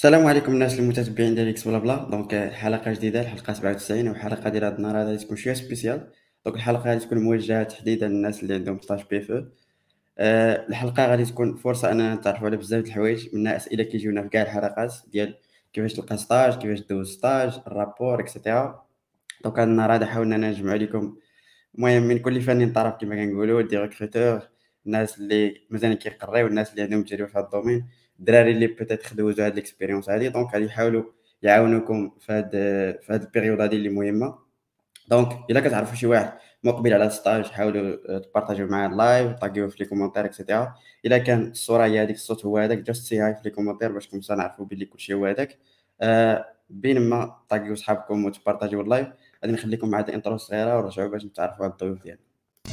السلام عليكم الناس المتتبعين ديال اكس بلا بلا. حلقه جديده، الحلقه 97، وحلقه ديال هاد النهار غادي تكون شويه سبيسيال. الحلقه غادي تكون موجهه تحديدا للناس اللي عندهم ستاج بي اف او. الحلقه غادي تكون فرصه اننا نتعرفوا على بزاف د الحوايج، منها اسئله كيجيونا في كاع الحلقات ديال كيفاش تلقى ستاج، كيفاش دوز ستاج، الرابور اكسيتيرا. هاد النهار غادي حاولنا نجمع لكم المهم من كل فن طرف كما كنقولوا، دي ريكروتور، الناس اللي مازال كيقراو، الناس اللي عندهم تجربه في هذا الدومين، الدراري اللي بيتيت دوزوا هاد ليكسبيريونس هادي. غادي يحاولوا يعاونوكم في هاد البيريود هادي اللي مهمه. الا كتعرفوا شي واحد مقبل على ستاج، حاولوا تبارطاجيو معاه اللايف، طاقيوه في لي كومونتير اكسيتيرا. الا كان الصوره هي هذيك، الصوت هو هذاك، جاست سي هاي في لي كومونتير باش كنسا نعرفوا بلي كلشي هو هذاك. بينما طاقيو صحابكم وتبارطاجيو اللايف. غادي نخليكم مع هاد الانترو الصغيره ونرجعوا باش نتعرفوا على الضيوف ديالنا.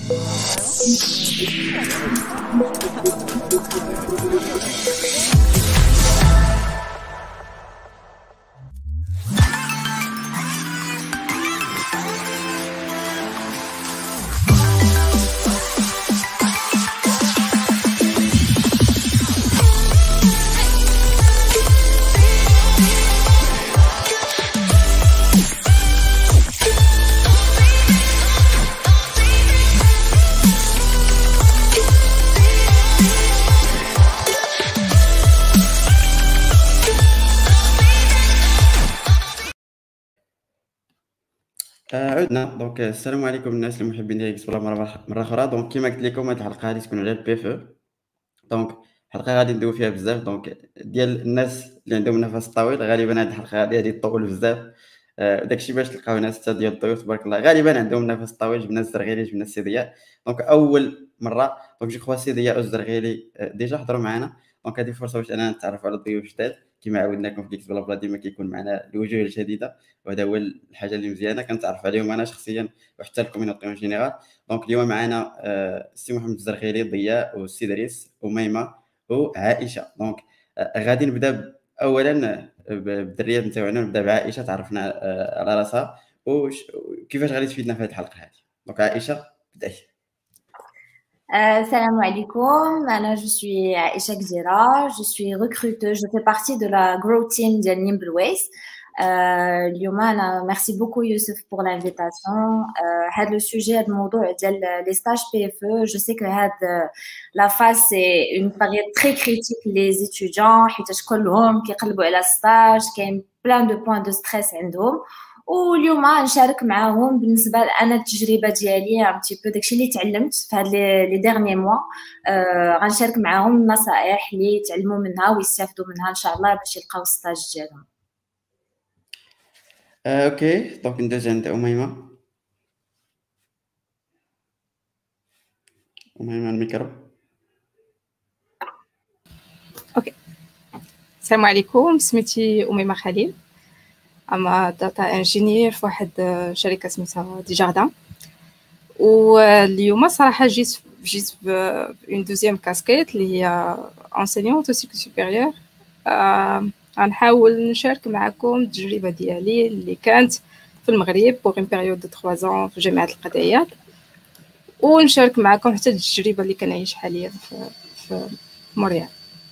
عدنا. السلام عليكم الناس المحبين ديال اكس بلا مره اخرى. كما قلت لكم، هذه الحلقه غادي تكون على البي اف او. الحلقه غادي ندوي فيها بزاف ديال الناس اللي عندهم نفس طويل. غالبا هذه الحلقه غادي تطول بزاف. داكشي باش تلقاو ناس حتى ديال الضيوف تبارك الله غالبا عندهم نفس طويل، جبنا الزرغيلي، جبنا السي ضياء. اول مره جو خوا السي ضياء والزرغيلي ديجا حضروا معنا. هذه فرصه باش انا نتعرف على الضيوف جداد. كما عودناكم في ديكس بلا بلا ديما كيكون معنا الوجوه الجديده، وهذا هو الحاجه اللي مزيانه كنتعرف عليهم انا شخصيا وحتى الكوميونيتي اون جينيرال. اليوم معنا السي محمد الزرغيلي، ضياء، والسي دريس، وميمه، وعائشه. غادي نبدا اولا بالدريات نتاعنا. نبدا بعائشه، تعرفنا على راسها وكيفاش غادي تفيدنا في هذه الحلقه هذه. عائشه بداي. Salam alaikum, je suis Aisha Gdira, je suis recruteuse, je fais partie de la Grow Team de Nimbleways. Merci beaucoup Youssef pour l'invitation. Le sujet de les stages PFE, je sais que la phase c'est une période très critique les étudiants, qui ont stage, qui ont plein de points de stress عندهم. واليوم نشارك معاهم بالنسبه انا التجربه ديالي ان بتي بو داكشي اللي تعلمت في هاد لي ديرني موا. غنشارك معاهم النصائح اللي يتعلموا منها ويستافدوا منها ان شاء الله باش يلقاو الستاج ديالهم. اوكي، ندوز عند اميمه. الميكرو. اوكي، السلام عليكم، سميتي أميمة خليل، اما داتا انجينير في واحد شركه سميتها دي جاردان. واليوم صراحه جيت اون دوزيام كاسكيت اللي هي انسينيونت او سيكل سوبيريور. غنحاول نشارك معكم التجربه ديالي اللي كانت في المغرب بوغ اون بيريود دو 3 ans في جامعه القضيات، ونشارك معكم حتى التجربه اللي كنعيش حاليا في موريال.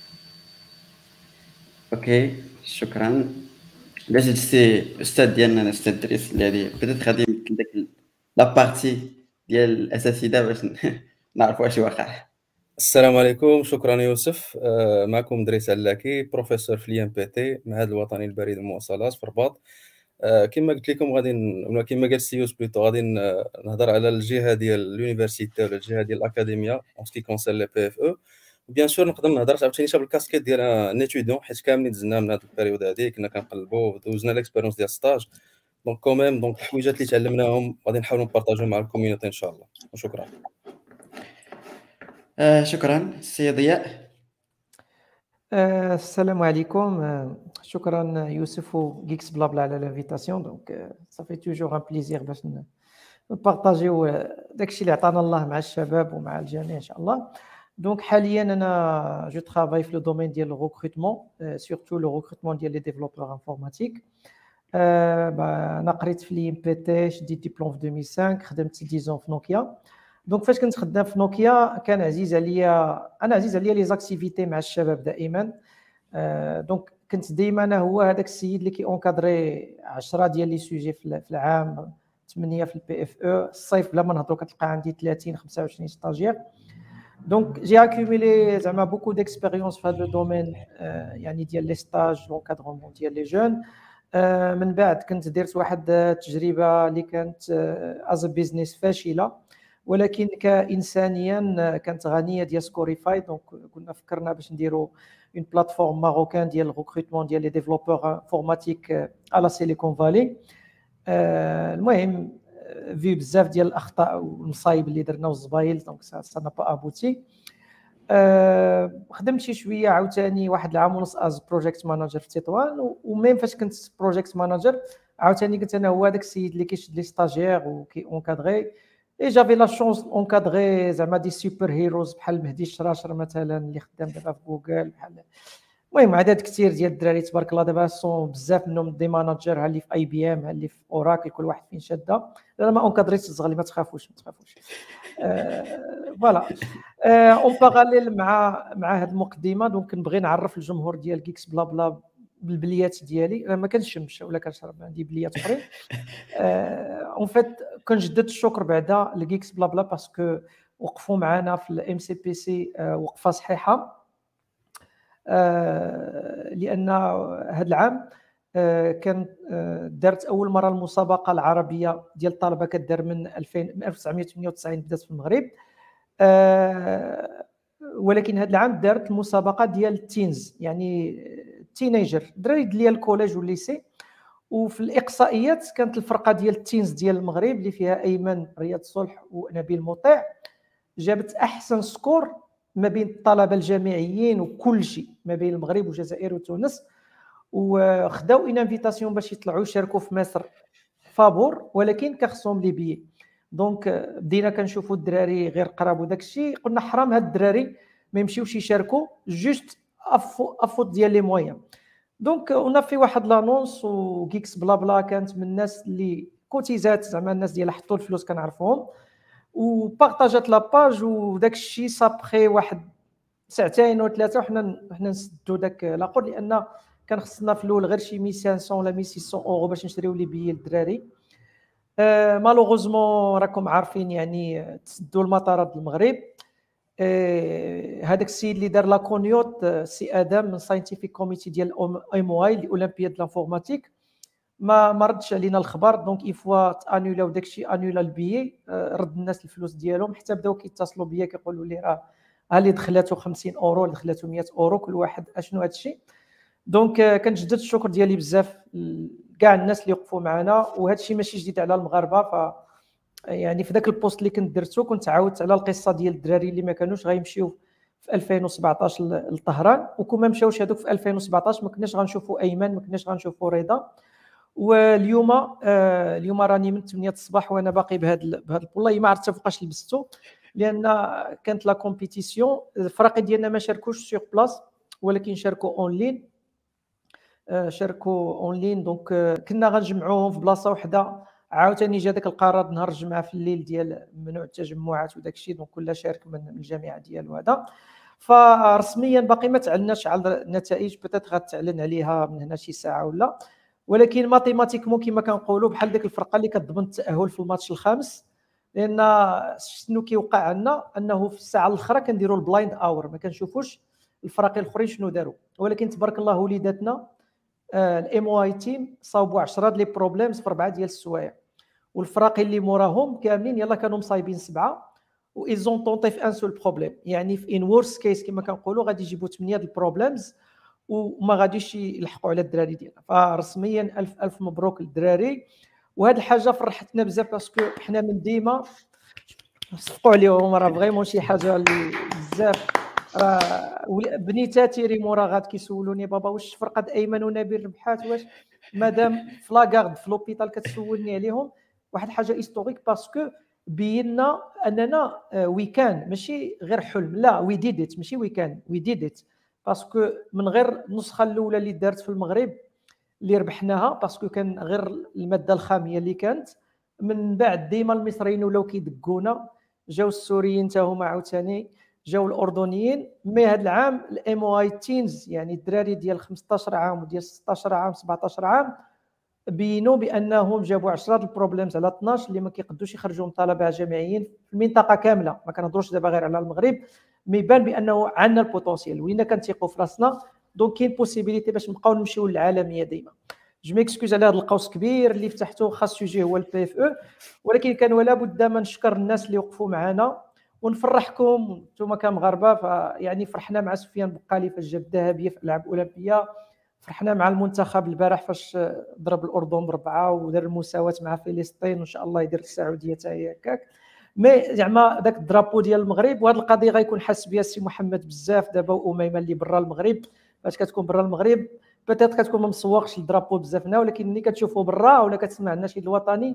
اوكي، شكرا. باش السي استاذ ديالنا الاستاذ دريس اللي هذه بدات غادي يمكن داك لا بارتي ديال الاساسيه باش نعرفوا اش واقع. السلام عليكم، شكرا يوسف. معكم دريس علاكي، بروفيسور في الام بي تي، المعهد الوطني للبريد والمواصلات في الرباط. كما قلت لكم ولا كما قال السي يوسف بليتو غادي نهضر على الجهه ديال اليونيفرسيتي ولا الجهه ديال الاكاديميه اون سكي كونسير لي بي اف او. بيان سور نقدر نهضر عاوتاني حتى بالكاسكيت ديال ان اتيديون، حيت كاملين دزنا من هذه البيريود هذه كنا كنقلبوا دوزنا ليكسبيريونس ديال ستاج. كوميم الحويجات اللي تعلمناهم غادي نحاولوا نبارطاجيو مع الكوميونيتي ان شاء الله. وشكرا. شكرا السي ضياء. السلام عليكم، شكرا يوسف وغيكس بلا بلا على لانفيتاسيون. صافي توجور ان بليزير باش نبارطاجيو داكشي اللي عطانا الله مع الشباب ومع الجميع ان شاء الله. حاليا انا جو ترافاي في لو دومين ديال لو ريكروتمون، سورتو لو ريكروتمون ديال لي ديفلوبور انفورماتيك. انا قريت في لي ام بي تي، شديت ديبلوم في 2005، خدمت 10 في نوكيا. فاش كنت خدام في نوكيا كان عزيز عليا لي زاكتيفيتي مع الشباب دائما. دونك كنت ديما انا هو هذاك السيد اللي اونكادري 10 ديال لي سوجي في العام، 8 في البي اف او. الصيف بلا ما نهضروا كتلقى عندي 30 25 ستاجير. دونك جي اكوميلي زعما بوكو ديكسبيريونس في هذا لو دومين، يعني ديال لي ستاج لونكادرومون ديال لي جون. من بعد كنت درت واحد التجربه اللي كانت از بيزنس فاشله، ولكن كانسانيا كانت غنيه ديال سكوريفاي. دونك كنا فكرنا باش نديروا اون بلاتفورم ماروكان ديال الريكروتمون ديال لي ديفلوبور انفورماتيك على سيليكون فالي. المهم في بزاف ديال الاخطاء والمصايب اللي درنا والزبايل، دونك سا نا با ابوتي. خدمت شي شويه عاوتاني واحد العام ونص از بروجيكت مانجر في تطوان، وميم فاش كنت بروجيكت مانجر عاوتاني قلت انا هو هذاك السيد اللي كيشد لي ستاجير وكي اونكادري. اي جافي لا شونس اونكادري زعما دي سوبر هيروز بحال مهدي الشراشر مثلا اللي خدام دابا في جوجل، بحال المهم عدد كثير ديال الدراري تبارك الله دابا سون بزاف منهم دي ماناجر، ها اللي في اي بي ام، ها اللي في اوراكل، كل واحد فين شاده. انا ما اونكادريتش الصغار، ما تخافوش ما تخافوش. فوالا اون باراليل مع هذه المقدمه، دونك نبغي نعرف الجمهور ديال جيكس بلا بلا بالبليات ديالي. انا ما كنشمش ولا كنشرب، عندي بليات اخرين. اون فيت كنجدد الشكر بعدا لجيكس بلا بلا باسكو وقفوا معنا في الام سي بي سي وقفه صحيحه. لان هذا العام كان دارت اول مره المسابقه العربيه ديال الطلبه كدار من 1998 بدات في المغرب. ولكن هذا العام دارت المسابقه ديال التينز، يعني التينيجر، الدراري ديال الكوليج والليسي. وفي الاقصائيات كانت الفرقه ديال التينز ديال المغرب اللي فيها ايمن رياض صلح ونبيل مطيع جابت احسن سكور ما بين الطلبه الجامعيين وكل شيء ما بين المغرب والجزائر وتونس، وخداو ان انفيتاسيون باش يطلعوا يشاركوا في مصر فابور، ولكن كخصهم لي بيي. دونك بدينا كنشوفوا الدراري غير قراب وداك الشيء، قلنا حرام هاد الدراري ما يمشيوش يشاركوا جوست افوت ديال لي مويان. دونك اون في واحد لانونس، وكيكس بلا بلا كانت من الناس اللي كوتيزات، زعما الناس ديال حطوا الفلوس كنعرفوهم، وبارطاجات لاباج. وداك الشيء صابخي واحد ساعتين وثلاثه وحنا نسدوا داك لاقور، لان كان خصنا في الاول غير شي 1500 ولا 1600 اورو باش نشريو لي بيي للدراري. مالوغوزمون راكم عارفين يعني تسدوا المطارات المغرب. هذاك السيد اللي دار لا كونيوت سي ادم من ساينتيفيك كوميتي ديال ام او اي الاولمبياد لانفورماتيك ما ردش علينا الخبر. دونك ايفوا تانولاو داكشي، انولا البيي، رد الناس الفلوس ديالهم، حتى بداو كيتصلوا بيا كيقولوا لي راه اللي دخلاتو 50 اورو، اللي دخلاتو 100 اورو، كل واحد اشنو هذا الشيء. دونك كنجدد الشكر ديالي بزاف كاع الناس اللي وقفوا معنا، وهذا الشيء ماشي جديد على المغاربه. ف يعني في ذاك البوست اللي كنت درتو كنت عاودت على القصه ديال الدراري اللي ما كانوش غيمشيو في 2017 لطهران، وكون ما مشاوش هذوك في 2017 ما كناش غنشوفوا ايمن، ما كناش غنشوفوا رضا. واليوم راني من 8 الصباح وانا باقي بهذا والله ما عرفت فوقاش لبستو، لان كانت لا كومبيتيسيون. الفرق ديالنا ما شاركوش سور بلاص، ولكن شاركوا اون لين. دونك كنا غنجمعوهم في بلاصه وحده. عاوتاني جا داك القرار نهار الجمعه في الليل ديال ممنوع التجمعات وداك الشيء، دونك كل شارك من الجامعه ديالو هذا. فرسميا باقي ما تعلناش على النتائج، بتات غتعلن عليها من هنا شي ساعه ولا، ولكن ماتيماتيكمون كما كنقولوا بحال ديك الفرقه اللي كتضمن التاهل في الماتش الخامس. لان شنو كيوقع عندنا انه في الساعه الاخرى كنديروا البلايند اور، ما كنشوفوش الفرق الاخرين شنو داروا، ولكن تبارك الله وليداتنا الام او اي تيم صاوبوا 10 لي بروبليمز في 4 ديال السوايع، والفرق اللي موراهم كاملين يلا كانوا مصايبين 7 و ايزون طونطي في ان سول بروبليم. يعني في ان وورست كيس كما كنقولوا غادي يجيبوا 8 د البروبليمز وما غاديش يلحقوا على الدراري ديالنا. فرسميا الف الف مبروك للدراري. وهذه الحاجه فرحتنا بزاف باسكو حنا من ديما صفقوا عليهم، راه فريمون شي حاجه اللي بزاف. بنيتاتي ريمورا غاد كيسولوني بابا واش فرقه ايمن ونبيل ربحات، واش مادام في لاكارد في لوبيتال كتسولني عليهم. واحد الحاجه هيستوريك باسكو بينا اننا وي كان ماشي غير حلم، لا وي ديد ات، ماشي وي كان وي ديد ات، باسكو من غير النسخه الاولى اللي دارت في المغرب اللي ربحناها باسكو كان غير الماده الخاميه اللي كانت. من بعد ديما المصريين ولاو كيدقونا، جاو السوريين حتى هما عاوتاني، جاو الاردنيين. مي هذا العام الام او اي تينز يعني الدراري ديال 15 عام وديال 16 عام 17 عام بينوا بانهم جابوا 10 البروبليمز على 12 اللي ما كيقدوش يخرجوا من طلبه جامعيين في المنطقه كامله. ما كنهضروش دابا غير على المغرب، مي يبان بانه عندنا البوتونسيال ولينا كنثيقوا في راسنا. دونك كاين بوسيبيليتي باش نبقاو نمشيو للعالميه ديما. جو ميكسكوز على هذا القوس كبير اللي فتحته، خاص سوجي هو البي اف او، ولكن كان ولا بد ما نشكر الناس اللي وقفوا معنا ونفرحكم نتوما كمغاربه. فيعني فرحنا مع سفيان بقالي فاش جاب الذهبيه في الالعاب الاولمبيه، فرحنا مع المنتخب البارح فاش ضرب الاردن ب4 ودار المساواه مع فلسطين، وان شاء الله يدير السعوديه حتى هي هكاك. مي زعما داك الدرابو ديال المغرب، وهذه القضيه غيكون حاس بها السي محمد بزاف دابا، واميمه اللي برا المغرب. فاش كتكون برا المغرب بيتيت كتكون ما مسوقش الدرابو بزاف هنا، ولكن ملي كتشوفوا برا ولا كتسمع النشيد الوطني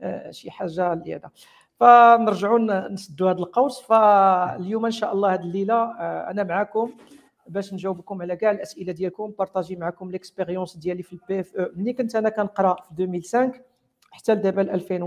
شي حاجه اللي هذا. فنرجعوا نسدوا هذا القوس. فاليوم ان شاء الله هذه الليله انا معكم باش نجاوبكم على كاع الاسئله ديالكم، بارطاجي معكم ليكسبيريونس ديالي في البي اف او ملي كنت انا كنقرا في 2005 حتى لدابا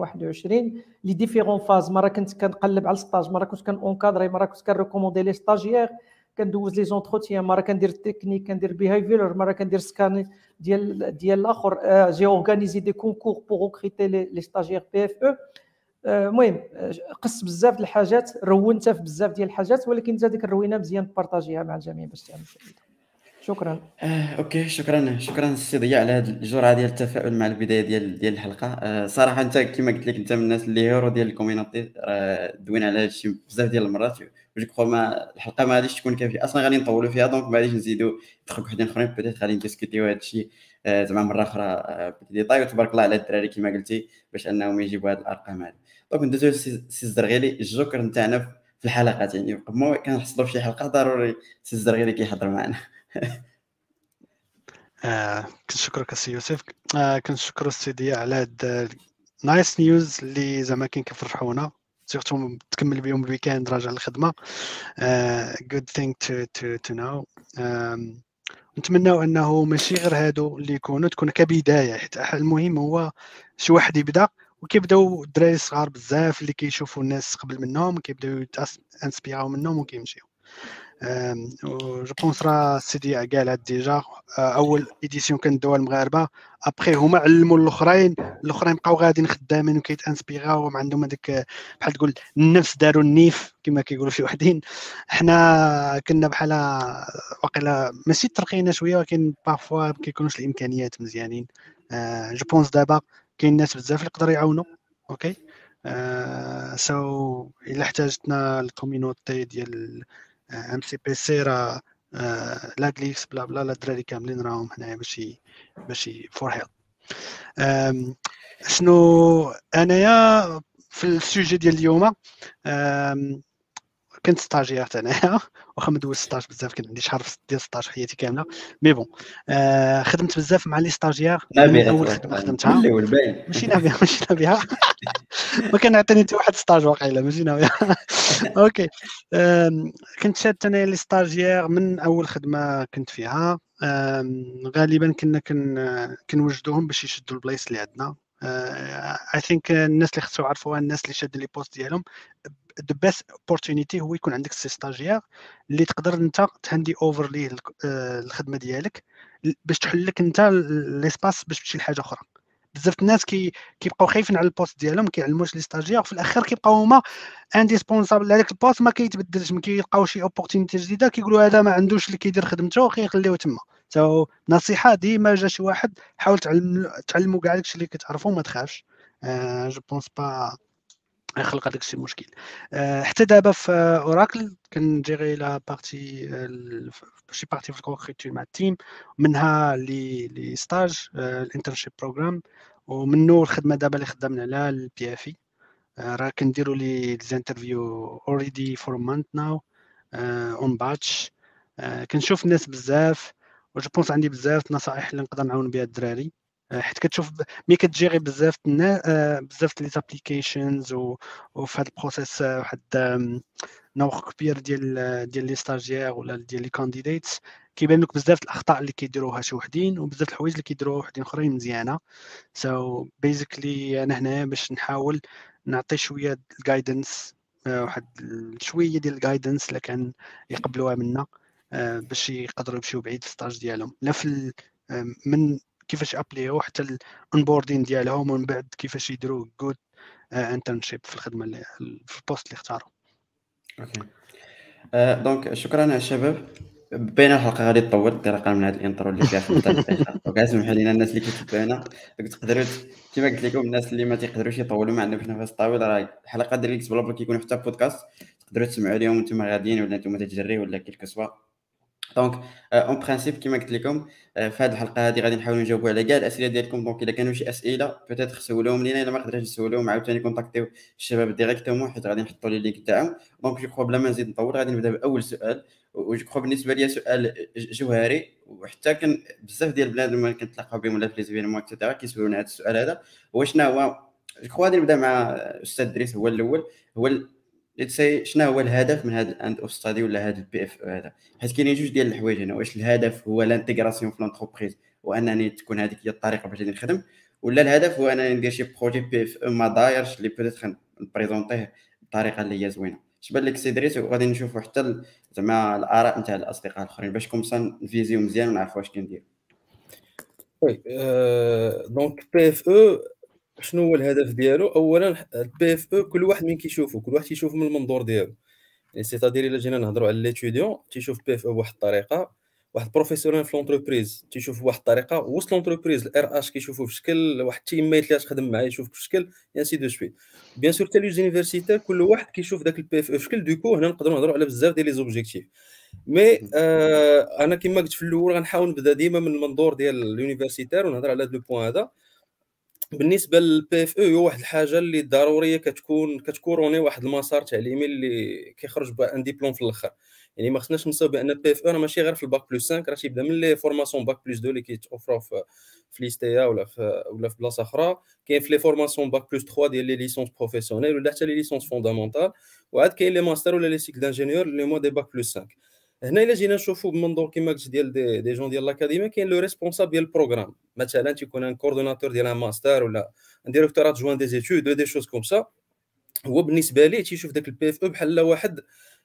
2021. لي ديفيرون فاز، مره كنت كنقلب على الستاج، مره كنت كنونكادري، مره كنت كنريكوموندي لي ستاجيير، كندوز لي زونتروتيان، مره كندير تكنيك، كندير بيهيفير، مره كندير سكان ديال الاخر. جي اورغانيزي دي كونكور بور ريكروتي لي ستاجيير بي اف او. المهم قص بزاف د الحاجات، رونت في بزاف ديال الحاجات، ولكن حتى ديك الروينه مزيان بارطاجيها مع الجميع باش تعمل فائده. شكرا. اوكي، شكرا السي ضياء على هذه الجرعه ديال التفاؤل مع البدايه ديال الحلقه. صراحه انت كما قلت لك انت من الناس اللي هيرو ديال الكوميونيتي، دوينا على هذا الشيء بزاف ديال المرات. جو كخوا ما الحلقه ما غاديش تكون كافيه اصلا، غادي نطولوا فيها، دونك ما غاديش نزيدوا دخل وحدين اخرين، بيتيت غادي نديسكوتيو هذا الشيء زعما مره اخرى بديتاي. وتبارك الله على الدراري كما قلتي باش انهم يجيبوا هذه الارقام هذه. دونك ندوزو سي الزرغيلي، الجوكر نتاعنا في الحلقات. يعني ما كنحصلوا في شي حلقه ضروري سي الزرغيلي كيحضر معنا. كنشكرك السي يوسف، كنشكر السي ضياء على هاد نايس نيوز اللي زعما كيفرحونا، سيرتو تكمل بهم الويكاند راجع للخدمه. good thing to know. نتمناو انه ماشي غير هادو اللي يكونوا، تكون كبدايه، حيت المهم هو شي واحد يبدا، وكيبداو الدراري الصغار بزاف اللي كيشوفوا الناس قبل منهم كيبداو انسبيراو منهم وكيمشيو. جو بونس راه السيدي قال هاد ديجا اول ايديسيون كندوها المغاربه، ابخي هما علموا الاخرين بقاو غاديين خدامين وكيتانسبيراو، عندهم هذيك بحال تقول النفس، داروا النيف كما كيقولوا شي وحدين. حنا كنا بحال واقيلا ماشي ترقينا شويه، ولكن بارفوا ما كيكونوش الامكانيات مزيانين. جو بونس دابا كاين ناس بزاف اللي يقدروا يعاونوا. اوكي سو الا احتاجتنا الكوميونيتي ديال ام سي بي سي راه لا جليكس بلا بلا لا الدراري كاملين راهم هنايا باش فور هيلب. شنو انايا في السوجي ديال اليوم، كنت ستاجير انايا، واخا ما دوزت ستاج بزاف، كان عندي شهر ديال ستاج في حياتي كامله. مي بون خدمت بزاف مع لي ستاجير من اول خدمه خدمتها. ماشي نابغه ما كان عطيني حتى واحد ستاج واقيلا، ماشي نابغه. اوكي كنت شاد انا لي ستاجير من اول خدمه كنت فيها. غالبا كنا كنوجدوهم باش يشدوا البلايص اللي عندنا. اي ثينك الناس اللي خصو يعرفوها، الناس اللي شادين لي بوست ديالهم، the best opportunity هو يكون عندك سي ستاجير اللي تقدر انت تهاندي اوفر ليه الخدمه ديالك باش تحل لك انت ليسباس باش تمشي لحاجه اخرى. بزاف الناس كيبقاو خايفين على البوست ديالهم، ما كيعلموش لي ستاجير، في الاخر كيبقاو هما انديسبونسابل على داك البوست، ما كيتبدلش، ما كيلقاو شي اوبورتونيتي جديده كيقولوا هذا ما عندوش اللي كيدير خدمته خليوه تما. نصيحه ديما جا شي واحد حاول تعلموا كاع داكشي اللي كتعرفوا، ما تخافش. جو بونس با يخلق هذاك الشيء مشكل. حتى دابا في اوراكل كنجيري لا بارتي شي بارتي في الكونكريتور مع التيم، منها لي ستاج الانترنشيب بروغرام، ومنه الخدمه دابا اللي خدامنا على البي اف اي. راه كنديروا لي انترفيو اوريدي فور مانث ناو اون باتش. كنشوف الناس بزاف، وجو بونس عندي بزاف نصائح اللي نقدر نعاون بها الدراري، حيت كتشوف ملي كتجيري بزاف بزاف لي زابليكيشنز وفي هذا البروسيس واحد نوع كبير ديال لي ستاجير ولا ديال لي كانديديتس، كيبان لك بزاف الاخطاء اللي كيديروها شي وحدين، وبزاف الحوايج اللي كيديروها وحدين اخرين مزيانه. سو بيزيكلي انا هنا باش نحاول نعطي شويه الجايدنس واحد شويه ديال الجايدنس اللي كان يقبلوها منا باش يقدروا يمشيو بعيد في الستاج ديالهم، لا في من كيفاش ابليو حتى الانبوردين ديالهم، ومن بعد كيفاش يديروا جود انترنشيب في الخدمه اللي في البوست اللي اختاروا. اوكي دونك شكرا على الشباب. بين الحلقه غادي تطول انطلاقا من هذا الانترو اللي فيها 5 دقائق. دونك اسمحوا لينا الناس اللي كيتبعونا تقدروا كما قلت لكم الناس اللي ما تيقدروش يطولوا ما عندهمش نفس طويل، راه الحلقات ديال اكس بلا بلا كيكونوا حتى بودكاست تقدروا تسمعوا اليوم وانتم غاديين ولا انتم تجريوا ولا كيلكو سوا. دونك اون برينسيپ كما قلت لكم في هذه الحلقه هذه غادي نحاولوا نجاوبوا على كاع الاسئله ديالكم. دونك الا كانوا شي اسئله بيتيت سولوهم لينا، الا ما قدرتش تسولوهم عاوتاني كونتاكتيو الشباب ديريكتومون حيت غادي نحطوا لي اللينك تاعهم. دونك جو كخوا بلا ما نزيد نطول غادي نبدا باول سؤال، وجو كخوا بالنسبه لي سؤال جوهري، وحتى كان بزاف ديال البلاد اللي كنتلاقاو بهم ولا في ليزيفينمون اكسيتيرا كيسولونا هذا السؤال هذا. هو شنو هو جو كخوا غادي نبدا مع الاستاذ دريس، هو الاول. هو شنو هو الهدف من هذا الاند اوف ستادي ولا هذا البي اف هذا؟ حيت كاينين جوج ديال الحوايج هنا. واش الهدف هو لانتيغراسيون في لونتربريز وانني تكون هذيك هي الطريقه باش غادي نخدم، ولا الهدف هو انني ندير شي بروجي بي اف ما دايرش اللي بيتيت نبريزونطيه بطريقه اللي هي زوينه؟ اش بان لك سي دريس؟ وغادي نشوفوا حتى زعما الاراء نتاع الاصدقاء الاخرين باش كومسا نفيزيو مزيان ونعرفوا واش كندير. وي دونك بي اف او شنو هو الهدف ديالو؟ اولا البي اف او كل واحد من كيشوفو، كل واحد تيشوف من المنظور ديالو. يعني سيتادير الا جينا نهضروا على ليتيديون تيشوف بي اف او بواحد الطريقه، واحد بروفيسيونيل في لونتربريز تيشوف بواحد الطريقه، وسط لونتربريز الار اش كيشوفوا في شكل، واحد التيميت اللي تخدم معاه يشوف في شكل، انسي دو سويت. بيان سور حتى لي زونيفرسيتي كل واحد كيشوف داك البي اف او في شكل. دوكو هنا نقدروا نهضروا على بزاف ديال لي زوبجيكتيف. مي انا كما قلت في الاول غنحاول نبدا ديما من المنظور ديال اليونيفرسيتير ونهضر على هذا لو بوين هذا. بالنسبه للبي اف او هو واحد الحاجه اللي ضروريه كتكوروني واحد المسار تعليمي اللي كيخرج بان ديبلوم في الاخر. يعني ما خصناش ننساو بان البي اف او راه ماشي غير في الباك بلس 5، راه تيبدا من لي فورماسيون باك بلس 2 اللي كيتوفروا في ليستيا ولا في بلاصه اخرى. كاين في لي فورماسيون باك بلس 3 ديال لي ليسونس بروفيسيونيل ولا حتى لي ليسونس فوندامونتال، وعاد كاين لي ماستر ولا لي سيكل دانجينيور اللي هما دي باك بلس 5. هنا الا جينا نشوفوا بمنظور كما قلت ديال دي جون ديال لاكاديميه، كاين لو ريسبونسابل ديال البروغرام، مثلا تيكون ان كوردوناتور ديال ان ماستر ولا ان ديريكتور ادجوان دي زيتود ولا دي شوز كوم سا. هو بالنسبه ليه تيشوف داك البي اف او بحال واحد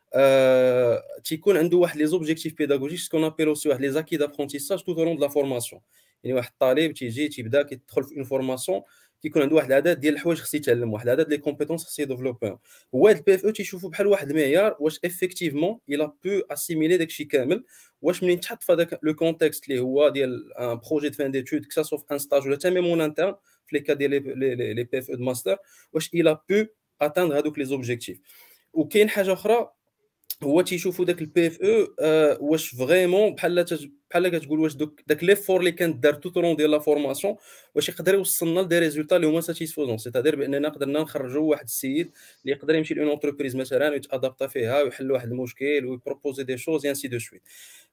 تيكون عنده واحد لي زوبجيكتيف بيداغوجيك سكون ابيلو سي واحد لي زاكي دابرونتيساج تو لون دو لا فورماسيون. يعني واحد الطالب تيبدا كيدخل في اون فورماسيون كيكون عنده واحد العدد ديال الحوايج خصو يتعلم، واحد العدد لي كومبيتونس خصو يديفلوبي. هو هاد البي اف او تيشوفو بحال واحد المعيار واش افيكتيفمون الا بو اسيميلي داكشي كامل، واش منين تحط في هذاك لو كونتكست اللي هو ديال ان بروجي دو فان ديتود كسا سوف ان ستاج ولا تامي مون انترن في لي كا ديال لي بي اف او دو ماستر، واش الا بو اتاندر هذوك لي زوبجيكتيف. وكاين حاجه اخرى هو تيشوفوا داك البي اف او واش فريمون بحال كتقول واش داك ليفور اللي كان دار تو طرون ديال لا فورماسيون واش يقدر يوصلنا لدي ريزولطا اللي هما ساتيسفوزون. سيتادير باننا قدرنا نخرجوا واحد السيد اللي يقدر يمشي لون اونتربريز مثلا ويتادابتا فيها ويحل واحد المشكل ويبروبوزي دي شوز انسي دو سويت.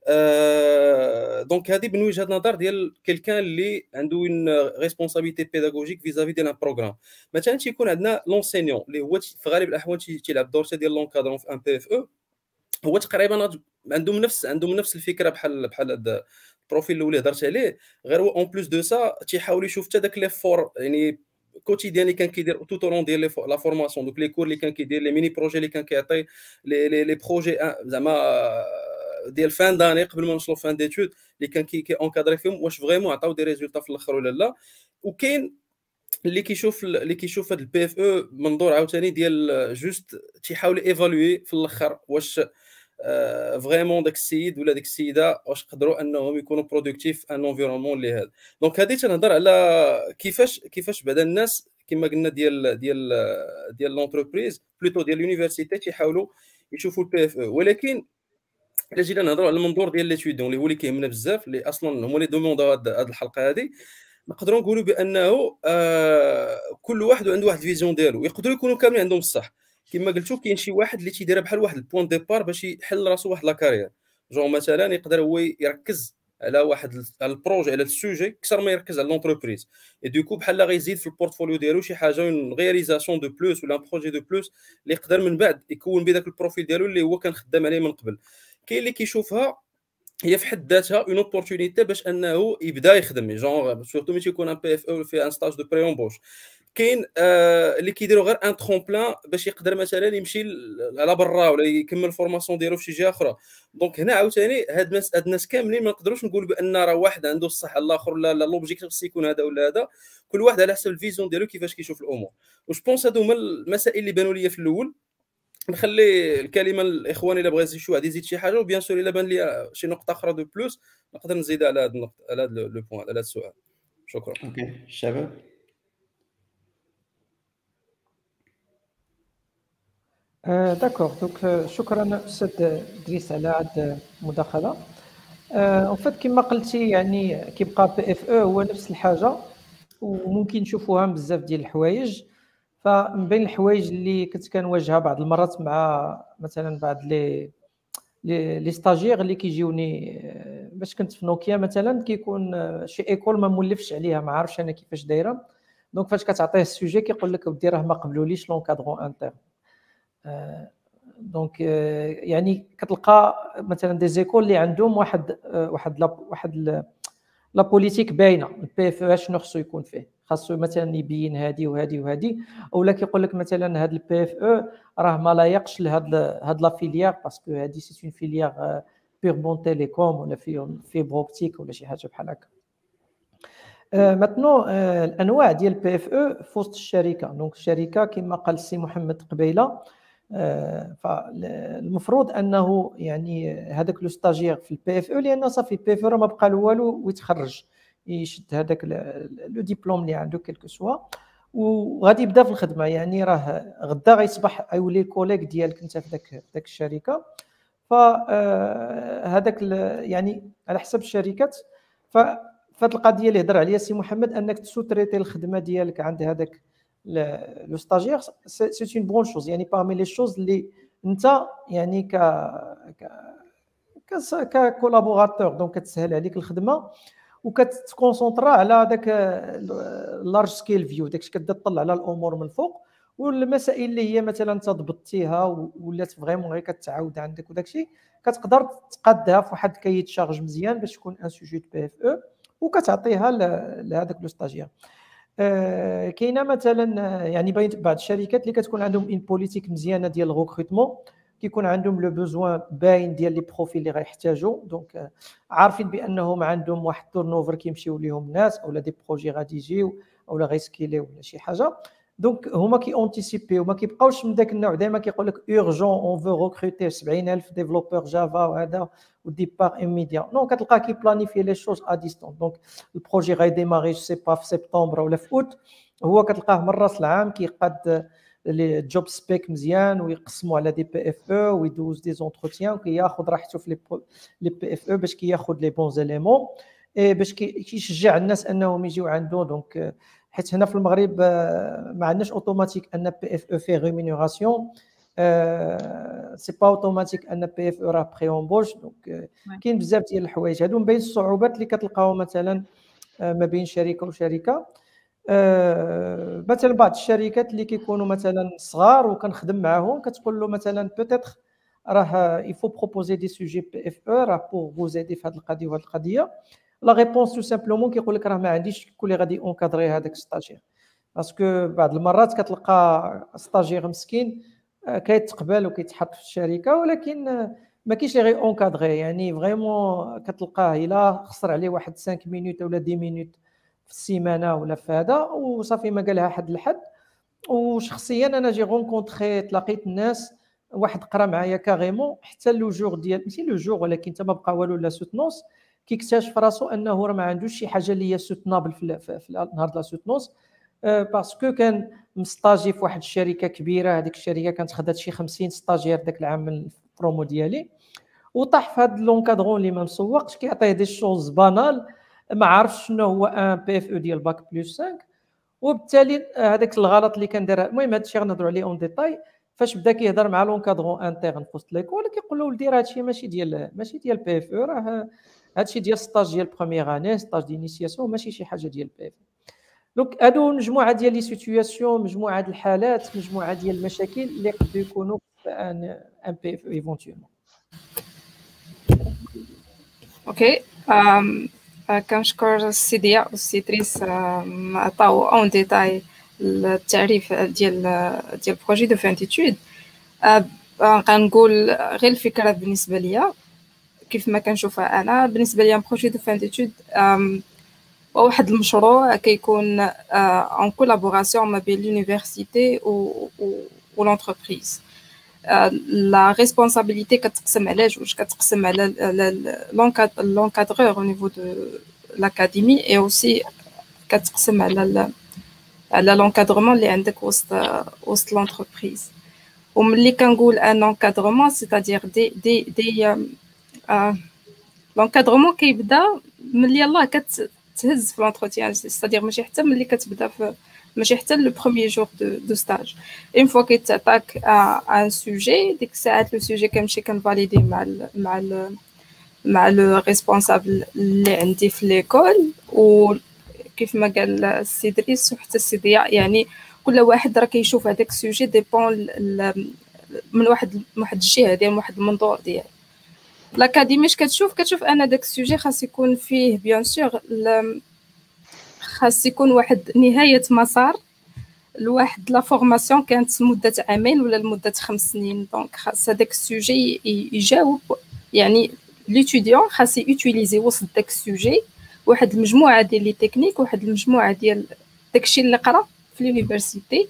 دونك هذه من وجهه نظر ديال كيلكان اللي عنده اون ريسبونسابيلتي بيداغوجيك فيزافي ديال ان بروغرام. مثلا تيكون عندنا لونسينيون اللي هو في غالب الاحوال تيلعب دور ديال لونكادرون في ان بي اف او. هو تقريبا عندهم نفس الفكره بحال هذا البروفيل الاول اللي هضرت عليه، غير هو اون بلوس دو سا تيحاول يشوف حتى داك لي فور يعني كوتيديان اللي كان كيدير تو طورون ديال لا فورماسيون، دوك لي كور اللي كان كيدير لي ميني بروجي اللي كان كيعطي لي بروجي زعما ديال فان داني قبل ما نوصلوا فان ديتود اللي كان كي اونكادري فيهم واش فريمون عطاو دي ريزولطا في الاخر ولا لا. وكاين اللي كيشوف هذا البي اف او منظور عاوتاني ديال جوست تيحاول ايفالوي في الاخر واش فريمون داك السيد ولا ديك السيده واش قدروا انهم يكونوا برودكتيف ان انفيرونمون اللي هذا. دونك هذه تنهضر على كيفاش بعدا الناس كما قلنا ديال لونتربريز بلوتو ديال اليونيفرسيتي تيحاولوا يشوفوا البي اف او. ولكن الا جينا نهضروا على المنظور ديال ليتيديون اللي هو اللي كيهمنا بزاف، اللي اصلا هما اللي دوموندو هذه الحلقه هذه، نقدروا نقولوا بانه كل واحد عنده واحد الفيزيون ديالو، يقدروا يكونوا كاملين عندهم الصح. كما قلتوا كاين شي واحد اللي تيديرها بحال واحد البوين ديبار باش يحل راسو واحد لا كارير، جون مثلا يقدر هو يركز على واحد البروجي على السوجي اكثر ما يركز على لونتربريز، اي دوكو بحال غيزيد في البورتفوليو ديالو شي حاجه اون رياليزاسيون دو بلوس ولا ان بروجي دو بلوس اللي يقدر من بعد يكون بداك البروفيل ديالو اللي هو كان خدام عليه من قبل. كاين اللي كيشوفها هي في حد ذاتها اون اوبورتونيتي باش انه يبدا يخدم جونغ سورتو ملي تيكون ان بي اف او في ان ستاج دو بري امبوش كاين اللي كيديروا غير ان ترومبلان باش يقدر مثلا يمشي على برا ولا يكمل الفورماسيون ديالو في شي جهه اخرى. دونك هنا عاوتاني هاد الناس كاملين ما نقدروش نقولوا بان راه واحد عنده الصح الاخر لا لوبجيكتيف خص يكون هذا ولا هذا، كل واحد على حسب الفيزيون ديالو كيفاش كيشوف الامور. واش بونس هادو هما المسائل اللي بانوا لي في الاول. نخلي الكلمه الاخوان الا بغى شي واحد يزيد شي حاجه، وبيان سور الا بان لي شي نقطه اخرى دو بلوس نقدر نزيد على هذا النقطه على هذا لو بوين على هذا السؤال. شكرا. اوكي الشباب. داكوغ دونك شكرا استاذ دريس على هذه المداخله. اون فيت كما قلتي يعني كيبقى بي اف او هو نفس الحاجه، وممكن نشوفوها بزاف ديال الحوايج. فمن بين الحوايج اللي كنت كنواجهها بعض المرات مع مثلا بعض لي ستاجير اللي كيجيوني باش كنت في نوكيا مثلا، كيكون شي ايكول ما مولفش عليها، ما عارفش انا كيفاش دايره. دونك فاش كتعطيه السوجي كيقول لك ودي راه ما قبلوليش لونكادرون انترن. دونك يعني كتلقى مثلا دي زيكول اللي عندهم واحد لا بوليتيك باينه، البي اف او شنو خصو يكون فيه، خاصو مثلا يبين هذه وهذه وهذه، اولا كيقول لك مثلا هذا البي اف او راه ما لايقش لهاد لا فيليير باسكو هذه سي اون فيليير بيغبون تيليكوم ولا فيبر اوبتيك ولا شي حاجه بحال هكا. ماتنو الانواع ديال البي اف او في وسط الشركه. دونك الشركه كما قال السي محمد قبيله، فالمفروض انه يعني هذاك لو ستاجير في البي اف او، لان صافي البي اف او ما بقى له والو ويتخرج يشد هذاك لو ديبلوم اللي عنده كيلكو سوا وغادي يبدا في الخدمه. يعني راه غدا غيصبح يولي كوليك ديالك انت في ذاك الشركه. فهذاك يعني على حسب الشركات. فهاد القضيه اللي هضر عليها السي محمد، انك تسوتريتي الخدمه ديالك عند هذاك لو ستاجير، سي اون بون شوز. يعني بارمي لي شوز اللي انت يعني ك كولابوراتور دونك كتسهل عليك الخدمه وكتكونسونطرا على داك لارج سكيل فيو، داكشي كتبدا تطلع على الامور من الفوق. والمسائل اللي هي مثلا انت ضبطتيها ولات فريمون غير كتعاود عندك وداكشي كتقدر تقادها في واحد كايت شارج مزيان باش تكون ان سوجي بي اف او وكتعطيها لهذاك لو ستاجير. كاينه مثلا يعني بعض الشركات اللي كتكون عندهم ان بوليتيك مزيانه ديال الريكروتمون، كيكون عندهم لو بوزوان باين ديال لي بروفيل اللي غيحتاجوا. دونك عارفين بانهم عندهم واحد تورنوفر كيمشيو ليهم الناس اولا دي بروجي غادي يجيو اولا غيسكيليو ولا شي حاجه. دونك هما كي اونتيسيبي وما كيبقاوش من داك النوع دائما كيقول لك اورجون اون فو ريكروتي 70000 ديفلوبور جافا وهذا وديبار ايميديا. نو كتلقى كي بلانيفي لي شوز ا ديستونس. دونك البروجي غيديماري سي با في سبتمبر ولا في اوت، هو كتلقاه من راس العام كيقاد لي جوب سبيك مزيان ويقسموا على دي بي اف او ويدوز دي زونتروتيان وكياخذ راحته في لي بي اف او باش كياخذ لي بون زيليمون باش كيشجع الناس انهم يجيو عنده. دونك حيت هنا في المغرب ما عندناش اوتوماتيك ان بي اف او في ريمونيراسيون، سي با اوتوماتيك ان بي اف او راه بري امبوش. دونك كاين بزاف ديال الحوايج هادو من بين الصعوبات اللي كتلقاو مثلا ما بين شركه وشركه. مثلا بعض الشركات اللي كيكونوا مثلا صغار وكنخدم معاهم كتقول له مثلا بوتيتر راه يفو بروبوزي دي سوجي بي اف او راه بور فو زيدي في هذه القضيه وهذه القضيه. لا ريبونس تو سامبلومون كيقول لك راه ما عنديش شكون اللي غادي اونكادري هذاك ستاجير، باسكو بعض المرات كتلقى ستاجير مسكين كيتقبل وكيتحط في الشركه ولكن ما كاينش اللي غي اونكادري. يعني فريمون كتلقاه الا خسر عليه واحد 5 مينوت ولا 10 مينوت في السيمانه ولا في هذا وصافي ما قالها حد لحد. وشخصيا انا جي رونكونطري تلاقيت الناس واحد قرا معايا كاريمون حتى لو جور ديال ماشي لو جور ولكن حتى ما بقى والو لا سوتنونس كيكتشف راسو انه راه ما عندوش شي حاجه اللي هي سوتنابل في نهار لا سوتنونس باسكو كان مستاجي في واحد الشركه كبيره. هذيك الشركه كانت خدات شي 50 ستاجير داك العام من البرومو ديالي وطاح في هذا لونكادرون اللي ما مسوقش كيعطيه دي شوز بانال ما عارفش شنو هو ان بي اف او ديال باك بلس 5 وبالتالي هذاك الغلط اللي كان دار. المهم هذا الشيء غنهضروا عليه اون ديتاي. فاش بدا كيهضر مع لونكادرون انترن في وسط ليكول كيقول له ولدي راه هادشي ماشي ديال بي اف او، راه هادشي ديال ستاج ديال بروميير اني ستاج دينيسياسيون ماشي شي حاجه ديال بي اف. دونك هادو مجموعه ديال لي سيتوياسيون مجموعه ديال الحالات مجموعه ديال المشاكل اللي يقدروا يكونوا ان بي اف ايفونتيومون. اوكي. كنشكر السي ضياء والسي تريس عطاو اون ديتاي التعريف ديال البروجي دو فان ديتود. غنقول غير الفكره بالنسبه ليا كيف ما كنشوفها انا. بالنسبه ليا بروجي دو فان ديتود واحد المشروع كيكون ان كولابوراسيون ما بين لونيفرسيتي و لونتربريز. لا ريسبونسابيلتي كتقسم على جوج، كتقسم على l'encadreur au niveau de l'académie et aussi كتقسم على l'encadrement اللي عندك وسط l'entreprise. وملي كنقول ان encadrement c'est-à-dire دي l'encadrement كيبدا ملي يلاه كتهز في l'entretien، c'est-à-dire ماشي حتى ملي كتبدا ماشي حتى لو بروميير جور دو ستاج. اون فوا كيتعطاك ان سوجي، ديك الساعات لو سوجي كنمشي كنفاليدي مع لو ريسبونسابل اللي عندي في ليكول. وكيف ما قال السي دريس وحتى السي ضياء، يعني كل واحد راه كيشوف هذاك السوجي ديبون من واحد الجهه ديال واحد المنظور ديال لاكاديمي. اش كتشوف انا داك السوجي خاص يكون فيه بيان سور خاص يكون واحد نهاية مسار لواحد لا فورماسيون كانت مدة عامين ولا لمدة 5 سنين. دونك خاص هذاك السوجي يجاوب، يعني ليتوديون خاص يوتيليزي وسط داك السوجي واحد المجموعة ديال لي تكنيك، واحد المجموعة ديال داكشي اللي قرا في لونيفرسيتي.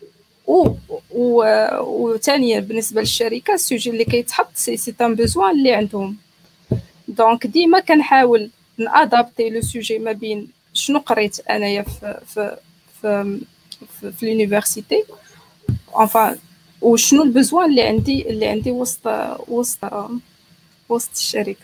وثانيا بالنسبة للشركة السوجي اللي كيتحط سي ان بوزوان اللي عندهم. دونك ديما كنحاول نادابتي لو سوجي ما بين شنو قريت انايا في لونيفرسيتي انفا وشنو البزوان اللي عندي وسط الشركه.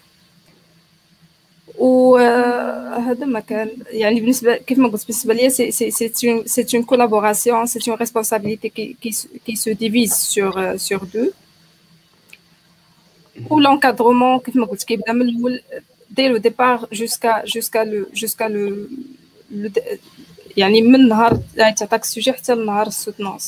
وهذا ما كان يعني بالنسبه كيف ما قلت بالنسبه ليا سي اون كولابوراسيون، سي اون ريسبونسابيلتي كي سو ديفيز سور دو. و لونكادرومون كيف ما قلت كيبدا من الاول dès le départ jusqu'à le يعني من نهار تعطاك السوجي حتى لنهار السوتنونس.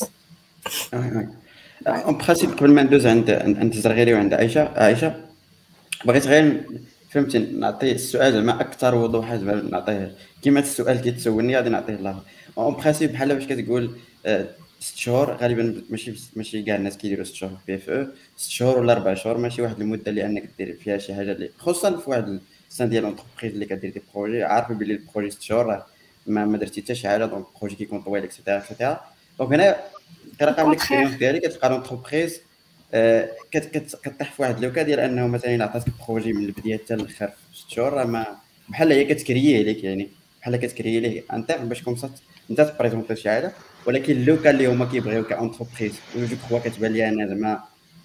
اون برينسيپ قبل ما ندوز عند زرغيري وعند عائشه بغيت غير فهمتي نعطي السؤال زعما اكثر وضوحا، زعما نعطيه كيما السؤال كيتسولني غادي نعطيه الله. اون برينسيپ بحال باش كتقول 6 شهور غالبا ماشي كاع الناس كيديروا 6 شهور في اف او، 6 شهور ولا 4 شهور ماشي واحد المده اللي انك دير فيها شي حاجه اللي خصوصا في واحد السان ديال لونتربريز اللي كدير دي بروجي عارف بلي البروجي 6 شهور ما درتي حتى شي حاجه، دونك البروجي كيكون طويل اكسيتيرا اكسيتيرا. دونك هنا كنلقى من الاكسبيريونس ديالي كتلقى لونتربريز كطيح في واحد لوكا ديال انه مثلا عطاتك بروجي من البدايه حتى الاخر في 6 شهور، ما بحال هي كتكرييه ليك، يعني بحال كتكريي ليه انتر باش كومسا انت تبريزونطي شي حاجه. ولكن لوكا اللي هما كيبغيو كاونتربريز جو كخوا كتبان لي انا زعما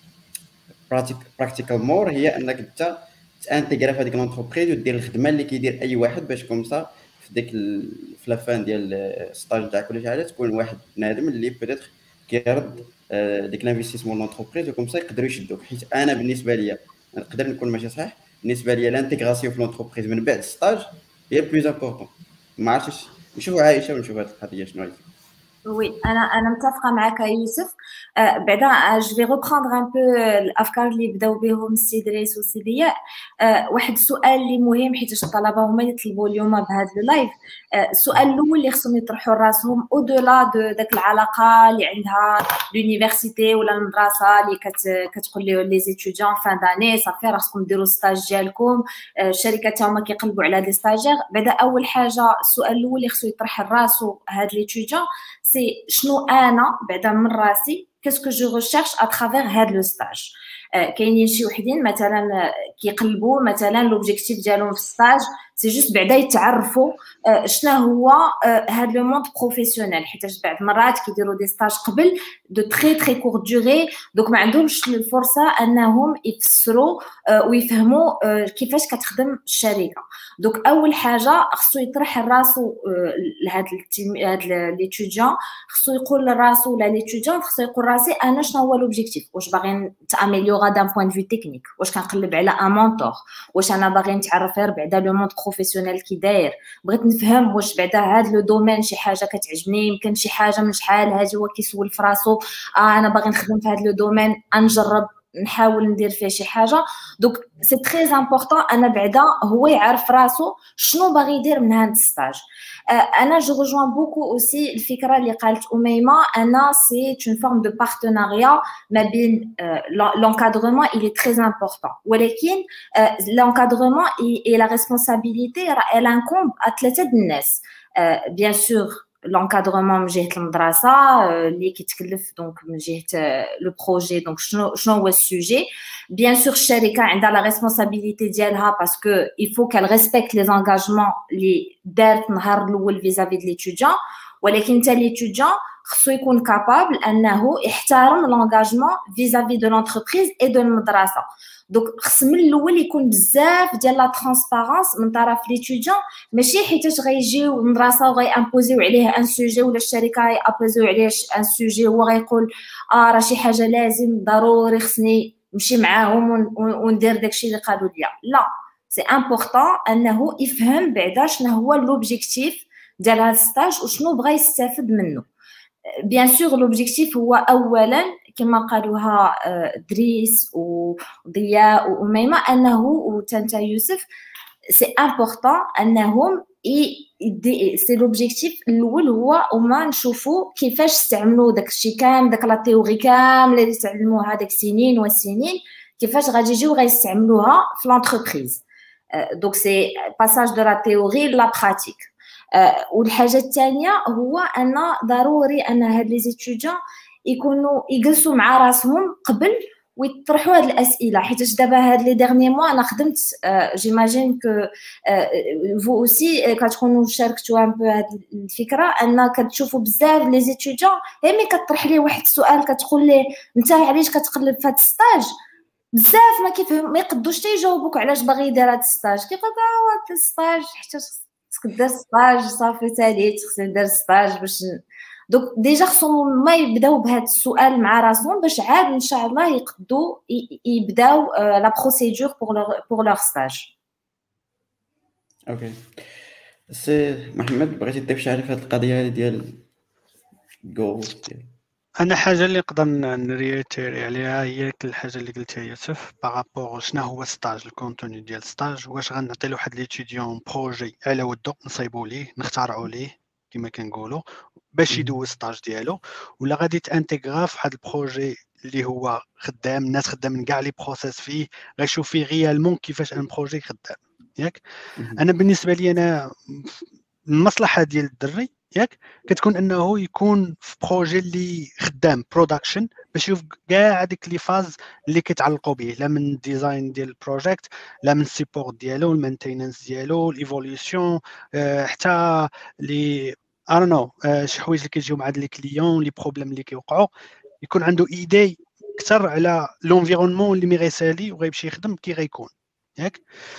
براكتيكال مور هي انك انت تانتيغرا في هذيك لونتربريز ودير الخدمه اللي كيدير اي واحد باش كومسا في ديك في لافان ديال الستاج تاعك ولا شي حاجه تكون واحد بنادم اللي بيتيتر كيرد ديك لانفستيسمون لونتربريز وكومسا يقدروا يشدوك. حيت انا بالنسبه ليا نقدر نكون ماشي صحيح، بالنسبه ليا لانتيغراسيون في لونتربريز من بعد الستاج هي بلوز امبورطون. ما عرفتش نشوفوا عائشه ونشوف هذه القضيه شنو هي. Oui, انا متفقه معك يوسف. بعدا جو في ريبروندر ان بو الافكار اللي بداو بهم السي دريس والسي ضياء. واحد السؤال اللي مهم حيت الطلبه هما يطلبوا اليوم بهذا اللايف. السؤال الاول اللي خصهم يطرحوا راسهم او دولا داك العلاقه اللي عندها لونيفرسيتي ولا المدرسه اللي كتقول لهم لي زيتيديون فان داني صافي راسكم ديروا ستاج ديالكم، الشركات هما كيقلبوا على دي ستاجير. بعدا اول حاجه السؤال الاول اللي خصو يطرح راسو هاد ليتيديون سي شنو انا بعدا من راسي كاسكو جو ريشيرش ا ترافير هاد لو ستاج. كاينين شي وحدين مثلا كيقلبوا مثلا لوبجيكتيف ديالهم في ستاج سي جوست بعدا يتعرفوا شنو هو هاد لو موند بروفيسيونيل، حيت بعض المرات كيديروا دي ستاج قبل دو تري كور دوري، دوك ما عندهمش الفرصه انهم يفسروا ويفهموا كيفاش كتخدم الشركه. دوك اول حاجه خصو يطرح راسو لهاد ليتيديون، خصو يقول لراسو ولا ليتيديون خصو يقول راسي انا شنو هو لوبجيكتيف، واش باغي نتاميليورا دان بوين فيو تكنيك، واش كنقلب على ان مونتور، واش انا باغي نتعرف غير بعدا لو موند بروفيسيونيل كي داير، بغيت نفهم واش بعدا هاد لو دومين شي حاجه كتعجبني، يمكن شي حاجه من شحال هادي هو كيسول فراسو انا باغي نخدم في هاد لو دومين نجرب نحاول ندير فيه شي حاجه. دونك سي تري امبورطون انا بعدا هو يعرف راسو شنو باغي يدير من هذا الستاج. انا جو rejoins بوكو اوسي الفكره اللي قالت اميمه، انا سي اون فورم دو بارتناريا ما بين l'encadrement il est très important، ولكن l'encadrement et la responsabilité elle incombe à ثلاثه الناس. bien sûr l'encadrement من جهه المدرسه اللي كيتكلف دونك من جهه لو بروجي، دونك شنو هو السوجي. bien sûr الشركه عندها لا ريسبونسابيلتي ديالها باسكو il faut qu'elle respecte les engagements اللي دارت نهار الاول vis-à-vis de l'étudiant، ولكن حتى l'étudiant خصو يكون كابابل انه يحترم لونغاجمون vis-à-vis de l'entreprise et de المدرسه. دونك خص من الاول يكون بزاف ديال لا ترانسبارونس من طرف ليتيديون، ماشي حيتاش غيجيو المدرسه وغيامبوزيو عليه ان سوجي ولا الشركه يابوزيو عليه ان سوجي هو غيقول راه شي حاجه لازم ضروري خصني نمشي معاهم وندير داكشي اللي قالوا لي. لا، سي امبورطون انه يفهم بعدا شنو هو لوبجيكتيف ديال هذا الستاج وشنو بغا يستافد منه. بيان سور لوبجيكتيف هو اولا كما قالوها دريس وضياء واميمه انه وتانتا يوسف، سي امبورطون انهم سي لوبجيكتيف الاول هو وما نشوفوا كيفاش استعملوا داكشي كامل، داك لا تيوري كامله اللي تعلموها داك سنين وسنين، كيفاش غادي يجيو غيستعملوها في لونتربريز. دونك سي باساج دو لا تيوري لا براتيك. والحاجه الثانيه هو ان ضروري ان هاد لي زيتيديون يكونوا يجلسوا مع راسهم قبل ويطرحوا هاد الاسئله، حيت دابا هاد لي ديرني موا انا خدمت جيماجين كو فو اوسي كتكونوا شاركتوا ان بو هاد الفكره، ان كتشوفوا بزاف لي زيتيديون مي كطرح ليه واحد السؤال كتقول ليه انت علاش كتقلب في هاد الستاج، بزاف ما كيفهم ما يقدوش تيجاوبوك علاش باغي يدير هاد الستاج، كيقول هاد الستاج حيت خصك دير ستاج صافي تاليت خصني ندير ستاج باش دونك ديجا خصهم ما يبداو بهذا السؤال مع راسهم باش عاد ان شاء الله يقدروا يبداو لا بروسيدور بور لور ستاج. اوكي سي محمد بغيتي تضيف شي حاجه في هذه القضيه ديال جو؟ انا حاجه اللي نقدر نريتيري عليها هي الحاجه اللي قلتها يوسف بارابور شنو هو ستاج، الكونتوني ديال ستاج، واش غنعطي لواحد ليتيديون بروجي على ودو نصايبوا ليه نخترعوا ليه كما كنقولوا باش يدوز ستاج ديالو، ولا غادي تانتيغرا في واحد البروجي اللي هو خدام الناس خدامين كاع لي بروسيس فيه غيشوف فيه ريالمون كيفاش ان بروجي خدام ياك. انا بالنسبه لي انا المصلحه ديال الدري ياك كتكون انه يكون في بروجي اللي خدام برودكشن باش يشوف كاع هذيك لي فاز اللي كيتعلقوا به، لا من الديزاين ديال البروجيكت، لا من السيبور ديالو، المينتيننس ديالو، الايفوليوشن، حتى لي نو شي حوايج اللي كيجيو مع لي كليون، لي بروبليم اللي كيوقعوا، يكون عنده ايدي اكثر على لونفيرونمون اللي غيسالي وغيمشي يخدم كي غيكون ياك.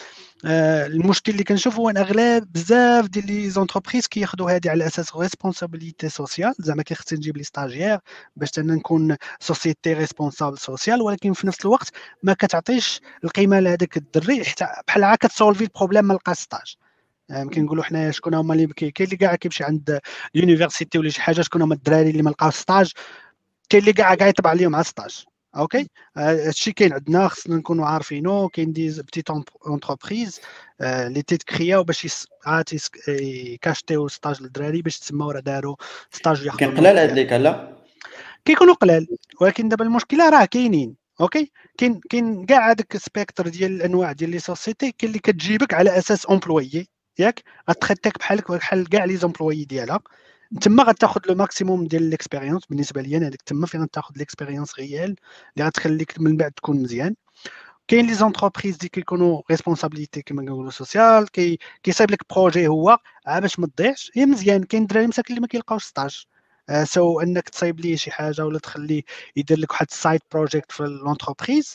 المشكل اللي كنشوف هو ان اغلب بزاف ديال لي زونتربريز كياخذوا هذه على اساس ريسبونسابيلتي سوسيال، زعما كيخصني نجيب لي ستاجير باش انا نكون سوسيتي ريسبونسابل سوسيال، ولكن في نفس الوقت ما كتعطيش القيمه لهذاك الدري حتى بحال هكا تسولفي البروبليم ما لقاش ستاج. كنقولوا حنايا شكون هما اللي كاين اللي كاع كيمشي عند اليونيفرسيتي ولا شي حاجه، شكون هما الدراري اللي ما لقاوش ستاج، كاين اللي كاع يطبع عليهم على ستاج. اوكي هادشي كاين عندنا خصنا نكونوا عارفينه. كاين دي بتيت اونتربريز اللي تيتكرياو باش يكاشتيو ستاج للدراري باش تسماو راه داروا ستاج ياخذوا. كاين قلال هاد ليك لا كيكونوا قلال، ولكن دابا المشكله راه كاينين. اوكي كاين كاع هذاك السبيكتر ديال الانواع ديال لي سوسيتي، كاين اللي كتجيبك على اساس امبلويي ياك، غتريتيك بحال كاع لي زومبلويي ديالها، تما غتاخذ لو ماكسيموم ديال ليكسبيريونس. بالنسبه لي انا هذيك تما فين غتاخذ ليكسبيريونس ريال اللي غتخليك من بعد تكون مزيان. كاين لي زونتربريز اللي كيكونوا ريسبونسابيلتي كما كنقولوا سوسيال، كيصايب لك بروجي هو باش ما تضيعش، هي مزيان. كاين دراري مساكن اللي ما كيلقاوش ستاج، سو انك تصايب ليه شي حاجه ولا تخليه يدير لك واحد السايد بروجيكت في لونتربريز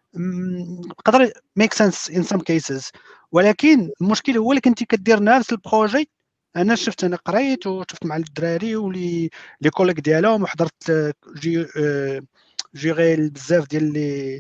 يقدر ميك سنس ان سام كيسز، ولكن المشكل هو اللي كنتي كدير نفس البروجي. انا شفت، انا قريت وشفت مع الدراري ولي لي كوليك ديالهم وحضرت جيري بزاف ديال لي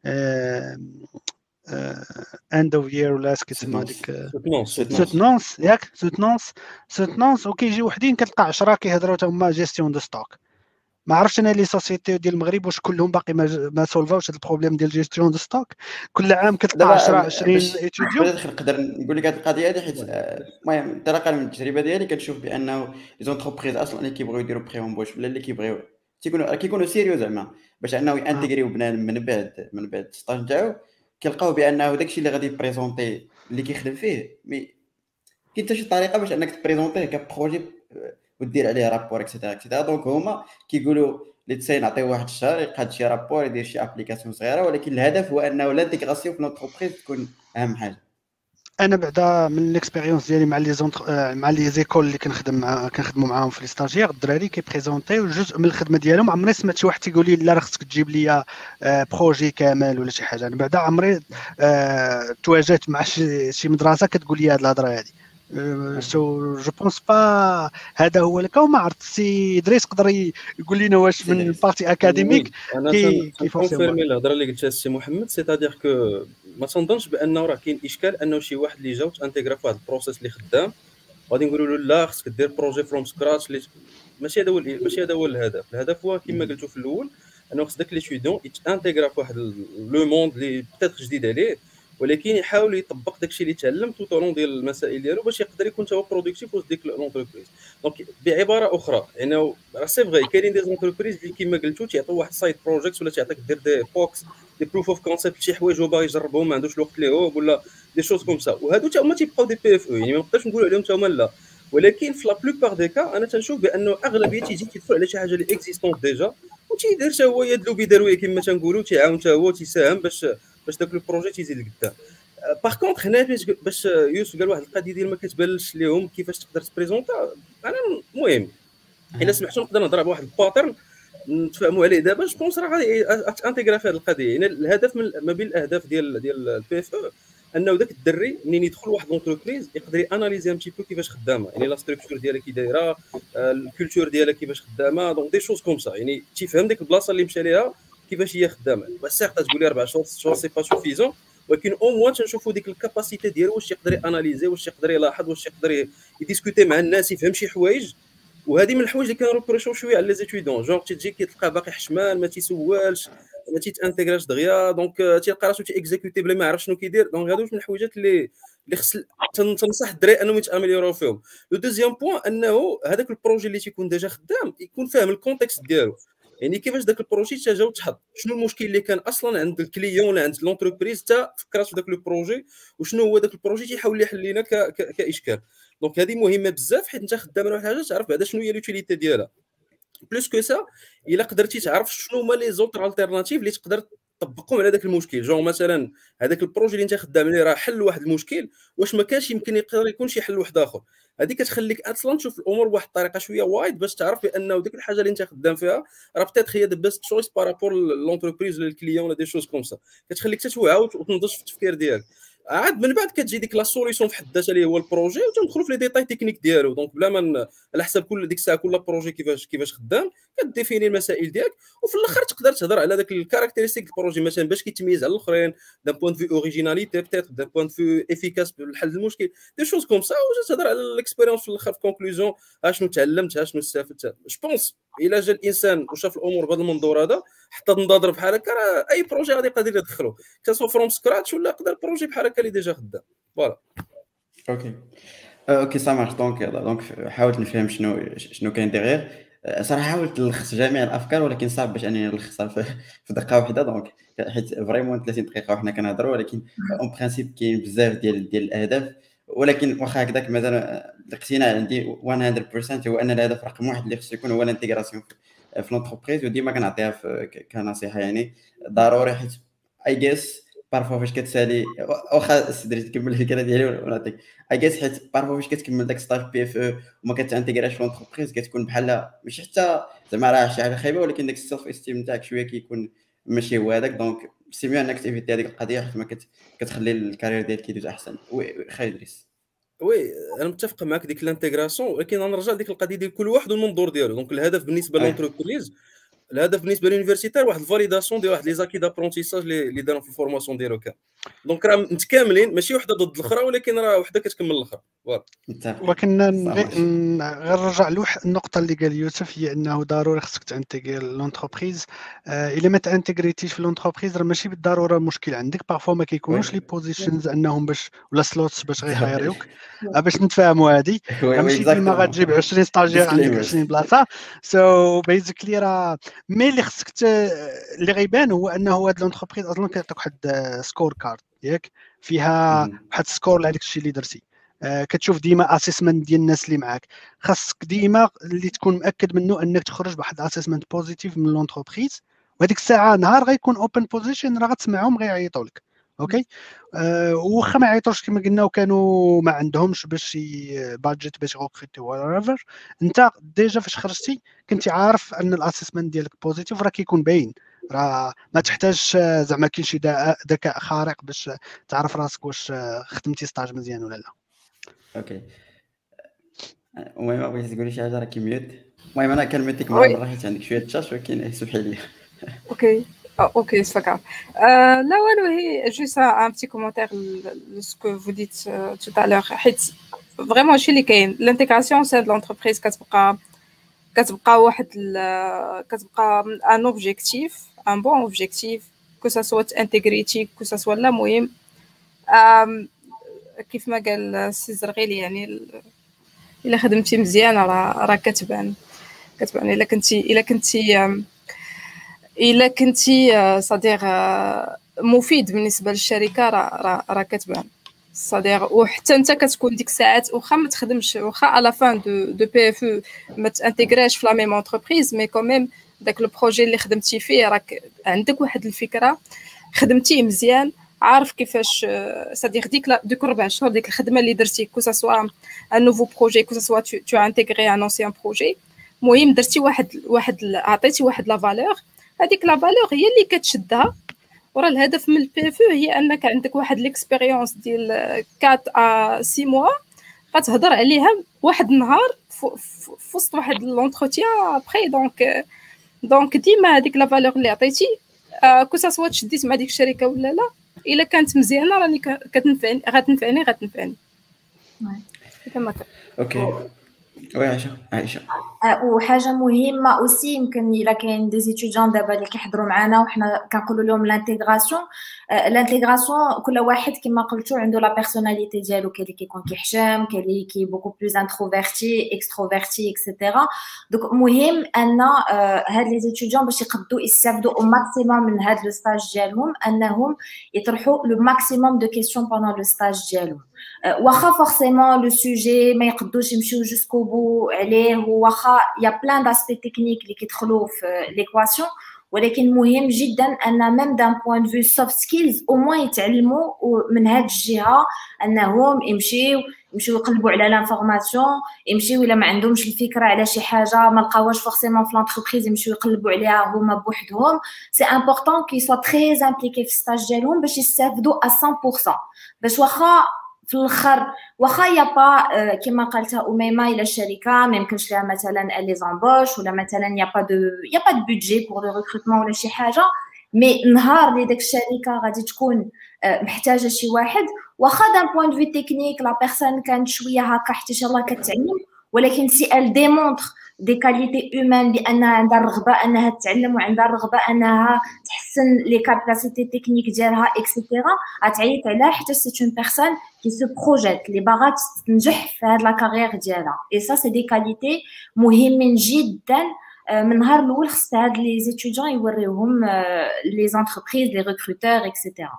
اند اوف يير ولا كيسمى هذيك سوتنونس ياك، سوتنونس وكيجي وحدين كتلقى 10 كيهضروا حتى هما جيستيون دو ستوك. ما عرفتش انا لي سوسيتي ديال المغرب واش كلهم باقي ما سولفاوش هذا البروبليم ديال جيستيون دو ستوك. كل عام كتلقى 10 20 ايتوديون. نقدر نقول لك هذه القضيه هذه، حيت المهم انطلاقا من التجربه ديالي كنشوف بانه لي زونتربريز اصلا اللي كيبغيو يديروا بري اونبوش ولا اللي كيبغيو كيكونوا سيريو زعما باش انه يانتيغريو بنادم من بعد السطاج نتاعو، كيلقاو بانه داكشي اللي غادي يبريزونتي اللي كيخدم فيه كاين حتى شي طريقه باش انك تبريزونتيه كبروجي ودير عليه رابور اكسيتيرا. دونك هما كيقولوا لي تساي نعطيو واحد الشهر يقاد شي رابور يدير شي ابليكاسيون صغيره، ولكن الهدف هو انه لانتيغراسيون في لونتربريز تكون اهم حاجه. انا بعدا من الاكسبيريونس ديالي مع لي زيكول اللي كنخدموا معاهم في لي ستاجير، الدراري كيبريزونطيو جزء من الخدمه ديالهم. عمري سمعت شي واحد تيقول لي لا راه خصك تجيب لي بروجي كامل ولا شي حاجه. انا بعدا عمري تواجهت مع شي مدرسه كتقول لي هاد الهضره هادي. سو جو بونس با هذا هو لك. وما عرفت سي دريس يقدر يقول لنا واش من البارتي اكاديميك كيف كونفيرمي الهضره اللي قلتها السي محمد. سيتادير كو ما تنظنش بانه راه كاين اشكال انه شي واحد اللي جا وتانتيغرا في واحد البروسيس اللي خدام غادي نقولوا له لا خصك دير بروجي فروم سكراتش. ماشي هذا هو الهدف. الهدف هو كما قلتو في الاول انه خص داك لي ستوديون يتانتيغرا في واحد لو موند اللي بتات جديد عليه، ولكن يحاول يطبق داكشي اللي تعلم تو طولون ديال المسائل ديالو باش يقدر يكون هو برودكتيف وسط ديك لونتربريز. دونك بعباره اخرى يعني راه سي فغي كاينين دي زونتربريز اللي كما قلتو تيعطيو واحد سايد بروجيكت ولا تيعطيك دير دي بوكس دي بروف اوف كونسيبت شي حوايج هو باغي يجربهم ما عندوش الوقت ليهم ولا دي شوز كوم سا، وهادو حتى هما تيبقاو دي بي اف او. يعني ما نقدرش نقول عليهم حتى هما لا، ولكن في لا بلوبار دي كا انا تنشوف بانه اغلبيه تيجي تيدخل على شي حاجه اللي اكزيستونت ديجا وتيدير حتى هو يدلو بيدروي كما تنقولوا، تيعاون حتى هو تيساهم باش داك البروجي تيزيد لقدام. باغ كونطخ هنا باش يوسف قال واحد القضيه ديال ما كتبانش ليهم كيفاش تقدر تبريزونطا. انا المهم الا سمحتوا نقدر نهضر بواحد الباترن نتفاهموا عليه دابا. جو بونس راه غادي انتيغرا في هذه القضيه. يعني الهدف ما بين الاهداف ديال البي اف او انه داك الدري منين يدخل واحد لونتربريز يقدر ياناليزي ان تي بو كيفاش خدامه، يعني لا ستركتور ديالها كي دايره، الكولتور ديالها كيفاش خدامه، دونك دي شوز كوم سا. يعني تيفهم ديك البلاصه اللي مشى ليها كيفاش هي خدامه. سيغ تقول لي 4 شهور 6 شهور سي با سوفيزون، ولكن او موان تنشوفوا ديك الكاباسيتي ديالو واش يقدر ياناليزي، واش يقدر يلاحظ، واش يقدر يديسكوتي مع الناس، يفهم شي حوايج. وهذه من الحوايج اللي كنروبروشيو شويه على لي زيتيدون، جونغ تيجي كتلقاه باقي حشمان ما تيسوالش ما تيتانتيغراش دغيا، دونك تيلقى راسو تيكزيكوتي بلا ما يعرف شنو كيدير. دونك هادو من الحوايجات اللي خص تنصح الدراري انهم يتامليوراو فيهم. لو دوزيام بوين انه هذاك البروجي اللي تيكون ديجا خدام يكون فاهم الكونتكست ديالو، يعني كيفاش داك البروجي جا وتحط، شنو المشكل اللي كان اصلا عند الكليون ولا عند لونتربريز حتى فكرات في داك البروجي، وشنو هو داك البروجي تيحاول يحل لنا كاشكال. دونك هذه مهمه بزاف، حيت انت خدام على واحد الحاجه تعرف بعدا شنو هي لوتيليتي ديالها. بلوس كو سا الا قدرتي تعرف شنو هما لي زوتر التيرناتيف اللي تقدر تطبقهم على داك المشكل. جونغ مثلا هذاك البروجي اللي انت خدام عليه راه حل واحد المشكل، واش ما كانش يمكن يقدر يكون شي حل واحد اخر. هذه كتخليك اصلا تشوف الامور بواحد الطريقه شويه وايد باش تعرف بانه ديك الحاجه اللي انت خدام فيها راه بتات هي ذا بيست تشويس بارابور لونتربريز ولا الكليون ولا دي شوز كوم سا. كتخليك تتوعى وتنضج في التفكير ديالك. عاد من بعد كتجي ديك لا سوليسيون في حد ذاتها اللي هو البروجي، وتندخلوا في لي ديتاي تكنيك ديالو. دونك بلا ما على حسب كل ديك الساعه كل بروجي كيفاش خدام كديفيني المسائل ديالك، وفي الاخر تقدر تهضر على داك الكاركتيرستيك البروجي مثلا باش كيتميز على الاخرين دان بوين في اوريجيناليتي بتيت دان بوين في افيكاس بالحل المشكل دي شوز كوم سا، وتهضر على الاكسبيريونس في الاخر في كونكلوزيون شنو تعلمت شنو استفدت. جو بونس الا جا الانسان وشاف الامور بهذا المنظور هذا حتى تنضادر بحال هكا راه اي بروجي غادي يقدر يدخلو كسو فروم سكراتش ولا يقدر بروجي بحال هكا اللي ديجا خدام. فوالا اوكي سا مارش. دونك حاولت نفهم شنو كاين ديغير. صراحه حاولت نلخص جميع الافكار ولكن صعب باش انني نلخصها في دقه واحده، دونك حيت فريمون 30 دقيقه وحنا كنهضروا، ولكن اون برينسيپ كاين بزاف ديال الاهداف. ولكن واخا هكذاك مازال الاقتناع عندي 100% هو ان الهدف رقم واحد اللي خصو يكون هو الانتيغراسيون في لونتربريز، وديما كنعطيها كنصيحه. يعني ضروري، حيت اي جيس بارفو فاش كتسالي واخا سدري تكمل الفكره ديالي ونعطيك اي جيس، حيت بارفو فاش كتكمل داك ستاج بي اف او وما كتانتيغراش في لونتربريز كتكون بحال ماشي حتى زعما راه شي حاجه خايبه، ولكن داك السيلف استيم نتاعك شويه كيكون ماشي هو هذاك. دونك سي ميو انك تيفيتي هذيك القضيه حيت ما كتخلي الكارير ديالك يدوز احسن. وي خاي ادريس. وي انا متفق معك ديك الانتيغراسيون، ولكن غنرجع لديك القضيه ديال كل واحد والمنظور ديالو. دونك الهدف بالنسبه للونتربريز، الهدف بالنسبه للونيفرسيتير واحد الفاليداسيون ديال واحد لي زاكي دابرونتيساج اللي داروا في الفورماسيون ديالو كامل. دونك راه متكاملين، ماشي وحده ضد الاخرى، ولكن راه وحده كتكمل الاخرى. ولكن غير نرجع لوح النقطه اللي قال يوسف، هي انه ضروري خصك تانتيغي لونتربريز. الا ما تانتيغريتيش في لونتربريز راه ماشي بالضروره مشكل عندك، بارفو ما كيكونوش لي بوزيشنز انهم باش ولا سلوتس باش غيخيريوك. باش نتفاهموا هذه راه ماشي ديما غتجيب 20 ستاجير عندك 20 بلاصه. سو بيزيكلي راه مي اللي خصك اللي غيبان هو انه هاد لونتربريز اصلا كيعطيك واحد سكور كارد ياك فيها واحد سكور على داك الشيء اللي درتي. كتشوف ديما اسيسمنت ديال الناس اللي معاك، خاصك ديما اللي تكون مأكد منه انك تخرج بواحد اسيسمنت بوزيتيف من لونتربريز، وهذيك الساعه نهار غيكون اوبن بوزيشن راه غتسمعهم غيعيطوا لك. اوكي واخا ما يعيطوش كما قلنا وكانوا ما عندهمش باش بادجيت باش يغوكريتي ولا انت ديجا فاش خرجتي كنتي عارف ان الاسيسمنت ديالك بوزيتيف، راه كيكون باين، راه ما تحتاجش زعما كاين شي ذكاء خارق باش تعرف راسك واش خدمتي ستاج مزيان ولا لا. اوكي المهم بغيتي تقولي شي حاجه راه كيميوت. المهم انا كلمتك مره حيت عندك شويه تشاش، ولكن سمحي لي. Ok, c'est pas grave. Là, ouais, juste un petit commentaire de ce que vous dites tout à l'heure. Vraiment, chez les Kane, l'intégration au sein de l'entreprise, un objectif, un bon objectif, que ça soit intégrité, que ça soit la moyenne. كيف ما قال السي زرغيلي يعني الا خدمتي مزيان راه كتبان الا كنتي صديق مفيد بالنسبه للشركه راه كتبان صديق. وحتى انت كتكون ديك الساعات واخا ما تخدمش، واخا على فان دو بي اف ما تانتيغراش في لا ميم انتربريز، مي كوميم داك لو بروجي اللي خدمتي فيه راك عندك واحد الفكره، خدمتيه مزيان، عارف كيفاش صديق ديك 4 شهور ديك الخدمه اللي درتي، كو سوا ان نوفو بروجي، كو سوا تو انتيغري ان انسيان بروجي، المهم درتي واحد عطيتي واحد لا فالور، هذيك لا فالور هي اللي كتشدها. وراه الهدف من البي اف هي انك عندك واحد ليكسبيريونس ديال 4 ا 6 موا غتهضر عليها واحد النهار في وسط واحد لونتروتيان ابري. دونك ديما هذيك لا فالور اللي عطيتي كو سوا تشديت مع ديك الشركه ولا لا، الا كانت مزيانه راني غتنفعني. كما اوكي وي عائشه وحاجه مهمه اوسي، يمكن الا كاين دي زيتيديون دابا اللي كيحضروا معنا وحنا كنقولوا لهم لانتيغراسيون كل واحد كما قلتوا عنده لا بيرسوناليتي ديالو، كاين اللي كيكون كيحشم، كاين اللي كي بوكو بلوز انتروفيرتي اكستروفيرتي اكسيتيرا. دونك مهم ان هاد لي زيتيديون باش يقدروا يستافدوا او ماكسيموم من هاد لو ستاج ديالهم، انهم يطرحوا لو ماكسيموم دو كيسيون بوندون لو ستاج ديالهم. واخا فورسيمون لو سوجي ما يقدوش يمشيو جوسكو بو عليه، واخا يا بلان داسبي تكنيك اللي كيدخلوا في ليكواسيون، ولكن مهم جدا ان ميم دان بوين فيو سوفت سكيلز او موان يتعلموا من هاد الجهه، انهم يمشيو يقلبوا على لانفورماسيون، يمشيو الا ما عندهمش الفكره على شي حاجه ما لقاوهاش فورسيمون في لونتربريز، يمشيو يقلبوا عليها هما بوحدهم. سي امبورطون كي سوا تري امبليكي في ستاج ديالهم باش يستافدوا 100%، باش واخا في الاخر واخا يا با كما قالتها اميمه الى الشركه ما يمكنش لها مثلا لي زامبوش ولا مثلا يا با دو بودجي بور لو ريكروتمون ولا شي حاجه، مي نهار اللي داك الشركه غادي تكون محتاجه شي واحد، واخا دان بوين دو في تكنيك لا بيرسون كانت شويه هكا حتى ان شاء الله كتعلم، ولكن سي ال ديمونطر دي كاليتي هومان بانها عندها الرغبه انها تتعلم وعندها الرغبه انها تحسن لي كاباسيتي تكنيك ديالها اكسيتيرا، غتعيط عليها حتى سي اون بيرسون كي سو بروجيت اللي باغا تنجح في هاد لا كارير ديالها. اي سا سي دي كاليتي مهمين جدا من نهار الاول خص هاد لي زيتيديون يوريوهم لي زونتربريز لي ريكروتور اكسيتيرا.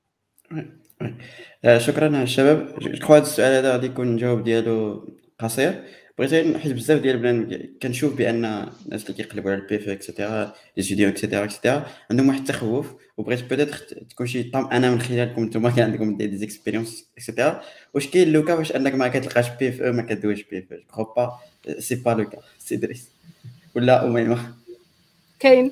شكرا الشباب. جو هذا السؤال هذا غادي يكون الجواب ديالو قصير. بغيت حيت بزاف ديال البلان كنشوف بان الناس اللي كيقلبوا على البي اف اكسيتيرا لي ستوديون اكسيتيرا عندهم واحد التخوف، وبغيت بيتيتر تكون شي انا من خلالكم نتوما كان عندكم دي زيكسبيريونس اكسيتيرا، واش كاين لوكا باش انك ما كتلقاش بي اف ما كدويش بي اف؟ جو با سي با لوكا سي دريس ولا اميمه؟ كاين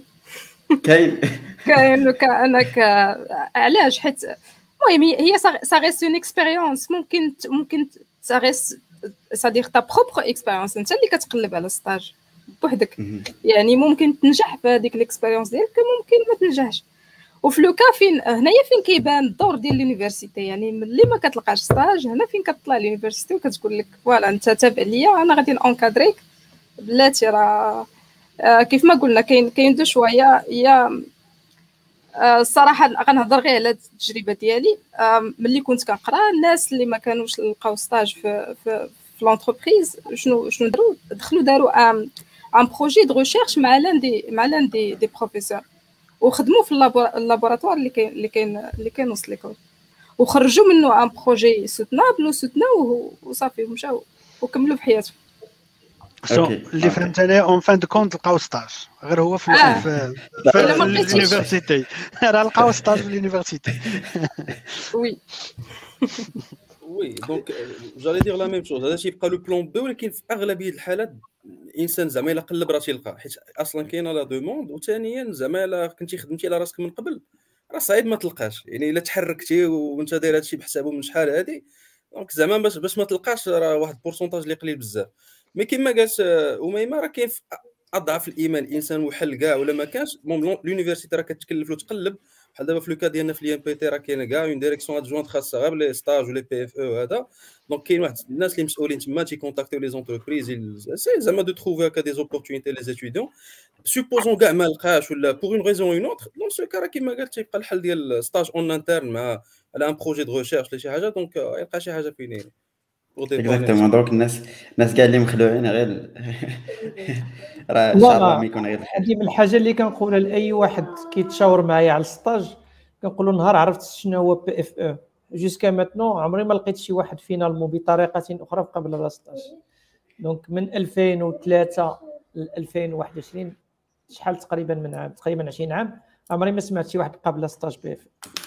لوكا انك علاش؟ حيت المهم هي سا ريست اون اكسبيريونس، ممكن سا ريست صديق تا بروبر اكسبيريونس، انت اللي كتقلب على ستاج بوحدك، يعني ممكن تنجح في هذيك الاكسبيريونس ديالك، ممكن ما تنجحش. وفي لوكا فين هنايا فين كيبان الدور ديال لونيفرسيتي، يعني ملي ما كتلقاش ستاج هنا فين كتطلع لونيفرسيتي وكتقول لك فوالا انت تابع ليا انا غادي نونكادريك بلاتي. راه كيف ما قلنا كاين دو شويه. هي الصراحه غنهضر غير على التجربه ديالي. ملي كنت كنقرا الناس اللي ما كانوش لقاو ستاج في لونتربريز شنو داروا ان بروجي دو ريشيرش مع لان دي بروفيسور، وخدموا في اللابوراتوار اللي كاين وسط ليكول، وخرجوا منه ان بروجي سوتنابل وسوتناوه وصافي ومشاو وكملوا في حياتهم. اللي فهمت انا اون فان دو كونت لقاو ستاج غير هو في اليونيفرسيتي. راه لقاو ستاج في اليونيفرسيتي. وي وي دونك جالي دير لا ميم شوز. هذا تيبقى لو بلون بي، ولكن في اغلبيه الحالات الانسان زعما الا قلب راه تيلقى، حيت اصلا كاينه لا دوموند، وثانيا زعما الا كنتي خدمتي على راسك من قبل راه صعيب ما تلقاش. يعني الا تحركتي وانت داير هادشي بحسابه من شحال هادي، دونك زعما باش ما تلقاش راه واحد البورسونتاج اللي قليل بزاف. مي كما قالت اميمه راه كاين اضعف الايمان الانسان وحل كاع ولا ما كانش لونيفرسيتي راه كتكلف له تقلب. بحال دابا في لو كا ديالنا في الام بي تي راه كاينه كاع اون ديريكسيون ادجوانت خاصه غير لي ستاج ولي بي اف او هذا. دونك كاين واحد الناس اللي مسؤولين تما تيكونتاكتيو لي زونتربريز سي زعما دو تروفي هكا دي زوبورتونيتي لي ستوديون. سوبوزون كاع ما لقاش ولا بوغ اون ريزون اون اوتر، دونك سو كا راه كيما قالت تيبقى الحل ديال ستاج اون انترن مع على ان بروجي دو ريشيرش ولا شي حاجه، دونك يلقى شي حاجه فين اكزاكتومون. دونك الناس كاع اللي مخلوعين غير راه ان شاء الله ما يكون غير الخير. هذه من الحاجه اللي كنقولها لاي واحد كيتشاور معايا على السطاج، كنقول له نهار عرفت شنو هو بي اف او جوسكا ماتنو عمري ما لقيت شي واحد فينا بطريقه اخرى قبل هذا السطاج. دونك من 2003 ل 2021 شحال تقريبا من عام، تقريبا 20 عام، عمري ما سمعت شي واحد قبل ستاج بي اف.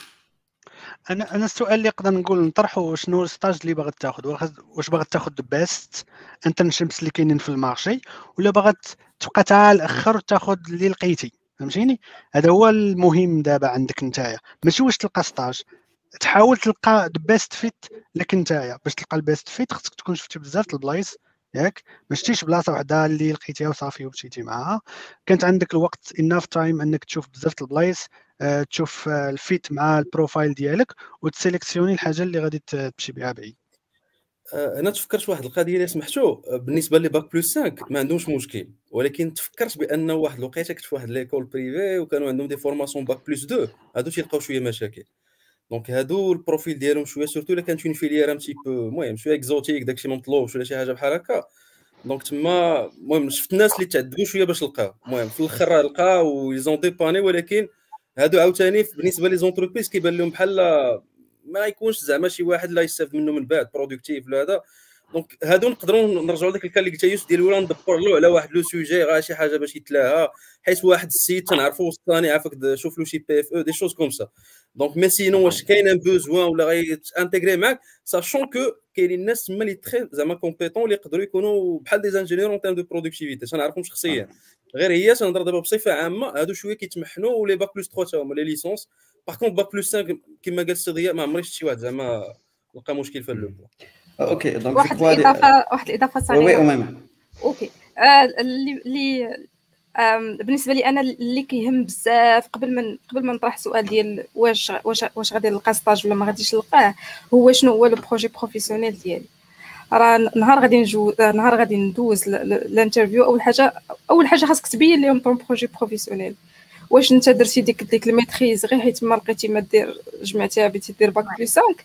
انا السؤال اللي نقدر نقول نطرحه شنو الستاج اللي باغي تاخذ؟ واش باغي تاخذ بيست انترنشيبس اللي كاينين في المارشي، ولا باغي تبقى حتى الاخر وتاخذ اللي لقيتي؟ فهمتيني؟ هذا هو المهم دابا عندك نتايا، ماشي واش تلقى ستاج، تحاول تلقى بيست فيت لك نتايا. باش تلقى البيست فيت خصك تكون شفتي بزاف البلايص ياك، ما شتيش بلاصه وحده اللي لقيتيها وصافي ومشيتي معاها. كانت عندك الوقت اناف تايم انك تشوف بزاف البلايص، تشوف الفيت مع البروفايل ديالك وتسيليكسيوني الحاجه اللي غادي تمشي بها بعيد. انا تفكرت واحد القضيه اللي سمحتو بالنسبه لي باك بلس 5 ما عندهمش مشكل، ولكن تفكرت بان واحد الوقيته كنت في واحد ليكول بريفي وكانوا عندهم دي فورماسيون باك بلس 2، هادو تيلقاو شويه مشاكل. دونك هادو البروفيل ديالهم شويه سورتو الا كانت اون فيليير ان تي بو المهم شويه اكزوتيك داكشي ما مطلوبش ولا شي حاجه بحال هكا. دونك تما المهم شفت الناس اللي تعذبوا شويه باش لقاو، المهم في الاخر لقاو ويزون ديباني. ولكن هادو عاوتاني بالنسبه لي زونتربريز كيبان لهم بحال ما يكونش زعما شي واحد لا يستافد منه من بعد برودكتيف ولا هذا. دونك هادو نقدروا نرجعوا لذاك الكال اللي قلت يوسف ديال ولا ندبر له على واحد لو سوجي غير شي حاجه باش يتلاها، حيت واحد السيد تنعرفوا الثاني عافاك شوف له شي بي اف او دي شوز كوم سا. دونك مي سينون واش كاين ان بوزوان ولا غيتانتيغري معاك ساشون كو كاينين الناس تما اللي تري زعما كومبيتون اللي يقدروا يكونوا بحال دي انجينيور اون تيرم دو برودكتيفيتي. تنعرفهم شخصيا غير هي تنهضر دابا بصفه عامه. هادو شويه كيتمحنوا ولي باك بلس 3 تا هما لي ليسونس. باغ كونط باك بلس 5 كما قال السي ضياء ما عمري شفت شي واحد زعما لقى مشكل في اللوب. اوكي دونك واحد الاضافه صغيره. وي اميمه. اوكي اللي بالنسبه لي انا اللي كيهم بزاف قبل ما نطرح سؤال ديال واش غادي نلقى ستاج ولا ما غاديش نلقاه، هو شنو هو لو بروجي بروفيسيونيل ديالي. راه نهار غادي ندوز الانترفيو، اول حاجه خاصك تبين لهم طون بروجي بروفيسيونيل. واش انت درتي ديك الميتريز غير حيت ما لقيتي ما دير جمعتيها بغيتي دير باك بلس 5،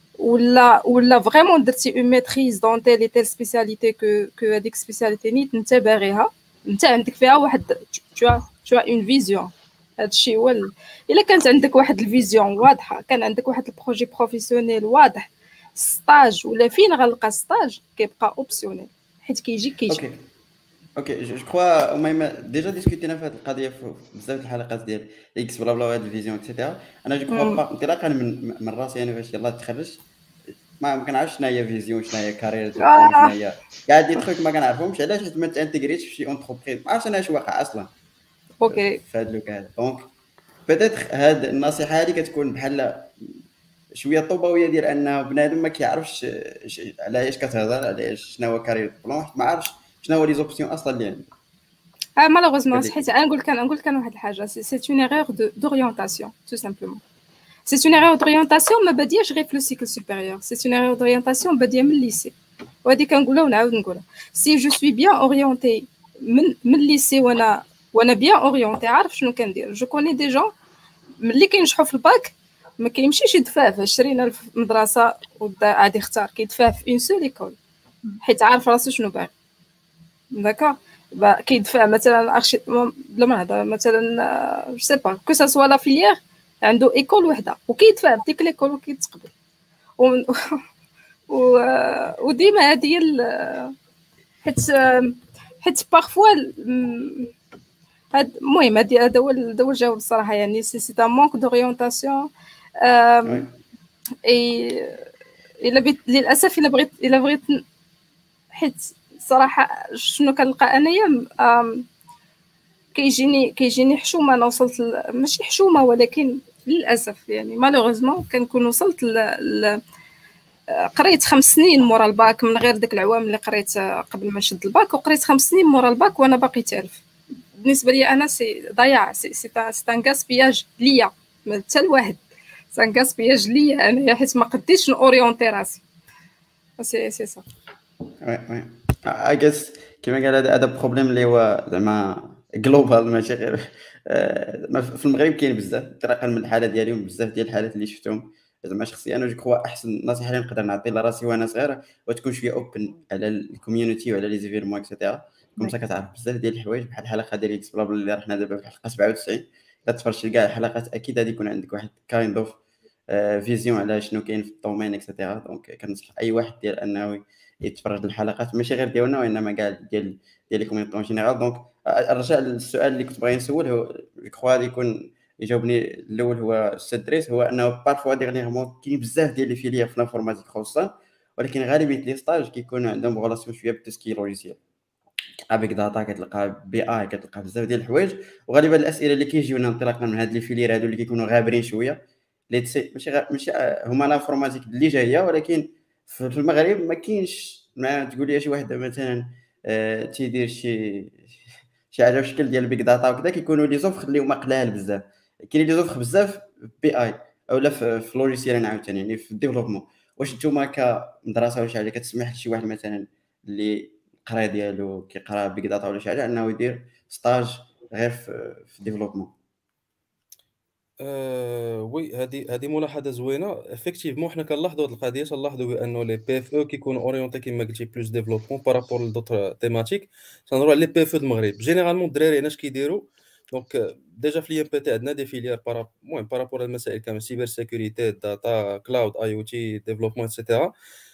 ولا فريمون درتي اون ميتريز دون تيل سبيسياليتي كو هذيك سبيسياليتي نيت انت باغيها، انت عندك فيها واحد تو اون فيزيون. هادشي هو الا كانت عندك واحد الفيزيون واضحه، كان عندك واحد البروجي بروفيسيونيل واضح، ستاج ولا فين غنلقى ستاج كيبقى اوبسيونيل حيت كيجي. اوكي جو كخوا المهم ديجا ديسكوتينا في هذه القضيه في بزاف الحلقات ديال اكس بلا بلا وهاد الفيزيون اكسيتيرا. انا جو كخوا انطلاقا من راسي انا فاش يلاه تخرجت ما كنعرفش شنو هي فيزيون، شنو هي كارير، شنو هي كاع دي تروك ما كنعرفهمش. علاش؟ حيت ما تانتيغريتش في شي اونتربريز، ما عرفتش انا اش واقع اصلا اوكي في هذا لوك هذا. دونك بيتيتر هاد النصيحه هذه كتكون بحال شويه طوبويه ديال انه بنادم ما كيعرفش على ايش كتهضر، على ايش شنو هو كارير بلون، ما عارفش شنو هو لي زوبسيون اصلا اللي عنده. مالوغوزمون حيت نقول لك واحد الحاجه، سي اون ايرور دوريونتاسيون تو سامبلومون. سي اون ايرور دوريونتاسيون ما بادياش غير في لو سيكل سوبيريور، سي اون ايرور دوريونتاسيون باديه من الليسي. وهذه كنقولها ونعاود نقولها، سي جو سوي بيان اورينتي من الليسي وانا بيان اورينتي عارف شنو كندير. جو كوني دي جون ملي كينجحوا في الباك ما كيمشيش يدفع في 20 مدرسه وغادي يختار، كيدفع في اون سول ايكول حيت عارف راسو شنو باغي. داكوغ كيدفع مثلا بلا ما نهضر مثلا جو سي با كو سا سوا لا فيليير عنده ايكول وحده وكيدفع بديك ليكول وكيتقبل وديما هذه حيت بارفوا هاد المهم هذا هو الجواب الصراحه. يعني سي ان مونك دوريونتاسيون الا للاسف الا بغيت حيت صراحه شنو كنلقى انايا كيجيني حشومه. انا وصلت ماشي حشومه ولكن للاسف يعني مالوغوزمون كنكون وصلت قريت 5 سنين مورا الباك من غير داك العوام اللي قريت قبل ما نشد الباك، وقريت 5 سنين مورا الباك وانا باقي تعرف. بالنسبه لي انا سي ضياع، سي ان غاسبياج ليا حتى الواحد، سي ان غاسبياج ليا انا حيت ما قديتش نوريونتي راسي. سي صح وي اي جيس كيما قال هذا بروبليم اللي هو زعما جلوبال ماشي غير في المغرب. كاين بزاف طريقه من الحاله ديالهم، بزاف ديال الحالات اللي شفتهم زعما شخصيا. انا جو كخوا احسن نصيحه اللي نقدر نعطي لراسي وانا صغير وتكون شويه اوبن على الكوميونيتي وعلى لي زيفيرمون اكسيتيرا. كومسا كتعرف بزاف ديال الحوايج بحال الحلقه ديال اكس بلابل اللي رحنا دابا في الحلقه 97. كتفرج كاع الحلقات اكيد غادي يكون عندك واحد كايند اوف فيزيون على شنو كاين في الدومين اكسيتيرا. دونك كنصح اي واحد ديال انه يتفرج الحلقات ماشي غير ديالنا وانما كاع ديال لي كوميونيتي اون جينيرال. دونك ارجع للسؤال اللي كنت باغي نسول، هو كخوا غادي يكون يجاوبني الاول هو الاستاذ دريس. هو انه بارفوا ديغنيغمون كاين بزاف ديال لي فيليير في الانفورماتيك خصوصا، ولكن غالبيه لي ستاج كيكون عندهم غولاسيون شويه بالتسكيل لوجيسيال. كتلقى بيك داتا، كتلقى بي اي، كتلقى بزاف ديال الحوايج. وغالبا الاسئله اللي كيجيونا انطلاقا من هاد لي فيليير هادو اللي كيكونوا غابرين شويه ماشي هما الانفورماتيك اللي جايه، ولكن في المغرب ما كاينش. ما تقول لي شي واحد مثلا تيدير شي حاجه في شكل ديال بيك داتا وكذا، كيكونوا لي زوفر اللي هما قلال بزاف. كاين لي زوفر بزاف بي اي اولا في لوجيسيال عاوتاني يعني في الديفلوبمون. واش نتوما كمدرسه ولا شي حاجه كتسمح لشي واحد مثلا اللي القرايه ديالو كيقرا بيك داتا ولا شي حاجه انه يدير ستاج غير في الديفلوبمون؟ وي هذه ملاحظه زوينه. افكتيفمون حنا كنلاحظوا هذه القضيه، تنلاحظوا بانه لي بي اف او كيكونوا اورينتي كيما قلتي بلوس ديفلوبمون بارابور لدوطر تيماتيك. تنهضروا على لي بي اف او المغرب جينيرالمون الدراري هنا اش كيديروا. دونك ديجا في لي ام بي تي عندنا دي فيليير المهم بارابور المسائل كامل سيبر سيكوريتي داتا كلاود اي او تي ديفلوبمون اكسيتيرا.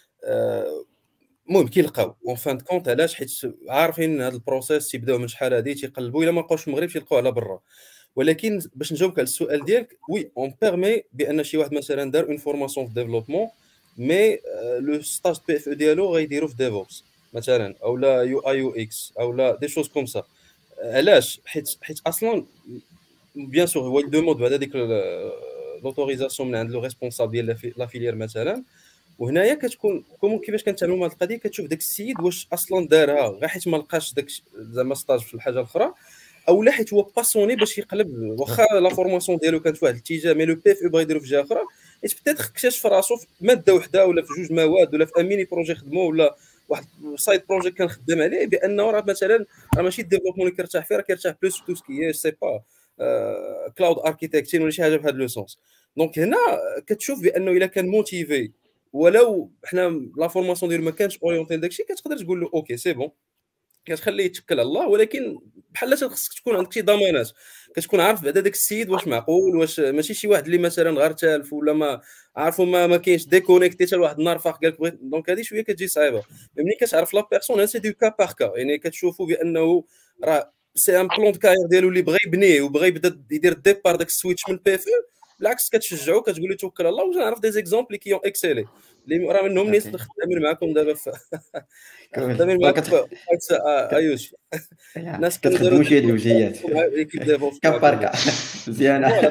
المهم كيلقاو اون فان كونت علاش حيت عارفين هذا البروسيس تيبداو من شحال هادي تيقلبوا الا ما لقاوش في المغرب تيلقاو على برا. ولكن باش نجاوبك على السؤال ديالك، وي اون بيرمي بان شي واحد مثلا دار اون فورماسيون في ديفلوبمون مي لو ستاج بي اف ديالو غيديرو في ديفوبس مثلا او لا يو اي يو اكس او لا دي شوز كوم سا. علاش؟ حيت اصلا بيان سور هو يدوموند بعد هذيك لوتوريزاسيون من عند لو ريسبونسابل ديال لا فيليير مثلا. وهنايا كتكون كيفاش كنتعاملوا مع هذه القضيه، كتشوف داك السيد واش اصلا دارها غير حيت ما لقاش داك زعما ستاج في الحاجه الاخرى، او لا حيت هو باسوني باش يقلب. واخا لا فورماسيون ديالو كانت في واحد الاتجاه مي لو بي اف بغا يديرو في جهه اخرى، حيت بيتيت اكتشف راسو في ماده وحده ولا في جوج مواد ولا في ان ميني بروجي خدمو ولا واحد سايد بروجي كان خدام عليه، بانه راه مثلا راه ماشي الديفلوبمون اللي كيرتاح فيه، راه كيرتاح بلوس في تو سكي سي با كلاود اركيتكتين ولا شي حاجه بهذا لو سونس. دونك هنا كتشوف بانه الا كان موتيفي ولو حنا لا فورماسيون ديالو ما كانش اورينتي داكشي، كتقدر تقول له اوكي سي بون، كتخليه يتكل على الله. ولكن بحال خصك تكون عندك شي ضمانات، كتكون عارف بعدا داك السيد واش معقول، واش ماشي شي واحد اللي مثلا غير تالف ولا ما عارفو ما كاينش ديكونيكتي حتى لواحد النهار فاق قالك بغيت. دونك هذه شويه كتجي صعيبه. ملي كتعرف لا بيرسون سي دو كا بار كا، يعني كتشوفوا بانه راه سي ان بلون دو كارير ديالو اللي بغى يبنيه وبغى يبدا يدير الديبار داك السويتش من بي اف، بالعكس كتشجعو كتقول له توكل على الله. وجنعرف دي زيكزامبل كي اكسيلي اللي راه منهم ناس خدامين معكم دابا خدامين معكم ايوش ناس كتخدموا شي هاد الوجهيات كباركا مزيانه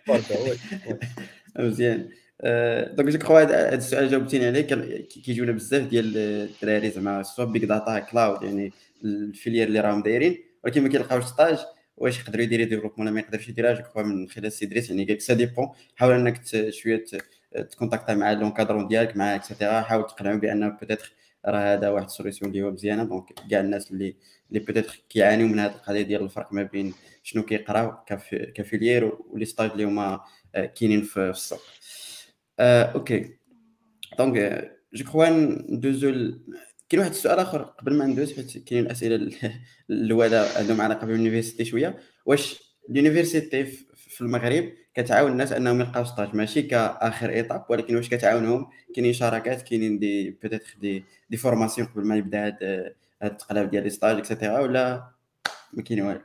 مزيان. دونك جو كخوا هذا السؤال جاوبتيني عليه. كيجيونا بزاف ديال الدراري زعما سوا بيك داتا كلاود يعني الفيليير اللي راهم دايرين، ولكن ما كيلقاوش ستاج واش يقدروا يديروا ديفلوبمون ولا ما يقدرش يديرها. جو كخوا من خلال سي دريس يعني قالك سا ديبون. حاول انك شويه تكونتاكتا مع لونكادرون ديالك مع اكسيتيرا، حاول تقنعهم بان بوتيتر راه هذا واحد السوليسيون اللي هو مزيانه. دونك كاع الناس اللي بوتيتر كيعانيو من هذه القضيه ديال الفرق ما بين شنو كيقراو كفيليير ولي ستاج اللي هما كاينين في السوق. اوكي دونك جو كخوا ندوزو كاين واحد السؤال اخر قبل ما ندوز، حيت كاينين الاسئله الاولى عندهم علاقه باليونيفرسيتي شويه. واش اليونيفرسيتي في المغرب كتعاون الناس انهم يلقاو ستاج ماشي كاخر ايطاب، ولكن واش كتعاونهم؟ كاينين شراكات، كاينين دي بوتيتر دي فورماسيون قبل ما يبدا هاد التقلاب ديال لي ستاج اكسيتيرا، ولا ما كاين والو؟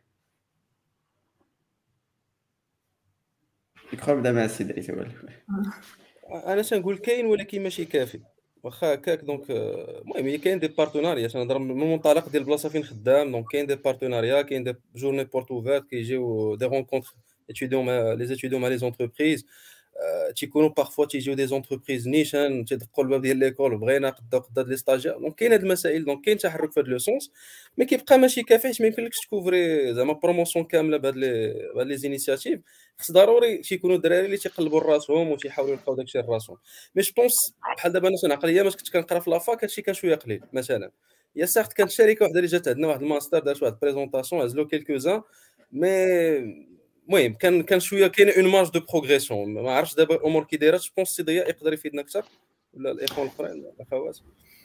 يكون بدا مع السيد دريس هو انا تنقول كاين ولكن ماشي كافي. واخا هكاك دونك المهم كاين دي بارتناريا. نهضر من المنطلق ديال البلاصه فين خدام. دونك كاين دي بارتناريا، كاين دي جورني بورت اوفيرت كيجيو دي رونكونتر لي ستوديون مع لي زونتربريز. تيكونوا بارفوا تيجيو دي زونتربريز نيشان تيدقوا الباب ديال ليكول بغينا قدا لي ستاجير. دونك كاين هاد المسائل، دونك كاين تحرك في هاد لو سونس، مي كيبقى ماشي كافي حيت ما يمكنلكش تكوفري زعما بروموسيون كامله بهاد لي زينيسياتيف. خص ضروري تيكونوا الدراري اللي تيقلبوا راسهم وتيحاولوا يلقاو داكشي لراسهم. مي جو بونس بحال دابا انا تنعقل ايامات كنت كنقرا في لافاك هادشي كان شويه قليل. مثلا يا ساخت كانت شركه وحده اللي جات عندنا واحد الماستر دارت واحد بريزونطاسيون هزلو كيلكوزان، مي المهم كان شويه كاين اون مارج دو بروغريسيون. ما عرفتش دابا الامور كي دايره. جو بونس سي ضياء يقدر يفيدنا اكثر ولا الاخوان الاخرين الاخوات.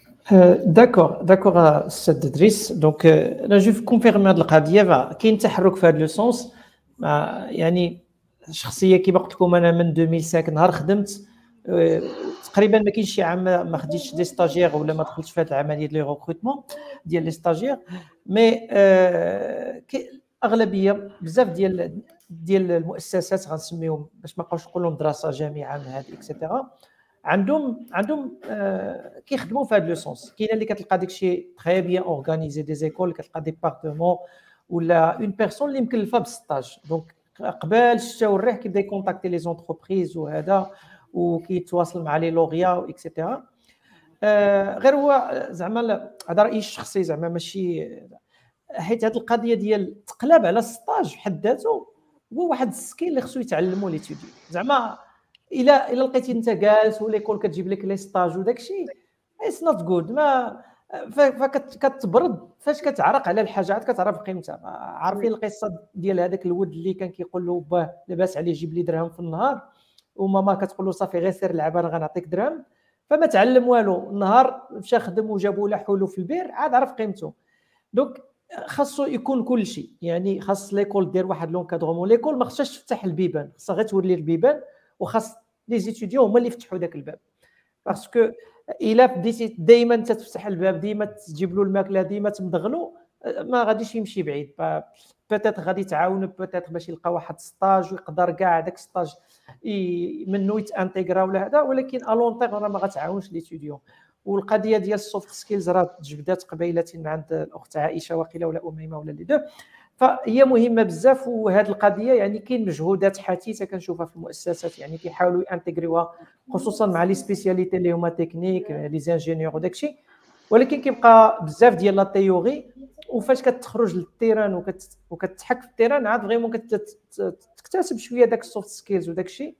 داكور استاذ دريس. دونك انا جو كونفيرمي هذه القضيه. كاين تحرك في هذا لو سونس. يعني شخصيه كيما قلت لكم انا من 2005 نهار خدمت تقريبا ما كاينش شي عام ما خديتش دي ستاجير ولا ما دخلتش في هذه العمليه ديال لي ريكروتمون ديال لي ستاجير. مي اغلبيه بزاف ديال المؤسسات غنسميهم باش ما نبقاوش نقولوا دراسه جامعه من هذه اكسيتيرا، عندهم كيخدموا في هذا لو سونس. كاينه اللي كتلقى داكشي تري بيان اورغانيزي دي زيكول، كتلقى ديبارتمون ولا اون بيرسون اللي مكلفه بالستاج. دونك قبل الشتا والريح كيبدا يكونتاكتي لي زونتربريز وهذا وكيتواصل مع لي لوغيا واكسيتيرا. غير هو زعما هذا رايي الشخصي زعما ماشي، حيت هذه القضيه ديال تقلب على الستاج في حد ذاته هو واحد السكيل اللي خصو يتعلموا لي تيدي. زعما الا لقيتي انت جالس وليكول كتجيب لك لي ستاج وداكشي اتس نوت جود. ما فكتبرد فاش كتعرق على الحاجه عاد كتعرف قيمتها. عارفين القصه ديال هذاك الولد اللي كان كيقول له باه لاباس عليه جيب لي درهم في النهار، وماما كتقول له صافي غير سير لعب انا غنعطيك درهم، فما تعلم والو. النهار مشى خدم وجابوا له حلو في البير عاد عرف قيمته. دونك خاصو يكون كل شيء، يعني خاص ليكول دير واحد لونكادرومون. ليكول ما خصهاش تفتح البيبان، خاصها غير تولي البيبان، وخاص لي زيتيديون هما اللي يفتحوا داك الباب. باسكو الا بديتي دائما تفتح الباب، ديما تجيب له الماكله، ديما تمضغلو، ما غاديش يمشي بعيد. بوتيت غادي تعاونوا بوتيت باش يلقى واحد ستاج ويقدر كاع داك ستاج منو يتانتيغرا ولا هذا، ولكن الون تيغ راه ما غتعاونش ليتيديون. والقضيه ديال السوفت سكيلز راه تجبدات قبيله من عند الاخت عائشه واقيلا ولا اميمه ولا اللي دو، فهي مهمه بزاف. وهذه القضيه يعني كاين مجهودات حثيثه كنشوفها في المؤسسات، يعني كيحاولوا يانتيغريوها خصوصا مع لي سبيسياليتي اللي هما تكنيك لي زانجينيور وداكشي، ولكن كيبقى بزاف ديال لا تيوري. وفاش كتخرج للتيران وكتحك في التيران عاد فريمون كتكتسب شويه داك السوفت سكيلز وداكشي.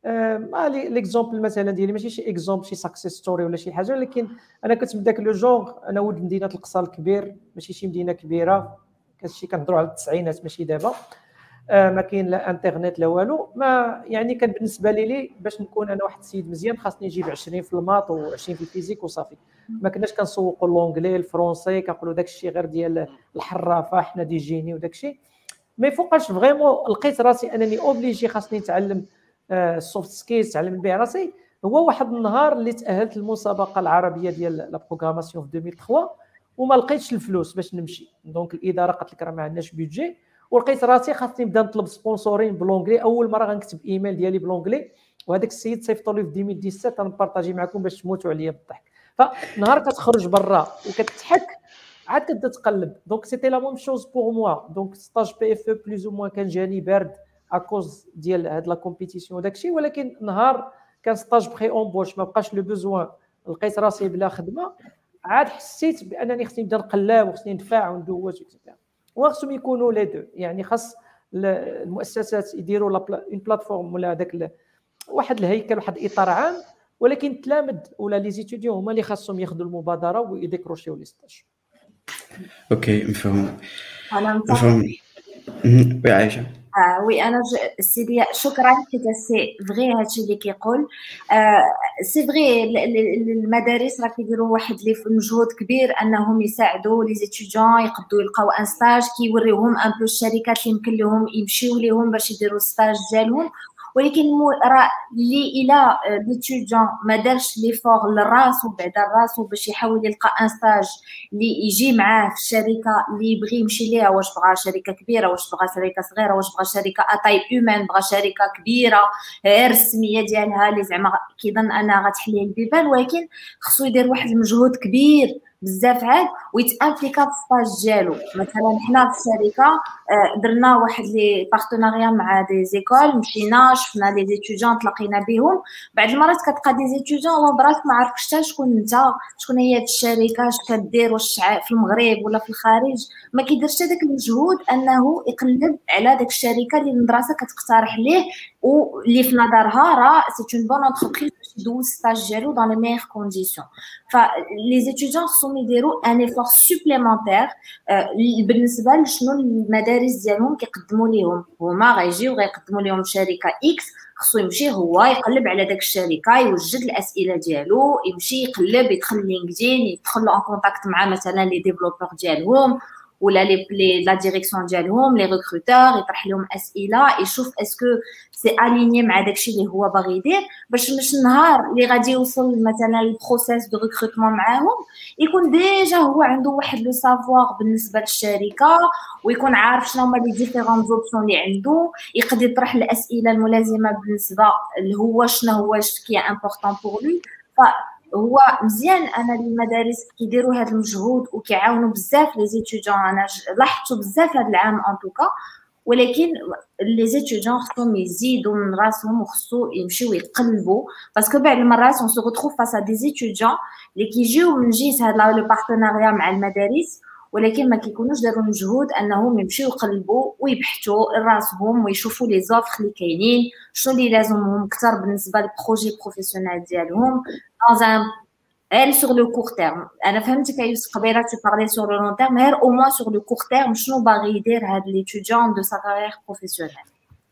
ليكزومبل مثلا ديالي ماشي شي اكزومبل شي ساكسيس ستوري ولا شي حاجه، ولكن انا كنت من داك لو جونغ. انا ولد مدينه القصر الكبير، ماشي شي مدينه كبيره، كنشي كنهضروا على التسعينات ماشي دابا. ما كاين لا انترنت لا والو. ما يعني كان بالنسبه لي باش نكون انا واحد السيد مزيان خاصني نجيب 20 في الماط و20 في الفيزيك وصافي. ما كناش كنسوقوا لونجلي الفرونسي، كنقولوا داك الشيء غير ديال الحرافه حنا دي جيني وداك الشيء. ما فوقاش فريمون لقيت راسي انني اوبليجي خاصني نتعلم السوفت سكيلز، تعلم بها راسي. هو واحد النهار اللي تاهلت للمسابقه العربيه ديال لا بروغراماسيون في 2003 وما لقيتش الفلوس باش نمشي. دونك الاداره قالت لك راه ما عندناش بيدجي، ولقيت راسي خاصني نبدا نطلب سبونسورين بالونجلي. اول مره غنكتب ايميل ديالي بالونجلي، وهذاك السيد صيفطوا لي في 2017 غنبارطاجي معكم باش تموتوا عليا بالضحك. فنهار كتخرج برا وكتضحك عاد كتبدا تقلب. دونك سيتي لا ميم شوز بور موا. دونك ستاج بي اف او بلوز او موان كان جاني بارد اكوز ديال هاد لا كومبيتيسيون وداكشي، ولكن نهار كان ستاج بري اونبوش ما بقاش لو بوزوان، لقيت راسي بلا خدمه، عاد حسيت بانني خصني نبدا نقلب وخصني ندفع وندوز اكسترا. وخصهم يكونوا لي دو، يعني خاص المؤسسات يديروا اون بلاتفورم ولا هذاك واحد الهيكل، واحد الاطار عام، ولكن التلامذ ولا لي زيتيديون هما اللي خاصهم ياخذوا المبادره ويديكروشيو لي ستاج. اوكي مفهوم. انا مفهوم. وي عايشه. وي انا سيدي شكرا حيت سي فغي هادشي اللي كيقول. سي فغي المدارس راه كيديروا واحد اللي مجهود كبير انهم يساعدوا لي زيتيديون يقدروا يلقاو ان ستاج، كيوريوهم ان بو الشركات اللي يمكن لهم يمشيو ليهم باش يديروا ستاج ديالهم. ولكن راه اللي الى ليتيديون ما دارش لي فور لراسو بعدا راسو باش يحاول يلقى ان ستاج اللي يجي معاه في الشركه اللي يبغي يمشي ليها، واش بغى شركه كبيره، واش بغى شركه صغيره، واش بغى شركه اتاي هيومان، بغى شركه كبيره الرسميه ديالها اللي زعما كيظن انها غتحل ليه البيبان، ولكن خصو يدير واحد المجهود كبير بزاف عاد ويتامبليكا في الستاج ديالو. مثلا حنا في الشركه درنا واحد لي بارتناريا مع دي زيكول، مشينا شفنا لي زيتيديون تلاقينا بهم. بعض المرات كتلقى دي زيتيديون هو براسك ما عارفش حتى شكون انت، شكون هي هاد الشركه، اش كدير، واش في المغرب ولا في الخارج. ما كيديرش هذاك المجهود انه يقلب على داك الشركه اللي المدرسه كتقترح ليه واللي في نظرها راه سي اون بون انتربريز باش يدوز ستاج ديالو دون لي ميغ كونديسيون. فلي زيتيديون خصهم يديروا ان ايفور سوبليمونتير بالنسبه لشنو المدارس ديالهم كيقدموا ليهم. هما غيجيو غيقدموا لهم شركه اكس، خصو يمشي هو يقلب على داك الشركه، يوجد الاسئله ديالو، يمشي يقلب، يدخل لينكدين، يدخل ان كونتاكت مع مثلا لي ديفلوبور ديالهم ولا لا ديريكسيون ديالهم لي ريكروتور، يطرح لهم اسئله، يشوف اسكو سي اليني مع داكشي اللي هو باغي يدير، باش النهار اللي غادي يوصل مثلا البروسيس دو ريكروتمون معاهم يكون ديجا هو عنده واحد لو سافوار بالنسبه للشركه، ويكون عارف شنو هما لي ديفيرون زوبسيون اللي عنده، يقدر يطرح الاسئله الملازمه بالنسبه اللي هو شنو هو كي امبورطون بور لي. هو مزيان انا المدارس كيديروا هذا المجهود وكيعاونوا بزاف لي زيتيديون. انا لاحظت بزاف هذا العام ان توكا، ولكن لي زيتيديون خصهم يزيدوا من راسهم وخصو يمشيو يتقلبوا، باسكو بعض المرات اون سو ريتروف فاس ا دي زيتيديون اللي كيجيو من جهه هذا لو بارتناريا مع المدارس، ولكن ما كيكونوش داروا المجهود انهم يمشيو يقلبوا ويبحثوا راسهم ويشوفوا لي زوفر اللي كاينين، شنو اللي لازمهم اكثر بالنسبه للبروجي بروفيسيونيل ديالهم dans un elle sur le court terme. انا فهمتك يوسف قبيله tu parlais sur le long terme، غير au moins sur le court terme شنو باغي يدير هاد l'étudiant de sa carrière professionnelle.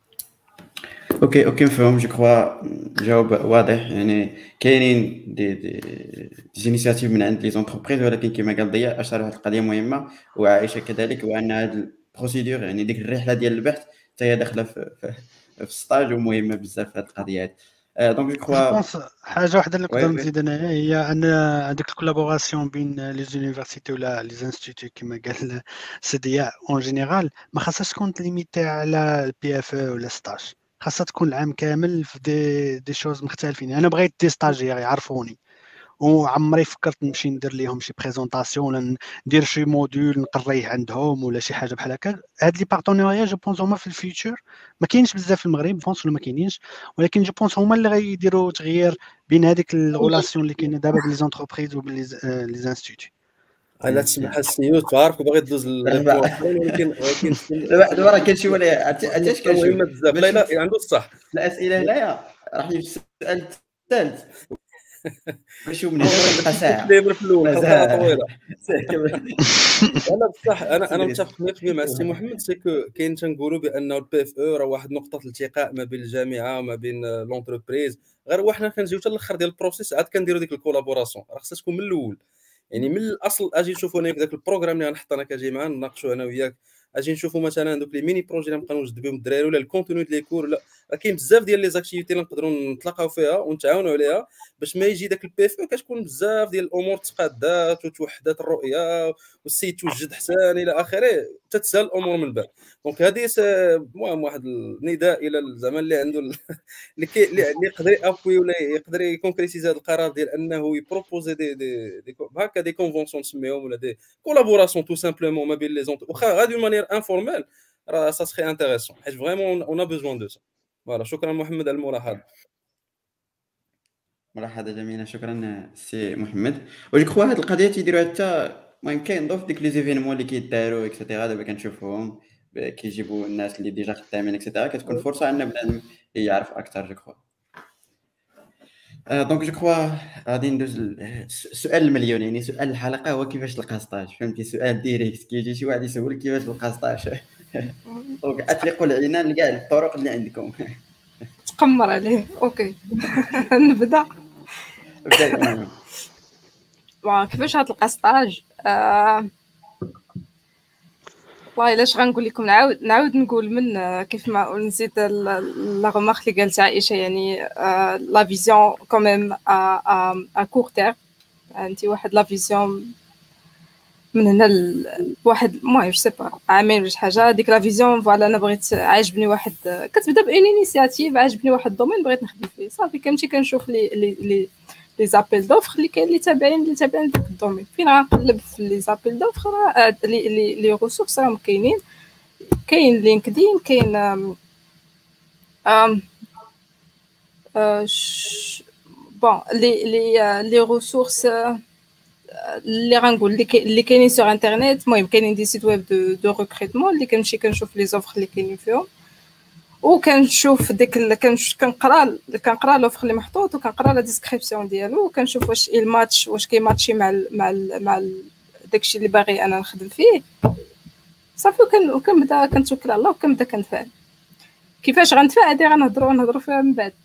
اوكي مفهوم. جو كخوا جواب واضح. يعني كاينين دي انيشيتيف من عند لي زونتربريز، ولكن كما قال ضياء اشار واحد القضيه مهمه وعائشه كذلك، وان هاد البروسيدور يعني ديك الرحله ديال البحث حتى هي داخله في السطاج ومهمه بزاف في هاد القضيه هاد. دونك جو كخوا حاجه واحده اللي نقدر نزيد انايا هي ان هذيك الكولابوراسيون بين لي زونيفرسيتي ولا لي انستيتوت كما قال سي ضياء اون جينيرال ما خاصهاش تكون ليميتي على البي اف او ولا ستاج، خاصها تكون العام كامل في دي شوز مختلفين. انا بغيت دي ستاجير يعرفوني وعمري فكرت نمشي ندير ليهم شي بريزونطاسيون ولا ندير شي موديول نقريه عندهم ولا شي حاجه بحال هكا. هاد لي بارتنيريا جو بونس هما في الفيوتشر ما كاينش بزاف في المغرب، بونس ولا ما كاينينش، ولكن جو بونس هما اللي غيديروا تغيير بين هذيك الريلاسيون اللي كاينه دابا بين لي زونتربريز وبين لي انستيتوت. لا تسمح السيو تعرف باغي تدوز ولكن دابا راه كاين شي ولا عرفتي كاين مهمه بزاف. لا عنده الصح. الاسئله هنايا راح يجي السؤال الثالث ماشي من هنا بقى ساعه دايما في الاول طويله. انا بصح انا متفق 100% مع السي محمد. سيكو كاين تنقولوا بانه البي اف او راه واحد نقطه الالتقاء ما بين الجامعه وما بين لونتربريز، غير وحنا كنجيو حتى الاخر ديال البروسيس عاد كنديروا ديك الكولابوراسيون. راه خصها تكون من الاول، يعني من الاصل. اجي نشوفوا انا في ذاك البروغرام اللي غنحط انا كاجي معاه نناقشوا انا وياك، اجي نشوفوا مثلا دوك لي ميني بروجي اللي نبقاو نوجد بهم الدراري ولا الكونتوني ديال لي كور، لا راه كاين بزاف ديال لي زاكتيفيتي اللي نقدروا نتلاقاو فيها ونتعاونوا عليها باش ما يجي داك البي اف او كتكون بزاف ديال الامور تقادات وتوحدات الرؤيه والسيد توجد حسان الى اخره تتسهل الامور من بعد. دونك هذه المهم واحد النداء الى زعما اللي عنده اللي يقدر يابوي ولا يقدر يكونكريتيزي هذا القرار ديال انه يبروبوزي دي هكا دي كونفونسيون نسميهم ولا دي كولابوراسيون تو سامبلومون ما بين لي زونت واخا غادي دو مانيير انفورميل، راه سا سخي انتريسون حيت فريمون اون ا بوزوان دو سا. فوالا شكرا محمد على الملاحظه. ملاحظه جميله، شكرا سي محمد. وجو كخوا هاد القضيه تيديروها حتى المهم كينضيف ديك لي زيفينمون اللي كيداروا اكسيتيرا دابا كنشوفوهم كيجيبوا الناس اللي ديجا خدامين اكسيتيرا كتكون فرصه ان بنادم يعرف اكثر جو كخوا. دونك جو كخوا غادي ندوز السؤال المليون، يعني سؤال الحلقه هو كيفاش تلقى ستاج. فهمتي؟ سؤال ديريكت كيجي شي واحد يسولك كيفاش تلقى ستاج. دونك اطلقوا العنان لكاع الطرق اللي عندكم. تقمر عليه. اوكي نبدا. كيفاش غتلقى ستاج؟ والله الا غنقول لكم نعاود نقول من كيف ما نزيد لا غومارك اللي قالت عائشه، يعني لا فيزيون كوميم ا كور تير. انت واحد لا فيزيون من هنا واحد المهم جو سي با عامين ولا شي حاجه، ديك لا فيزيون فوالا انا بغيت عاجبني واحد، كتبدا بان انيشياتيف عاجبني واحد الدومين بغيت نخدم فيه صافي كنمشي كنشوف لي زابيل دوفر اللي كاين اللي تابعين داك الدومين، فين غنقلب في لي زابيل دوفر لي ريسورس راهم كاينين، كاين لينكدين، كاين بون لي ريسورس اللي غنقول اللي كاينين سور انترنيت. المهم كاينين دي سيت ويب دو ريكروتمون اللي كنمشي كنشوف لي زوفر اللي كاينين فيهم، وكنشوف ديك كنقرا لوفر اللي محطوط وكنقرا لا ديسكريبسيون ديالو وكنشوف واش الماتش واش كيماتشي مع داكشي اللي باغي انا نخدم فيه صافي. وكنبدا كنتوكل على الله وكنبدا كنفعل. كيفاش غنتفاعل هادي غنهضروا فيها من بعد.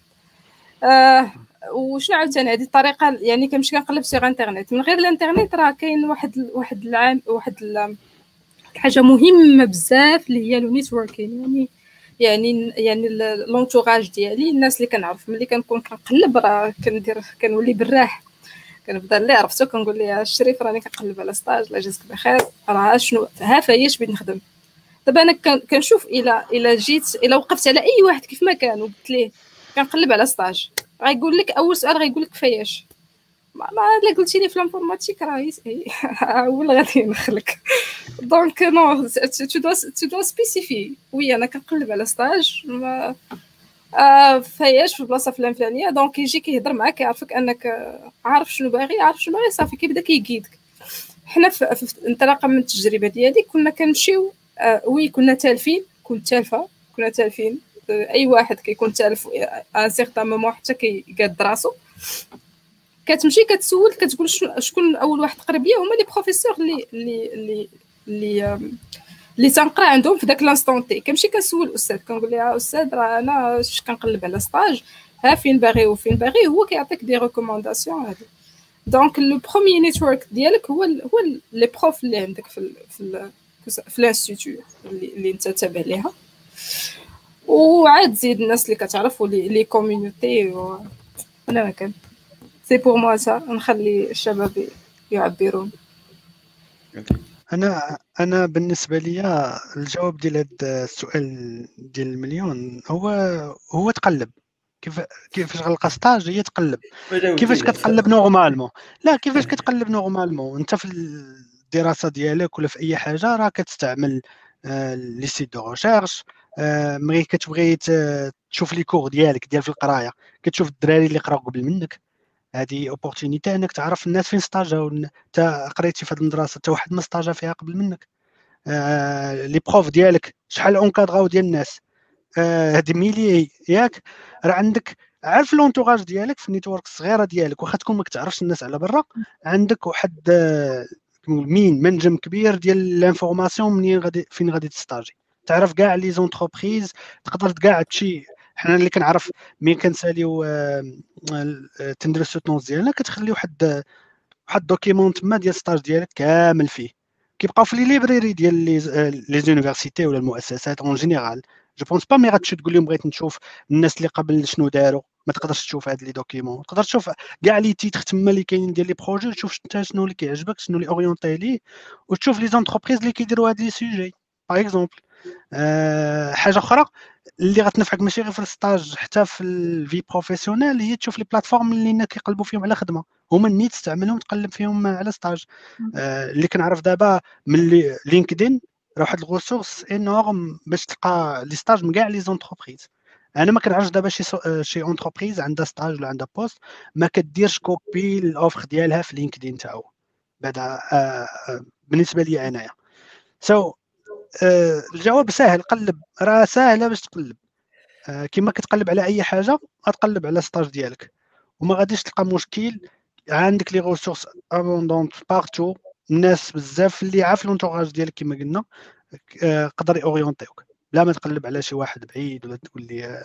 وشنو عاوتاني هذه الطريقه، يعني كنمشي كنقلب سيغ انترنيت. من غير الانترنيت راه كاين واحد حاجه مهمه بزاف اللي هي لو نيتوركين، يعني لونتوراج ديالي، الناس اللي كنعرف. ملي كنكون كنقلب راه كنولي براح، كنبدا اللي عرفتو كنقول ليه الشريف راني كنقلب على ستاج لا جازك بخير، راه شنو ها فاياش بغيت نخدم. دابا انا كنشوف الا وقفت على اي واحد كيف ما كان وقلت ليه كنقلب على ستاج، غايقول لك اول سؤال غايقول لك كفاياش. ما الا قلتي لي في الانفورماتيك راه اول غادي نخلك. دونك نو تو دو سبيسيفي وي انا كنقلب على ستاج فاياش في البلاصه الفلانيه. دونك يجي كيهضر معاك كيعرفك انك عارف شنو باغي صافي كيبدا كيقيدك. حنا في انطلاقا من التجربه ديالي كنا كنمشيو وي كنا تالفين، كنت تالفين اي واحد كيكون تالف ان سيغتان مومون حتى كيقاد راسو. كتمشي كتسول كتقول شكون اول واحد قريب ليا، هما لي بروفيسور اللي تنقرا عندهم في داك لانستون تي. كنمشي كنسول الاستاذ كنقول ليه استاذ راه انا كنقلب على ستاج، ها فين باغي هو كيعطيك دي ريكومونداسيون هادو. دونك لو بروميير نيتورك ديالك هو لي بروف اللي عندك في الانستيتيو اللي انت تابع ليها، وعاد زيد الناس اللي كتعرف ولي كوميونيتي. انا ما كان سي بور موا سا نخلي الشباب يعبرون. انا بالنسبه لي الجواب ديال هذا السؤال ديال المليون هو تقلب. كيفاش غنلقى ستاج؟ هي تقلب. كيفاش كتقلب نورمالمون؟ لا كيفاش كتقلب نورمالمون؟ انت في الدراسه ديالك ولا في اي حاجه راه كتستعمل لي سيت دو ريشيرش. ملي كتبغي تشوف لي كور ديالك ديال في القرايه كتشوف الدراري اللي قراو قبل منك، هذه اوبورتونيتي انك تعرف الناس فين ستاجاو. انت قريتي في هذه المدرسه حتى واحد ما ستاجا فيها قبل منك. لي بروف ديالك شحال اونكادراو ديال الناس، هادي ميلي ياك. راه عندك عارف لونتوراج ديالك في النيتورك الصغيره ديالك، واخا تكون ما كتعرفش الناس على برا، عندك واحد منجم كبير ديال لانفورماسيون فين غادي تستاجي. تعرف كاع لي زونتربريز، تقدر كاع تشي. حنا اللي كنعرف مين كنساليو تندير السوتونس ديالنا كتخلي واحد دوكيمون تما ديال ستاج ديالك كامل فيه، كيبقاو في لي ليبراري ديال لي زونيفرسيتي ولا المؤسسات اون جينيرال. جو بونس با مي غاتمشي تقول لهم بغيت نشوف الناس اللي قبل شنو داروا، ما تقدرش تشوف هاد لي دوكيمون. تقدر تشوف كاع لي تيتر تما اللي كاينين ديال لي بروجي، وتشوف انت شنو اللي كيعجبك، شنو اللي اورينتي ليه، وتشوف لي زونتربريز اللي كيديروا هاد لي سوجي. باغ اكزومبل حاجه اخرى اللي غتنفعك ماشي غير في الستاج حتى في الفي بروفيسيونيل، هي تشوف لي بلاتفورم اللي كيقلبوا فيهم على خدمه، هما النيت تستعملهم تقلب فيهم على ستاج. اللي كنعرف دابا من لينكدين راه واحد الريسورس انورم باش تلقى لي ستاج من كاع لي زونتربريز. انا ما كنعرفش دابا شي اونتربريز عندها ستاج ولا عندها بوست ما كديرش كوبي الاوفر ديالها في لينكدين تاعو. بعدا بالنسبه لي انايا. الجواب سهل، قلب، راه ساهله باش تقلب. كما كتقلب على اي حاجه غتقلب على ستاج ديالك، وما غاديش تلقى مشكل. عندك لي ريسورس ابوندونت بارتو، الناس بزاف اللي عارف لونتوراج ديالك كما قلنا قدر يورينتيوك بلا ما تقلب على شي واحد بعيد ولا تقول لي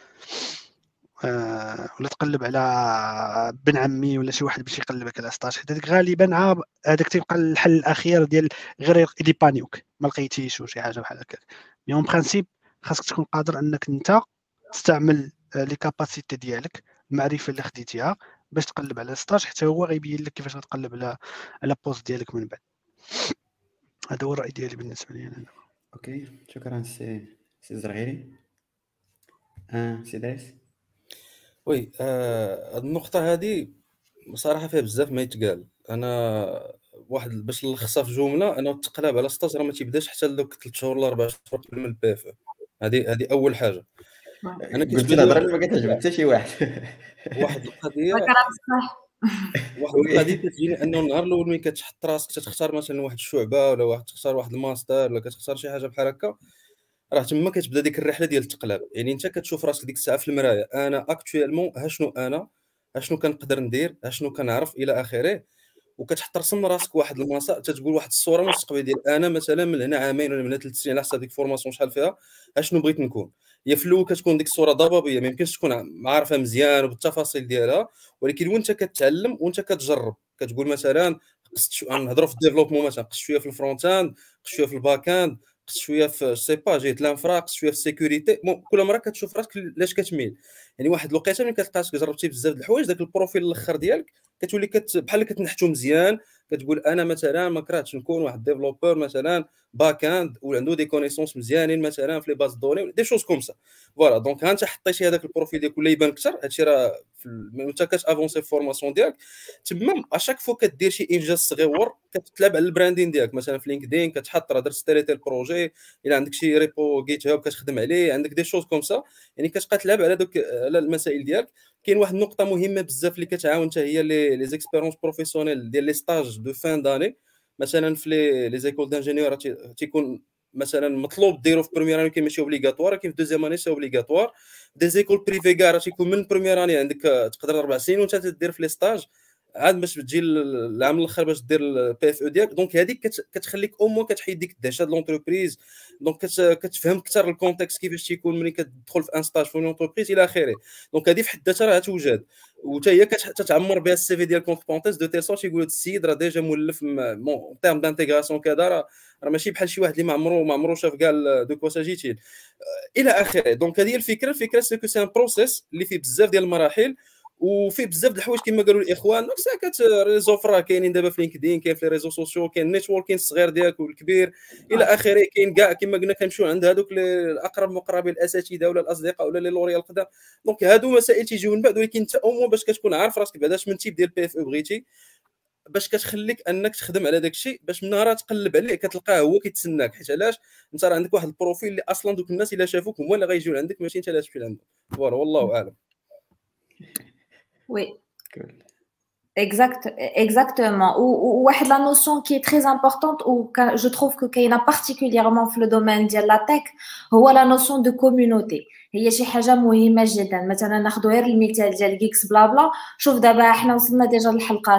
ولا تقلب على بن عمي ولا شي واحد باش يقلبك على ستاج. هذاك غالبا هذاك تيبقى الحل الاخير ديال غير يدي بانيوك ما لقيتيش وشي حاجه بحال هكا. مي اون برينسيپ خاصك تكون قادر انك انت تستعمل لي كاباسيتي ديالك، المعرفه اللي خديتيها باش تقلب على ستاج، حتى هو غيبين لك كيفاش غتقلب على بوست ديالك من بعد. هذا هو الراي ديالي بالنسبه لي انا. اوكي شكرا سي الزرغيري. سي دايس. وي هاد النقطه هذه بصراحه فيها بزاف ما يتقال. انا واحد باش نلخصها في جمله، انا التقلاب على ستاج راه ما تيبداش حتى لدوك 3 شهور ولا 4 شهور قبل من البي اف. هذه اول حاجه. انا كنت الهضره اللي ما كتعجب حتى شي واحد. واحد القضيه واحد القضيه كتجيني انه النهار الاول ملي كتحط راسك تختار مثلا واحد الشعبه ولا تختار واحد الماستر ولا كتختار شي حاجه بحال هكا، راه تما كتبدا ديك الرحله ديال التقلاب. يعني انت كتشوف راسك ديك الساعه في المرايه، انا اكطوالمون اشنو كنقدر ندير، اشنو كنعرف الى اخره، وكتحط رسم راسك واحد المسار، تتقول واحد الصوره مستقبليه ديال انا مثلا من هنا عامين ولا من هنا 3 سنين على حسب ديك الفورماسيون شحال فيها اشنو بغيت نكون. هي في الاول كتكون ديك الصوره ضبابيه، ما يمكنش تكون عارفها مزيان وبالتفاصيل ديالها، ولكن وانت كتعلم وانت كتجرب كتقول مثلا قصت نهضروا في الديفلوبمون، مثلا قصت شويه في الفرونت اند، قصت شويه في الباك اند، قصت شويه في سي با جهه الانفرا، قصت شويه في السيكوريتي. كل مره كتشوف راسك لاش كتميل. يعني واحد الوقيته ملي كتلقى راسك جربتي بزاف د الحوايج، داك البروفيل الاخر ديالك كتولي بحال كتنحتو مزيان، كتقول انا مثلا ما كرهتش نكون واحد ديفلوبور مثلا باك اند وعنده دي كونيسونس مزيانين مثلا في لي باز دوني دي شوز كوم سا. فوالا دونك ها انت حطيتي هذاك البروفيل ديالك ولا يبان اكثر. هادشي راه وانت كتافونسي في فورماسيون ديالك تما اشاك فوا كدير شي انجاز صغيور كتلعب على البراندين ديالك. مثلا في لينكدين كتحط راه درت ستاريتي البروجي، الا عندك شي ريبو جيت هاب كتخدم عليه، عندك دي شوز كوم سا. يعني كتبقى تلعب على دوك على المسائل ديالك. كاين واحد النقطه مهمه بزاف اللي كتعاون حتى هي لي زيكسبيرونس بروفيسيونيل ديال لي ستاج دو فان داني. مثلا في لي زيكول دانجينيور تيكون مثلا مطلوب ديرو في بروميير اني، كيماشي اوبليغاتوار، ولكن في دوزيام اني سي اوبليغاتوار. دي زيكول بريفي كاع راه تيكون من بروميير اني عندك تقدر 4 سنين وانت تدير في لي ستاج عاد باش تجي العام الاخر باش دير البي اف او ديالك. دونك هذيك كتخليك او مو كتحيد ديك الدهشه د لونتربريز، دونك كتفهم اكثر الكونتكست كيفاش تيكون ملي كتدخل في ان ستاج في لونتربريز الى اخره. دونك هذه في حد ذاتها راه توجد، وحتى هي كتعمر بها السي في ديال كونت بونتيس دو تيل سورت يقول هذا السيد راه ديجا مولف مون تيرم دانتيغراسيون كذا، راه ماشي بحال شي واحد اللي ما عمرو شاف كاع دو كوا ساجيتيل الى اخره. دونك هذه هي الفكره سي كو سي ان بروسيس اللي فيه بزاف ديال المراحل وفي بزاف د الحوايج كما قالوا الاخوان. دونك ساكت ريزو فرا كاينين دابا في لينكدين، كاين في لي ريزو سوسيو، كاين نيتوركين الصغير ديالك والكبير الى اخره، كاين كاع كما قلنا كنمشيو عند هذوك الاقرب مقربين الاساتذه ولا الاصدقاء ولا لي لوريال القدام. دونك هادو مسائل تيجيو من بعد، ولكن انت او باش كتكون عارف راسك بعدا اش من تيب ديال بي اف او بغيتي باش كتخليك انك تخدم على داك الشيء، باش من نهار تقلب عليه كتلقاه هو كيتسناك. حيت علاش انت راه عندك واحد البروفيل اللي اصلا دوك الناس الا شافوك هما اللي غيجيو عندك ماشي انت اللي تمشي لعندهم. فوالا والله اعلم. Oui. Exactement. Ou la notion qui est très importante, ou je trouve que qu'il y a particulièrement dans le domaine de la tech, c'est la notion de communauté. هي شي حاجه مهمه جدا. مثلا ناخذ غير المثال ديال جيكس بلا بلا. شوف دابا حنا وصلنا ديجا للحلقه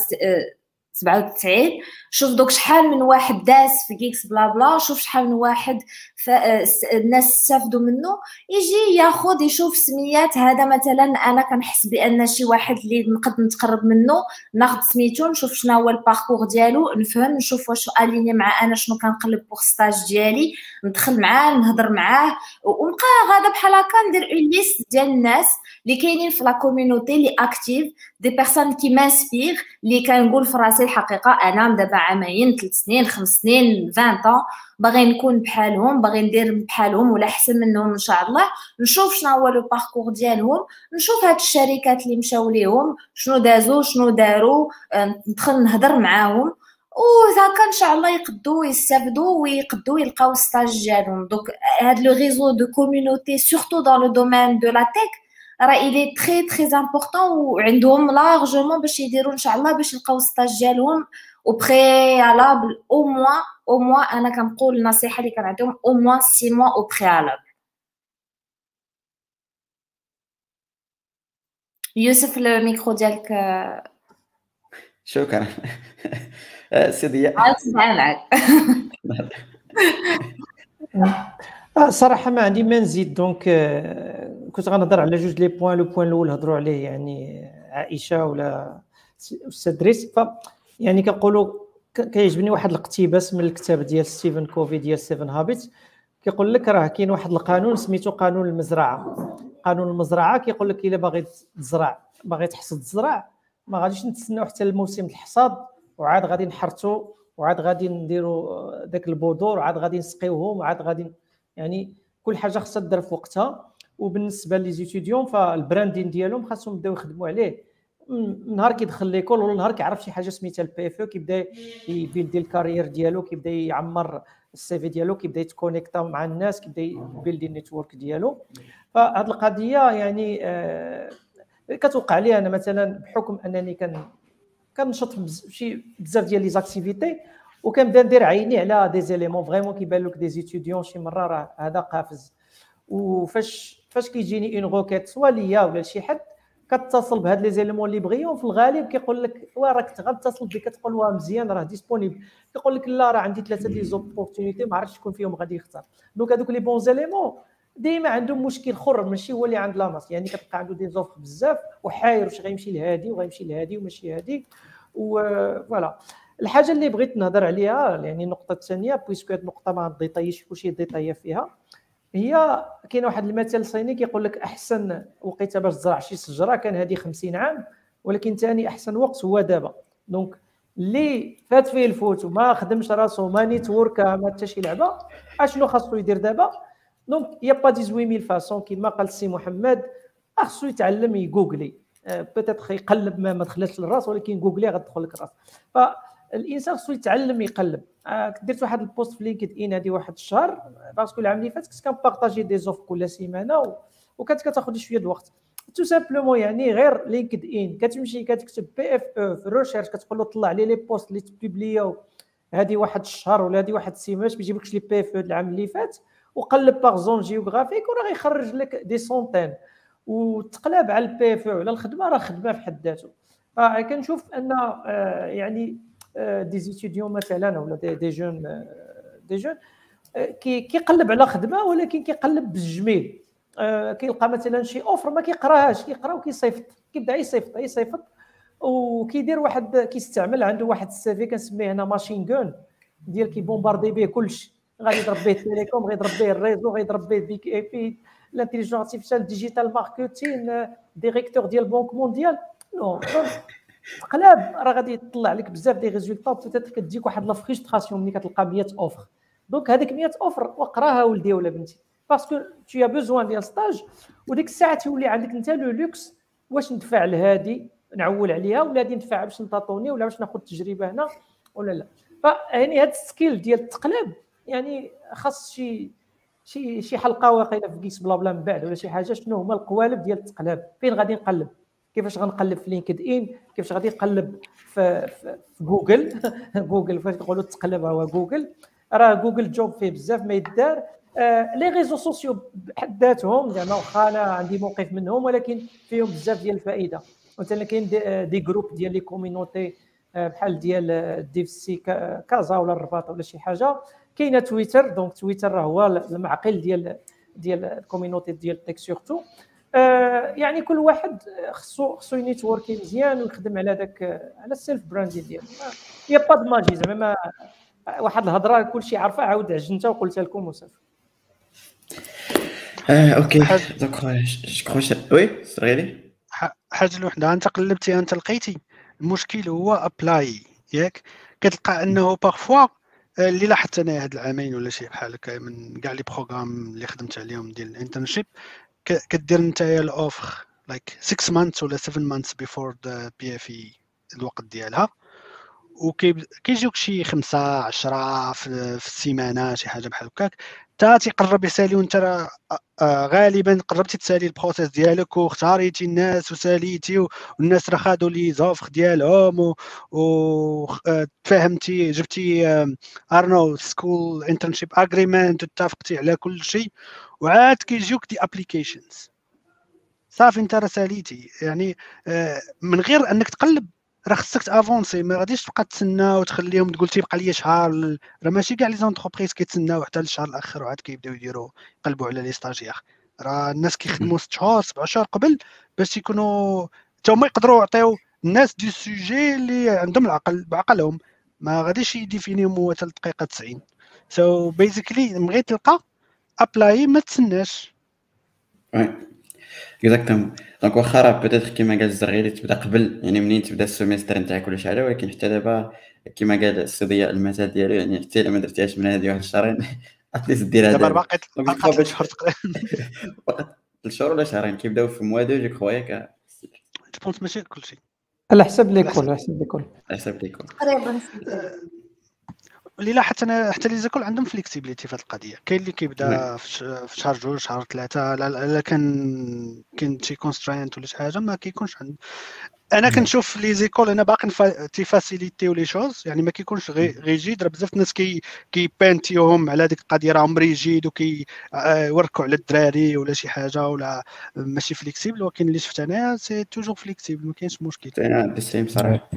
97. شوف دوك شحال من واحد داس في جيكس بلا بلا، شوف شحال من واحد الناس استافدوا منه. يجي ياخذ يشوف سميات هذا مثلا انا كنحس بان شي واحد اللي نقدر نتقرب منه، ناخذ سميتو نشوف شنو هو الباركور ديالو، نفهم نشوف واش اليني مع انا شنو كنقلب بوغ ستاج ديالي، ندخل معاه نهضر معاه ونبقى غادا بحال هكا ندير اون ليست ديال الناس اللي كاينين في لا كوميونيتي اللي اكتيف، دي بيرسون كي مانسبير اللي كنقول في راسي الحقيقه انا دابا عامين 3 سنين 5 سنين 20 باغي نكون بحالهم، باغي ندير بحالهم ولا احسن منهم ان شاء الله. نشوف شنو هو لو باركور ديالهم، نشوف هاد الشركات اللي مشاو ليهم شنو دازوا شنو داروا، ندخل نهضر معاهم وهكا ان شاء الله يقدوا يستافدوا ويقدوا يلقاو ستاج ديالهم. دونك هاد لو ريزو دو كوميونيتي سورتو دون لو دومين دو لا تك راه إلي تري تري امبورطون، وعندهم لارجومون باش يديروا ان شاء الله باش يلقاو ستاج ديالهم au préalable au moins انا كنقول النصيحه اللي كنعطيهم au moins 6 mois au préalable. يوسف الميكرو ديالك. شكرا. سيدي معاك. صراحه ما عندي ما نزيد. دونك كنت غنهضر على جوج لي بوين. لو بوين الاول هضروا عليه يعني عائشه ولا استاذ دريس. ف يعني كنقولوا كيعجبني واحد الاقتباس من الكتاب ديال ستيفن كوفي ديال 7 هابيتس. كيقول لك راه كاين واحد القانون سميتو قانون المزرعه. قانون المزرعه كيقول لك الا باغي تزرع باغي تحصد الزرع ما غاديش نتسناو حتى الموسم الحصاد وعاد غادي نحرثوا وعاد غادي نديروا داك البذور وعاد غادي نسقيوهم وعاد غادي يعني كل حاجه خاصها تدار في وقتها. وبالنسبه لي زيتيديون فالبراندين ديالهم خاصهم يبداو يخدموا عليه من نهار كيدخل ليكول ولا نهار كيعرف شي حاجه سميتها البي اف او كيبدا يبيلدي الكارير ديالو كيبدا يعمر السي في ديالو كيبدا يتكونيكتا مع الناس كيبدا يبيلدي النيتورك ديالو. فهاد القضيه يعني كتوقع لي انا مثلا بحكم انني كنشط شي بزاف ديال لي زاكتيفيتي وكنبدا ندير عيني على دي زيليمون فريمون كيبان لك دي زيتيديون شي مره راه هذا قافز. وفاش كيجيني اون روكيت سوا ليا ولا لشي حد كتصل بهاد لي زيليمون اللي بغيهم في الغالب كيقول لك راك غتصل بك كتقول واه مزيان راه ديسپونيبل كيقول لك لا راه عندي 3 دي زوبورتونيتي ما عرفتش شكون فيهم غادي يختار. دونك هذوك لي بون زيليمون ديما عندهم مشكل اخر ماشي هو اللي عند لاماس يعني كتلقى عنده دي زوفر بزاف وحاير واش غيمشي لهادي وغيمشي لهادي وماشي هادي. وفوالا الحاجه اللي بغيت نهضر عليها يعني النقطه الثانيه بويسكو هاد النقطه ما ديطايش كلشي ديطايا فيها هي كاين واحد المثل صيني كيقول لك احسن وقيته باش تزرع شي شجره كان هذه 50 عام ولكن ثاني احسن وقت هو دابا. دونك اللي فات فيه الفوت وما خدمش راسو ما نيتورك ما حتى شي لعبه اشنو خاصو يدير دابا؟ دونك يا با 18000 فاصون كيما قال السي محمد خاصو يتعلم يجوجلي بيتيت يقلب ما دخلتش للراس ولكن جوجلي غتدخل لك الراس. فالانسان خاصو يتعلم يقلب. درت واحد البوست في لينكد ان هذه واحد الشهر باسكو العام اللي فات كنت كنبارطاجي دي زوف كل سيمانه وكانت كتاخذ شويه الوقت تو سامبلومون يعني غير لينكد ان كتمشي كتكتب بي اف او في الريشيرش كتقول له طلع لي بوست اللي تبوبلياو هذه واحد الشهر ولا هذه واحد السيمانه بيجيبلكش لي بي اف او العام اللي فات وقلب باغ زون جيوغرافيك وراه غيخرج لك دي سونتين وتقلب على البي اف او على الخدمه راه خدمه في حد ذاته. فكنشوف ان يعني دي زيتيديون مثلا ولا دي جون كيقلب على خدمه ولكن كيقلب بالجميل. كيلقى مثلا شي اوفر ما كيقراهاش كيقرا وكيصيفط كيبدا يصيفط وكيدير واحد كيستعمل عنده واحد السيفي كنسميه هنا ماشين غون ديال كيبومباردي به كلشي غادي يضرب به التليكوم غيضرب به الريزو غيضرب به بيك اي بي الانتيليجنس ارتيفيشال ديجيتال ماركتين ديريكتور ديال بنك مونديال نو تقلاب راه غادي يطلع لك بزاف دي ريزولطا بوتيت كتجيك واحد لا فريستراسيون ملي كتلقى 100 اوفر. دونك هذيك 100 اوفر وقراها ولدي ولا بنتي باسكو تي ا بوزوان ديال ستاج وديك الساعه تولي عندك انت لو لوكس واش ندفع لهادي نعول عليها ولا غادي ندفع باش نطاطوني ولا باش ناخذ تجربه هنا ولا لا. فيعني هاد السكيل ديال التقلاب يعني خاص شي حلقه واقيله في كيس بلا بلا من بعد ولا شي حاجه شنو هما القوالب ديال التقلاب فين غادي نقلب كيفاش غنقلب في لينكد ان كيفاش غادي نقلب في جوجل جوجل فاش كنقولوا التقلب هو جوجل راه جوجل جوب فيه بزاف ما يدار. لي ريزو سوسيو بحد ذاتهم زعما واخا انا عندي موقف منهم ولكن فيهم بزاف ديال الفائده. مثلا كاين دي جروب ديال لي كوميونيتي بحال ديال ديف سي كازا ولا الرباط ولا شي حاجه. كاينه تويتر دونك تويتر راه هو المعقل ديال الكوميونيتي ديال تيك سورتو. يعني كل واحد خصو ينيتوركي مزيان ويخدم على داك على السيلف براندين ديالو. يا با د ماجي زعما واحد الهضره كلشي عارفه عاود عجنتها وقلتها لكم وصافي. اوكي دونك وي صغيري حاجه الوحده انت قلبتي انت لقيتي المشكل هو ابلاي ياك كتلقى انه بارفوا اللي لاحظت انا هاد العامين ولا شي بحال هكا من كاع لي بروغرام اللي خدمت عليهم ديال الانترنشيب كدير نتايا الاوفر لايك 6 months ولا 7 months before the PFE الوقت ديالها وكيجيوك شي 5 10 في السيمانه شي حاجه بحال هكاك، تا تيقرب يسالي وانت راه غالبا قربتي تسالي البروسيس ديالك واختاريتي الناس وساليتي والناس راه خادوا لي زوفر ديالهم وتفاهمتي جبتي ارنو سكول انترنشيب اجريمنت واتفقتي على كل شيء، وعاد كيجيوك دي ابليكيشنز صافي انت راه ساليتي. يعني من غير انك تقلب راه خصك تافونسي، ما غاديش تبقى تسنى وتخليهم تقول تيبقى لي شهر. راه ماشي كاع لي زونتربريز كيتسناو حتى للشهر الاخر وعاد كيبداو يقلبوا على لي ستاجير. راه الناس كيخدموا 6 شهور 7 شهور قبل باش يكونوا حتى هما يقدروا يعطيو الناس دي سوجي اللي عندهم العقل بعقلهم، ما غاديش يديفينيو هو حتى الدقيقه 90. سو بيزيكلي بغيتي تلقى ابلاي ما تسناش. اكزاكتومون. دونك واخا راه بيتيتر كيما قال الزرغيري تبدا قبل، يعني منين تبدا السيمستر نتاعك ولا شي حاجه، ولكن حتى دابا كيما قال السي ضياء المثال ديالو، يعني حتى الا ما درتيهاش من هذه واحد الشهرين اتليست ديرها دابا دابا. باقي دونك باقي 3 شهور تقريبا فقط 3 شهور ولا شهرين كيبداو في موا 2 جو كخوا ياك. جو بونس ماشي كلشي على حسب ليكول، على حسب ليكول. حسب ليكم تقريبا. لا حتى لي زيكول عندهم فليكسيبيليتي في هذه القضيه. كاين اللي كيبدا في شهر 2 شهر 3. لا كان شي كونسترينت ولا شي حاجه ما كيكونش عند. انا كنشوف لي زيكول انا باقي تيفاسيليتيو لي شوز، يعني ما كيكونش ريجيد. راه بزاف الناس كيبانتيوهم على ديك القضيه راهم ريجيد وكيوركوا على الدراري ولا شي حاجه ولا ماشي فليكسيبل، ولكن اللي شفت انا سي توجور فليكسيبل ما كاينش مشكل. انا بالسيم صراحه.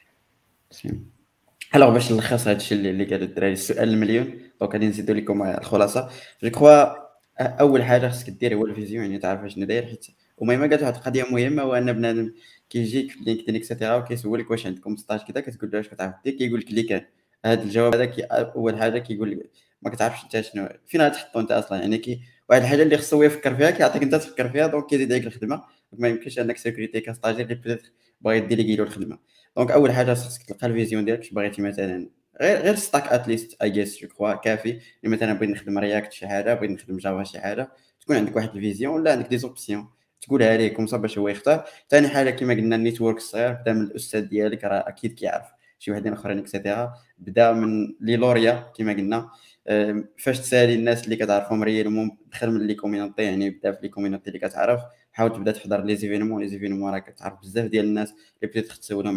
الوغ باش نلخص هذا الشيء اللي قالوا الدراري، السؤال المليون. دونك غادي نزيدوا لكم الخلاصه. جو كخوا اول حاجه خصك دير هو الفيزيون، يعني تعرف شنو داير. حيت وميمه قالت واحد القضيه مهمه، هو ان بنادم كيجيك في لينكدين اكسيتيرا وكيسولك واش عندكم ستاج كذا، كتقول له واش كتعرف دير، كيقول لك اللي كان. هذا الجواب هذا اول حاجه كيقول لك ما كتعرفش انت شنو فين غتحطو انت اصلا. يعني واحد الحاجه اللي خصو يفكر فيها كيعطيك انت تفكر فيها، دونك كيزيد عليك الخدمه. ما يمكنش انك سيكوريتي كستاجير اللي بيتيت باغي ديليغي له الخدمه. دونك اول حاجه خصك تلقى الفيزيون ديالك. اش بغيتي مثلا غير ستاك اتليست اي جيس جو كخوا كافي. يعني مثلا بغيت نخدم رياكت شي حاجه، بغيت نخدم جافا شي حاجه، تكون عندك واحد الفيزيون ولا عندك دي زوبسيون تقولها ليه كوم صا باش هو يختار. ثاني حاجه كما قلنا النيتورك الصغير، بدا من الاستاذ ديالك راه اكيد كيعرف شي وحدين اخرين اكسيتيرا. بدا من لي لوريا كما قلنا. فاش تسالي الناس اللي كتعرفهم ريالمون دخل من لي كوميونيتي، يعني بدا في لي كوميونيتي اللي كتعرف. حاول تبدا تحضر لي زيفينمون راه كتعرف بزاف ديال الناس اللي بديت تسولهم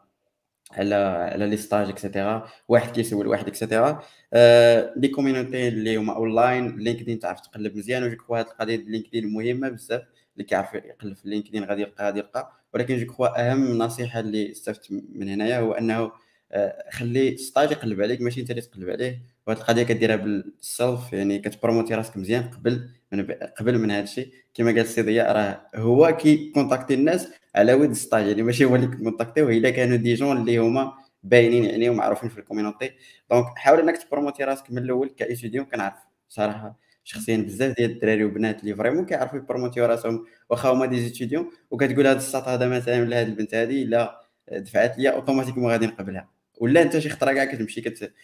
على لي ستاج اكسيتيرا. واحد كيسول واحد اكسيتيرا. لي كوميونيتي اللي هما اونلاين لينكدين تعرف تقلب مزيان. وجو كخوا هاد القضيه ديال لينكدين مهمه بزاف. اللي كيعرف يقلب في لينكدين غادي يلقى. ولكن جو كخوا اهم نصيحه اللي استفدت من هنايا هو انه خلي ستاج يقلب عليك ماشي انت اللي تقلب عليه. وهاد القضيه كديرها بالسلف، يعني كتبروموتي راسك مزيان قبل من هذا الشيء. كما قال السي ضياء راه هو كي كونتاكتي الناس على ود ستاج، يعني ماشي هو اللي كونتاكتيو الا كانوا دي جون اللي هما باينين يعني ومعروفين في الكوميونيتي. دونك حاول انك تبروموتي راسك من الاول كايتيديون. كنعرف صراحه شخصيا بزاف ديال الدراري وبنات اللي فريمون كيعرفوا يبروموتيو راسهم واخا هما دي ايتيديون، وكتقول هذا الساط هذا مثلا ولا هذه البنت هذه الا دفعت ليا اوتوماتيكمون غادي نقبلها. ولا انت شي خطره كاع كتمشي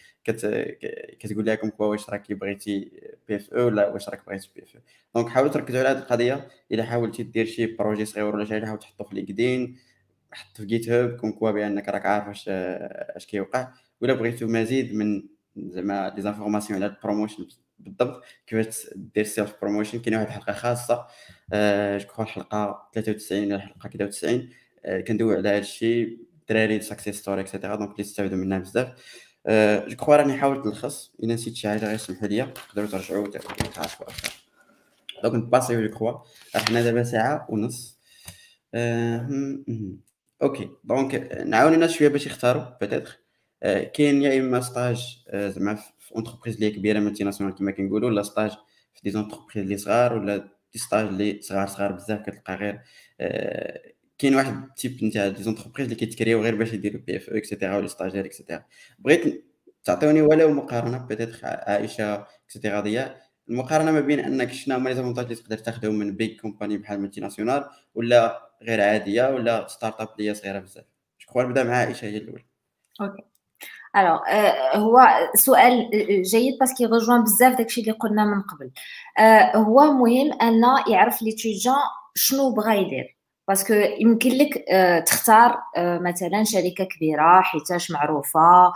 كتقول لها كوا واش راكي بغيتي بي اف او ولا واش راك بغيتي بي اف او. دونك حاولوا تركزوا على هذه القضيه. الا حاولتي دير شي بروجي صغير ولا شي حاجه حاول تحطو في لينكدين، حط في جيت هاب كون كوا بانك راك عارف اش كيوقع. ولا بغيتو مزيد من زعما دي زانفورماسيون على البروموشن بالضبط كيفاش دير سيلف بروموشن، كاينه واحد الحلقه خاصه جو كخوا الحلقه 93 ولا الحلقه 93 كندوي على هذا الشيء الدراري ساكسيس ستوري اكسيتيرا. دونك اللي استافدوا منها بزاف. جو كخوا راني حاولت نلخص. الا نسيت شي حاجه غير سمحوا لي، تقدروا ترجعوا تعرفوا اكثر. دونك نباسيو جو كخوا حنا دابا ساعه ونص. اوكي دونك نعاون الناس شويه باش يختاروا بيتيتر. كاين يا اما ستاج زعما في اونتربريز اللي كبيره مالتي ناسيونال كما كنقولوا، ولا ستاج في دي زونتربريز اللي صغار، ولا دي ستاج اللي صغار بزاف كتلقى غير كاين واحد تيب نتاع دي زونتربريز اللي كيتكريو غير باش يديروا بي اف او اكسيتيرا ولا ستاجير اكسيتيرا. بغيت تعطيوني ولو مقارنه بيتيتر عائشه اكسيتيرا ضياء، المقارنه ما بين انك شنو هما لي زافونتاج اللي تقدر تاخذهم من بيج كومباني بحال مالتي ناسيونال ولا غير عاديه ولا ستارت اب اللي هي صغيره بزاف. شكون نبدا مع عائشه هي الاولى. اوكي الوغ هو سؤال جيد باسكو يرجوان بزاف داكشي اللي قلنا من قبل. هو مهم ان يعرف ليتيديون شنو بغا يدير. باسكو يمكن لك تختار مثلا شركه كبيره حيتاش معروفه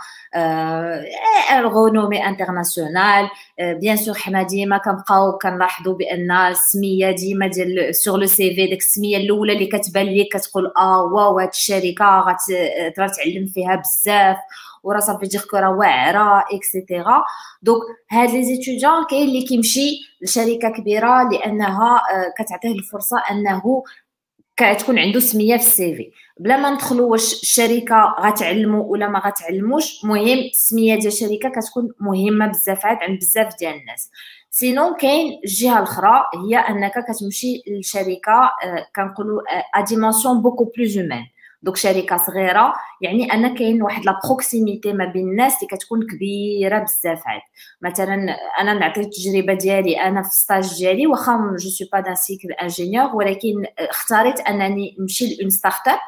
غونومي انترناسيونال. بيان سور حنا ديما كنبقاو كنلاحظوا بان السميه ديما ديال سور لو سي في، ديك السميه الاولى اللي كتبان ليك كتقول واو هاد الشركه غتقدر تعلم فيها بزاف وراه صافي ديك راه واعره اكسيتيرا. دونك هاد لي زيتيديون كاين اللي كيمشي لشركه كبيره لانها كتعطيه الفرصه انه كتكون عنده سميه في السي في، بلا ما ندخلوا واش الشركه غتعلموا ولا ما غتعلموش. مهم السميه ديال الشركه كتكون مهمه بزاف عند بزاف ديال الناس. سينو كاين الجهه الاخرى هي انك كتمشي لشركه كنقولوا ا ديمونسيون بوكو بلوز هومان. دوك شركه صغيره يعني ان كاين واحد لا بروكسيميتي ما بين الناس اللي كتكون كبيره بزاف عاد. مثلا انا نعطي التجربه ديالي، انا في ستاج ديالي واخا جو سوي با دان سيكل انجينيور، ولكن اختاريت انني نمشي لون ستارت اب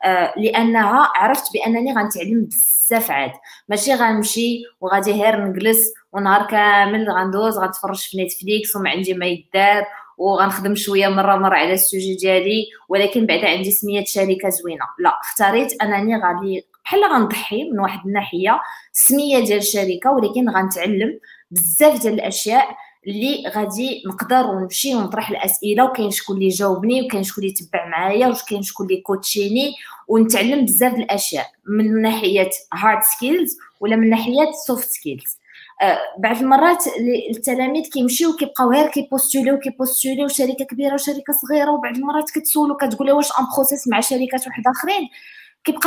لانها عرفت بانني غنتعلم بزاف عاد. ماشي غنمشي وغادي غير نجلس ونهار كامل غندوز غنتفرج في نتفليكس وما عندي ما يدار وغنخدم شويه مره على السوجي ديالي ولكن بعدا عندي سميه شركه زوينه. لا، اختاريت انني غادي بحال غنضحي من واحد الناحيه السميه ديال الشركه، ولكن غنتعلم بزاف ديال الاشياء اللي غادي نقدر ونمشي ونطرح الاسئله وكاين شكون اللي جاوبني وكاين شكون اللي تبع معايا وكاين شكون اللي كوتشيني، ونتعلم بزاف الاشياء من ناحيه هارد سكيلز ولا من ناحيه سوفت سكيلز. بعض المرات التلاميذ كيمشيو كيبقاو غير كيبوستوليو شركه كبيره وشركه صغيره، وبعض المرات كتسولو كتقول له واش ان بروسيس مع شركات واحد اخرين، كيبقى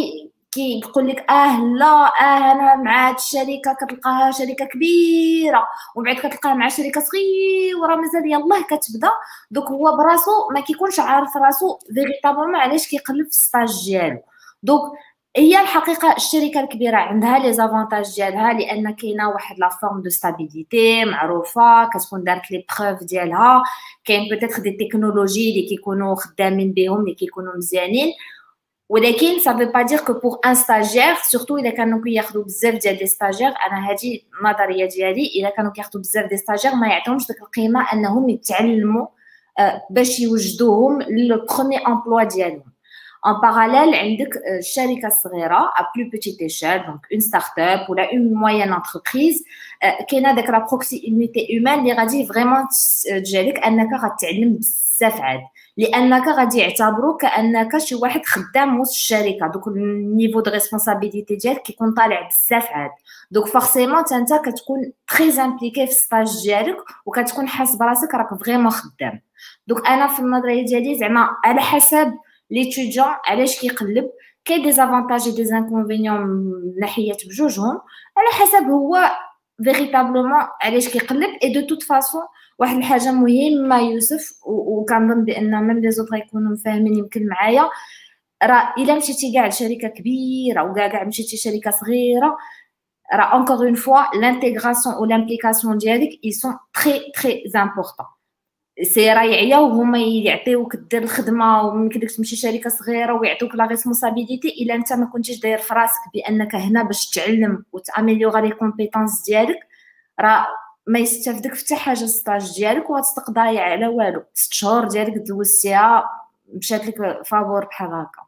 كيقول لك لا انا مع هاد الشركه كتلقاها شركه كبيره ومن بعد كتلقاها مع شركه صغيره مازال يلاه كتبدا. دوك هو براسو ما كيكونش عارف راسو فيريتابلمون علاش كيقلب في الستاج ديالو. دوك هي الحقيقه الشركه الكبيره عندها لي زافونتاج ديالها لان كاينه واحد لا فورم دو ستابيليتي معروفه كتكون دارت لي بروف ديالها، كاين بوتيتر دي تكنولوجي اللي كيكونوا خدامين بهم اللي كيكونوا مزيانين. ولكن ça veut pas dire que pour un stagiaire surtout الا كانوا كياخذوا بزاف ديال لي ستاجير، انا هذه النظريه ديالي، الا كانوا كياخذوا بزاف ديال ستاجير ما يعطيهمش ديك القيمه انهم يتعلموا باش يوجدوهم للبروميي امبلوا ديالهم. En parallèle, عندك الشركة الصغيرة à plus petite échelle, donc une start-up ou une moyenne entreprise, كاينه داك لا بروكسيميتي هيومان اللي غادي فريمون تجعلك انك غتعلم بزاف عاد، لانك غادي يعتبروك كانك شي واحد خدام وسط الشركه. دوك النيفو دو ريسبونسابيلتي ديالك كيكون طالع بزاف عاد. دوك فورسيمون انت كتكون تري امبليكي في الستاج ديالك وكتكون حاس براسك راك فريمون خدام. دوك انا في النظريه ديالي زعما على حسب ليتيديون علاش كيقلب، كاين دي زافونتاج و دي زانكونفينيون من ناحيه بجوجهم على حسب هو فيريتابلومون علاش كيقلب. اي دو توت فاصون واحد الحاجه مهمه يوسف وكنظن بان ميم لي زوطر يكونوا فاهمين يمكن معايا، راه الا مشيتي كاع لشركه كبيره وكاع مشيتي شركه صغيره، راه انكور اون فوا لانتيغراسيون و لامبليكاسيون ديالك اي سون تري امبورطون. سي راه يعياو هما يعطيوك دير الخدمه ويمكنلك تمشي شركه صغيره ويعطوك لا ريسبونسابيلتي الا انت ما كنتيش داير في راسك بانك هنا باش تعلم وتاميليورا لي كومبيتونس ديالك، راه ما يستافدك حتى حاجه الستاج ديالك وغتبقى ضايع على والو. 6 شهور ديالك دوزتيها مشات لك فابور بحال هكا.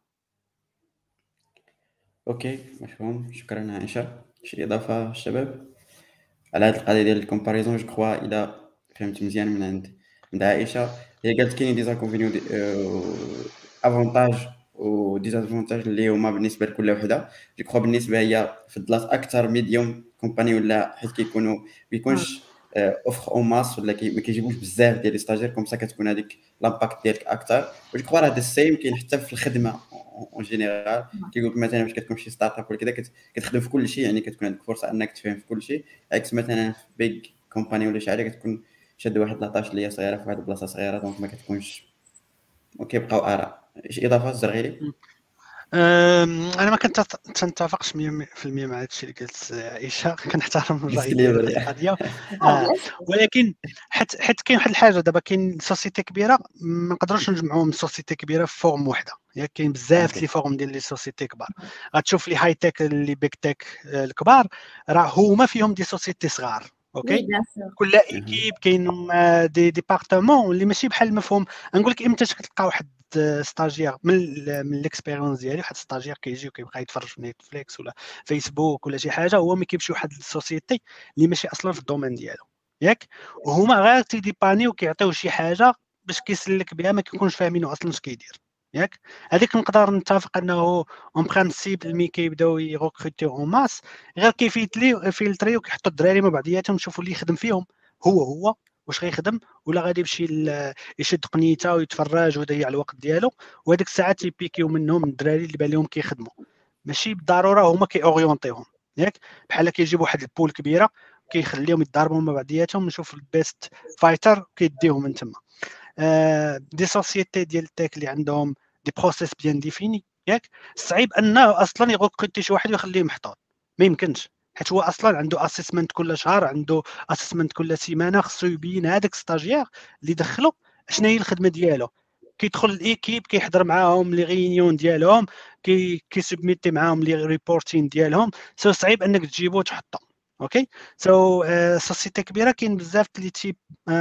اوكي مفهوم، شكرا عائشه. شي اضافه الشباب على هذه القضيه ديال الكومباريزون؟ جو كخوا الا فهمت مزيان من عند عائشه، هي قالت كاين دي زانكونفينيون افونتاج و ديزافونتاج اللي هما بالنسبه لكل وحده. جو كخوا بالنسبه هي فضلات اكثر ميديوم كومباني ولا حيت بيكونش اوفر او ماس ولا ما كيجيبوش بزاف ديال لي ستاجير كوم سا كتكون هذيك لامباكت ديالك اكثر. وجو كخوا هذا السيم كاين حتى في الخدمه اون جينيرال. كيقول لك مثلا باش كتكون شي ستارت اب ولا كذا كتخدم في كل شيء، يعني كتكون عندك فرصه انك تفهم في كل شيء، عكس مثلا في بيج كومباني ولا شي حاجه كتكون شاد واحد لاطاش اللي هي صغيره في واحد البلاصه صغيره، دونك ما كتكونش وكيبقاو اراء. شي اضافه الزرغيلي؟ انا ما كنتفقش 100% مع هذا الشيء اللي قالت عائشه، كنحترم الراي ديالها ولكن حيت كاين واحد الحاجه دابا، كاين سوسيتي كبيره ما نقدروش نجمعوهم سوسيتي كبيره في فورم وحده، يعني كاين بزاف لي فورم ديال لي سوسيتي كبار. غتشوف لي هاي تك لي بيك تك الكبار راه هما فيهم دي سوسيتي صغار. اوكي كل ايكيب كاين دي ديبارتمون اللي ماشي بحال المفهوم. نقول لك امتى كتلقى واحد ستاجير من الاكسبيريونس ديالي، واحد ستاجير كيجي وكيبقى يتفرج في نيتفليكس ولا فيسبوك ولا شي حاجه، هو ما كيمشي واحد السوسيتي اللي ماشي اصلا في الدومين ديالو ياك، وهما غير تيديباني وكيعطيو شي حاجه باش كيسلك بها، ما كيكونش فاهمينو اصلا اش كيدير ياك. هذيك نقدر نتفق انه اون برانسيب ملي كيبداو يغوكروتيو اون ماس غير كيفيلتري وكيحطوا الدراري مع بعضياتهم يشوفوا اللي يخدم فيهم هو واش غيخدم، ولا غادي يمشي يشد قنيته ويتفرج ويضيع الوقت ديالو، وهذيك الساعات تيبيكيو منهم الدراري اللي بان لهم كيخدموا، ماشي بالضروره هما كيوريونطيهم ياك. بحال كيجيب واحد البول كبيره كيخليهم يتضاربوا مع بعضياتهم، نشوف البيست فايتر كيديهم من تما. دي سوسيتي ديال التك اللي عندهم دي بروسيس بيان ديفيني ياك، صعيب انه اصلا يغوكروتي شي واحد ويخليه محطوط، ما يمكنش، حيت هو اصلا عنده اسسمنت كل شهر، عنده اسسمنت كل سيمانه، خصو يبين هذاك ستاجير اللي دخلو شنو هي الخدمه ديالو، كيدخل الايكيب كيحضر معاهم لي ريونيون ديالهم، كيسبميتي معاهم لي ريبورتين ديالهم، سو صعيب انك تجيبو وتحطو. اوكي سو سوسيتي كبيره كاين بزاف لي تيب.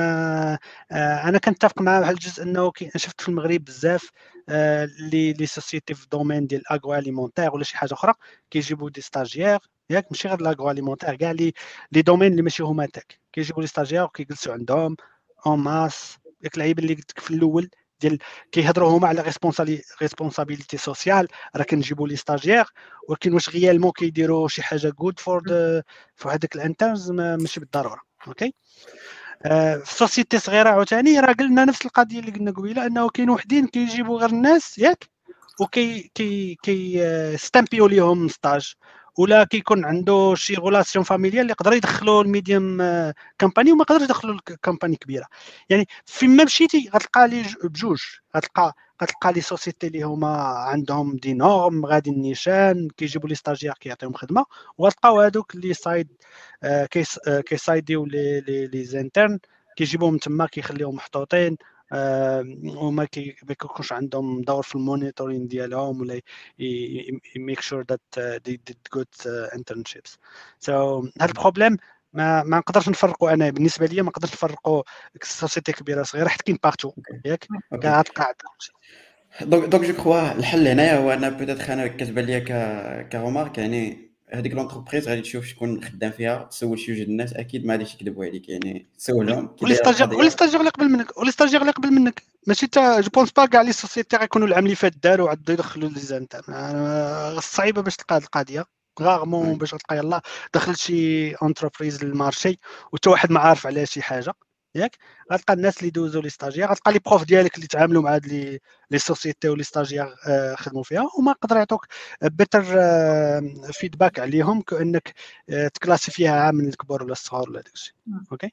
انا كنتفق مع واحد الجزء انه شفت في المغرب بزاف لي سوسيتي في الدومين ديال الاغرو اليمونتير ولا شي حاجه اخرى كيجيبوا دي ستاجير ياك، ماشي غير الاغرو اليمونتير، كاع لي دومين اللي ماشي هما تك كيجيبوا لي ستاجير وكيجلسوا عندهم اون ماس. ديك اللعيبه اللي قلت لك في الاول ديال كيهضروا هما على ريسبونسابيلتي سوسيال، راه كنجيبوا لي ستاجير، ولكن واش غيالمون كيديروا شي حاجه جود فور هذاك الانترنز ماشي بالضروره. اوكي في سوسيتي صغيره عاوتاني راه قلنا نفس القضيه اللي قلنا قبيله، انه كاين وحدين كيجيبوا غير الناس ياك، وكي كي كي ستامبيو ليهم ستاج، ولا كيكون عنده شي غولاسيون فاميليال اللي يقدر يدخلوا الميديوم كامباني وما يقدرش يدخلوا الكامباني كبيره. يعني فين ما مشيتي غتلقى لي بجوج، غتلقى لي سوسيتي اللي هما عندهم دي نورم غادي النيشان كيجيبوا لي ستاجير كيعطيهم خدمه، وغتلقاو هذوك اللي سايد كيسايديو لي زانترن كيجيبوهم تما كيخليهم محطوطين، وما كيكونش عندهم دور في المونيتورين ديالهم ولا يميك شور ذات دي ديد جود انترنشيبس. سو هذا البروبليم ما نقدرش نفرقوا، انا بالنسبه لي ما نقدرش نفرقوا سوسيتي كبيره صغيره حيت كاين بارتو ياك كاع تلقى. دونك جو كخوا الحل هنايا هو انا بوتيتر انا كتبان ليا كرومارك، يعني هذيك لونتربريز غادي تشوف شكون خدام فيها، تسول شي جوج الناس اكيد ما غاديش يكذبوا عليك، يعني تسولهم ولي ستاجير اللي قبل منك ماشي تا جو بونس با كاع لي سوسيتي غيكونوا العام اللي فات داروا عاد يدخلوا لي زانتر، صعيبه باش تلقى هذه القضيه غارمون باش تلقى يلاه دخل شي انتربريز للمارشي وتا واحد ما عارف على شي حاجه ياك. غتلقى الناس اللي دوزوا لي ستاجير، غتلقى لي بروف ديالك اللي تعاملوا مع هاد لي سوسيتي ولي ستاجير خدموا فيها، وما يقدر يعطوك بيتر فيدباك عليهم كانك تكلاسيفيها عام من الكبار ولا الصغار ولا داكشي. اوكي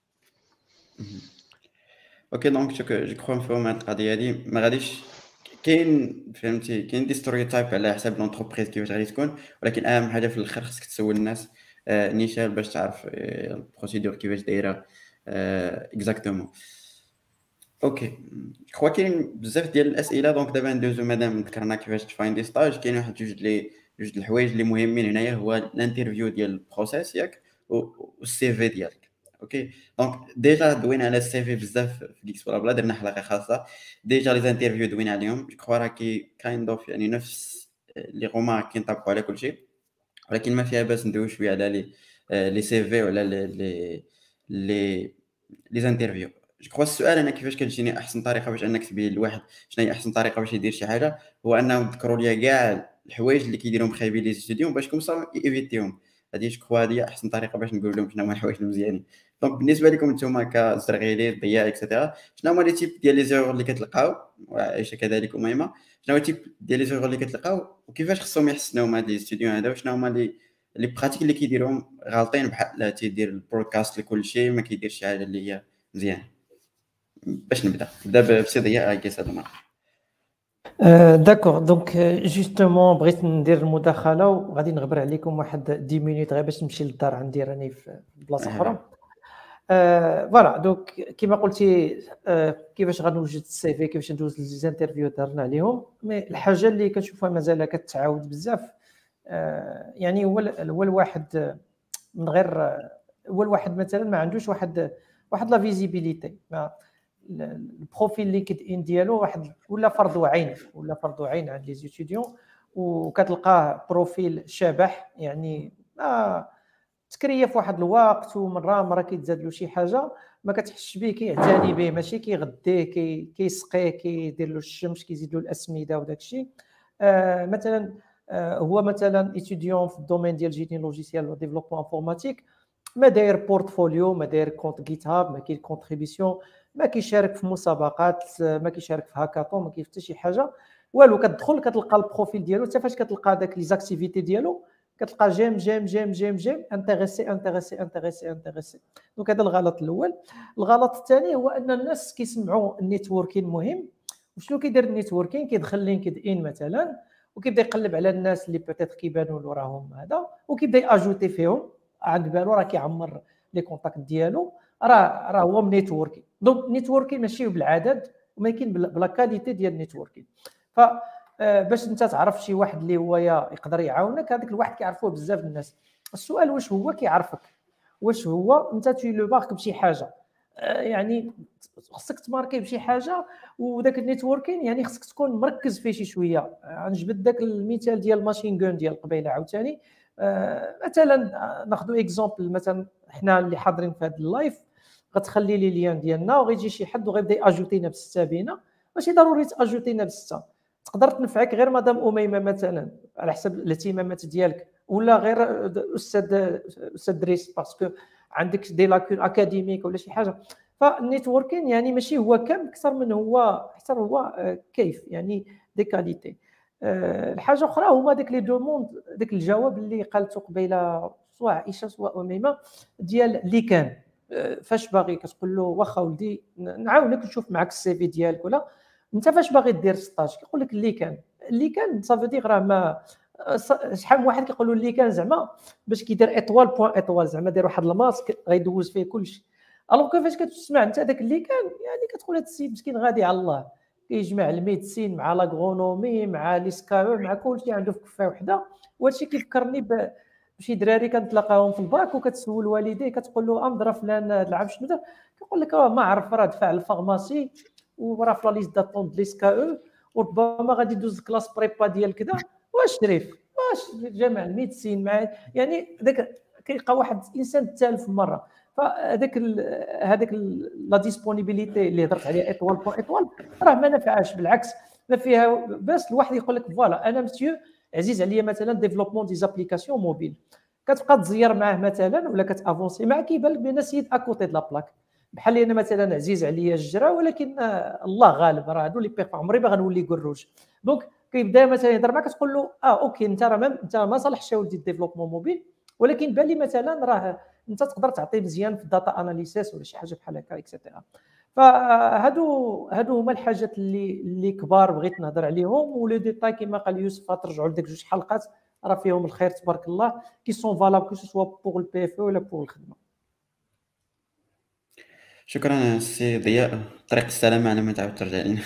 اوكي دونك جو كخوا نفهم هاد القضيه هادي ما غاديش كاين فهمتي، كاين دي ستوريوتايب على حساب لونتربريز كيفاش غادي تكون، ولكن اهم حاجه في الاخر خصك تسول الناس نيشان باش تعرف البروسيدور كيفاش دايره اكزاكتومون. اوكي كخوا كاين بزاف ديال الاسئله، دونك دابا ندوزو مادام ذكرنا كيفاش تفايندي ستاج، كاين واحد جوج الحوايج اللي مهمين هنايا، هو الانترفيو ديال البروسيس ياك والسي في ديالك. اوكي دونك ديجا دوينا على السي في بزاف في جيكس بلا بلا، درنا حلقه خاصه ديجا لي انترفيو دوينا عليهم، جو كخوا راه كايند اوف يعني نفس لي رومارك كينطبقوا على كل شيء، ولكن ما فيها باس ندوي شويه على لي سي في ولا لي انترفيو. جو كخوا السؤال انا كيفاش كتجيني احسن طريقه باش انك تبين لواحد شنو هي احسن طريقه باش يدير شي حاجه، هو انهم يذكروا ليا كاع الحوايج اللي كيديرهم خايبين لي ستوديون باش كومسا ايفيتيهم. هذه جو كخوا هذه احسن طريقه باش نقول لهم شنو هما الحوايج المزيانين. دونك بالنسبه لكم نتوما كزرغيلي ضياع اكسيتيرا، شنو هما لي تيب ديال لي زيرور اللي كتلقاو، وعائشه كذلك وميمه، شنو هو التيب ديال لي زيرور اللي كتلقاو وكيفاش خصهم يحسنوا هاد لي ستوديون هذا، وشنو هما لي براتيك اللي كيديروهم غالطين، بحال تيدير البرودكاست لكل شيء ما كيديرش شي حاجه اللي هي مزيان. باش نبدا بسي ضياء كيس هذا المره. داكور دونك جوستومون بغيت ندير المداخله وغادي نغبر عليكم واحد 10 مينوت غير باش نمشي للدار عندي راني في بلاصه اخرى. فوالا دونك كما قلتي كيفاش غنوجد السي في، كيفاش ندوز ليزانترفيو دارنا عليهم، مي الحاجه اللي كنشوفها مازال كتعاود بزاف يعني هو الواحد من غير هو الواحد مثلا ما عندوش واحد لا فيزيبيليتي، البروفيل لينكد ان ديالو واحد ولا فرض عين عند لي زيتيديون، وكتلقاه بروفيل شبح يعني تكريف واحد الوقت ومره كيتزاد له شي حاجه ما كتحسش به، كيعتني به ماشي كيغديه كيسقيه كيدير له الشمس كيزيد له الاسمده وداك الشيء. مثلا هو مثلا ايتيديون في الدومين ديال جيني لوجيسيال و ديفلوبمون انفورماتيك، ما داير بورتفوليو، ما داير كونت جيت هاب، ما كاين كونتريبيسيون، ما كيشارك في مسابقات، ما كيشارك في هاكاطون، ما كاين حتى شي حاجه والو. كتدخل كتلقى البروفيل ديالو، حتى فاش كتلقى داك لي زاكتيفيتي ديالو كتلقى جيم انتريسي. دونك هذا الغلط الاول. الغلط الثاني هو ان الناس كيسمعوا النيتوركين مهم، وشنو كيدير النيتوركين؟ كيدخل لينكد ان مثلا وكيبدا يقلب على الناس اللي بيتيت كيبانوا له راهم هذا، وكيبدا ياجوتي فيهم، عند بالو راه كيعمر لي كونتاكت ديالو، راه هو من نيتوركين. دونك النيتوركين ماشي بالعدد، ولكن بلا كاليتي ديال النيتوركين. ف باش انت تعرف شي واحد اللي هو يقدر يعاونك، هذاك الواحد كيعرفوه بزاف الناس. السؤال واش هو كيعرفك، واش هو انت تي لو مارك بشي حاجه، يعني خصك تماركي بشي حاجه. وداك النيتوركين يعني خصك تكون مركز فيه شي شويه. غنجبد داك المثال ديال ماشين غون ديال قبيله عاوتاني. مثلا ناخذ اكزومبل، مثلا حنا اللي حاضرين في هذا اللايف، غتخلي لي ليان ديالنا وغيجي شي حد وغيبدا ياجوتينا بسته بينا، ماشي ضروري تاجوتينا بسته، تقدر تنفعك غير مدام اميمه مثلا على حسب الاهتمامات ديالك، ولا غير استاذ دريس باسكو عندك دي لاكون اكاديميك ولا شي حاجه. فالنيتوركين يعني ماشي هو كم اكثر من هو حتى هو كيف يعني دي كاليتي. الحاجه اخرى هما داك لي دوموند، داك الجواب اللي قالته قبيله سواء عائشه سواء اميمه ديال اللي كان فاش باغي كتقول له واخا ولدي نعاونك نشوف معك السي في ديالك، ولا انت فاش باغي دير ستاج كيقول لك اللي كان صافي دير راه ما شحال من واحد كيقولوا اللي كان زعما باش كيدير ايطوال بوين ايطوال، زعما دير واحد الماسك غيدوز فيه كلشي. الوغ كيفاش كتسمع انت داك اللي كان يعني كتقول هذا السيد مسكين غادي على الله، كيجمع الميديسين مع لاغرونومي مع لي سكاو مع كلشي عنده في كفه وحده. وهادشي كيفكرني بشي دراري كنتلاقاهم في الباك وكتسول والديه كتقول له امضرا فلان هذا العام شنو دار، كيقول لك راه ما عرف، راه دفع الفارماسي وراه في لا ليست داتون ديال سكاو وربما غادي يدوز كلاس بريبا ديال كذا. واش شريف واش جامع الميديسين مع يعني داك كيلقى واحد الانسان الثالث مره. هذاك لا ديسپونيبيليتي اللي هضرت عليها ايطوال بوين ايطوال راه ما نفعاش، بالعكس ما فيها. باش الواحد يقول لك فوالا انا مسيو عزيز عليا مثلا ديفلوبمون دي زابليكاسيون موبيل، كتبقى تزير معاه مثلا ولا كتافونسي معاه كيبان لك بان سيد اكوتي د لا بلاك. بحال انا مثلا عزيز عليا الجرا، ولكن الله غالب راه هادو لي بيغ عمري ما غنولي كروج. دونك كيبدا مثلا يهضر معك تقول له اوكي انت ما صالحش ولدي الديفلوبمون موبيل، ولكن بان لي مثلا راه انت تقدر تعطي مزيان في الداتا اناليسيس ولا شي حاجه بحال هكا اكسيتيرا. فهادو هما الحاجات اللي كبار بغيت نهضر عليهم. ولو ديتاي كما قال يوسف ترجعوا لديك جوج حلقات راه فيهم الخير تبارك الله، كي سون فالابل كو سوا بوغ البي اف ولا بوغ الخدمه. شكرا سي ضياء، طريق السلامه على ما تعاود ترجع لنا.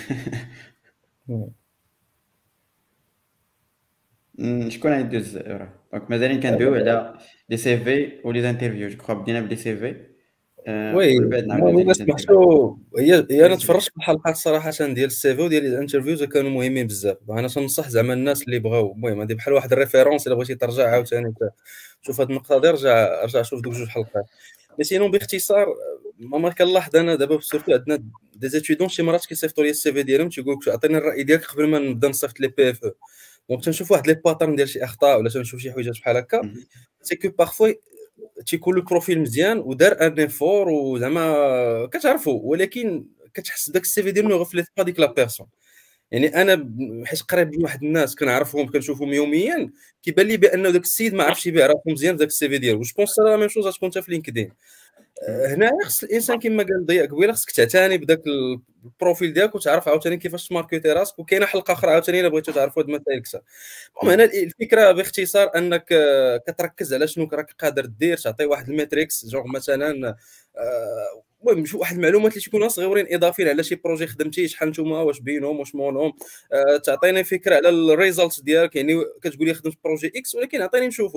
شكون غيدوز دونك مازالين كندويو على لي سي في ولي انترفيو. جو كخوا بدينا بلي سي في وي ومن بعد نعاودو الا سمحتوا هي انا تفرجت في الحلقات صراحه ديال السي في وديال الانترفيوز كانوا مهمين بزاف. انا تنصح زعما الناس اللي بغاو المهم هذه بحال واحد الريفيرونس الا بغيتي ترجع عاوتاني تشوف هذه النقطه دي رجع شوف دوك جوج حلقات. مي سينون باختصار ما كنلاحظ انا دابا سورتو عندنا دي زيتيدون شي مرات كيصيفطوا لي السي في ديالهم تيقول لك عطيني الراي ديالك قبل ما نبدا نصيفط لي بي اف او. دونك تنشوف واحد لي باترن ديال شي اخطاء ولا تنشوف شي حويجات بحال هكا سي كو بارفو تيكون البروفيل مزيان ودار ان ايفور وزعما كتعرفوا، ولكن كتحس داك السي في ديالو ما غفلت با ديك لا بيرسون. يعني انا حيت قريب من واحد الناس كنعرفهم كنشوفهم يوميا كيبان لي بانه داك السيد ما عرفش يبيع راسو مزيان داك السي في ديالو. جو بونس لا ميم شوز غتكون حتى في لينكدين. هنا خص الانسان كما قال ضياء قبيله خصك تعتني بداك البروفيل ديالك وتعرف عاوتاني كيفاش تماركيتي راسك. وكاينه حلقه اخرى عاوتاني الا بغيتو تعرفوا هاد المسائل اكثر. المهم هنا الفكره باختصار انك كتركز على شنو راك قادر دير، تعطي واحد الميتريكس جوغ مثلا المهم شي واحد المعلومات اللي تكونوا صغيورين اضافيين على شي بروجي خدمتي شحال نتوما واش بينهم واش مونهم. تعطيني فكره على الريزلت ديالك، يعني كتقول لي خدمت بروجي اكس ولكن عطيني نشوفوا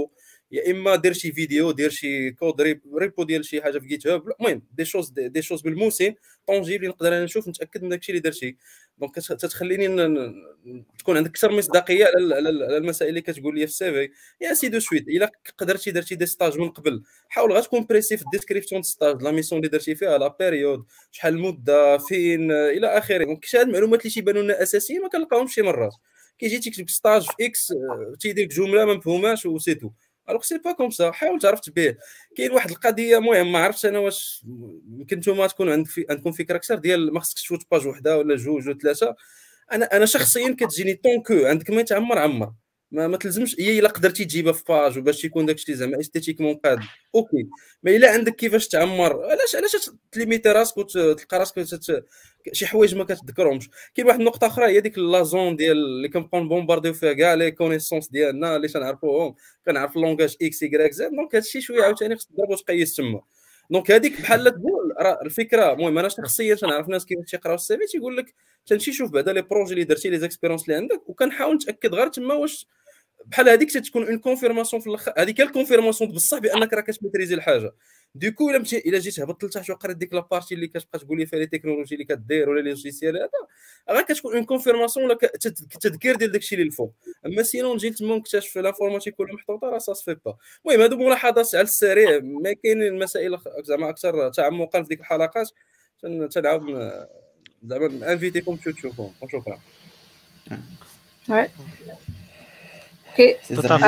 يا اما دير شي فيديو، دير شي كود ريبو ديال شي حاجه في جيت هاب، المهم دي شوز ملموسين طونجيبل نقدر انا نشوف نتاكد من داكشي اللي درتي. دونك تتخليني تكون عندك اكثر مصداقيه على المسائل اللي كتقول لي في السي في. يا سي دو سويت الا قدرتي درتي دي ستاج من قبل، حاول غتكون بريسي في الديسكريبسيون دو ستاج، لا ميسيون اللي درتي فيها، لا بيريود، شحال المده، فين، الى اخره. دونك شي هاد المعلومات اللي تيبانوا لنا اساسيين ما كنلقاوهمش شي مرات. كيجي تكتب ستاج في اكس تيدير لك جمله ما مفهوماش وسيتو. الوغ سي با كوم سا، حاول تعرف تبيه. كاين واحد القضيه مهم ما عرفتش انا واش يمكن نتوما تكون عندكم فكره اكثر ديال ما خصكش تفوت باج وحده ولا جوج ولا ثلاثه. انا شخصيا كتجيني طونكو عندك ما يتعمر عمر، ما تلزمش هي الا قدرتي تجيبها في باج وباش يكون داكشي زعما استيتيكمون قاد اوكي. ما الا عندك كيفاش تعمر، علاش تليميتي راسك وتلقى راسك شي حوايج ما كتذكرهمش. كاين واحد النقطه اخرى هي ديك لازون ديال اللي كنبقاو نبومبارديو فيها كاع لي كونيسونس ديالنا اللي تنعرفوهم، كنعرف اللونغاج اكس يكراك زد. دونك هادشي شويه عاوتاني خصك تضرب وتقيس تما. دونك هذيك بحال تقول راه الفكره. المهم انا شخصيا تنعرف ناس كيفاش تيقراو السي في تيقول لك تنمشي شوف بعدا لي بروجي اللي درتي لي زيكسبيرونس اللي عندك، وكنحاول نتاكد غير تما واش بحال هذيك تتكون اون كونفيرماسيون في الاخر. هذيك هي الكونفيرماسيون بصح بانك راه كتميتريزي الحاجه. دوكو الا جيت هبطت لتحت وقريت ديك لابارتي اللي كتبقى تقول لي فيها لي تكنولوجي اللي كدير ولا لي لوجيسيال هذا، راه كتكون اون كونفيرماسيون ولا تذكير ديال داكشي اللي الفوق. اما سينون نجي تما نكتشف لافورماتيك ولا محطوطه راه سا سفي با. المهم هادو ملاحظات على السريع، ما كاين المسائل زعما اكثر تعمقا في ديك الحلقات تنعاود زعما انفيتيكم تشوفوهم. وشكرا. Ouais. اوكي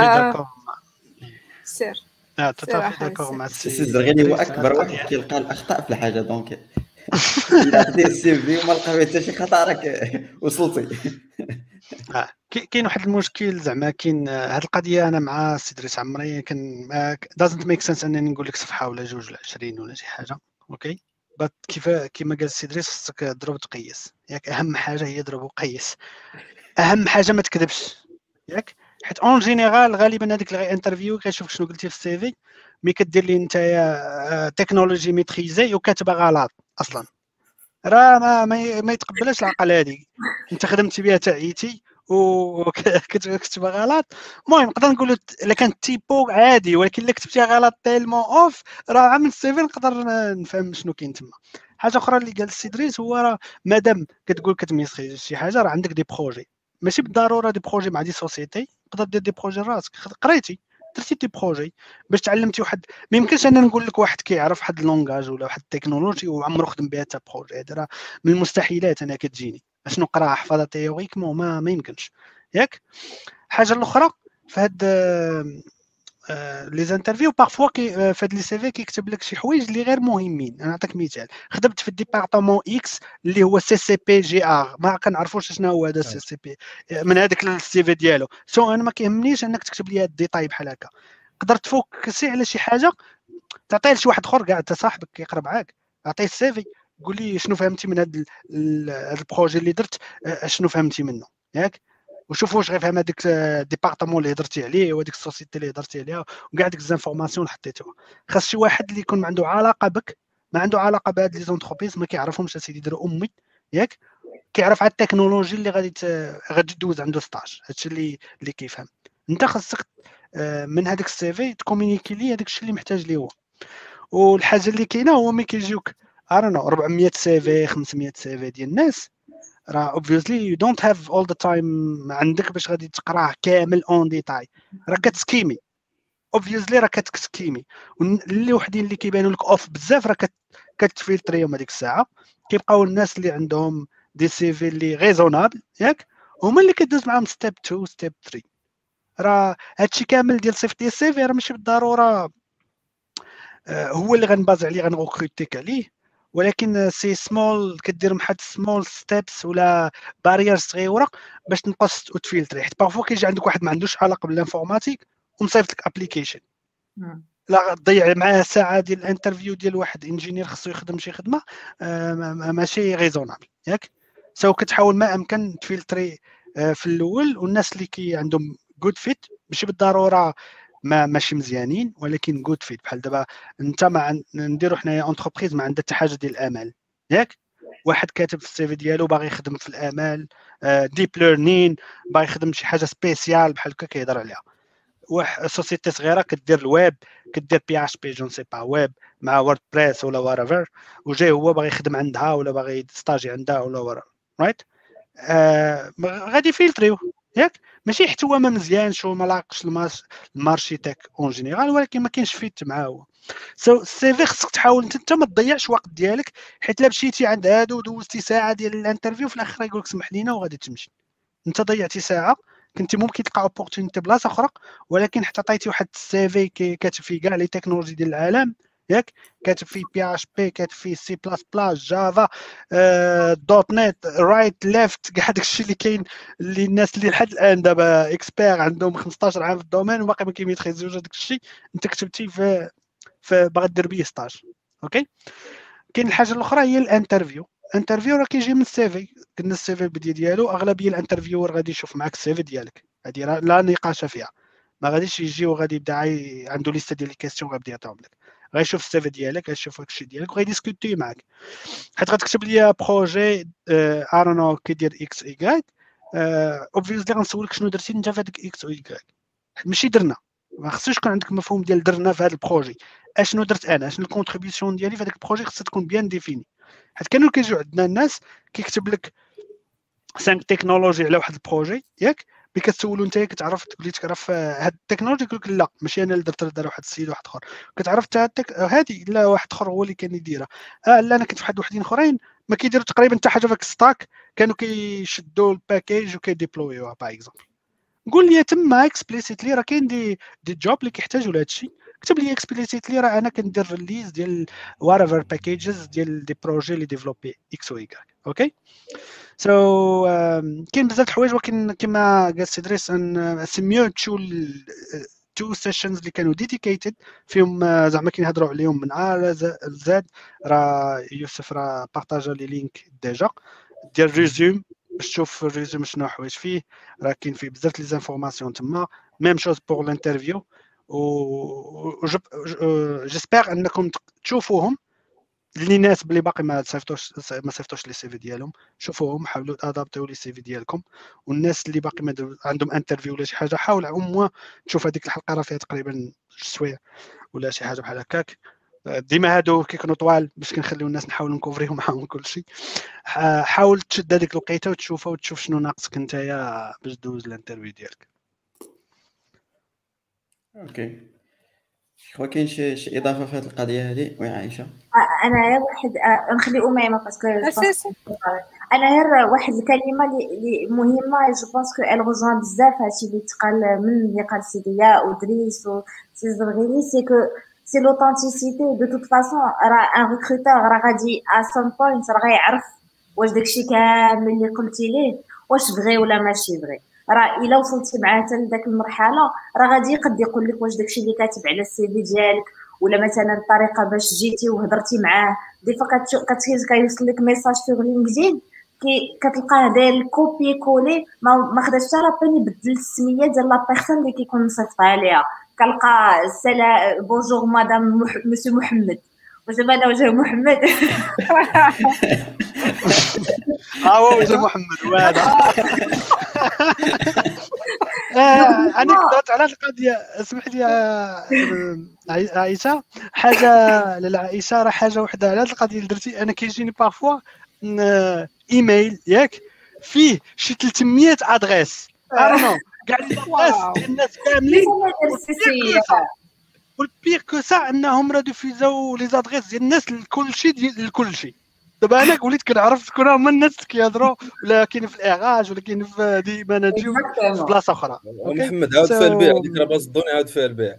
سير تتفق داكور مع السي الزرغيني هو اكبر واحد كيلقى الاخطاء في الحاجه. دونك الا خديت السي في وما لقى حتى شي خطا راك وصلتي. كاين واحد المشكل زعما كاين هاد القضيه. انا مع السي دريس عمري كان دازنت ميك سنس انني نقول لك صفحه ولا جوج ولا 20 ولا شي حاجه. اوكي كيما قال السي دريس خصك تضرب تقيس. ياك اهم حاجه هي ضرب وقيس. اهم حاجه ما تكذبش. ياك حيت اون جينيرال غالبا هذيك اللي انترفيو كيشوف شنو قلتي في السي في، مي كدير لي نتايا تكنولوجي ميتريزي وكاتبه غلط اصلا، راه ما يتقبلش العقل. هذه انت خدمتي بها تعيتي وكتبها غلط. المهم نقدر نقولوا الا كانت تيبو عادي، ولكن الا كتبتيها غلط تيلمون اوف راه عامل السي في نقدر نفهم شنو كاين تما. حاجه اخرى اللي قال السي دريس هو راه مادام كتقول كتميسري شي حاجه راه عندك دي بروجي، ماشي بالضروره دي بروجي مع دي سوسيتي، تقدر دير دي بروجي راسك. قريتي درتي دي بروجي باش تعلمتي واحد. ما يمكنش انا نقول لك واحد كيعرف واحد اللونغاج ولا واحد التكنولوجي وعمرو خدم بها حتى بروجي. هذا راه من المستحيلات انا كتجيني باش نقرا حفظها تيوريكمون ما يمكنش. ياك حاجه الاخرى في هاد لي زانترفيو بارفوا في هاد لي سي في كيكتب لك شي حوايج اللي غير مهمين. انا نعطيك مثال. خدمت في الديبارطمون اكس اللي هو سي سي بي جي ار، ما كنعرفوش شنو هو هذا سي سي بي من هذاك السي في ديالو. سو انا ما كيهمنيش انك تكتب لي هاد الديتاي بحال هكا. تقدر تفوكسي على شي حاجه تعطيه لشي واحد اخر كاع انت صاحبك كيقرا معاك، عطيه السي في قول لي شنو فهمتي من هاد البروجي اللي درت، شنو فهمتي منه. ياك وشوف واش غيفهم هذاك الديبارطمون اللي هضرتي عليه وهذيك السوسيتي اللي هضرتي عليها وكاع ديك الانفورماسيون اللي حطيتوها. خاص شي واحد اللي يكون عنده علاقه بك، ما عنده علاقه بهاد لي زونتربريز ما كيعرفهمش اسيدي يديروا امي. ياك كيعرف على التكنولوجي اللي غادي تدوز عنده ستاج. هادشي اللي كيفهم. انت خاصك من هذاك السي في تكومونيكي ليه هذاك الشيء اللي محتاج ليه هو. والحاجه اللي كاينه هو ملي كيجيوك 400 سي في 500 سي في ديال الناس، راه obviously you don't have all the time عندك باش غادي تقراه كامل اون ديتاي. راه كتسكيمي obviously، راه كتسكيمي. واللي وحدين اللي كيبانوا لك اوف بزاف راه كتفلتريهم هذيك الساعه. كيبقاو الناس اللي عندهم دي سي في اللي ريزونابل ياك هما اللي كدوز معاهم ستيب 2 ستيب 3. راه هادشي كامل ديال صيفط ديال السي في راه ماشي بالضروره هو اللي غنباز عليه غنغوكروتيك عليه، ولكن سي سمول كدير واحد سمول ستيبس ولا باريرز صغيره باش تنقص وتفلتري. حيت بارفو كيجي عندك واحد ما عندوش علاقه بالانفورماتيك ومصيفط لك ابليكيشن لا تضيع معاه ساعه ديال الانترفيو ديال واحد انجينير خصو يخدم شي خدمه ماشي ريزونابل. ياك سو كتحاول ما امكن تفلتري في الاول، والناس اللي كي عندهم جود فيت ماشي بالضروره ماشي مزيانين ولكن جود فيت. بحال دابا انت ما نديرو حنايا اونتربريز ما عندها حتى حاجه ديال الامال. ياك واحد كاتب في السي في ديالو باغي يخدم في الامال ديب ليرنين، باغي يخدم شي حاجه سبيسيال بحال هكا كيهضر عليها، واحد سوسيتي صغيره كدير الويب، كدير بي اش بي جون سي با ويب مع ووردبريس ولا وارافير، وجاي هو باغي يخدم عندها ولا باغي يستاجي عندها ولا ورا رايت، غادي فيلتريو ياك. ماشي حتى هو ما مزيانش وما لاقش المارشي تاك اون جينيرال، ولكن ما كاينش فيت معاه هو. سو السي في خصك تحاول انت ما تضيعش وقت ديالك، حيت لا مشيتي عند هادو ودوزتي ساعه ديال الانترفيو في الاخر يقول لك سمح لينا وغادي تمشي، انت ضيعتي ساعه كنتي ممكن تلقى اوبورتونيتي بلاصه اخرى، ولكن حتى عطيتي واحد السي في كاتب فيه كاع لي تكنولوجي ديال العالم ياك، كاتب فيه بي اش بي، كاتب فيه سي بلاس بلاس، جافا، دوت نت، رايت ليفت، كاع داكشي اللي كاين اللي الناس اللي لحد الان دابا اكسبير عندهم 15 عام في الدومين وباقي ما كيميتريزيوش داك الشيء، انت كتبتي في باغي دير بيه ستاج. اوكي. كاين الحاجه الاخرى هي الانترفيو. الانترفيو راه كيجي من السي في، قلنا السي في البدايه ديالو اغلبيه الانترفيور غادي يشوف معاك السي في ديالك، هذه لا نقاش فيها، ما غاديش يجي وغادي يبدا عنده ليسته ديال لي كيسيون غادي يعطيهم لك، غيشوف السي في ديالك، غيشوف داكشي ديالك وغيديسكوتي معاك، حيت غتكتب لي بروجي ارونو كيدير اكس ايكغيك، اوبفيوسلي غنسولك شنو درتي انت في هذاك اكس وايكغيك، ماشي درنا، ما خصوش يكون عندك مفهوم ديال درنا في هذا البروجي، اشنو درت انا، اشنو الكونتريبيوشن ديالي في هذاك البروجي، خصها تكون بيان ديفيني. حيت كانوا كيجيو عندنا الناس كيكتب لك 5 تكنولوجي على واحد البروجي ياك، ملي كتسولو نتايا كتعرف تقول تعرف هاد التكنولوجي، يقول لك لا ماشي انا اللي درت، دار واحد السيد واحد اخر، كتعرف حتى هادي لا واحد اخر هو اللي كان يديرها، لا انا كنت في وحدين اخرين ما كيديروا تقريبا حتى حاجه في الستاك، كانوا كيشدوا الباكيج وكيديبلويوها باغ اكزومبل. قول لي تما اكسبليسيتلي راه كاين دي جوب اللي كيحتاجوا لهذا الشيء، كتب لي اكسبليسيتلي راه انا كندير ريليز ديال واريفر باكيجز ديال دي بروجي اللي ديفلوبي اكس و ايكغيك. اوكي. سو كاين بزاف د الحوايج، ولكن كما قال سي دريس ان سي ميو تو سيشنز اللي كانوا ديديكيتد فيهم زعما كنهضروا عليهم من ا لزاد، راه يوسف راه بارطاجا لي لينك ديجا ديال ريزوم باش تشوف الريزوم شنو حوايج فيه، راه كاين فيه بزاف لي زانفورماسيون تما، ميم شوز بور الانترفيو، و جيسبر انكم تشوفوهم اللي ناس بلي باقي ما صيفطوش لي سي في ديالهم، شوفوهم حاولوا ادابتيو لي سي في ديالكم، والناس اللي باقي ما عندهم انترفيو ولا شي حاجه حاول او تشوف هذيك الحلقه راه فيها تقريبا 2 سوايع ولا شي حاجه بحال هكاك، ديما هادو كيكونوا طوال باش كنخليو الناس نحاولوا نكوفريهم معاهم كلشي، حاول تشد هذيك الوقيته وتشوفها وتشوف شنو ناقصك نتايا باش دوز الانترفيو ديالك. اوكي، شكون كاين شي اضافه في هذه القضيه هذه ويا عائشه؟ انا غير واحد نخلي اميمه باسكو انا غير واحد الكلمه اللي مهمه، جو بونس كو ال رجوان بزاف هادشي اللي تقال من اللي قال سي ضياء ودريس وسي زرغيلي، سي كو سي لوثنتيسيتي دو توت فاصون، راه ان ريكروتور راه غادي ا سام بوينت راه غيعرف واش داكشي كامل اللي قلتي ليه واش فغي ولا ماشي فغي، راه الا وصلتي معاه حتى لذاك المرحله راه غادي يقد يقول لك واش داكشي اللي كاتب على السي في ديالك ولا مثلا الطريقه باش جيتي وهضرتي معاه. دي فوا كيوصل لك ميساج في لينكدين كتلقاه داير كوبي كولي، ما خداش حتى لابين يبدل السميه ديال لا بيرسون اللي كيكون مصيفط عليها، كنلقى سلام بونجور مدام مسيو محمد، واش دابا انا وجه محمد هو وجه محمد وهذا انا كنت على القضيه. اسمح لي عائشه، حاجه للعائشه راه حاجه وحده على هذه القضيه اللي درتي، انا كيجيني بارفوا ايميل ياك فيه شي 300 ادريس ارنو كاع الناس ديال الناس كاملين، والبير كو سا انهم راه ديفيزاو لي زادريس ديال الناس لكلشي ديال الكلشي. دابا انا وليت كنعرف شكون هما الناس اللي كيهضروا، ولا كاين في الاغاج ولا كاين في دي ماناجيو في بلاصه اخرى. محمد عاود فيها البيع، ديك راه باز الدوني عاود فيها البيع.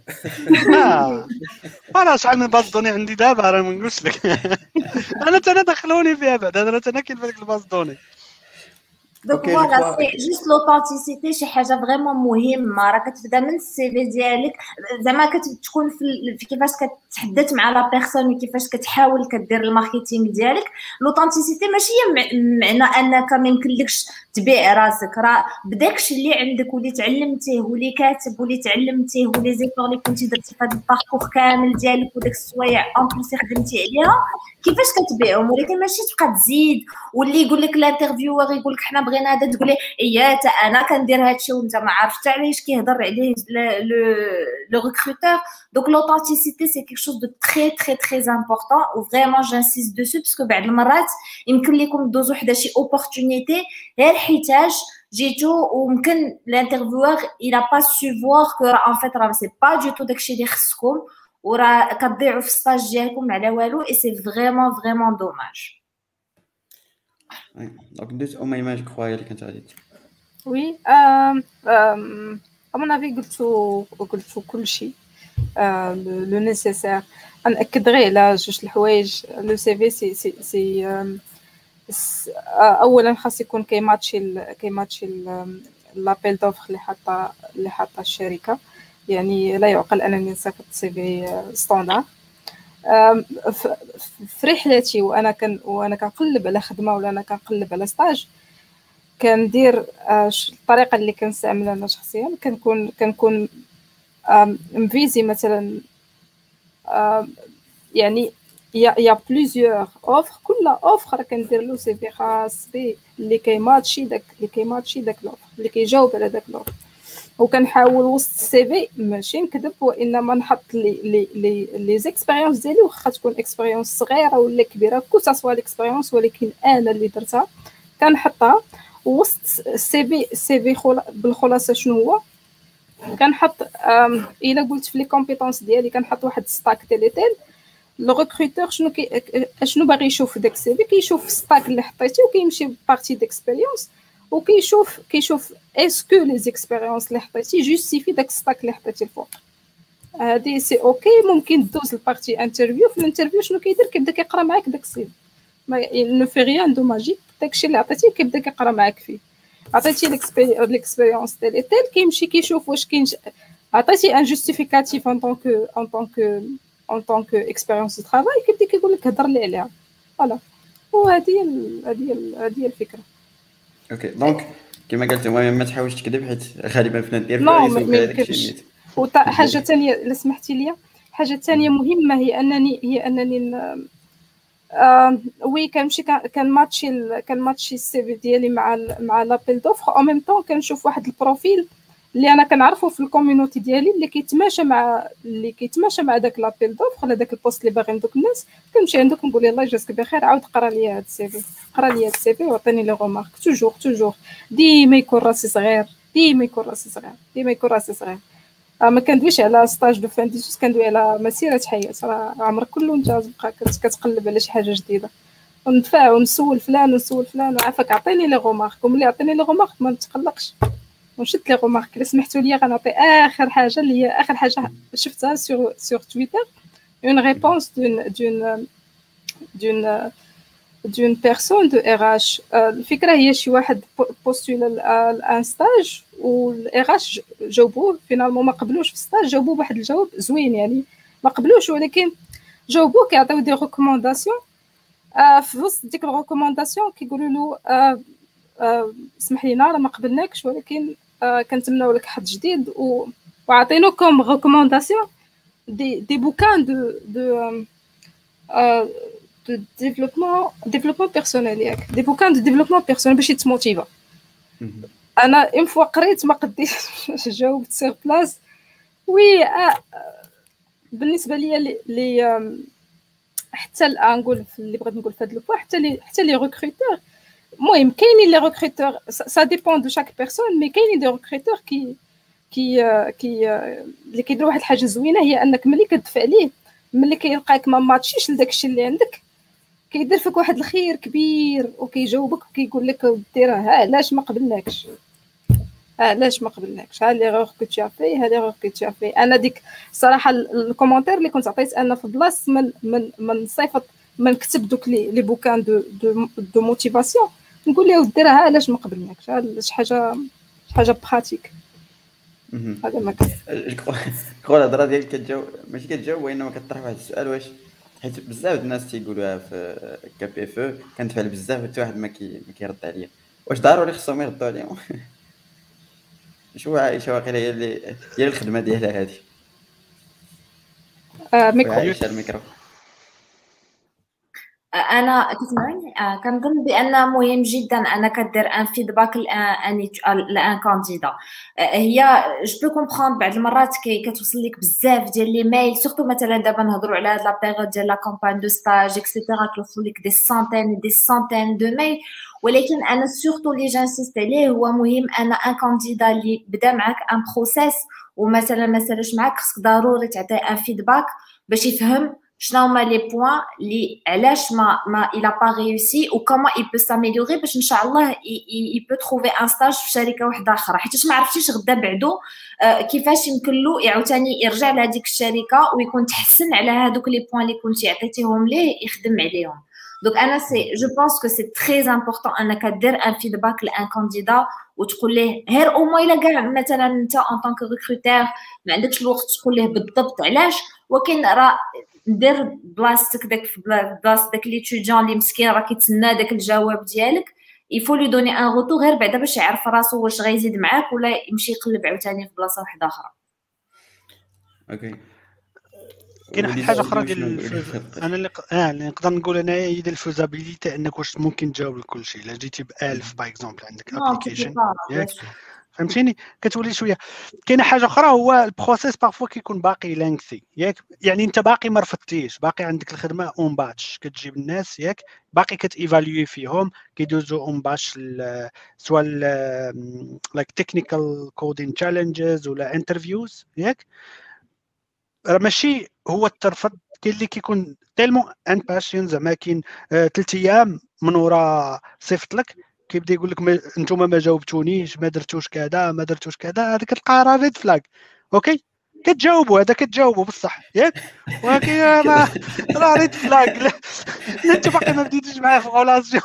انا شحال من باز دوني عندي دابا راه ما نقولش لك انا دخلوني فيها بعد، انا كاين في ديك الباز دوني. دونك فوالا سي جوست لوثنتيسيتي شي حاجه فريمون مهمه، راه كتبدا من السي في ديالك زعما كتكون في كيفاش كتحدث مع لا بيرسون وكيفاش كتحاول كدير الماركتينغ ديالك. لوثنتيسيتي ماشي هي معنى انك ما يمكنلكش تبيع راسك، راه بداكشي اللي عندك واللي تعلمتيه واللي كاتب واللي تعلمتيه ولي زيفور اللي كنتي درتي في هذا الباركور كامل ديالك وداك السوايع اون بليس خدمتي عليها كيفاش كتبيعهم، ولكن ماشي تبقى تزيد واللي يقول لك الانترفيور يقول لك حنا بغينا هذا تقولي اييه حتى انا كندير هادشي وانت ما عرفت علاش كيهضر عليه لو ريكروتور. دونك l'authenticité c'est quelque chose de très très très important و vraiment j'insiste dessus parce que بعض المرات يمكن لكم دوزو حدا شي opportunité غير حيتاج جيتو وممكن l'intervieweur il a pas su voir que en fait راه c'est pas du tout داكشي اللي خصكم وراه كتضيعوا في السطاج ديالكم على والو et c'est vraiment vraiment dommage. دونك دوز أميمة جو كخوا هي اللي كانت غادي وي أمون أفي قلتو كلشي لو نيسيسير. نأكد غير على جوج الحوايج. لو سي في سي اولا خاص يكون كيماتشي لابيل دوفر اللي حاطه الشركه. يعني لا يعقل انني نصيفط سي في ستاندار. في رحلتي وانا كنقلب على خدمه ولا انا كنقلب على ستاج كندير الطريقه اللي كنستعملها انا شخصيا. كنكون مفيزي مثلا يعني يا بليزيور اوفر. كل اوفر كندير له سي في خاص به اللي كيماتشي داك لوفر اللي كيجاوب على داك لوفر. وكنحاول وسط السي في ماشي نكذب وانما نحط لي زيكسبيريونس ديالي واخا تكون اكسبيريونس صغيره ولا كبيره كل سوا ليكسبيريونس ولكن انا اللي درتها كنحطها وسط السي في. بالخلاصه شنو هو كنحط الا قلت في لي كومبيتونس ديالي كنحط واحد ستاك تيليتيل. لو ريكروتور شنو باغي يشوف داك السي في كيشوف ستاك اللي حطيتي وكيمشي بارتي ديكسبيريونس وكيشوف اسكو لي زيكسبيريونس اللي حطيتي جوستيفي داك ستاك اللي حطيتي الفوق. هادي سي اوكي. ممكن دوز البارتي انترفيو. في الانترفيو شنو كيدير كيبدا كيقرا معاك داك السي ما نو في ريان دو ماجيك. داكشي اللي عطيتيه كيبدا كيقرا معاك فيه. عطيتي ليكسبيريونس ديال كيمشي كيشوف واش كاين. عطيتي ان جوستيفيكاتيف ان طونك اكسبيريونس دو طرافاي كيبدا كيقول لك هضر لي عليها. فوالا وهذه هي الفكره. اوكي دونك كما قلت ما تحاولش تكذب حيت غالبا في الانترفيو ما يمكنش. وحاجه ثانيه الا سمحتي لي حاجه ثانيه مهمه هي انني وي كنمشي كنماتشي السي في ديالي مع لابيل دوفر او ميم طون كنشوف واحد البروفيل اللي انا كنعرفه في الكوميونيتي ديالي اللي كيتماشى مع داك لابيل دوفر ولا داك البوست اللي باغي ندوك الناس. كنمشي عندك نقول الله يجازيك بخير عاود قرا لي هذا السي في وعطيني لي غومارك. توجور ديما يكون راسي صغير. ما كندويش على ستاج دو فان ديسوس كندوي على مسيره حياه. راه عمرك كله انت تبقى كتقلب على شي حاجه جديده وندفع ونسول فلان وعافاك عطيني لي غومارك. وملي عطيني لي غومارك ما نتقلقش ونشد لي غومارك. الا سمحتوا لي غنعطي اخر حاجه شفتها سور تويتر اون ريبونس دون بيرسون دو RH. الفكره هي شي واحد بوستول ان ستاج والRH جاوبوه فينالمون ما قبلوش في الستاج. جاوبوه بواحد الجواب زوين يعني ما قبلوش ولكن جاوبوه كيعطيو دي ريكومونداسيون. في وسط ديك الريكومونداسيون كيقولوا له اسمح لينا راه ما قبلناكش ولكن كنتمناو لك حظ جديد وعطينوكم ريكومونداسيون دي بوكان دو développement personnel ياك دي بوكان دو ديفلوبمون بيرسونيل باش يتموتيفا. انا اون فوا قريت ما قديتش جاوبت سير بلاص. وي بالنسبه لي حتى نقول اللي بغيت نقول في هذا البوا حتى لي ريكروتور. المهم كاينين لي ريكروتور سا ديبون دو شاك بيرسون مي كاينين دي ريكروتور كي اللي كيديروا واحد الحاجه زوينه هي انك ملي كتدفع ليه ملي كيلقاك ما ماتشيش لداكشي اللي عندك كيدير فيك واحد الخير كبير وكيجاوبك وكيقول لك ديرها علاش ما قبلناكش ها ليغور كو تي افي ها ليغور كو تي افي. انا ديك الصراحه الكومونتير اللي كنت عطيت انا في بلاص من نصيفط من نكتب دوك لي بوكان دو موتيفاسيون نقول له ديرها علاش ما قبلناكش. شي حاجه براتيك. هذا ما كان كون الهضره ديالك كتجاوب ماشي كتجاوب وانما كطرح واحد السؤال واش حيت بزاف الناس تيقولوها في كابي اف كنتفعل بزاف حتى واحد ما كيرد عليا واش ضروري خصهم يردوا عليهم شو واقيلا هي الخدمه ديالها هذه. ميكرو الميكرو انا كتسمعني كنظن بان مهم جدا انك دير ان فيدباك لان كانديدا. هي جو بو كومبروند بعض المرات كتوصل لك بزاف ديال لي ميل، سورتو مثلا دابا نهضروا على هاد لا بيريود ديال لا كامبان دو ستاج اكسيتيرا، كيوصل لك دي سانتين دو ميل. ولكن انا سورتو اللي جانسيست عليه هو مهم ان ان كانديدا اللي بدا معاك ان بروسيس ومثلا ما سالش معاك، خصك ضروري تعطيه ان فيدباك باش يفهم شنو هما لي بوين اللي علاش ما il a pas réussi و comment il peut s'améliorer باش ان شاء الله il peut trouver un stage في شركه واحده اخرى، حيت ما عرفتيش غدا بعدو كيفاش يمكن له يعاوتاني يرجع لهذيك الشركه ويكون تحسن على هذوك لي بوين اللي كنتي عطيتيهم ليه يخدم عليهم. دونك انا سي جو بونس كو سي تري امبورطون انك دير ان فيدباك لان كانديدا وتقول ليه غير او موان الا كاع مثلا انت ان طونك ريكروتور ما عندكش الوقت تقول ليه بالضبط علاش، ولكن راه دير بلاصتك داك في بلاصه داك ليتيديون اللي مسكين راه كيتسنى داك الجواب ديالك، يفو لي دوني ان روتو غير بعدا باش يعرف راسو واش غيزيد معاك ولا يمشي يقلب عاوتاني في بلاصه واحده اخرى. اوكي. كاين واحد الحاجه اخرى ديال انا اللي نقدر نقول انا هي ديال الفوزابيليتي، انك واش ممكن تجاوب لكل شيء. الا جيتي ب1000 باغ اكزومبل عندك ابليكيشن ياك فهمتيني كتولي شويه. كاينه حاجه اخرى هو البروسيس بارفوا كيكون باقي لانكثي ياك، يعني انت باقي ما رفضتيش، باقي عندك الخدمه اون باتش، كتجيب الناس ياك باقي كتيفالوي فيهم، كيدوزو اون باتش سواء لايك تكنيكال كودين تشالنجز ولا انترفيوز ياك. راه ماشي هو الترفض، كاين اللي كيكون تيلمون ان باشين زعما كاين 3 ايام من ورا صيفط لك كيبدا يقول لك انتم ما جاوبتونيش، ما درتوش كذا ما درتوش كذا، هذا كتلقى راه ريد فلاغ. اوكي كتجاوبوا هذا كتجاوبوا بصح ياك، ولكن راه ريد فلاغ انت باقي ما بديتيش معاه في غولاسيون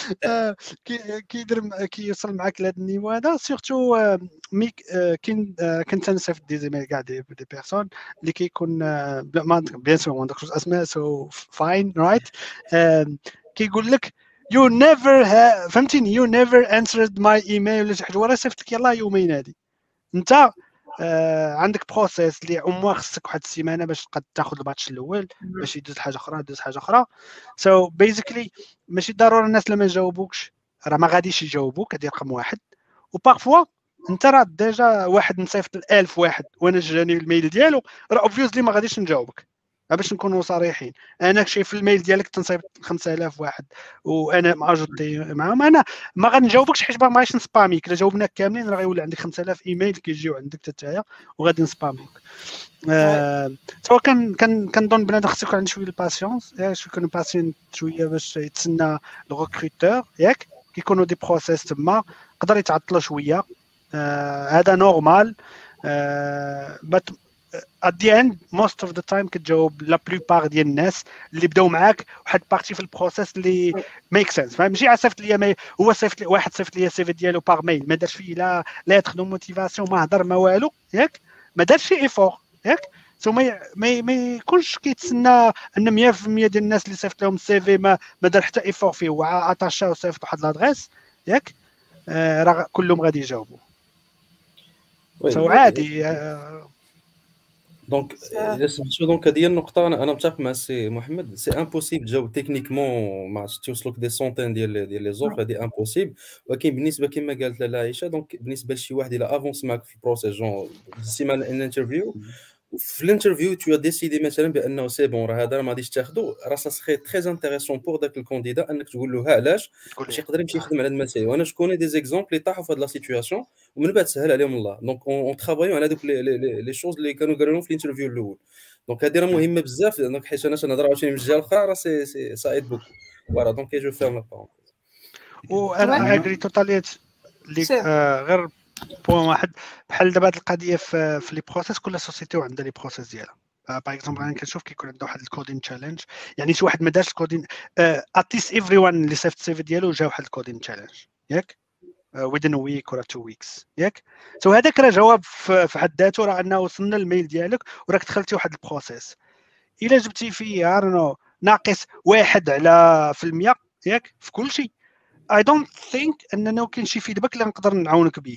كيوصل معاك لهذا النيفو هذا. سورتو كاين كنت نصيفط دي زيميل كاع دي بيرسون اللي كيكون بيان سور ما نذكرش اسماء سو فاين رايت، كيقول لك you never فهمتيني you never answered my email ولا شي حاجه، وراه صيفط لك يلاه يومين. هذه انت عندك بروسيس اللي عموما خصك واحد السيمانه باش تقد تاخذ الباتش الاول باش يدوز حاجه اخرى دوز حاجه اخرى. سو بيزيكلي ماشي ضروري الناس لما يجاوبوكش راه ما غاديش يجاوبوك، هذه رقم واحد. وبارفوا انت راه ديجا واحد نصيفط ل1000 واحد وانا جاني الميل ديالو، راه اوبفيوسلي ما غاديش نجاوبك باش نكونوا صريحين. انا شايف الميل ديالك تنصيفط 5000 واحد وانا ماجوتي معاهم، انا ما غنجاوبكش حيت ما بغيتش نسباميك. الا جاوبناك كاملين راه غيولي عندك 5000 ايميل كيجيو عندك حتى هي وغادي نسباميك. سواء كنظن بنادم خصو يكون عنده شويه الباسيونس، يكون باسيون شويه باش يتسنى الريكروتور ياك. كيكونوا دي بروسيس تما يقدر يتعطلوا شويه، هذا نورمال. at the end most of the time كتجاوب لا بلوبار ديال الناس اللي بداو معاك واحد بارتي في البروسيس اللي ميك سنس. ماشي صيفط ليا هو صيفط لي واحد صيفط ليا السي في ديالو باغ ميل ما دارش فيه لا ليتر دو موتيفاسيون ما هضر ما والو ياك، ما دارش شي ايفور ياك. سو ما يكونش كيتسنى ان 100% ديال الناس اللي صيفط لهم السي في ما دار حتى ايفور فيه، هو اتاشا وصيفط واحد لادريس ياك، راه كلهم غادي يجاوبوا. سو عادي. دونك سمعتوا دونك هذه النقطه انا متفق مع السي محمد، سي امبوسيبل تجاوب تكنيكمون ما توصلوك دي سونتين ديال لي زوفر، هذه امبوسيبل. ولكن بالنسبه كما قالت لاله عائشه، دونك بالنسبه لشي واحد الى افونس معك في البروسيس جون سيمانه ان انترفيو، في الانترفيو تو ديسيدي مثلا بانه سي بون راه هذا ما غاديش تاخذو، راه سا سخي تري انتريسون بور داك الكانديدا انك تقول له علاش باش يقدر يمشي يخدم على هذا المسائل. وانا شكون دي زيكزامبل اللي طاحوا في هذه لا سيتوياسيون ومن بعد سهل عليهم الله. دونك اون ترافايو على دوك لي شوز اللي كانوا قالوا لهم في الانترفيو الاول. دونك هذه راه مهمه بزاف، دونك حيت انا نهضر عاوتاني من الجهه الاخرى راه سي سايد بوكو. فوالا دونك جو فيرم لا بارون. وانا اغري توتاليت غير بوان واحد بحال دابا هذه القضيه في لي بروسيس، كل سوسيتي وعندها لي بروسيس ديالها. باغ اكزومبل انا كنشوف كيكون عنده واحد الكودين تشالنج، يعني شي واحد ما دارش الكودين اتيس ايفري وان اللي صيفط السي في ديالو جا واحد الكودين تشالنج ياك within a week ولا 2 weeks ياك. سو هذاك راه جواب في حد ذاته، راه انه وصلنا الميل ديالك وراك دخلتي واحد البروسيس. الا جبتي فيه ناقص 1% ياك في كل شيء، I don't think انه كاين شي فيدباك اللي نقدر نعاونك به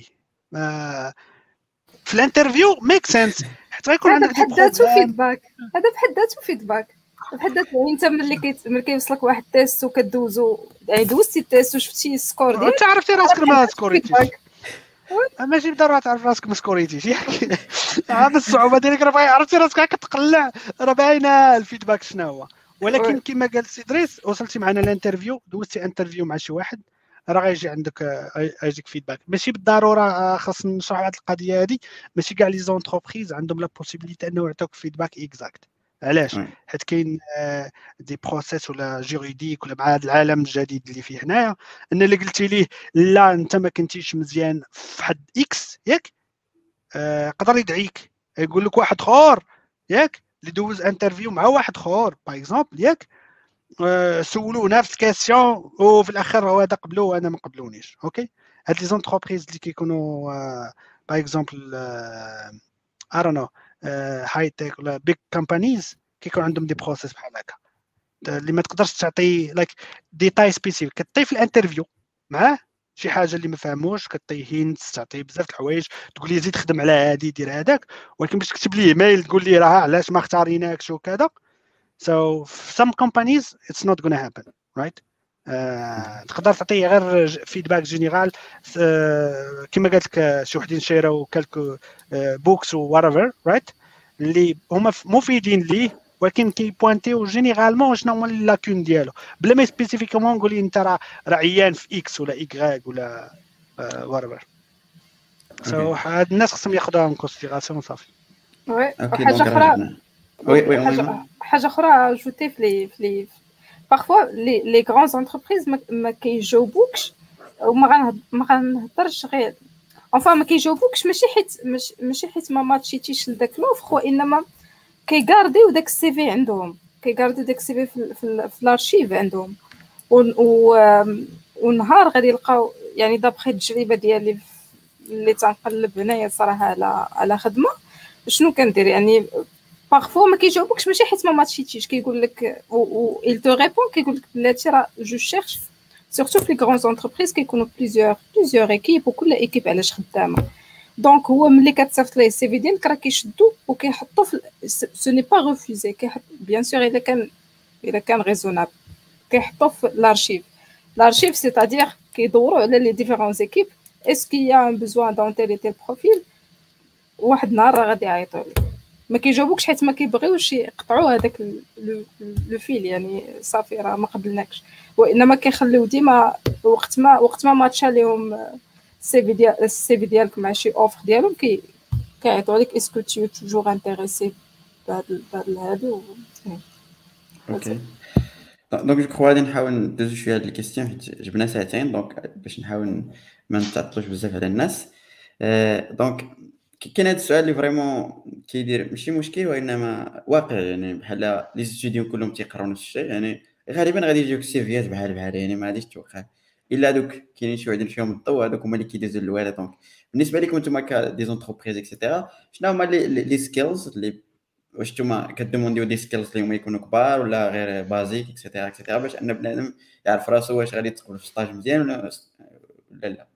في الانترفيو. ميك سنس حيت غيكون عندك بحد ذاته فيدباك، هذا بحد ذاته فيدباك. بحال انت ملي كيوصلك واحد التيست وكدوزو يعني دوزتي التيست وشفتي السكور ديالك انت عرفتي راسك ما سكوريتيش ماشي بالضروره تعرف راسك ما سكوريتيش ياك هذا الصعوبه ديالك راه عرفتي راسك كتقلع راه باينه الفيدباك شنو هو ولكن كما قال سي دريس وصلتي معنا الانترفيو دوزتي انترفيو مع شي واحد راه غيجي عندك يجيك فيدباك ماشي بالضروره خاص نشرح هذه القضيه هذه ماشي كاع لي زونتربريز عندهم لا بوسيبيليتي انه يعطوك فيدباك اكزاكت علاش حيت كاين دي بروسيس ولا جوريديك ولا مع هذا العالم الجديد اللي فيه هنايا ان اللي قلتي ليه لا انت ما كنتيش مزيان في حد اكس ياك قدر يدعيك يقول لك واحد اخر ياك اللي دوز انترفيو مع واحد اخر باغ اكزومبل ياك سولوه نفس الكاستيون وفي الاخر هو هذا قبلوه وانا ما قبلونيش اوكي هاد لي زونتربريز اللي كيكونوا باغ اكزومبل ارونو هاي تك ولا بيج كومبانيز كيكون عندهم دي بروسيس بحال هكا اللي ما تقدرش تعطي لايك ديتاي سبيسيفيك كطي في الانترفيو معاه شي حاجه اللي ما فهموش كطي هينتس تعطيه بزاف د الحوايج تقول لي زيد خدم على هادي دير هذاك ولكن باش تكتب ليه ايميل تقول لي راه علاش ما اختاريناكش وكذا so some companies it's not gonna happen right تقدر تعطيه غير فيدباك جينيرال كما قالت لك شي وحدين شيراو كالكو بوكس و whatever right اللي هما مفيدين ليه ولكن كيبوانتيو جينيرالمون شنو هما اللاكون ديالو بلا ما سبيسيفيكومون نقول لي انت راه عيان في اكس ولا ايكغيك ولا whatever so هاد الناس خصهم ياخذوها ان كونسيديراسيون صافي وي حاجه اخرى حاجه اخرى اجوتي في لي parfois les grandes entreprises ما كيجاوبوكش وما غنهضرش غير enfin ما كيجاوبوكش ماشي حيت ما ماتشيتيش لذاك لوفر وانما كيغارديو داك السي في عندهم كيغارديو داك السي في الارشيف عندهم ونهار غادي يلقاو يعني دابخي التجربه ديالي اللي تنقلب هنايا صراحه على خدمه شنو كندير يعني parfois ما كيجاوبوكش ماشي حيت ما ماتشيتيش كيقول لك و il te répond كيقول لك بلاتي راه جو شيرش surtout في لي غران انتربريز كيكونوا بليزيور ايكيب وكل ايكيب علاش خدامه دونك هو ملي كتصيفط ليه السي في ديالك راه كيشدو وكيحطو في سو ني با ريفوزي كيحط بيان سور الا كان ريزونابل كيحطو في الارشيف سيتادير كيدوروا على لي ديفيرون ايكيب اسكو يا ان بوزوان دون تيل تيل بروفيل واحد النهار راه غادي يعيطوا لك ما كيجاوبوكش حيت ما كيبغيوش يقطعوا هذاك لو فيل يعني صافي راه ما قبلناكش وانما كيخليو ديما وقت ما ماتشا ليهم السي في ديالك مع شي اوفر ديالهم كيعيطوا لك اسكو تي توجور انتريسي بهذا هادو اوكي دونك جو كخوا غادي نحاول ندوزو شويه هاد الكيستيون حيت جبنا ساعتين دونك باش نحاول ما نتعطلوش بزاف على الناس دونك كاين هذا السؤال اللي فريمون كيدير ماشي مشكل وانما واقع يعني بحال لي ستوديو كلهم تيقراو نفس الشيء يعني غالبا غادي يجيوك سيفيات بحال يعني ما غاديش توقع الا دوك كاينين شي وحدين فيهم الضوء هذوك هما اللي كيدوزوا للوالا دونك بالنسبه لكم نتوما دي زونتربريز اكسيتيرا شنو هما لي سكيلز اللي واش نتوما كدومونديو دي سكيلز اللي هما يكونوا كبار ولا غير بازيك اكسيتيرا باش ان بنادم يعرف راسو واش غادي يدخل في ستاج مزيان ولا لا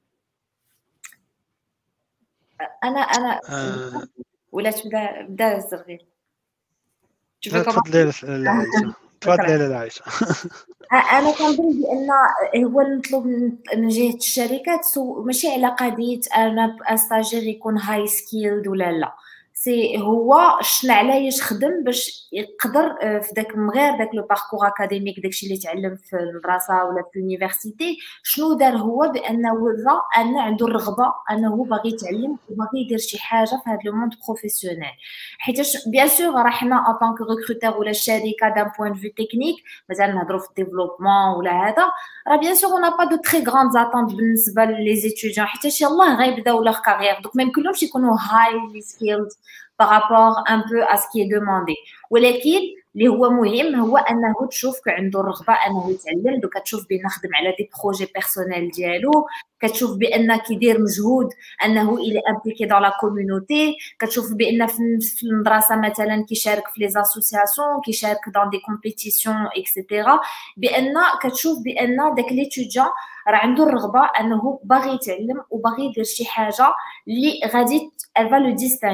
انا ولا تبدا الزغير تفضلي لا عايشه انا كنظن بان هو المطلوب من جهه الشركات ماشي على قضيه انا استاجير يكون هاي سكيلد ولا لا سي هو شنو علاش خدم باش يقدر في داك من غير داك لو باركور اكاديميك داكشي اللي تعلم في المدرسه ولا في اليونيفرسيتي شنو دار هو بانه ورا ان عنده الرغبه انه باغي يتعلم وباغي يدير شي حاجه في هذا لو موند بروفيسيونيل حيت بيان سور راه حنا ان طونك ريكروتور ولا الشركه دان بوين فيو تكنيك مثلا نهضروا في الديفلوبمون ولا هذا راه بيان سور اون با دو تري غراند اتونت بالنسبه لي زيتيديون حيت يلاه غيبداو لوغ كارير دوك ما يمكنلهمش يكونوا هاي سكيلد par rapport un peu à ce qui est demandé ولكن اللي هو مهم هو انه تشوف عنده الرغبه انه يتعلم دوك كتشوف بان خدم على دي بروجي بيرسونيل ديالو كتشوف بان كيدير مجهود انه الى امبليكي دون لا كومونيتي كتشوف بان في المدرسه مثلا كيشارك في لي اسوسياسيون كيشارك دون دي كومبيتيسيون اكسيتيرا بان كتشوف بان داك ليتوديون راه عنده الرغبه انه باغي يتعلم وباغي يدير شي حاجه اللي غادي الفا لو ديستانغي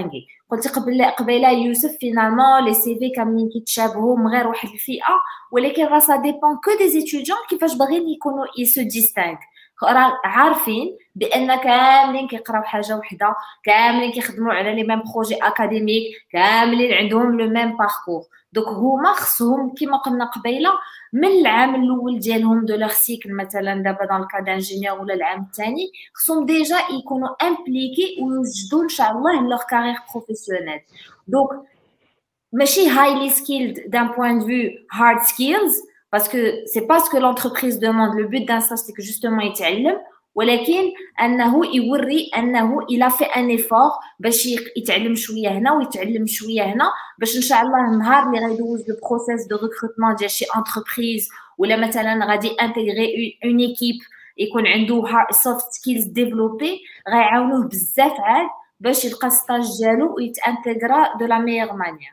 قلتي قبيله يوسف فينالمون لي سي في كاملين كيتشابهوا من غير واحد الفئه، ولكن راه سا ديبون كو دي زيتيديون كيفاش باغيين يكونوا يسو ديستانك، راه عارفين بان كاملين كيقراو حاجه وحده، كاملين كيخدموا على لي ميم بروجي اكاديميك، كاملين عندهم لو ميم باركور. دونك هما خصهم كيما قلنا قبيله من العام الاول ديالهم دو لوغ سيكل، مثلا دابا دون الكا دانجينيور ولا العام الثاني خصهم ديجا يكونوا امبليكي ويوجدوا ان شاء الله لوغ كارير بروفيسيونيل. دونك ماشي هايلي سكيلد دان بوين دو فيو هارد سكيلز، parce que c'est pas ce que l'entreprise demande. Le but d'un stage c'est que justement يتعلم، ولكن انه يوري انه il a fait un effort باش يتعلم شويه هنا ويتعلم شويه هنا، باش ان شاء الله النهار اللي غيدوز لو بروسيس دو ريكروتمون ديال شي انتربريز ولا مثلا غادي انتيغري اون ايكيب يكون عنده سوفت سكيلز ديفلوبي، غيعاونوه بزاف عاد باش يلقى ستاج ديالو ويتانتيغرا دو لا ميور مانيير.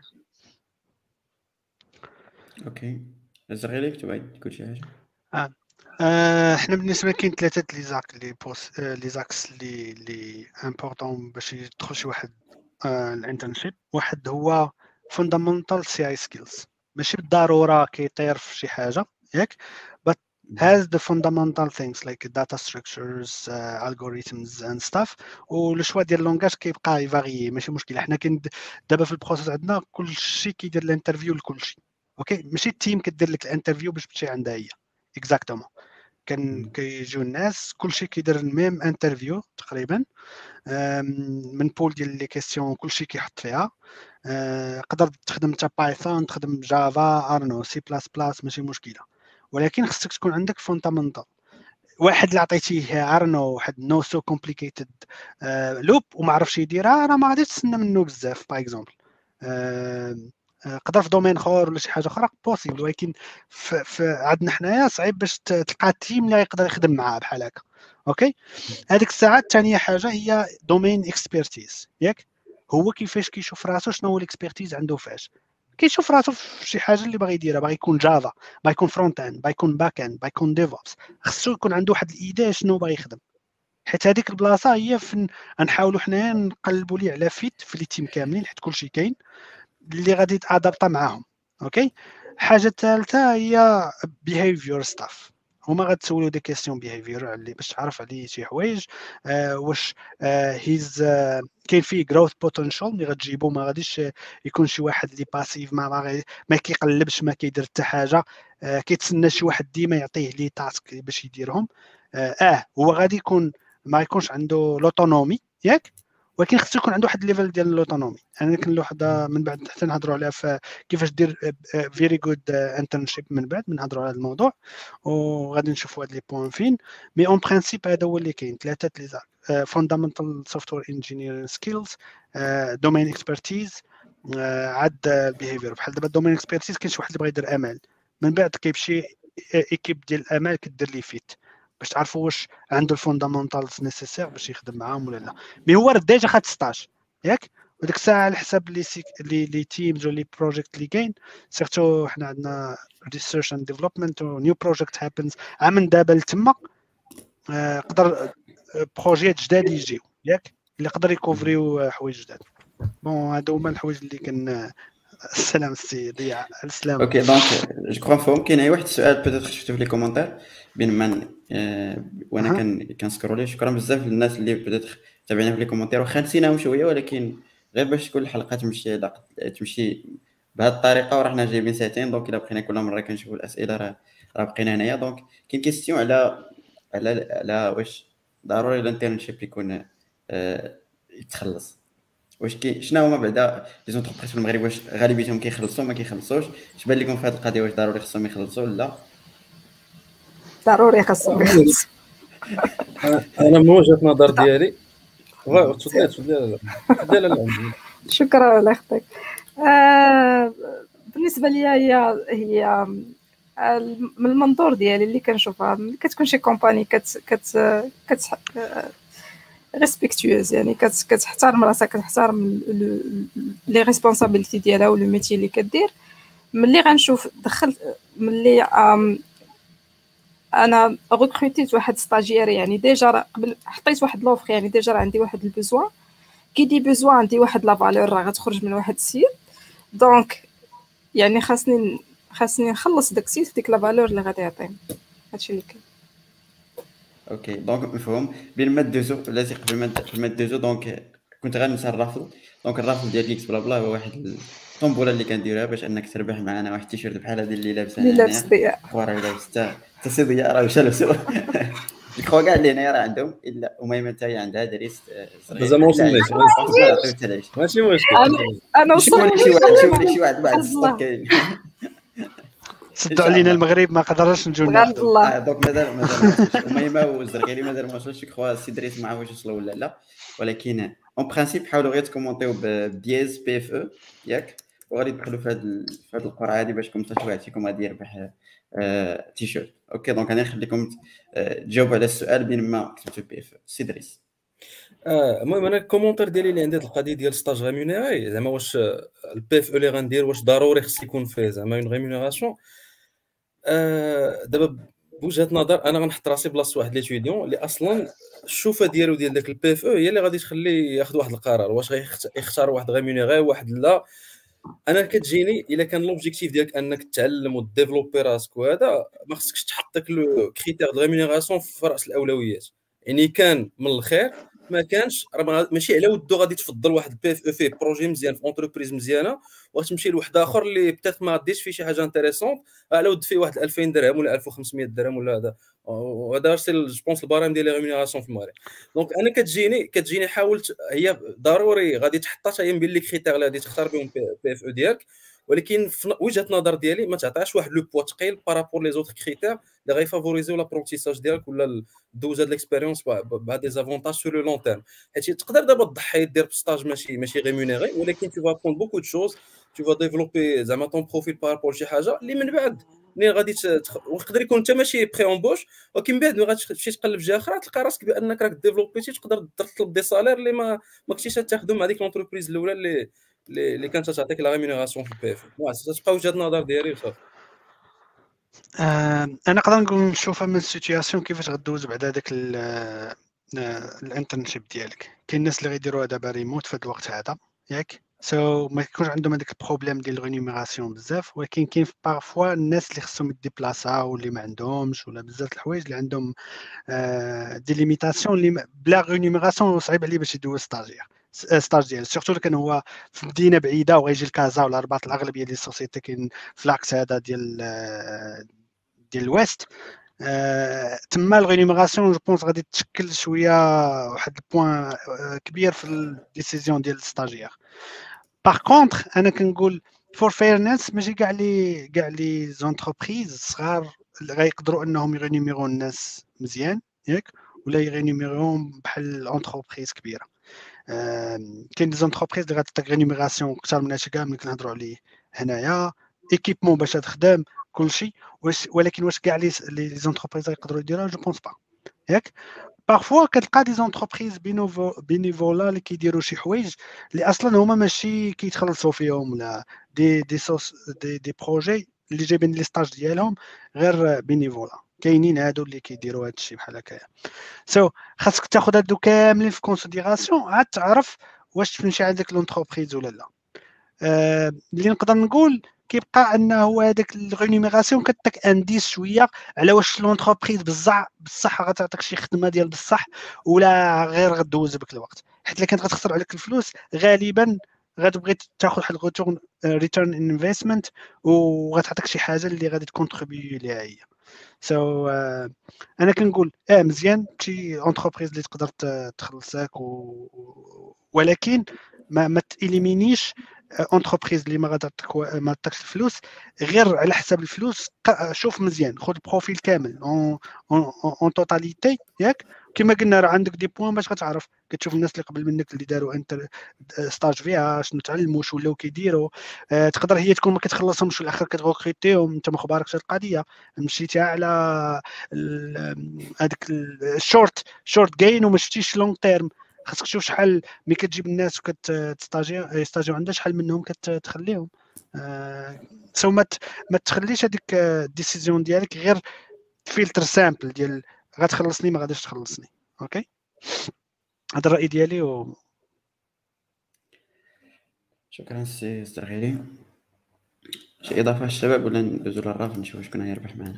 اوكي زغيري كنت باغي تقول شي حاجه؟ احنا بالنسبه كاين ثلاثه لي زاكس لي امبورطون باش يدخل شي واحد الانترنشيب. واحد هو فوندامنتال سي اي سكيلز، ماشي بالضروره كيطير في شي حاجه ياك، but has the fundamental things like data structures, algorithms and stuff. ولو شوا ديال اللونغاج كيبقى يفاريي ماشي مشكل. حنا كاين دابا في البروسيس عندنا كلشي كيدير الانترفيو لكلشي، اوكي ماشي التيم كدير لك الانترفيو باش تمشي عندها هي اكزاكتومون. كيجيو الناس كلشي كيدير الميم انترفيو تقريبا، من بول ديال لي كيسيون كلشي كيحط فيها. قدر تخدم انت بايثون، تخدم جافا، ارنو، سي بلاس بلاس، ماشي مشكله، ولكن خصك تكون عندك فوندامنتال. واحد اللي عطيتيه ارنو واحد نو سو كومبليكيتد لوب وما عرفش يديرها، راه ما غاديش تسنى منه بزاف. باغ اكزومبل قدر في دومين اخر ولا شي حاجه اخرى بوسيبل، ولكن في عندنا حنايا صعيب باش تلقى تيم اللي يقدر يخدم معاه بحال هكا. اوكي هذيك الساعه الثانيه حاجه هي دومين اكسبيرتيز ياك، هو كيفاش كيشوف راسو، شنو هو الاكسبيرتيز عنده، فاش كيشوف راسو في شي حاجه اللي باغي يديرها، باغي يكون جافا، باغي يكون فرونت اند، باغي يكون باك اند، باغي يكون ديفوبس، خصو يكون عنده واحد الايديا شنو باغي يخدم. حيت هذيك البلاصه هي فين غنحاولوا حنايا نقلبوا ليه على فيت في لي تيم كاملين، حيت كلشي كاين اللي غادي يتادابطا معاهم. اوكي حاجه الثالثه هي بيهيفيور ستاف، هما غتسولوا دي كيسيون بيهيفيور اللي باش تعرف عليه شي حوايج. واش هيز كاين فيه جروث بوتنشال اللي غتجيبو، ما غاديش يكون شي واحد اللي باسيف ما كيقلبش، ما كيدير حتى حاجه، كيتسنى شي واحد ديما يعطيه لي تاسك باش يديرهم. هو غادي يكون ما يكونش عنده لوتونومي ياك، ولكن خصو يكون عنده واحد الليفل ديال الاوتونومي. انا كاين وحده من بعد حتى نهضروا عليها في كيفاش دير فيري جود انترنشيب، من بعد نهضروا على هذا الموضوع وغادي نشوفوا هاد لي بوين فين. مي اون برينسيپ هذا هو اللي كاين، ثلاثه لي فوندامنتال سوفتوير انجينيرينغ سكيلز، دومين اكسبرتيز، عاد البيهيفير. بحال دابا الدومين اكسبرتيز كاين شي واحد اللي بغى يدير امال، من بعد كيمشي ايكيب ديال الامال كدير لي فيت باش تعرفوا واش عنده الفوندامنتالز نيسيسير باش يخدم معاهم ولا لا. مي هو ديجا خد ستاج ياك، وديك الساعه على حساب لي تيمز ولي بروجيكت اللي كاين، سيرتو حنا عندنا ريسيرش اند ديفلوبمنت ونيو بروجيكت هابنز من دابا لتما. قدر بروجيات جداد يجيو ياك اللي يقدر يكوفريو حوايج جداد. بون هادو هما الحوايج اللي كان. السلام السي ضياء. السلام. اوكي دونك جو كرو نفهم كاين واحد السؤال بيتيت شفتو في لي كومونتير بين من وانا كنسكرولي. شكرا بزاف للناس اللي بيتيت تابعينا في لي كومونتير، واخا نسيناهم شويه، ولكن غير باش تكون الحلقه تمشي بهذه الطريقه، وراه حنا جايبين ساعتين. دونك الا بقينا كل مره كنشوفوا الاسئله راه بقينا هنايا. دونك كاين كيستيون على واش ضروري الانترنشيب يكون يتخلص، واش شنو هما بعدا لي زونتربريز في المغرب، واش غالبيتهم كيخلصوا ما كيخلصوش؟ اش بان لكم في هذه القضيه؟ واش ضروري خصهم يخلصوا ولا ضروري خصهم يخلصوا؟ انا من وجهه نظر ديالي تفضل. شكرا على اختك. بالنسبه لي هي من المنظور ديالي اللي كنشوفها، كتكون شي كومباني كت ريسبكتيوز، يعني كتحترم راسها، كتحترم لي ريسبونسابيلتي ديالها ولو ميتي اللي كدير. ملي غنشوف دخلت ملي انا ريكروتيت واحد ستاجير، يعني ديجا قبل حطيت واحد لوفر، يعني ديجا عندي واحد البزوان، كي دي بيزوان عندي واحد لا فالور راه غتخرج من واحد السيت، دونك يعني خاصني نخلص داك السيت ديك لا فالور اللي غادي يعطيني. هادشي اللي كاين. اوكي دونك مفهوم. بين ما دوزو بلاتي قبل ما دوزو دونك كنت غنسى الرافل. دونك الرافل ديال كيكس بلا بلا هو واحد الطنبوله اللي كنديرها باش انك تربح معنا واحد التيشيرت بحال هذا اللي لابسه اللي لابس ضياء راه لابس حتى سي ضياء راه مشى لابسو الكرو كاع اللي هنايا راه عندهم الا اميمه حتى هي عندها دريس صغير مازال ما وصلناش ماشي مشكل. انا وصلت شي واحد بعد الصوت كاين صدوا علينا المغرب ما قدرناش نجيو الله. دونك مازال اميمه والزرقيري مازال ما وصلوش. كخوا سي دريس ما عرفوش وصلوا ولا لا، ولكن اون برينسيپ حاولوا غير تكومونتيو بدياز بي اف او ياك، وغادي تدخلوا في هذه القرعه هذه باش كم حتى واحد فيكم غادي يربح تيشيرت. اوكي دونك انا نخليكم تجاوبوا على السؤال بين ما كتبتوا بي اف او. سي دريس. المهم انا الكومونتير ديالي اللي عندي هاد القضيه ديال ستاج ريمونيري، زعما واش البي اف او اللي غندير واش ضروري خص يكون فيه زعما اون ريمونيراسيون. دابا بوجهه نظر انا غنحط راسي بلاصه واحد ليتيديون اللي اصلا الشوفه ديالو ديال داك البي اف او هي اللي غادي تخليه ياخذ واحد القرار واش غيختار واحد ريمونيري واحد لا. انا كتجيني الا كان لوبجيكتيف ديالك انك تتعلم وديفلوبي راسك وهذا ما خصكش تحط داك لو كريتير دو ريمونيراسيون في راس الاولويات. يعني كان من الخير ما كانش راه ماشي على ودو غادي تفضل واحد البي اف او فيه بروجي مزيان في اونتربريز مزيانه وغتمشي لواحد اخر اللي بتات ما غاديش فيه شي حاجه انتريسونت على ود فيه واحد 2000 درهم ولا 1500 درهم ولا هذا. وهذا سي جو بونس البارام ديال لي ريمونيراسيون في المغرب. دونك انا كتجيني حاولت هي ضروري غادي تحطها حتى هي بين لي كريتير اللي غادي تختار بهم بي اف او ديالك، ولكن في وجهه النظر ديالي ما تعطيهاش واحد لو بوا ثقيل بارابور لي زوتر كريتير اللي غيفافوريزيو لابرونتيساج ديالك ولا دوز هاد ليكسبيريونس بهاد دي زافونتاج سور لو لون تيرم. حيت تقدر دابا تضحي دير بستاج ماشي ريمونيري، ولكن tu vas apprendre beaucoup de choses, tu vas développer زعما طون بروفيل بارابور شي حاجه اللي من بعد ملي غادي ويقدر يكون انت ماشي بري امبوش، ولكن بعد ملي غتمشي تقلب في جهه اخرى تلقى راسك بانك راك ديفلوبيتي تقدر تطلب دي سالير اللي ما كنتيش تاخذهم مع ديك لونتربريز الاولى اللي كانت تعطيك لا ريمونيراسيون في البي اف. تبقى وجهه النظر ديالي وصافي. انا نقدر نقول نشوفها من السيتوياسيون كيفاش غدوز بعد هذاك الانترنشيب ديالك. كاين الناس اللي غيديروها دابا ريموت في هذا الوقت هذا ياك، ما يكونش عندهم هذاك البروبليم ديال الريمونيراسيون بزاف، ولكن كاين بارفوا الناس اللي خصهم يديبلاصاو واللي ما عندهمش ولا بزاف الحوايج اللي عندهم دي ليميتاسيون اللي بلا ريمونيراسيون صعيب عليه باش يدوز ستاج ديال سورتو كان هو في مدينه بعيده وغيجي لكازا ولا رباط. الاغلبيه ديال السوسيتي كاين في لاكس هذا ديال الويست. تما الريمونيراسيون جو بونس غادي تشكل شويه واحد البوان كبير في الديسيزيون ديال الستاجير. باغ كونطخ انا كنقول فور فيرنس ماشي كاع لي زونتربريز صغار غيقدروا انهم يرينيميرو الناس مزيان ياك، ولا يرينيميروهم بحال اونتربريز كبيره. كاين دي زونتربريز اللي غتعطيك رينيميراسيون اكثر من هادشي كاع ملي كنهضروا عليه هنايا، ايكيبمون باش تخدم كلشي. ولكن واش كاع لي زونتربريز يقدروا يديروها؟ جو بونس با ياك. بارفوا كتلقى دي زونتربريز بينيفولا اللي كيديروا شي حوايج اللي اصلا هما ماشي كيتخلصوا فيهم، ولا دي بروجي اللي جايبين لي ستاج ديالهم غير بينيفولا. كاينين هادو اللي كيديروا هذا الشيء بحال هكايا. خاصك تاخذ هادو كاملين في كونسيديراسيون عاد تعرف واش تمشي عندك لونتربريز ولا لا. اللي نقدر نقول كيبقى انه هذاك الريمونيراسيون كتعطيك انديس شويه على واش لونتربريز بصح غتعطيك شي خدمه ديال بصح ولا غير غدوز بك الوقت. حيت الا كانت غتخسر عليك الفلوس غالبا غتبغي تاخذ واحد ريتيرن انفستمنت وغتعطيك شي حاجه اللي غادي تكونتريبيو ليها هي. انا كنقول مزيان شي اونتربريز اللي تقدر تخلصك ولكن ما تإليمينيش اونتربريز اللي ما عطاكش الفلوس غير على حساب الفلوس. شوف مزيان، خذ البروفيل كامل اون توتاليتي ياك. كما قلنا راه عندك دي بوين باش غتعرف، كتشوف الناس اللي قبل منك اللي داروا انت ستاج فيها شنو تعلموا شو ولاو كيديروا. تقدر هي تكون ما كتخلصهمش في الاخر كتغوكريتيهم انت ما خباركش القضيه، مشيتي على هذاك الشورت جاين وما شفتيش لونغ تيرم. خاصك تشوف شحال ملي كتجيب الناس وكتستاجيو عندها شحال منهم كتخليهم. ما تخليش هذيك الديسيزيون ديالك غير فلتر سامبل ديال غتخلصني ما غاديش تخلصني. اوكي هذا الراي ديالي شكرا سي استرغيلي. شي اضافه الشباب ولا ندوزو للرافع نشوف شكون يربح معنا؟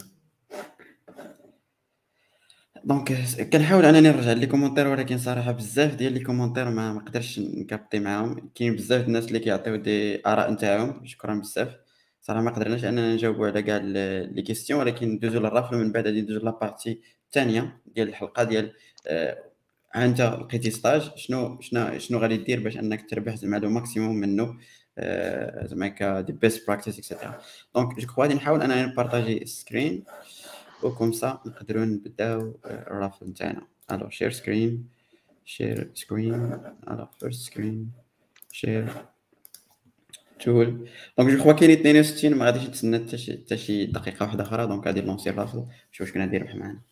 دونك كنحاول انني نرجع لي كومونتير، ولكن صراحه بزاف ديال لي كومونتير ما قدرتش نكابطي معاهم. كاين بزاف الناس اللي كيعطيو دي اراء نتاعهم، شكرا بزاف. صراحه ما قدرناش اننا نجاوبوا على كاع لي كيسيون، ولكن ندوزو للرافل من بعد غادي ندوزو لابارتي الثانيه ديال الحلقه ديال انت لقيتي ستاج شنو غادي دير باش انك تربح زعما لو ماكسيموم منه، زعما كا دي بيست براكتيس اكسيتيرا. دونك جو كخوا غادي نحاول انني نبارطاجي السكرين وكم سا نقدروا نبداو الرافل نتاعنا. الو شير سكرين الو فيرست سكرين شير تول. دونك جو كخوا كاين 62 ما غاديش نتسنى حتى شي دقيقه واحده اخرى. دونك غادي نلونسي الرافل نشوف شكون غادي يربح معنا.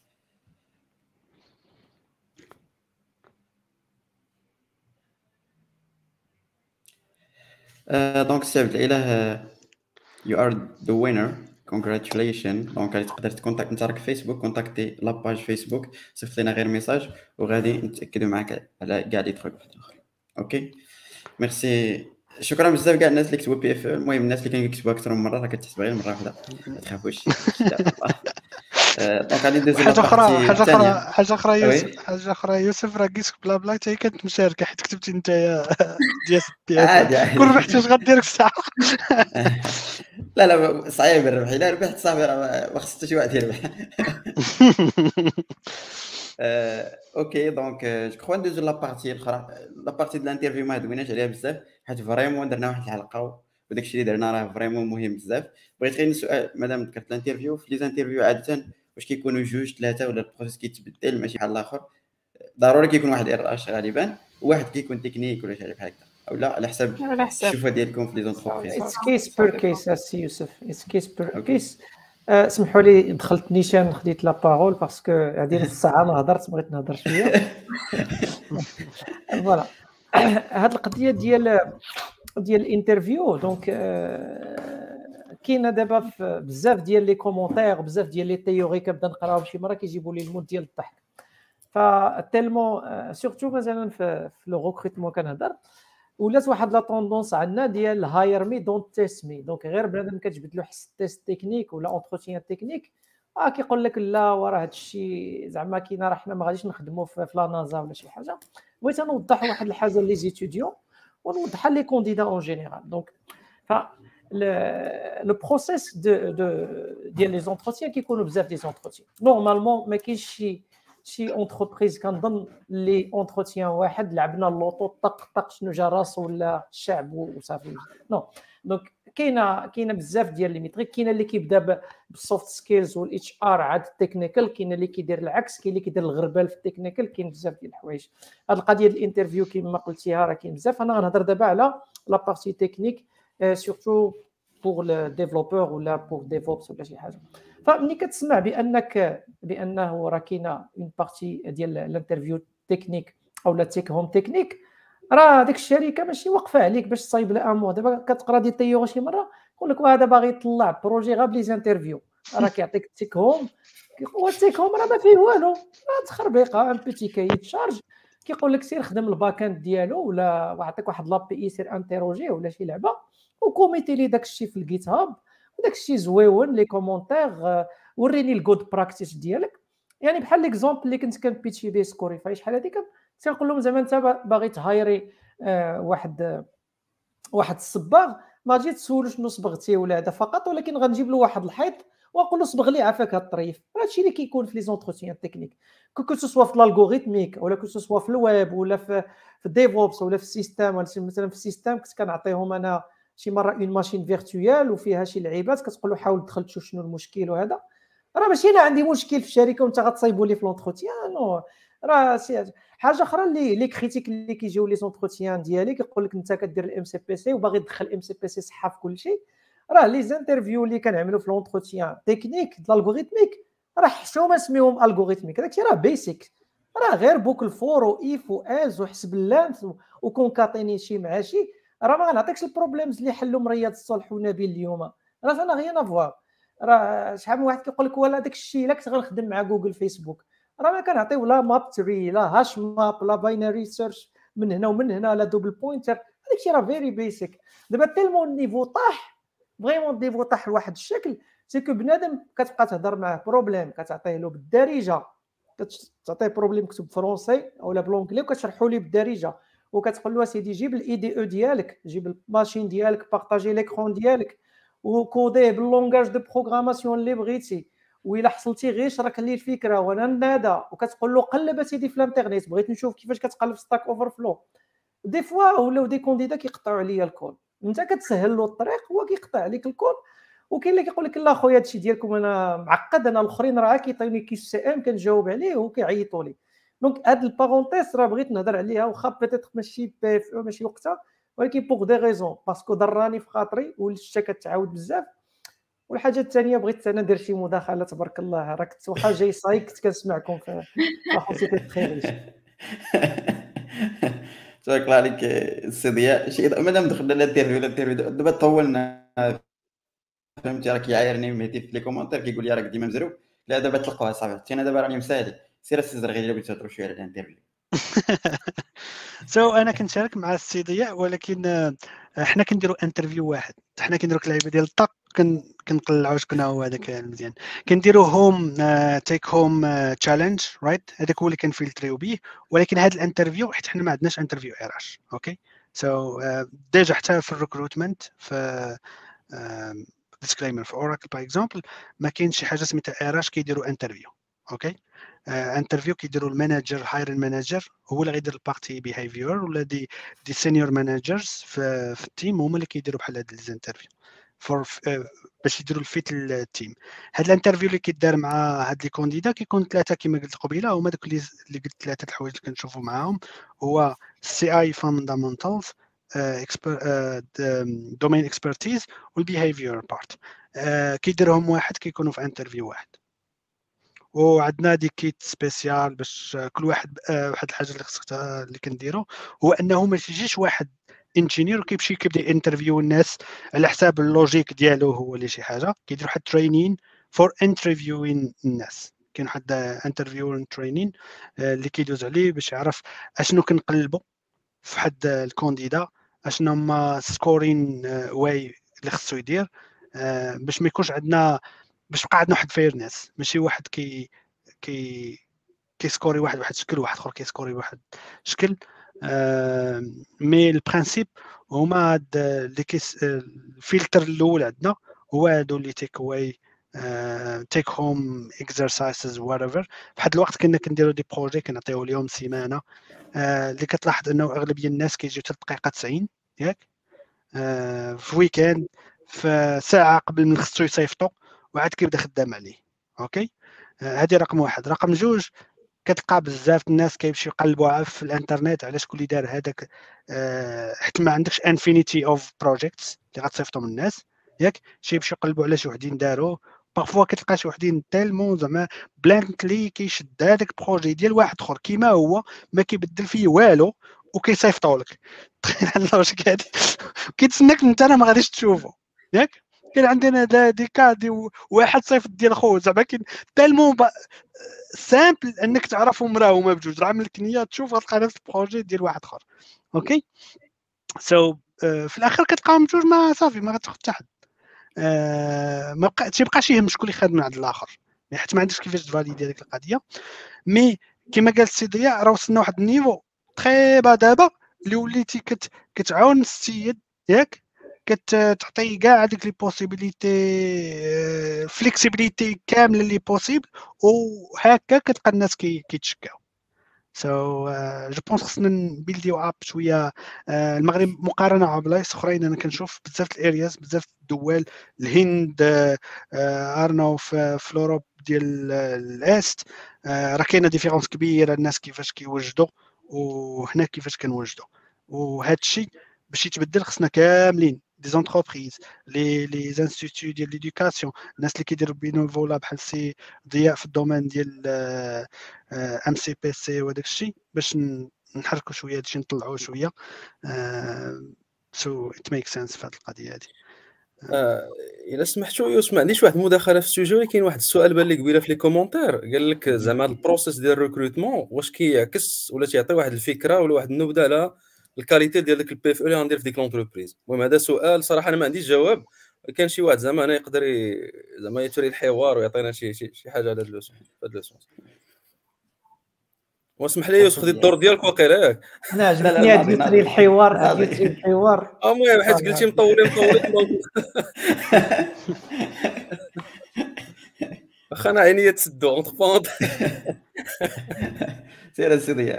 دونك سي عبد الاله you are the winner, congratulations. دونك غادي تقدر تكونتاكت انت راك في فيسبوك، كونتاكتي لاباج فيسبوك، صيفط لنا غير ميساج وغادي نتاكدوا معاك على كاع لي تروك اخرين. اوكي ميرسي، شكرا بزاف كاع الناس اللي كتبوا بي اف. المهم الناس اللي كيكتبوا اكثر من مره راه كتحسب غير مره واحده، ما تخافوش. دونك غادي ندوزو حاجه اخرى يوسف راه كيسك بلا بلا حتى هي كانت مشاركه، حيت كتبتي انت ديال بي اف كون ربحتي واش غدير في الساعه. لا صعيب الربح، الا ربحت صافي راه ما خص حتى شي واحد يربح. اوكي دونك جو كخوا ندوزو لابارتي الاخرى. لابارتي ديال الانترفيو ما دويناش عليها بزاف، حيت فريمون درنا واحد الحلقه وداكشي اللي درنا راه فريمون مهم بزاف. بغيت غير نسال مادام ذكرت الانترفيو، في لي زانترفيو عاده واش كيكونوا جوج ثلاثه ولا البروسيس كيتبدل ماشي بحال الاخر؟ ضروري كيكون واحد ار غالبا، وواحد كيكون تكنيك ولا شي حاجه بحال هكا، اولا على حسب الشوفه ديالكم في لي زونتربريز. اتس كيس بير كيس السي يوسف، اتس كيس بير كيس. سمحوا لي دخلت نيشان خديت لا بارول باسكو هذه نص ساعه ما هضرت، بغيت نهضر شويه. فوالا هاد القضيه ديال الانترفيو. دونك كاينه دابا بزاف ديال لي كومونتير، بزاف ديال لي تيوري كنبدا نقراهم، شي مره كيجيبوا لي المود ديال الضحك. فتيلمون سورتو مثلا في لو ريكروتمون كنهضر، ولات واحد لا طوندونس عندنا ديال هاير مي دونت تيست مي. دونك غير بنادم كتجبد له حس تيست تكنيك ولا اونتروتيان تكنيك كيقول لك لا وراه هادشي زعما كاينه، راه حنا ما غاديش نخدموا في لا نازا ولا شي حاجه. بغيت نوضح واحد الحاجه لي زيتيديون ونوضحها لي كونديدا اون جينيرال. دونك لو بروسيس ديال لي زونتروتيان كيكونوا بزاف دي زونتروتيان. نورمالمون ما كاينش شي اونتربريز كنظن لي اونتروتيان واحد لعبنا اللوطو طق شنو جا راسو ولا الشعب وصافي. نو دونك كاينه بزاف ديال لي ميتريك. كاينه اللي كيبدا بالسوفت سكيلز والاتش ار عاد التكنيكال، كاين اللي كيدير العكس، كاين اللي كيدير الغربال في التكنيكال، كاين بزاف ديال الحوايج. هاد القضيه ديال الانترفيو كما قلتيها راه كاين بزاف. انا غنهضر دابا على لا بارتي تكنيك سورتو بور لو ديفلوبور ولا بور ديفوبس ولا شي حاجه. فملي كتسمع بانه راه كاينه اون بارتي ديال الانترفيو تكنيك او لا تيك هوم تكنيك، راه ديك الشركه ماشي واقفه عليك باش تصايب لها امو. دابا كتقرا دي تيور شي مره يقول لك هذا باغي يطلع بروجي غير بلي انترفيو، راه كيعطيك تيك هوم. والتيك هوم راه ما فيه والو، راه تخربيقه ان بيتي كاي تشارج كيقول لك سير خدم الباك اند ديالو ولا وعطيك واحد لابي اي سير انتروجي ولا شي لعبه وكوميتي لي داك الشيء في الجيت هاب وداك الشيء زويون لي كومونتير وريني الجود براكتيس ديالك. يعني بحال ليكزومبل اللي كنت كنبيتشي به سكوريفاي شحال هذيك، تنقول لهم زعما انت باغي تهايري واحد الصباغ، ما تجي تسولو شنو صبغتي ولا هذا فقط، ولكن غنجيب له واحد الحيط ونقول له صبغ لي عافاك هاد الطريف. هادشي اللي كيكون في لي زونتروتيان تكنيك، كو سوا في الالغوريثميك ولا كو سوا في الويب ولا في الديفوبس ولا في السيستم. مثلا في السيستم كنت كنعطيهم انا شي مره اون ماشين فيرتوال وفيها شي لعيبات، كتقول له حاول تدخل تشوف شنو المشكل. وهذا راه ماشي انا عندي مشكل في الشركه وانت غتصايبوا لي في لونتروتيان، نو. راه حاجه اخرى اللي كريتيك اللي كيجيو لي زونتروتيان ديالي كيقول لك انت كدير الام سي بي سي وباغي تدخل الام سي بي سي صحه في كل شيء. راه لي زانترفيو اللي كنعملوا في لونتروتيان تكنيك د الالغوريثميك راه حشومه سميهم الغوريثميك، داكشي راه بيسيك، راه غير بوكل فور وايف واز وحسب اللانث وكونكاتيني شي مع شي. راه ما غنعطيكش البروبليمز اللي حلهم رياض الصالح ونبيل اليوم، راه انا غير نافوار. راه شحال من واحد كيقول لك ولا داك الشيء الا كنت غنخدم مع جوجل فيسبوك، راه ما كنعطيو لا ماب تري لا هاش ماب لا باينري سيرش من هنا ومن هنا لا دوبل بوينتر. داكشي راه فيري بيسك. دابا تيلمون النيفو طاح فريمون، النيفو طاح لواحد الشكل سيكو بنادم كتبقى تهضر معاه بروبليم كتعطيه له بالدارجه، كتعطيه بروبليم مكتوب فرونسي اولا بلونجلي وكتشرحوا ليه بالدارجه، وكتقول له سيدي جيب الاي دي او ديالك، جيب الماشين ديالك، بارطاجي ليكرون ديالك وكوديه باللونغاج دو بروغراماسيون اللي بغيتي، وإلا حصلتي غير شرك لي الفكره وانا نادا، وكتقول له قلب سيدي في الانترنيت بغيت نشوف كيفاش كتقلب ستاك اوفر فلو. دي فوا ولاو دي كونديدا كيقطعوا عليا الكود، انت كتسهل له الطريق هو كيقطع عليك الكود. وكاين اللي كيقول لك لا خويا هادشي ديالكم انا معقد، انا الاخرين راه كيعطيوني كيس سي ام كنجاوب عليه وكيعيطوا لي. دونك هاد البارونتيز راه بغيت نهضر عليها، واخا بيتيت ماشي بي اف او ماشي وقتها، ولكن بوغ دي ريزون باسكو ضراني في خاطري والشتا كتعاود بزاف. والحاجه الثانيه بغيت انا ندير شي مداخله، تبارك الله راه كنت واخا جاي صايك كنت كنسمعكم في واخا سيتي تري ريش. تبارك الله عليك السي ضياء. شي مادام دخلنا الانترفيو دابا طولنا، فهمتي راه كيعايرني مهدي في لي كومونتير كيقول لي راك ديما مزروب. لا دابا تلقاوها صافي، انا دابا راني مسالي. سير السي زرغي الا بغيتو تهضروا شويه على الانترفيو. انا كنشارك مع السي ضياء، ولكن حنا كنديروا انترفيو واحد، حنا كنديروا اللعيبه ديال الطاق كنطلعوا شكون هو هذاك المزيان، كنديروا هوم تيك هوم تشالنج رايت، هذاك هو اللي كنفلتريو به. ولكن هذا الانترفيو حيت حنا ما عندناش انترفيو ار اش اوكي. سو ديجا حتى في الريكروتمنت في ديسكليمر في اوراكل باغ اكزومبل ما كاينش شي حاجه سميتها ار اش كيديروا انترفيو اوكي. انترفيو كيديروا المانجر هايرين مانجر هو اللي غيدير البارتي بيهافيور، ولا دي سينيور مانجرز في التيم هما اللي كيديروا بحال هاد الانترفيو فور باش يديروا الفيت للتيم. هاد الانترفيو اللي كيدار مع هاد لي كونديدا كيكون ثلاثه كما قلت قبيله، هما دوك اللي قلت ثلاثه الحوايج اللي كنشوفوا معاهم، هو السي اي فاندامنتالز، دومين اكسبرتيز والبيهافيور بارت. كيديرهم واحد كيكونوا في انترفيو واحد. وعندنا دي كيت سبيسيال باش كل واحد واحد الحاجه اللي خصك اللي كنديرو هو انه ما تجيش واحد انجينير وكيمشي كيبدا انترفيو الناس على حساب اللوجيك ديالو هو اللي شي حاجه. كيدير واحد ترينين فور انترفيوين الناس، كاين واحد انترفيو ترينين اللي كيدوز عليه باش يعرف اشنو كنقلبوا في حد الكونديدا، اشنو هما سكورين واي اللي خصو يدير باش ما يكونش عندنا، باش بقى عندنا واحد فيرنس، ماشي واحد كيسكوري واحد شكل وواحد اخر كيسكوري واحد شكل. مي البرانسيب هما هاد اللي الفلتر الاول عندنا هو هادو اللي تيك واي تيك هوم اكسرسايزز واتيفر. فواحد الوقت كنا كنديروا دي بروجي كنعطيو لهم سيمانه اللي كتلاحظ انه اغلبيه الناس كيجيو 3 دقائق 90 ياك في ويكاند في ساعه قبل من خصو يصيفطوا وعاد كيبدا خدام عليه اوكي. هذه رقم واحد. رقم جوج كتلقى بزاف الناس كيمشيو يقلبوا في الانترنت على شكون اللي دار هذاك حيت ما عندكش انفينيتي اوف بروجيكتس اللي غتصيفطوا من الناس ياك، شي يمشيو يقلبوا على شي وحدين داروا بارفوا كتلقى شي وحدين تالمون زعما بلانكلي كيشد هذاك البروجي ديال واحد اخر كيما هو ما كيبدل فيه والو وكيصيفطوا لك. تخيل هاد اللوجيك هادي كيتسناك انت راه ما غاديش تشوفه ياك. كاين عندنا دي كادي واحد صيفط ديال خوه زعما كاين تالمون سامبل انك تعرفهم راهما بجوج، راه ملي كنيه تشوف غتلقى نفس البروجي ديال واحد اخر اوكي. سو في الاخر كتلقاهم بجوج ما صافي ما غتاخذ حتى حد ما تيبقاش يهم شكون اللي خاد من عند الاخر حيت ما عندكش كيفاش تفاليدي هذيك القضيه. مي كما قال السي ضياء راه وصلنا واحد النيفو تري با دابا اللي وليتي كتعاون السيد ياك، كتعطي كاع هذيك لي بوسيبيليتي فليكسيبيليتي كامله اللي بوسيبل، وهكا كتلقى الناس كيتشكاو. سو جو بونس خصنا نبيلديو اب شويه المغرب مقارنه مع بلايص اخرين. انا كنشوف بزاف الارياز بزاف الدول الهند ارنو في اوروب ديال الاست راه كاينه ديفيرونس كبيره الناس كيفاش كيوجدوا وهنا كيفاش كنوجدوا. وهذا الشيء باش يتبدل خصنا كاملين دي زونتربريز لي انستيتيو ديال ليدوكاسيون، الناس اللي كيديروا بينوفولا بحال سي ضياء في الدومين ديال ام سي بي سي وداك الشيء باش نحركوا شويه هادشي نطلعوه شويه. سو ات ميك سنس في هذه القضيه هذه. الا سمحتوا يوسف ما عنديش واحد المداخله في السوجي، ولكن واحد السؤال بان لي قبيله في لي كومونتير قال لك زعما البروسيس ديال الريكروتمون واش كيعكس ولا تيعطي واحد الفكره ولا واحد النبذه على الكاليتي ديال داك البي اف او اللي غندير في ديك لونتربريز. المهم هذا سؤال صراحه انا ما عنديش جواب. كان شي واحد زعما انا يقدر زعما يثري الحوار ويعطينا شي حاجه على هذا اللوسون في هذا اللوسون. واسمح لي يوسف، خدي الدور ديالك واقيلا ياك. انا عجبتني هاد يثري الحوار المهم حيت قلتي مطولين واخا انا عينيا تسدو اونتر بونط. سير السيدي.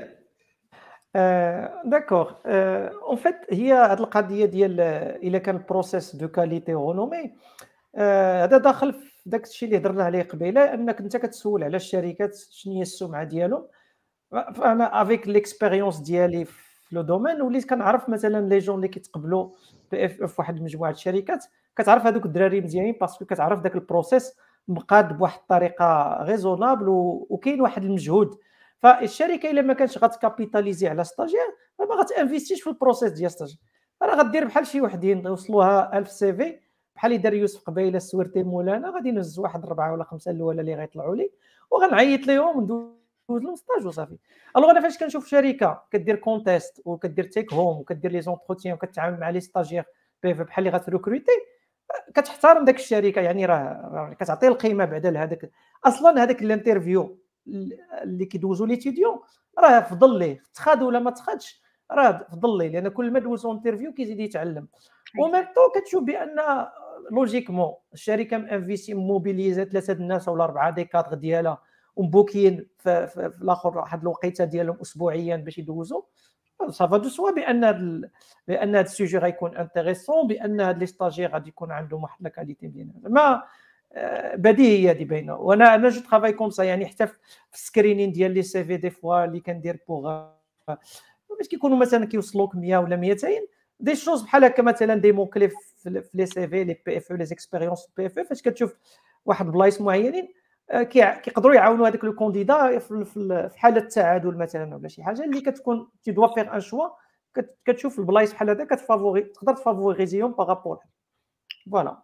داكوغ. اون فيت هي هاد القضيه ديال الا كان البروسيس دو كاليتي رونومي، هذا داخل في داك الشيء اللي هضرنا عليه قبيله، انك انت كتسول على الشركات شنو هي السمعه ديالهم. فانا افيك ليكسبيريونس ديالي في لو دومين وليت كنعرف مثلا لي جون اللي كيتقبلوا بي اف اف واحد مجموعه الشركات، كتعرف هذوك الدراري مزيانين باسكو كتعرف داك البروسيس مقاد بواحد الطريقه ريزونابل وكاين واحد المجهود. فالشركه الا ما كانش غتكابيتاليزي على ستاجير ما غتانفيستيش في البروسيس ديال ستاجير، راه غدير بحال شي وحدين يوصلوها 1000 سي في بحال اللي دار يوسف قبيله السويرتي مولانا، غادي نهز واحد 4 ولا 5 الاولى اللي غيطلعوا لي وغنعيط لهم وندوز لهم ستاج وصافي. الوغ انا فاش كنشوف شركه كدير كونتيست وكدير تيك هوم وكدير لي زونتروتيان وكتعامل مع لي ستاجير بحال اللي غتروكروتي، كتحترم داك الشركه، يعني راه كتعطي القيمه بعدا لهذاك. اصلا هذاك الانترفيو اللي كيدوزو ليتيديون راه فضل ليه تخاد ولا ما تخادش، راه فضل ليه، لان كل ما دوزو انترفيو كيزيد يتعلم. وميم طو كتشوف بان لوجيكمون الشركه مانفيسي موبيليزا 3 الناس ولا 4 دي كادغ ديالها ومبوكين في الاخر واحد الوقيته ديالهم اسبوعيا باش يدوزوا، صافا دو سوا بان هذا السوجي غيكون انتريسون، بان هاد لي ستاجير غادي يكون عندهم واحد لا كاليتي مزيانه. ما بديهيه دي باينه. وانا جو ترافاي كوم سا، يعني حتى في السكرينين ديال لي سي في دي فوا اللي كندير بوغ باش كيكونوا مثلا كيوصلوك 100 ولا 200 دي شوز بحال هكا، مثلا دي مون كلي في لي سي في لي بي اف لي زيكسبيريونس بي اف فاش كتشوف واحد بلايص معينين كيقدروا يعاونوا هذاك لو كونديدا في حاله التعادل مثلا ولا شي حاجه اللي كتكون تي دوا فيغ ان شوا، كتشوف البلايص بحال هذا كتفافوري تقدر تفافوريزيهم بارابور. فوالا.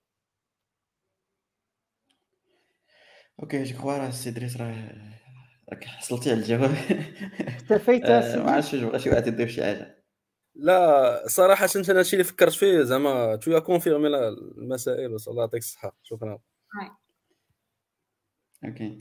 اوكي جو كخوا راه السي دريس راك حصلتي على الجواب. اكتفيت ما عرفتش بغا شي واحد يضيف شي حاجه. لا صراحه انا هادشي اللي فكرت فيه زعما تو كونفيرمي المسائل وصلى الله يعطيك الصحه. شكرا. اوكي.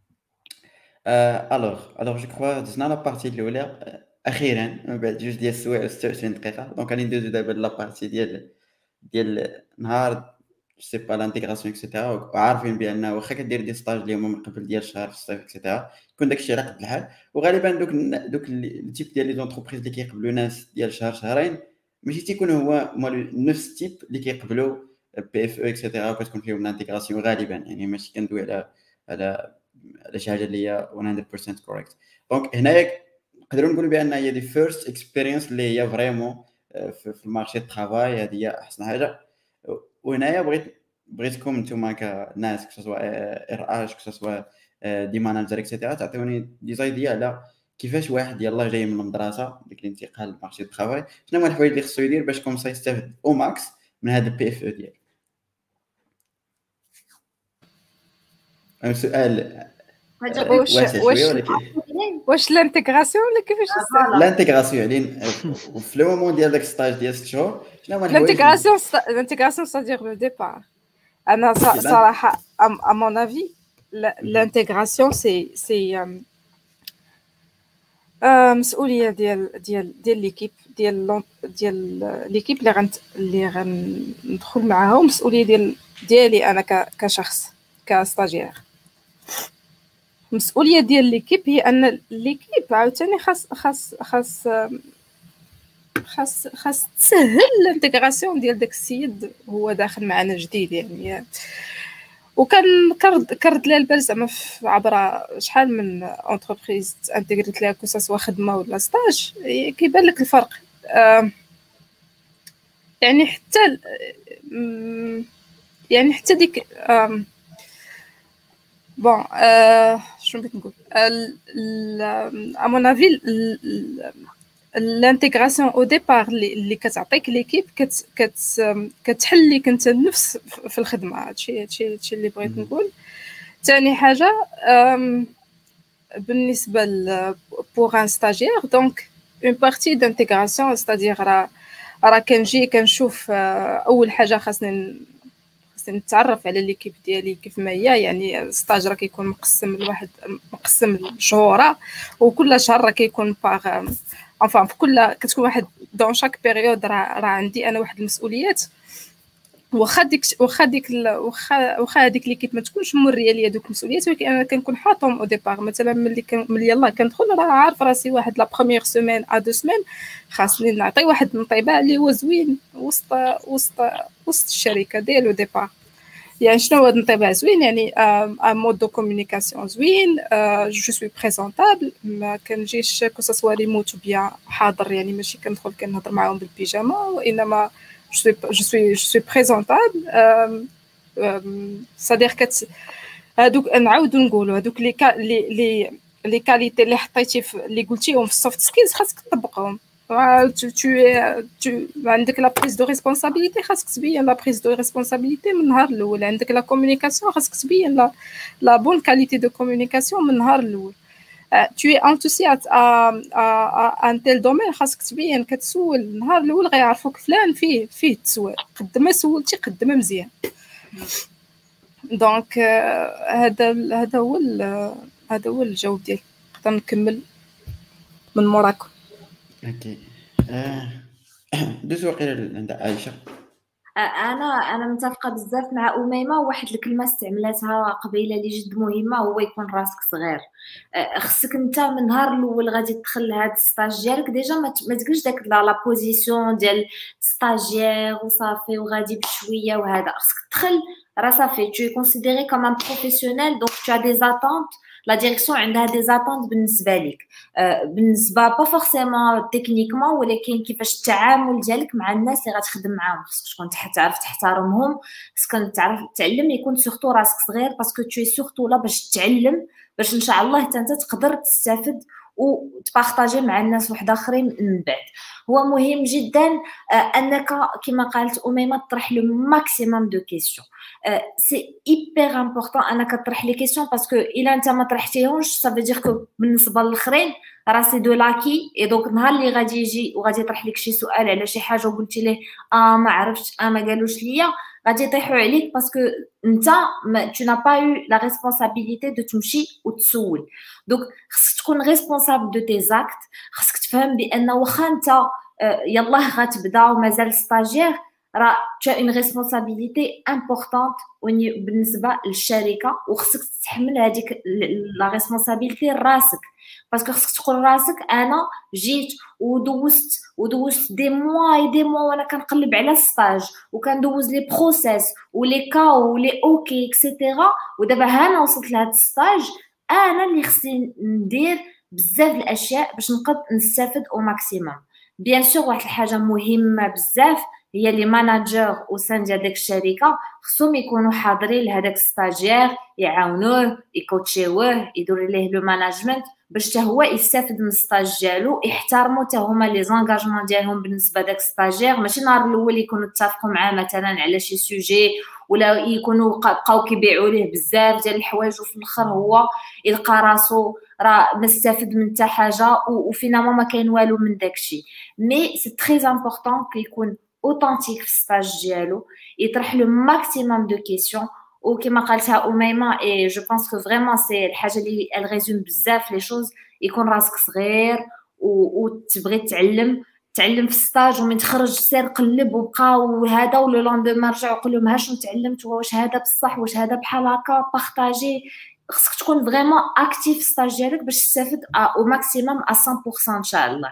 الوغ جو كخوا دزنا لا بارتي الاولى اخيرا من بعد 2 ديال السوايع و 26 دقيقه. دونك غادي ندوزو دابا لا بارتي ديال نهار سي با لانتيغراسيون اكسيتيرا، وعارفين بان واخا كدير دي ستاج اللي هما من قبل ديال الشهر في الصيف اكسيتيرا يكون داكشي على قد الحال. وغالبا دوك التيب ديال لي زونتربريز اللي كيقبلوا ناس ديال شهر شهرين ماشي تيكون هو نفس التيب اللي كيقبلوا بي اف او اكسيتيرا وكتكون فيهم لانتيغراسيون غالبا. يعني ماشي كندوي على شي حاجه اللي هي 100% كوريكت. دونك هنايا نقدروا نقولوا بان هي دي فيرست اكسبيرينس اللي هي فريمون في المارشي الترافاي، هذه هي احسن حاجه. وهنايا بغيتكم نتوما كناس كسوا ار اش كسوا دي ماناجر اكسيتيرا تعطيوني دي زايديا على كيفاش واحد يلاه جاي من المدرسه ديك الانتقال للمارشي الترافاي، شنو هما الحوايج اللي خصو يدير باش كومسا يستافد او ماكس من هذا البي اف او ديالو. سؤال واش لانتيغراسيون ولا كيفاش لانتيغراسيون علين في لو مومون ديال داك ستاج ديال 6 شهور شنو هما الحوايج لانتيغراسيون c'est-à-dire le départ. انا صراحه à mon avis l'intégration c'est مسؤوليه ديال ليكيب ديال ليكيب اللي غندخل معاها، ومسؤوليه ديالي انا كشخص كستاجير. المسؤوليه ديال ليكيب هي ان ليكيب عاوتاني خاص تسهل الانتغراسيون ديال داك السيد هو داخل معنا جديد. يعني وكان كرد لها البال زعما عبر شحال من اونتربريز انتغريت لها كوسا خدمه ولا ستاج، كيبان لك الفرق. يعني حتى ديك بون شنو بغيت نقول à mon avis l'intégration au départ اللي كتعطيك ليكيب كتحل لك انت النفس في الخدمه. هادشي اللي بغيت نقول. ثاني حاجه بالنسبه بوغ ان ستاجير، دونك اون بارتي دانتيغراسيون، ستادير راه كنجي كنشوف اول حاجه خاصني نتعرف على ليكيب ديالي كيف ما هي. يعني الستاج راه كيكون مقسم لواحد مقسم لشهور، وكل شهر راه كيكون باغ انفان في كل كتكون واحد دون شاك بيريود راه عندي انا واحد المسؤوليات. واخا هذيك ليكيب ما تكونش مريه ليا دوك المسؤوليات، ولكن انا كنكون حاطهم او ديبار. مثلا ملي يلاه كندخل راه عارف راسي واحد لا بروميير سيمين ا دو سيمين خاصني نعطي واحد الانطباع اللي هو زوين وسط الشركه ديالو ديبار. يعني شنو هو الانطباع زوين؟ يعني ان مود دو كومونيكاسيون زوين، جو سوي بريزونطابل، ما كنجيش كو سوا ريموت بيان حاضر، يعني ماشي كندخل كنهضر معاهم بالبيجاما، وانما je suis présentable. c'est-à-dire que هادوك نعاودو نقولوا هادوك لي كاليتي اللي حطيتي اللي قلتيهم في السوفت سكيلز خاصك تطبقهم. عندك لا بريز دو ريسبونسابيلتي، خاصك تبين لا بريز دو ريسبونسابيلتي من النهار الاول. عندك لا كومونيكاسيون، خاصك تبين لا بون كاليتي دو كومونيكاسيون من النهار الاول. tu es enthousiaste à un tel domaine، خاصك تبين كتسول النهار الاول غيعرفوك فلان فيه تسوال، قدما سولتي قدما مزيان. دونك هذا هو الجواب ديالي. نقدر نكمل من موراكم. اوكي دوز وقيله عند عائشه. انا متفقه بزاف مع اميمه. واحد الكلمه استعملتها قبيله اللي جد مهمه هو يكون راسك صغير. خصك انت من النهار الاول غادي تدخل لهاد الستاج ديالك ديجا ما تقولش داك لا بوزيسيون ديال ستاجير وصافي وغادي بشويه وهذا. خصك تدخل راه صافي tu es considéré comme un professionnel, donc tu as des attentes. لا ديريكسيون عندها دي زاتونت بالنسبه لك، بالنسبه با فورسيمون تكنيكمون، ولكن كيفاش التعامل ديالك مع الناس اللي غتخدم معاهم. خصك تكون تعرف تحترمهم، خصك تعرف تعلم، يكون سورتو راسك صغير باسكو tu es سورتو لا باش تتعلم، باش ان شاء الله حتى انت تقدر تستافد وتبارطاجي مع الناس واحد اخرين من بعد. هو مهم جدا انك كما قالت اميمه تطرح لو ماكسيموم دو كيسيون. سي ايبر امبورطون انك تطرح لي كيسيون، باسكو الا انت ما طرحتيهمش سا فو دير كو بالنسبه للاخرين راه سي دو لاكي. اي دونك النهار اللي غادي يجي وغادي يطرح لك شي سؤال على شي حاجه وقلتي ليه ما عرفتش ما قالوش ليا، غادي يطيحوا عليك باسكو انت tu n'as pas eu la responsabilité de تمشي وتسول. دونك خصك تكون ريسبونسابل دو تي زاكت. خصك تفهم بان واخا انت يلاه غتبدا ومازال ستاجير، راه tu as une responsabilité importante بالنسبه للشركه، وخصك تتحمل هذيك لا ريسبونسابيلتي راسك. باسكو خصك تقول راسك انا جيت ودوزت دي موا وانا كنقلب على ستاج وكندوز لي بروسيس ولي كاو ولي اوكي اكسيتيرا، ودابا انا وصلت لهاد الستاج، انا اللي خصني ندير بزاف الاشياء باش نقدر نستافد او ماكسيموم. بيان سور واحد الحاجه مهمه بزاف هي لي ماناجر وسان ديال ديك الشركه خصهم يكونوا حاضرين لهداك ستاجير، يعاونوه يكوتشيوه يديروا ليه لو ماناجمنت باش حتى هو يستافد من الستاج ديالو. يحترموا حتى هما لي زانغاجمون ديالهم بالنسبه داك ستاجير، ماشي نهار الاول يكونوا اتفقوا معاه مثلا على شي سوجي ولا يكونوا بقاو كيبيعوا ليه بزاف ديال الحوايج وفي الاخر هو يلقى راسو راه ما استافد من حتى حاجه وفينالمون ما كاين والو من داكشي. مي سي تري امبورطون كيكون اوثنتيك في الستاج ديالو، يطرح له ماكسيموم دو كيسيون. وكما قالتها اميمه اي جو بونس كو فريمون سي الحاجه اللي الريزوم بزاف لي شوز، يكون راسك صغير وتبغي تعلم في الستاج، ومن تخرج سير قلب وبقى وهذا، ولو لوندوما رجع وقول لهم ها شنو تعلمت، واش هذا بصح، واش هذا بحال هكا، بارطاجي. خصك تكون فريمون اكتيف في الستاج ديالك باش تستافد او ماكسيموم 100% ان شاء الله.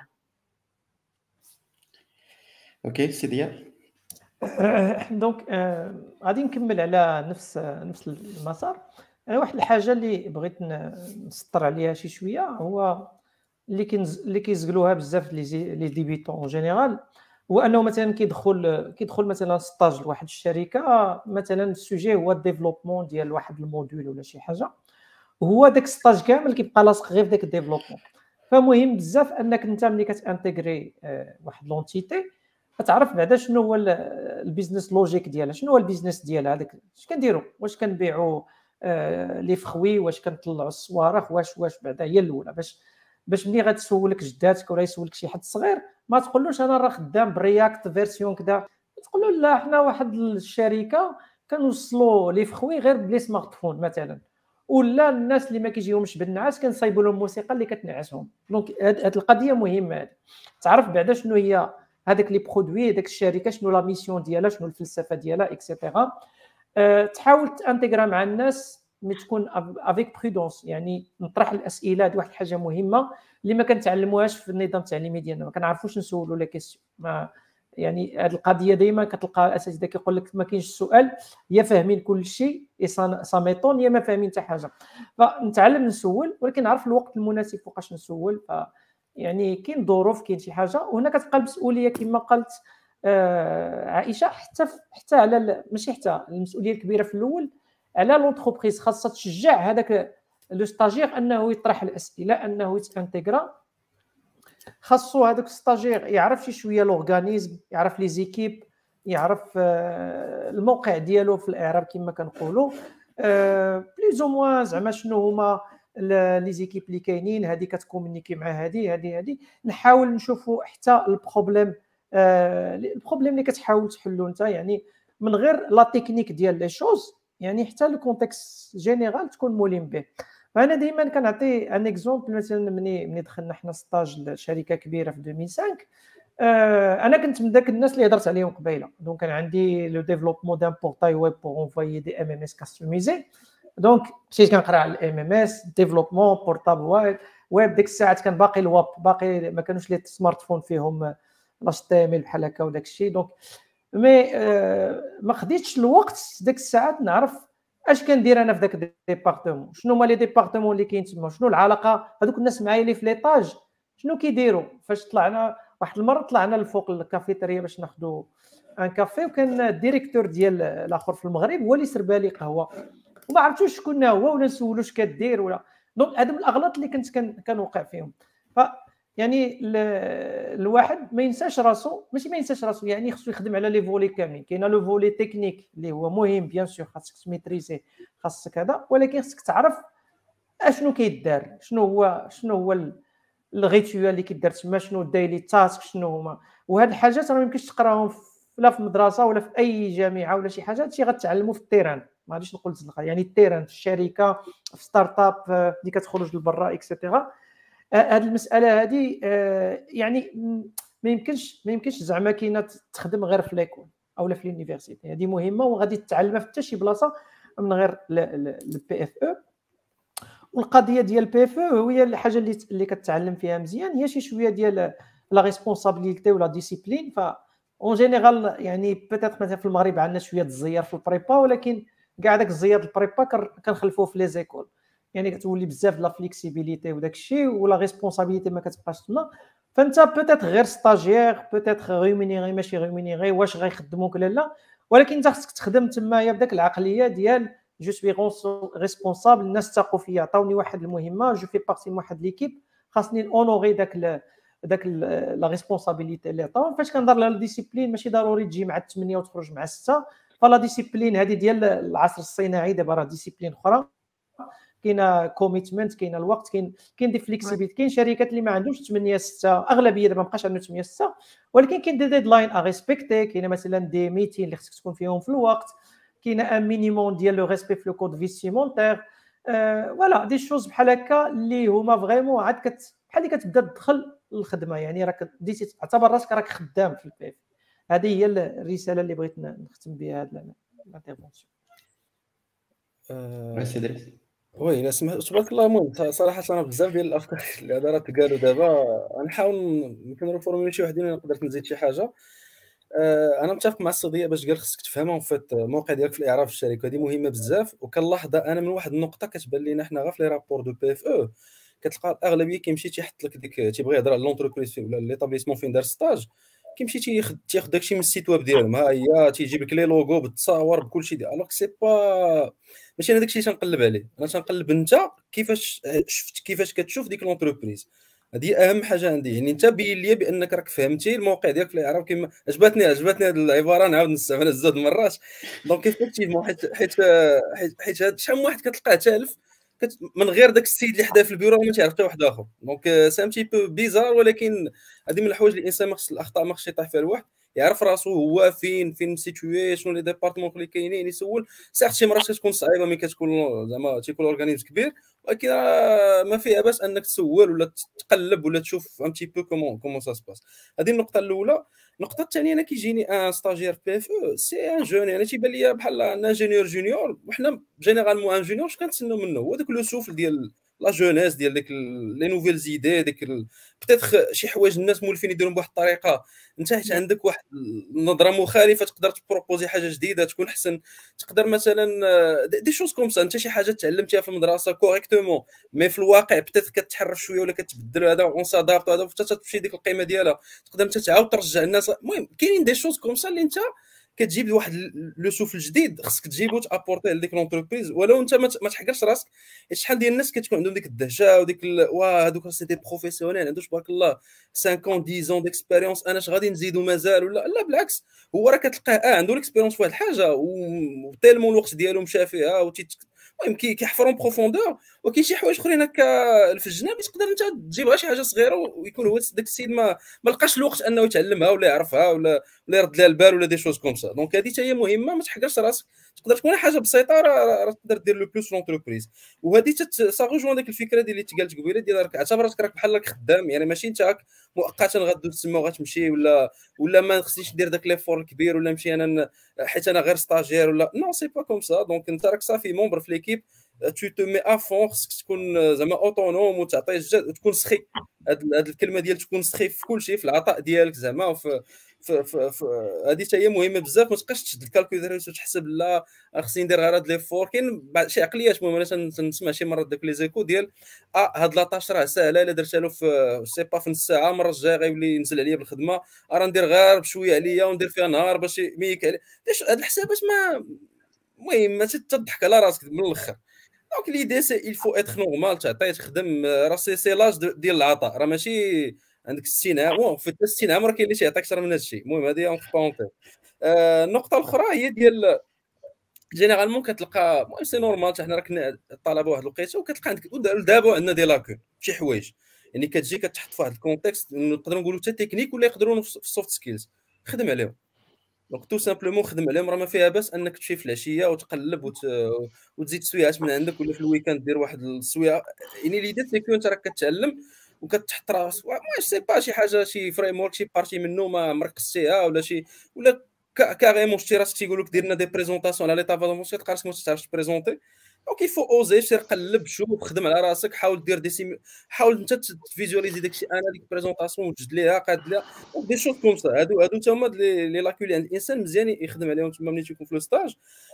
اوكي سيديا. دونك غادي نكمل على نفس المسار. انا واحد الحاجه اللي بغيت نسطر عليها شي شويه هو اللي كيزقلوها بزاف لي ديبيتون اون جينيرال، هو انه مثلا كيدخل مثلا ستاج لواحد الشركه، مثلا السوجي هو الديفلوبمون ديال واحد الموديول ولا شي حاجه، وهو داك ستاج كامل كيبقى لاصق غير في داك الديفلوبمون. فمهم بزاف انك انت ملي كتانتيغري واحد لونتيتي كتعرف بعدا شنو هو البيزنس لوجيك ديالها، شنو هو البيزنس ديالها، هذاك اش كنديروا، واش كنبيعوا لي فخوي، واش كنطلعوا الصواريخ، واش بعدا هي الاولى باش باش ملي غتسولك جداتك ولا يسولك شي حد صغير ما تقولوش انا راه خدام برياكت فيرسيون كذا، تقول له لا حنا واحد الشركه كنوصلوا لي فخوي غير بلي سمارت فون مثلا، ولا الناس اللي ما كيجيهمش بالنعاس كنصايبوا لهم موسيقى اللي كتنعسهم. دونك هاد القضيه مهمه، هذه تعرف بعدا شنو هي هذاك لي برودوي، داك الشركه شنو لا ميسيون ديالها، شنو الفلسفه ديالها اكسيتيرا. تحاول تانتيغرا مع الناس مي تكون افيك برودونس، يعني نطرح الاسئله. هذه واحد الحاجه مهمه اللي ما كنتعلموهاش في النظام التعليمي ديالنا، ما كنعرفوش نسولوا لي كيسيون. يعني هذه القضيه دائما كتلقى الاساتذه كيقول لك ما كاينش السؤال، يا فاهمين كل شيء صامتون يا ما فاهمين حتى حاجه. فنتعلم نسول، ولكن نعرف الوقت المناسب فوقاش نسول. يعني كاين ظروف، كاين شي حاجه، وهنا كتبقى المسؤوليه كما قالت عائشه، حتى على ماشي حتى المسؤوليه الكبيره في الاول على لونتربريز، خاصها تشجع هذاك لو ستاجير انه يطرح الاسئله، انه يتانتيغرا. خاصو هذاك ستاجير يعرف شي شويه لورغانيزم، يعرف لي زيكيب، يعرف الموقع ديالو في الاعراب كما كنقولوا، بليز او موان زعما شنو هما لي زيكيب اللي كاينين، هذه كتكومونيكي مع هذه. نحاول نشوفوا حتى البروبليم اللي كتحاول تحلو انت، يعني من غير لا تكنيك ديال لي شوز، يعني حتى لو كونتكست جينيرال تكون مولين به. فانا دائما كنعطي ان اكزومبل، مثلا ملي دخلنا حنا ستاج لشركه كبيره في 2005، انا كنت من ذاك الناس اللي هضرت عليهم قبيله. دونك كان عندي لو ديفلوبمون دان بورتاي ويب بور انفويي دي ام ام اس كاستوميزي. دونك مشيت كنقرا على الام ام اس ديفلوبمون بورتابل ويب. ديك الساعات كان باقي الواب، باقي ما كانوش لي سمارت فون فيهم لاش تي ام ال بحال هكا وداك الشيء. دونك مي ما خديتش الوقت ديك الساعات نعرف اش كندير انا في داك الديبارتمون، شنو هما لي ديبارتمون اللي كاين تما، شنو العلاقه هذوك الناس معايا اللي في ليطاج شنو كيديروا. فاش طلعنا واحد المره طلعنا لفوق الكافيتيريا باش ناخذوا ان كافي، وكان الديريكتور ديال الاخر في المغرب هو اللي سربا لي قهوه، وما عرفتوش شكون هو ولا نسولو اش كدير ولا. دونك هادو من الاغلاط اللي كنت كنوقع فيهم. ف يعني الواحد ما ينساش راسو، ماشي ما ينساش راسو، يعني خصو يخدم على لي فولي كاملين. كاين لو فولي تكنيك اللي هو مهم بيان سور، خاصك تميتريزي، خاصك هذا، ولكن خصك تعرف اشنو كيدار، شنو هو الغيتوال اللي كيدار تما، شنو الدايلي تاسك، شنو هما. وهاد الحاجات راه ما يمكنش تقراهم لا في المدرسه ولا في اي جامعه ولا شي حاجه، هادشي غتعلموا في التيران. ما غاديش نقول يعني التيران في الشركه، في ستارت اب اللي كتخرج لبرا اكسيتيرا. هذه المساله هذه يعني ما يمكنش زعما كاينه تخدم غير في ليكول او في اليونيفرسيتي. هذه مهمه وغادي تتعلمها في حتى شي بلاصه من غير البي اف او. والقضيه ديال البي اف او هي الحاجه اللي كتعلم فيها مزيان، هي شي شويه ديال لا ريسبونسابيلتي ولا ديسيبلين. ف اون جينيرال يعني بيتيت مثلا في المغرب عندنا شويه الزيار في البريبا، ولكن كاع داك الزيار البريبا كنخلفوه في لي زيكول، يعني كتولي بزاف لا فليكسيبيليتي وداك الشيء، ولا ريسبونسابيلتي ما كتبقاش تما. فانت بيتيت غير ستاجير، بيتيت ريمونيري ماشي ريمونيري، واش غيخدموك ولا لا، ولكن انت خصك تخدم تمايا بداك العقليه ديال جو سوي ريسبونسابل، الناس تاقوا فيا، عطاوني واحد المهمه، جو في بارتي من واحد ليكيب، خاصني اونوري داك لا ريسبونسابيلتي اللي عطاو. فاش كنهضر على الديسيبلين ماشي ضروري تجي مع 8 وتخرج مع 6، فلا ديسيبلين هذه ديال العصر الصناعي. دابا راه ديسيبلين اخرى، كاينه كوميتمنت، كاينه الوقت، كاين دي فليكسيبيتي. كاين شركات اللي ما عندهمش 8 6، اغلبيه دابا ما بقاش عندهم 8 6، ولكن كاين دي ديدلاين ا ريسبكتي، كاينه مثلا دي ميتين اللي خصك تكون فيهم في الوقت، كاينه ان مينيموم ديال لو ريسبي في لو كود فيستيمونتير. فوالا دي شوز بحال هكا اللي هما فريمون عاد بحال اللي كتبدا تدخل الخدمه، يعني راك بديتي تعتبر راسك راك خدام في البي. هذه هي الرساله اللي بغيت نختم بها هذه الانترفونسيون. ميرسي دريس. وي لا تبارك الله. المهم صراحه انا بزاف ديال الافكار اللي راه تقالوا دابا غنحاول يمكن نفورمولي شي وحدين، نقدر نزيد شي حاجه. انا متفق مع الصديق باش قال خصك تفهمها فات الموقع ديالك في الاعراب في الشركه، هذه مهمه بزاف. وكنلاحظ انا من واحد النقطه كتبان لينا حنا غير في لي رابور دو بي اف او، كتلقى الاغلبيه كيمشي تيحط لك ديك تيبغي يهضر على لونتربريز ولا ليطابليسمون فين دار ستاج، كيمشي تياخذ داكشي من السيت ويب ديالهم، ها هي تيجيب لك لي لوغو بالتصاور بكلشي ديال. الوغ سي با ماشي انا داكشي اللي تنقلب عليه، انا تنقلب انت كيفاش شفت كيفاش كتشوف ديك لونتربريز. هذه اهم حاجه عندي، يعني انت بين لي بانك راك فهمتي الموقع ديالك في الاعراب. كما عجبتني هذه العباره، نعاود نستعملها زوج مرات. دونك ايفيكتيفمون حيت شحال من واحد كتلقاه تالف من غير داك السيد اللي حدا في البيرو ما تعرف حتى واحد اخر. دونك سي ان تي بو بيزار، ولكن هذه من الحوايج اللي الانسان ما خص الاخطاء ما خصش يطيح فيها الواحد، يعرف راسو هو فين مسيتوي، شنو لي ديبارتمون اللي كاينين، يسول. سيغ شي مرات كتكون صعيبه ملي كتكون زعما تيكون اورغانيزم كبير، ولكن ما فيها باس انك تسول ولا تقلب ولا تشوف ان تي بو كومون سا سباس. هذه النقطه الاولى. النقطه الثانيه، انا كيجيني ان ستاجير بي اف او سي ان جون، يعني تيبان ليا بحال ان انجينيور جونيور، وحنا جينيرالمون ان جونيور اش كنتسناو منه هو داك لو سوفل ديال لا جونيس، ديال ديك لي نوفيل زيدي، ديك بتيتر شي حوايج الناس مولفين يديرهم بواحد الطريقه، انت حيت عندك واحد النظره مخالفه تقدر تبروبوزي حاجه جديده تكون احسن. تقدر مثلا دي شوز كوم سا، انت شي حاجه تعلمتيها في المدرسه كوريكتومون مي في الواقع بتيتر كتحرف شويه ولا كتبدل هذا اون سادابط هذا حتى تمشي ديك القيمه ديالها، تقدر انت تعاود ترجع الناس. المهم كاينين دي شوز كوم سا اللي انت كتجيب واحد لو سوفل جديد خصك تجيبو تابورتيه لديك لونتربريز، ولو انت ما تحقرش راسك. شحال ديال الناس كتكون عندهم ديك الدهشه وديك واه هذوك سي دي بروفيسيونيل عندهم تبارك الله 5 ans 10 ans ديكسبيريونس، انا اش غادي نزيدو مازال ولا لا، بالعكس هو راه كتلقاه عنده ليكسبيريونس في واحد الحاجه وتيلمون الوقت ديالو مشى فيها المهم كيحفرون بروفوندور. وكاين شي حوايج اخرين هكا في الجناب تقدر انت تجيب غير شي حاجه صغيره ويكون هو داك السيد ما لقاش الوقت انه يتعلمها ولا يعرفها ولا يرد لها البال ولا دي شوز كوم سا. دونك هذه حتى هي مهمه، ما تحقرش راسك، تقدر تكون حاجه بسيطه راه تقدر دير لو بلوس لونتربريز. وهذه سا ريجوان ديك الفكره ديال اللي تقالت قبيله ديال راك اعتبرتك راك بحال راك خدام، يعني ماشي انت مؤقتا غادو تسمى وغتمشي ولا ما خصنيش ندير داك ليفور الكبير ولا نمشي انا حيت انا غير ستاجير ولا نو سي با كوم سا. دونك انت راك صافي ممبر في ليكيب، tu te mets à fond، خصك تكون زعما اوتونوم وتعطي الجد وتكون سخي. هاد الكلمه ديال تكون سخي في كل شيء، في العطاء ديالك زعما في هذه حتى هي مهمه بزاف. ما تبقاش تشد الكالكوليتر وتحسب لا خصني ندير غير هاد ليفور. كاين شي عقليات مهمه، انا تنسمع شي مرات داك لي زيكو ديال هاد لاطاش راه ساهله، الا درتها له في سي با في نص ساعه، المره الجايه غيولي ينزل عليا بالخدمه، راه ندير غير بشويه عليا وندير فيها نهار باش ميك عليه. هاد الحسابات ما المهم ما تضحك على راسك من الاخر. دونك ليدي سي il faut être normal، تعطي تخدم، راه سي لاج ديال العطاء، راه ماشي عندك 60 عام في 60 عام راه كاين اللي تيعطيك اكثر من هذا الشيء. المهم هذه اون بونطي. النقطه الاخرى هي ديال جينيرالمون كتلقى المهم سي نورمال، حتى حنا راك الطلبه واحد الوقيته وكتلقى عندك دابا عندنا دي لاكون شي حوايج، يعني كتجي كتحط في واحد الكونتكست نقدروا نقولوا حتى تكنيك ولا يقدروا في السوفت سكيلز، خدم عليهم. دونك تو سامبلومون خدم عليهم، راه ما فيها باس انك تمشي في العشيه وتقلب وتزيد سويعات من عندك، ولا في الويكاند دير واحد السويعه. يعني ليدي سيكو انت راك كتعلم وكتحط راسك ما سي با شي حاجه شي فريم ورك شي بارتي منه ما مركزتيها ولا شي ولا كاريمون شتي راسك تيقول لك دير لنا دي بريزونطاسيون على ليطا فالونسي تلقى راسك ما تعرفش تبريزونتي. دونك يفو اوزي سير قلب شوف خدم على راسك، حاول دير حاول انت تفيزواليزي داكشي انا ديك بريزونطاسيون وتجد ليها قاد ليها دي شوز كوم سا. هادو حتى هما لي لاكول عند الانسان مزيان يخدم عليهم تما ملي تيكون في لو ستاج.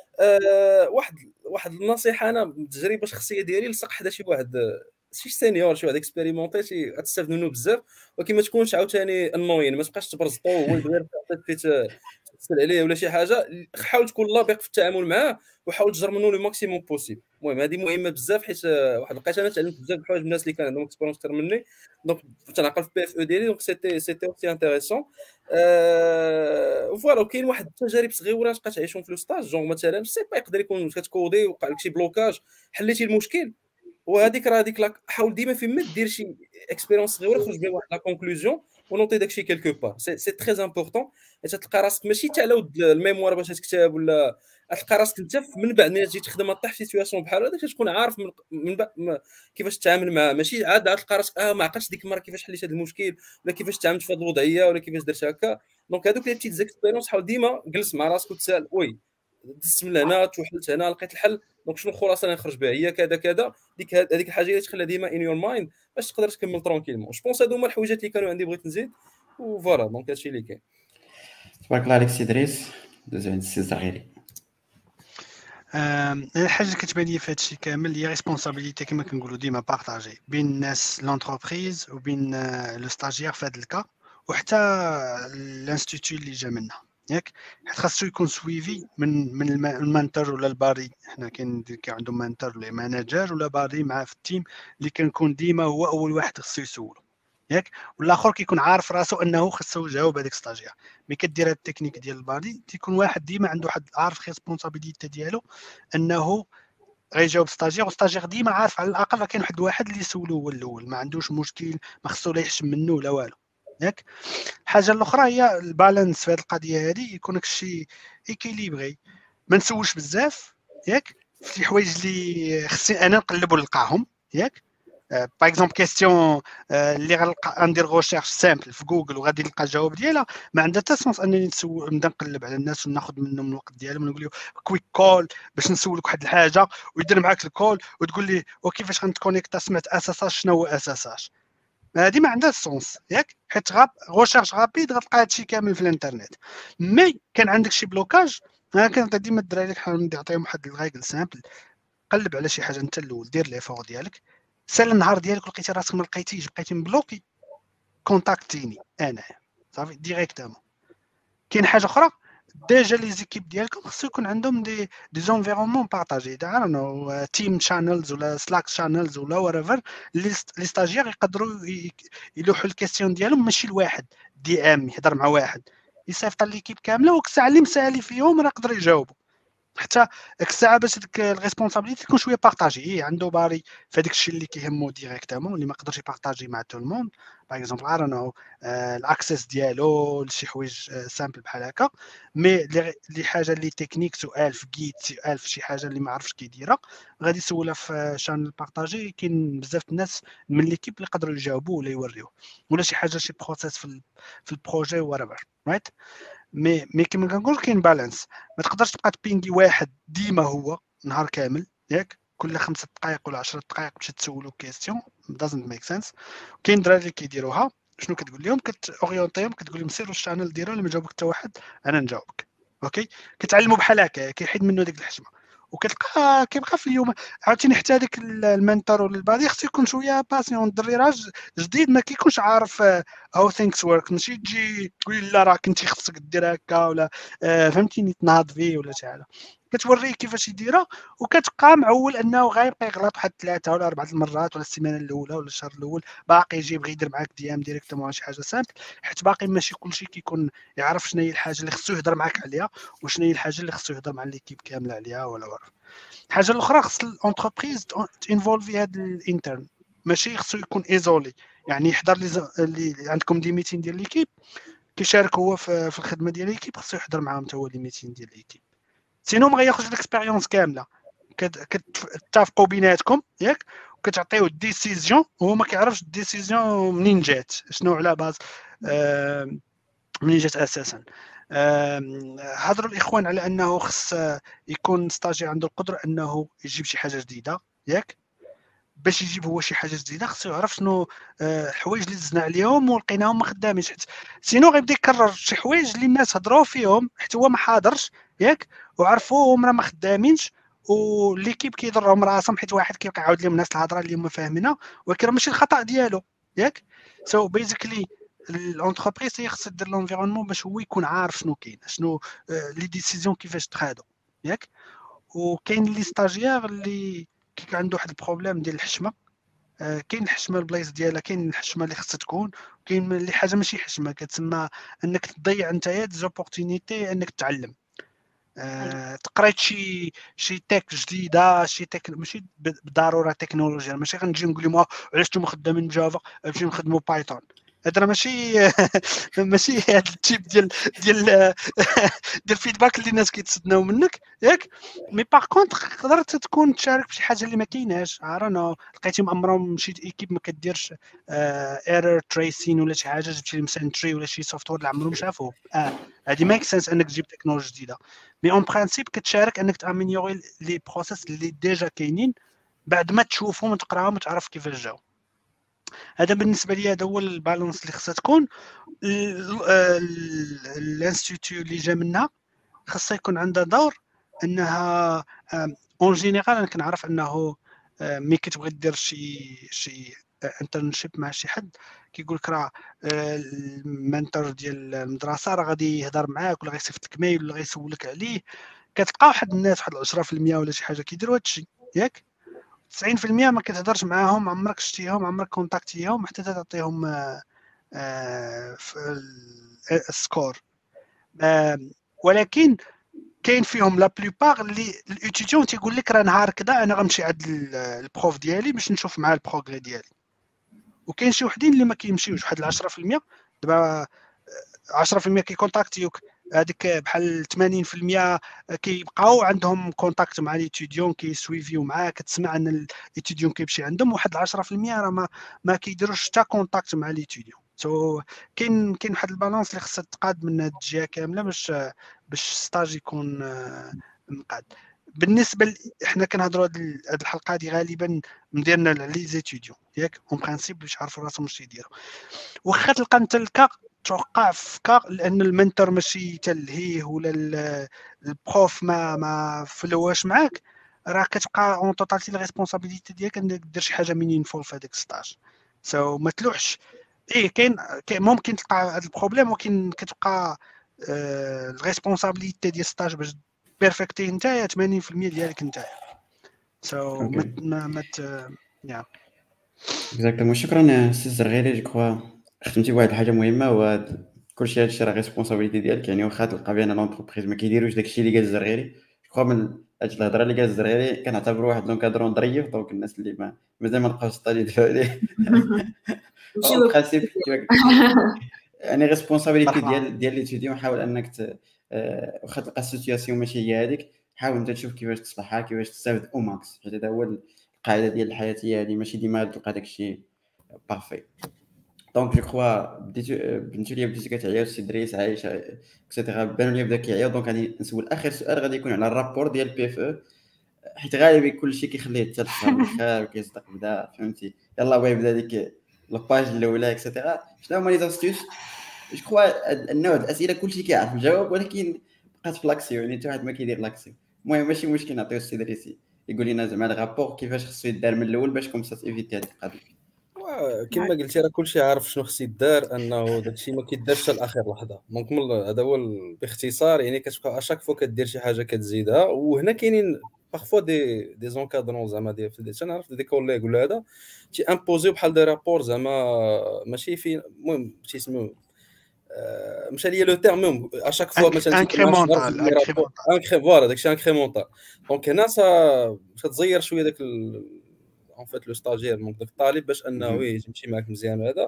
واحد النصيحه انا بالتجربه الشخصيه ديالي، لصق حدا شي واحد شي سينيور شي واحد اكسبيريمونتي غتستافد منه بزاف، ولكن ما تكونش عاوتاني انوين، ما تبقاش تبرزطو هو غير تسال عليه ولا شي حاجه. حاول تكون لابق في التعامل معاه وحاول تجر منه لو ماكسيموم بوسيبل. المهم هذه مهمه بزاف، حيت واحد لقيت انا تعلمت بزاف د الحوايج من الناس اللي كان عندهم اكسبيرونس اكثر مني. دونك تنعقل في بي اف او ديالي، دونك سيتي اوسي انتريسون. فوالا كاين واحد التجارب صغيره تبقى تعيشهم في لو ستاج، جونغ مثلا سي با يقدر يكون كتكودي وقع لك شي بلوكاج حليتي المشكل، وهذيك راه هذيك حاول ديما فين ما دير شي اكسبيريونس صغيره خرج بها واحد لا كونكلوزيون ونوطي داكشي كيلكو بار. سي تري امبورطون، حيت تلقى راسك ماشي تاع لود الميموار باش تكتب ولا تلقى راسك انت من بعد ملي تجي تخدم طيح في سيتوياسيون بحال هذا تكون عارف من بعد كيفاش تتعامل معاه. ماشي عاد تلقى راسك ما عقلتش ديك المره كيفاش حليت هذا المشكل ولا كيفاش تعاملت في هذه الوضعيه ولا كيفاش درت هكا. دونك هذوك لي بتيت زيكسبيريونس حاول ديما جلس مع راسك وتسال وي دزت من هنا توحلت هنا لقيت الحل، دونك شنو الخلاصه اللي نخرج بها هي كذا كذا. هذيك الحاجه اللي تخليها ديما ان يور مايند باش تقدر تكمل ترونكيلمون. جو بونس هادو هما الحوايجات اللي كانوا عندي بغيت نزيد وفوالا. دونك هادشي اللي كاين. تبارك الله عليك سي دريس. دوز عند السي الزغيري. الحاجه اللي كتبان لي في هادشي كامل هي ريسبونسابيلتي كما كنقولوا ديما بارطاجي بين الناس لونتربريز وبين لو ستاجير في هذا الكا وحتى الانستيتوت اللي جا منها ياك، حيت خاصو يكون سويفي من المانتر ولا الباري. حنا كاين عندهم مانتر ولا ماناجر ولا باري معاه في التيم اللي كنكون ديما هو اول واحد خصو يسولو ياك، والاخر كيكون عارف راسو انه خصو يجاوب هذاك ستاجير. ملي كدير هاد التكنيك ديال الباري تيكون واحد ديما عنده واحد عارف ريسبونسابيلتي ديالو انه غيجاوب ستاجير، وستاجير ديما عارف على الاقل راه كاين واحد اللي يسولو هو الاول، ما عندوش مشكل، ما خصو لا يحشم منه ولا والو ياك. الحاجه الاخرى هي البالانس في هذه القضيه هذه، يكون داكشي ايكيليبري، ما نسولش بزاف ياك في شي حوايج اللي خصني انا نقلب ونلقاهم ياك. باغ اكزومبل كيستيون اللي غنلقى ندير غوشيرش سامبل في جوجل وغادي نلقى الجواب ديالها، ما عندها حتى سونس انني نبدا نقلب على الناس وناخذ منهم الوقت ديالهم ونقول له كويك كول باش نسولك واحد الحاجه ويدير معاك الكول وتقول لي وكيفاش غنتكونيكتا سمعت اساساج شنو هو اساساج. هذه ما عندهاش سونس ياك، حيت غوشيرش غابيد غتلقى هادشي كامل في الانترنت. مي كان عندك شي بلوكاج، انا كنت ديما الدراري نحاول نعطيهم واحد الغايكل سامبل، قلب على شي حاجه انت الاول، دير لي فور ديالك، سال النهار ديالك ولقيتي راسك ما لقيتيش بقيتي مبلوكي، كونتاكتيني انا صافي ديريكتومون. كاين حاجه اخرى، ديجا لي زيكيب ديالكم خصو يكون عندهم دي زونفيرونمون بارطاجي، دعنا تيم شانلز ولا سلاك شانلز ولا وريفر، لي ستاجير يقدروا يلوحوا الكيستيون ديالهم ماشي لواحد دي ام يهضر مع واحد، يصيفط ليكيب كامله، وكساع اللي مسالي فيهم راه يقدروا يجاوبوا، حتى ديك الساعه باش ديك الريسبونسابيلتي تكون شويه بارطاجي، عنده باري في هذاك الشيء اللي كيهمو ديريكتومون، اللي ما يقدرش يبارطاجي مع تو الموند، باغ اكزومبل ارانو الاكسس ديالو لشي حوايج سامبل بحال هكا. مي اللي حاجه اللي تكنيك، سؤال في جيت، سؤال في شي حاجه اللي ما عرفش كيديرها، غادي يسولها في شانل بارطاجي، كاين بزاف الناس من ليكيب اللي يقدروا يجاوبوا ولا يوريوه، ولا شي حاجه شي بروسيس في البروجي وريفر رايت. مي كيما كنقول كاين بالانس، ما تقدرش تبقى تبينغي واحد ديما هو نهار كامل ياك، كل 5 دقائق ولا 10 دقائق باش تسولو كيستيون دازنت ميك سنس. كاين دراري اللي كيديروها، شنو كتقول لهم؟ كتورينتيهم، كتقول لهم سيروا الشانل ديالو، اللي ما جاوبك حتى واحد انا نجاوبك اوكي. كتعلموا بحال هكا، كيحيد منه ديك الحشمه، وكتلقى كيبقى في اليوم عاوتاني حتى هذاك المنتور ولا البادي خصو يكون شويه باسيون، الدري راه جديد ما كيكونش عارف هاو ثينكس ورك، ماشي تجي تقول لا راه كنتي خصك دير هكا ولا فهمتيني تناض فيه ولا شي حاجه، كتوريه كيفاش يديرها، وكتبقى معول انه غيبقى يغلط واحد 3 ولا 4 المرات، ولا السيمانه الاولى ولا الشهر الاول باقي يجي يبغي يدير معاك دي ام ديريكتومون شي حاجه سامبل، حيت باقي ماشي كلشي كيكون يعرف شنو هي الحاجه اللي خصو يهضر معاك عليها وشنو هي الحاجه اللي خصو يهضر مع ليكيب كامله عليها ولا ورا. الحاجه الاخرى خص الانتربريز تانفولفي هذا الانترن، ماشي خصو يكون ايزولي، يعني يحضر اللي عندكم دي ميتين ديال ليكيب كيشارك هو في الخدمه ديال ليكيب، خصو يحضر معاهم حتى هو لي ميتين ديال ليكيب، سينو ما غياخذش الاكسبيريونس كامله. كتتفقوا بيناتكم ياك، وكتعطيو الديسيزيون وهو ما كيعرفش الديسيزيون منين جات، شنو على باز منين جات اساسا. هضروا الاخوان على انه خص يكون ستاجي عنده القدره انه يجيب شي حاجه جديده ياك، باش يجيب هو شي حاجه جديده خصو يعرف شنو الحوايج اللي دزنا عليهم ولقيناهم ما خدامينش، حيت سينو غيبدا يكرر شي حوايج اللي الناس هضروا فيهم حيت هو ما حاضرش ياك، وعرفوهم راه ما خدامينش، وليكيب كيضرهم راسهم حيت واحد كيبقى يعاود لهم نفس الهضره اللي هما فاهمينها، ولكن راه ماشي الخطا ديالو ياك. سو بيزيكلي الانتربريز هي خصها دير لونفيرونمون باش هو يكون عارف شنو كاين، شنو لي ديسيزيون كيفاش تخادو ياك. وكاين لي ستاجيير اللي كيكون عنده واحد البروبليم ديال الحشمه، كاين الحشمه البلايص ديالها، كاين الحشمه اللي خصها تكون، كاين اللي حاجه ماشي حشمه كتسمى انك تضيع نتايا زوبورتونيتي انك تعلم. تقريت شي تك جديده، شي تك ماشي بالضروره تكنولوجيا، ماشي غنجي نقول لهم علاش نتوما خدامين جافا باش نخدموا بايثون، هذا راه ماشي هذا التيب ديال الفيدباك اللي الناس كيتسناو منك ياك. مي باغ كونطخ قدرت تكون تشارك في شي حاجه اللي ما كايناش، عارفنا لقيتي مامرهم شي ايكيب ما كديرش ايرور تريسين ولا شي حاجه، جبتي لي مثلا تري ولا شي سوفتوير اللي عمرهم شافوه، هذه ميك سنس انك تجيب تكنولوجيا جديده. مي اون برانسيب كتشارك انك تامينيوري لي بروسيس اللي ديجا كاينين بعد ما تشوفهم وتقراهم وتعرف كيفاش جاو. هذا بالنسبه لي هذا هو البالانس اللي خصها تكون. الانستيتيو اللي جا منها خصها يكون عندها دور انها اون جينيرال، انا كنعرف انه ملي كتبغي دير شي انترنشيب مع شي حد كيقول لك راه المنتور ديال المدرسه راه غادي يهضر معاك ولا غيصيفط لك ميل ولا غيسولك عليه، كتلقى واحد الناس واحد 10% ولا شي حاجه كيديروا هذا الشيء ياك، 90% ما كتهضرش معاهم، عمرك شتيهم، عمرك كونتاكتيهم حتى تعطيهم السكور. ولكن كاين فيهم لا بلوبار اللي الاتيديون تيقول لك راه نهار كذا انا غنمشي عند البروف ديالي باش نشوف معاه البروغري ديالي، وكاين شي وحدين اللي ما كيمشيوش، واحد 10%. دابا 10% كيكونتاكتيوك، هذيك بحال 80% كيبقاو عندهم كونتاكت مع ليتيديون كيسويفيو معاه، كتسمع ان ليتيديون كيمشي عندهم. واحد 10% راه ما كيديروش حتى كونتاكت مع ليتيديون. كاين واحد البالانس اللي خصها تقاد من هاد الجهه كامله باش ستاج يكون مقاد. بالنسبه حنا كنهضروا هاد الحلقه هذه غالبا مديرنا لي زيتيديون ياك اون برينسيپ باش يعرفوا راسهم واش يديروا. واخا تلقى انت الكا توقع في كا لان المنتور ماشي تلهيه ولا البروف ما فلواش معاك، راه كتبقى اون توتاليتي الريسبونسابيلتي ديالك انك دير شي حاجه مينينفول في هذاك ستاج. ما تلوحش. كاين ممكن تلقى هذا البروبليم، ولكن كتبقى الريسبونسابيلتي ديال ستاج باش بيرفكتي نتايا 80% ديالك نتايا. ما يا اكزاكتومون. شكرا سي الزرغيري. جو كخوا ختمتي بواحد الحاجه مهمه، هو كلشي هادشي راه ريسبونسابيلتي ديالك. يعني واخا تلقى بان لونتربريز ما كيديروش داكشي اللي قال الزرغيري، جو كخوا من هاد الهضره اللي قال الزرغيري كنعتبرو واحد لونكادرون ظريف. دونك الناس اللي مازال ما لقاوش ستاج يدفعوا عليه اون برانسيب يعني ريسبونسابيلتي ديال ليتيديون. حاول انك واخا تلقى السيتوياسيون ماشي هي هذيك، حاول انت تشوف كيفاش تصلحها، كيفاش تستافد او ماكس، حيت هذا هو القاعده ديال الحياتيه هذه. ماشي ديما تلقى داكشي بارفي. دونك جو كخوا بنتو ليا بديتي كتعيا السي دريس عايش اكسيتيرا، بانوا ليا بدا كيعيا. دونك غادي نسول اخر سؤال، غادي يكون على الرابور ديال بي اف او، حيت غالبا كلشي كيخليه حتى الشهر الاخر وكيصدق بدا، فهمتي؟ يلاه بغا يبدا ديك لاباج الاولى اكسيتيرا. شنو هما لي زاستيوس؟ جو كخوا النوع د الاسئله كلشي كيعرف الجواب، ولكن بقات في لاكسيون، يعني حتى واحد ما كيدير لاكسيون. المهم ماشي مشكل، نعطيو السي دريسي يقول لنا زعما الرابور كيفاش خصو يدار من الاول باش كوم سا ايفيتي هاد القضيه. كما قلتي راه كلشي عارف شنو خص يدار، انه داكشي ما كيدارش حتى لاخر لحظه. دونك هذا هو باختصار. يعني كتبقى اشاك فوا كدير شي حاجه كتزيدها. وهنا كاينين باغفوا دي زونكادرون زعما ديال تنعرف دي كوليغ ولا هذا تي امبوزيو بحال دي رابور زعما ماشي في المهم تيسميو مشى ليا لو تيرم ميم اشاك فوا مثلا انكريمونتال فوالا داكشي انكريمونتال. دونك هنا تزير شويه داك en fait le stagiaire donc داك الطالب باش انه يمشي معاك مزيان. هذا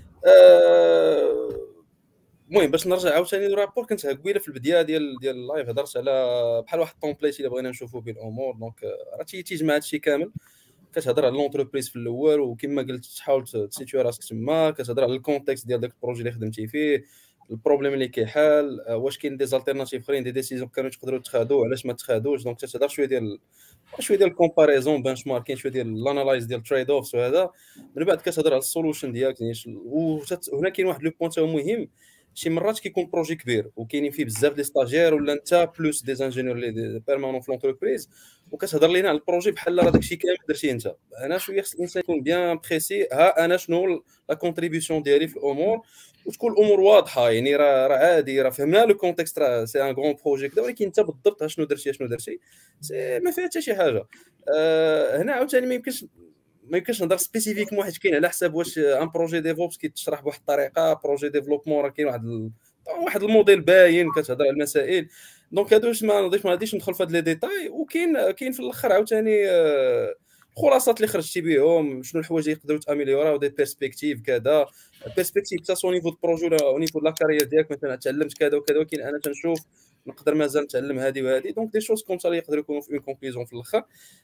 المهم باش نرجع عاوتاني للرابور. كنت قبيله في البدايه ديال اللايف هضرت على بحال واحد التومبليت اللي بغينا نشوفوا به الامور. دونك راه تيجمع هادشي كامل. كتهضر على لونتربريز في الاول، وكما قلت تحاول تسيتيو راسك تما. كتهضر على الكونتكست ديال داك البروجي اللي خدمتي فيه، البروبليم اللي كيحال، واش كاين دي زالتيرناتيف اخرين، دي ديسيزيون كانوا تقدروا تاخذوا علاش ما تاخذوش. دونك تتهضر شويه ديال الكومباريزون بنش ماركين، شويه ديال الانالايز ديال تريد اوفز. وهذا من بعد كتهضر على السولوشن ديالك. يعني وهنا كاين واحد لو بوينت مهم، شي مرات كيكون بروجي كبير وكاينين فيه بزاف دي ستاجير ولا انت بلوس دي انجينيور لي بيرمانون في لونتربريز، وكتهضر لينا على البروجي بحال راه داكشي كامل درتيه انت. انا شويه خص الانسان يكون بيان بريسي، ها انا شنو لا كونتريبيوشن ديالي في الامور، وتكون الامور واضحه. يعني راه عادي، راه فهمنا لو كونتكست، راه سي ان غران بروجي كذا، ولكن انت بالضبط شنو درتي ما فيها حتى شي حاجه. هنا عاوتاني ما يمكنش نهضر سبيسيفيكمون، حيت كاين على حساب واش ان بروجي ديفوبس كيتشرح بواحد الطريقه، بروجي ديفلوبمون راه كاين واحد الموديل باين كتهضر على المسائل. دونك هادوش ما غاديش ندخل في هاد لي ديتاي. وكاين في الاخر عاوتاني الخلاصات اللي خرجتي بهم، شنو الحوايج اللي يقدروا تاميليورا، ودي بيرسبكتيف كذا، بيرسبكتيف حتى سو نيفو دو بروجي ولا او نيفو لا كارير ديالك. مثلا تعلمت كذا وكذا، ولكن انا تنشوف نقدر مازال نتعلم هذه وهذه. دونك دي شوز كوم سا اللي يقدروا يكونوا في اون كونكلوزيون في الاخر.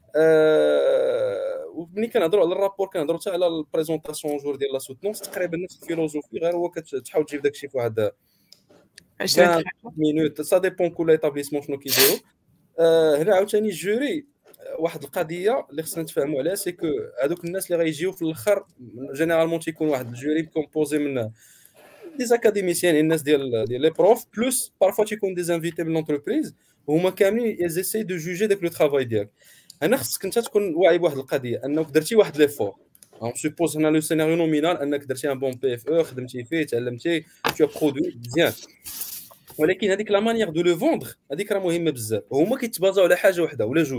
وملي كنهضروا على الرابور كنهضروا حتى على البريزونطاسيون جور ديال لا سوتونس، تقريبا نفس الفيلوزوفي، غير هو كتحاول تجيب داكشي في واحد 20 مينوت. سا ديبون كل ايتابليسمون شنو كيديروا. هنا عاوتاني الجوري واحد القضيه اللي خصنا نتفاهموا عليها، سي كو هذوك الناس اللي غيجيو في الاخر جينيرالمون تيكون واحد الجوري كومبوزي من دي زاكاديميسيان، الناس ديال لي بروف، بلوس بارفوا تيكون دي زانفيتي من لونتربريز، وهما كاملين يزيسي دو جوجي داك لو ترافاي ديالك. انا خصك انت تكون واعي بواحد القضيه، انك درتي واحد ليفور. اون سوبوز هنا لو سيناريو نومينال انك درتي ان بون بي اف او، خدمتي فيه، تعلمتي، تو برودوي مزيان، ولكن هذيك لا مانيير دو لو فوندر هذيك راه مهمه بزاف. هما كيتبازاو على حاجه وحده ولا جوج.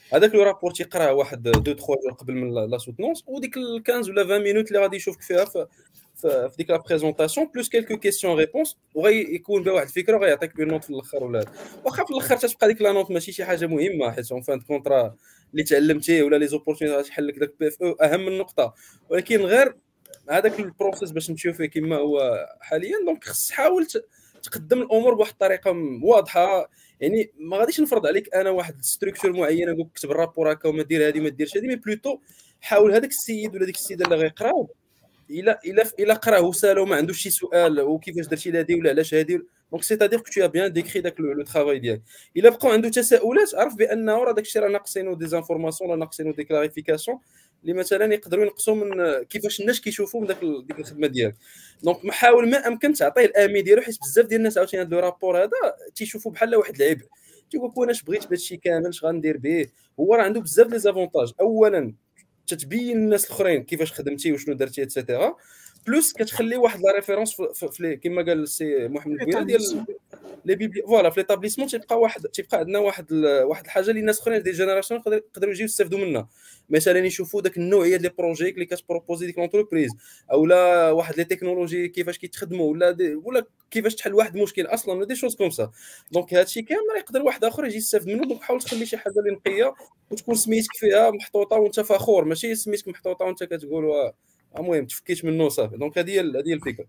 هذاك لو رابور تيقراه واحد 2 3 جور قبل من لا سوتونس، وديك 15 ولا 20 مينوت اللي غادي يشوفك فيها في ديك لا بريزونطاسيون بلوس كيلكو كيسيون ريبونس، وغيكون بها واحد الفكره وغيعطيك بنوت في الاخر. ولا واخا في الاخر تتبقى ديك لا نوت ماشي شي حاجه مهمه، حيت اون فان كونطرا اللي تعلمتيه ولا لي زوبورتونيتي تحل لك داك بي اف او اهم النقطه. ولكن غير هذاك البروسيس باش نمشيو فيه كما هو حاليا، دونك خص تحاول تقدم الامور بواحد الطريقه واضحه. يعني ما غاديش نفرض عليك انا واحد ستركتور معينه نقول كتب الرابور هكا وما دير هذه ما ديرش هذه، مي بلوتو حاول هذاك السيد ولا ديك السيده اللي غيقراو الا قراه وسالو ما عندوش شي سؤال وكيفاش درتي هذه ولا علاش هذه، دونك سيتادير كو تو بيان ديكري داك لو ترافاي ديالك. الا بقاو عنده تساؤلات عرف بانه راه داك الشيء راه ناقصينو دي زانفورماسيون ولا ناقصينو دي كلاريفيكاسيون اللي مثلا يقدروا ينقصوا من كيفاش الناس كيشوفوا من ديك الخدمه ديالك. دونك محاول ما امكن تعطيه الاهميه ديالو، حيت بزاف ديال الناس عاوتاني هذا لو رابور هذا تيشوفوا بحال واحد العيب، تيقول لك وانا اش بغيت بهذا الشيء كامل اش غندير به. هو راه عنده بزاف لي زافونتاج، اولا تتبين للناس الاخرين كيفاش خدمتي وشنو درتي اتسيتيرا، بلوس كتخلي واحد لا ريفيرونس في كما قال السي محمد بويا ديال لي بيبلي فوالا في ليطابليسمون تيبقى عندنا واحد الحاجه اللي الناس اخرين دي جينيراسيون يقدروا يجيو يستافدوا منها. مثلا يشوفوا داك النوعيه ديال لي بروجي اللي كتبروبوزي ديك لونتربريز، اولا واحد لي تكنولوجي كيفاش كيتخدموا، ولا كيفاش تحل واحد المشكل اصلا، ولا دي شوز كوم سا. دونك هادشي كامل يقدر واحد اخر يجي يستافد منه. دونك حاول تخلي شي حاجه اللي نقيه وتكون سميتك فيها محطوطه وانت فخور، ماشي سميتك محطوطه وانت كتقول المهم تفكيت منه صافي. دونك هذه هي الفكره.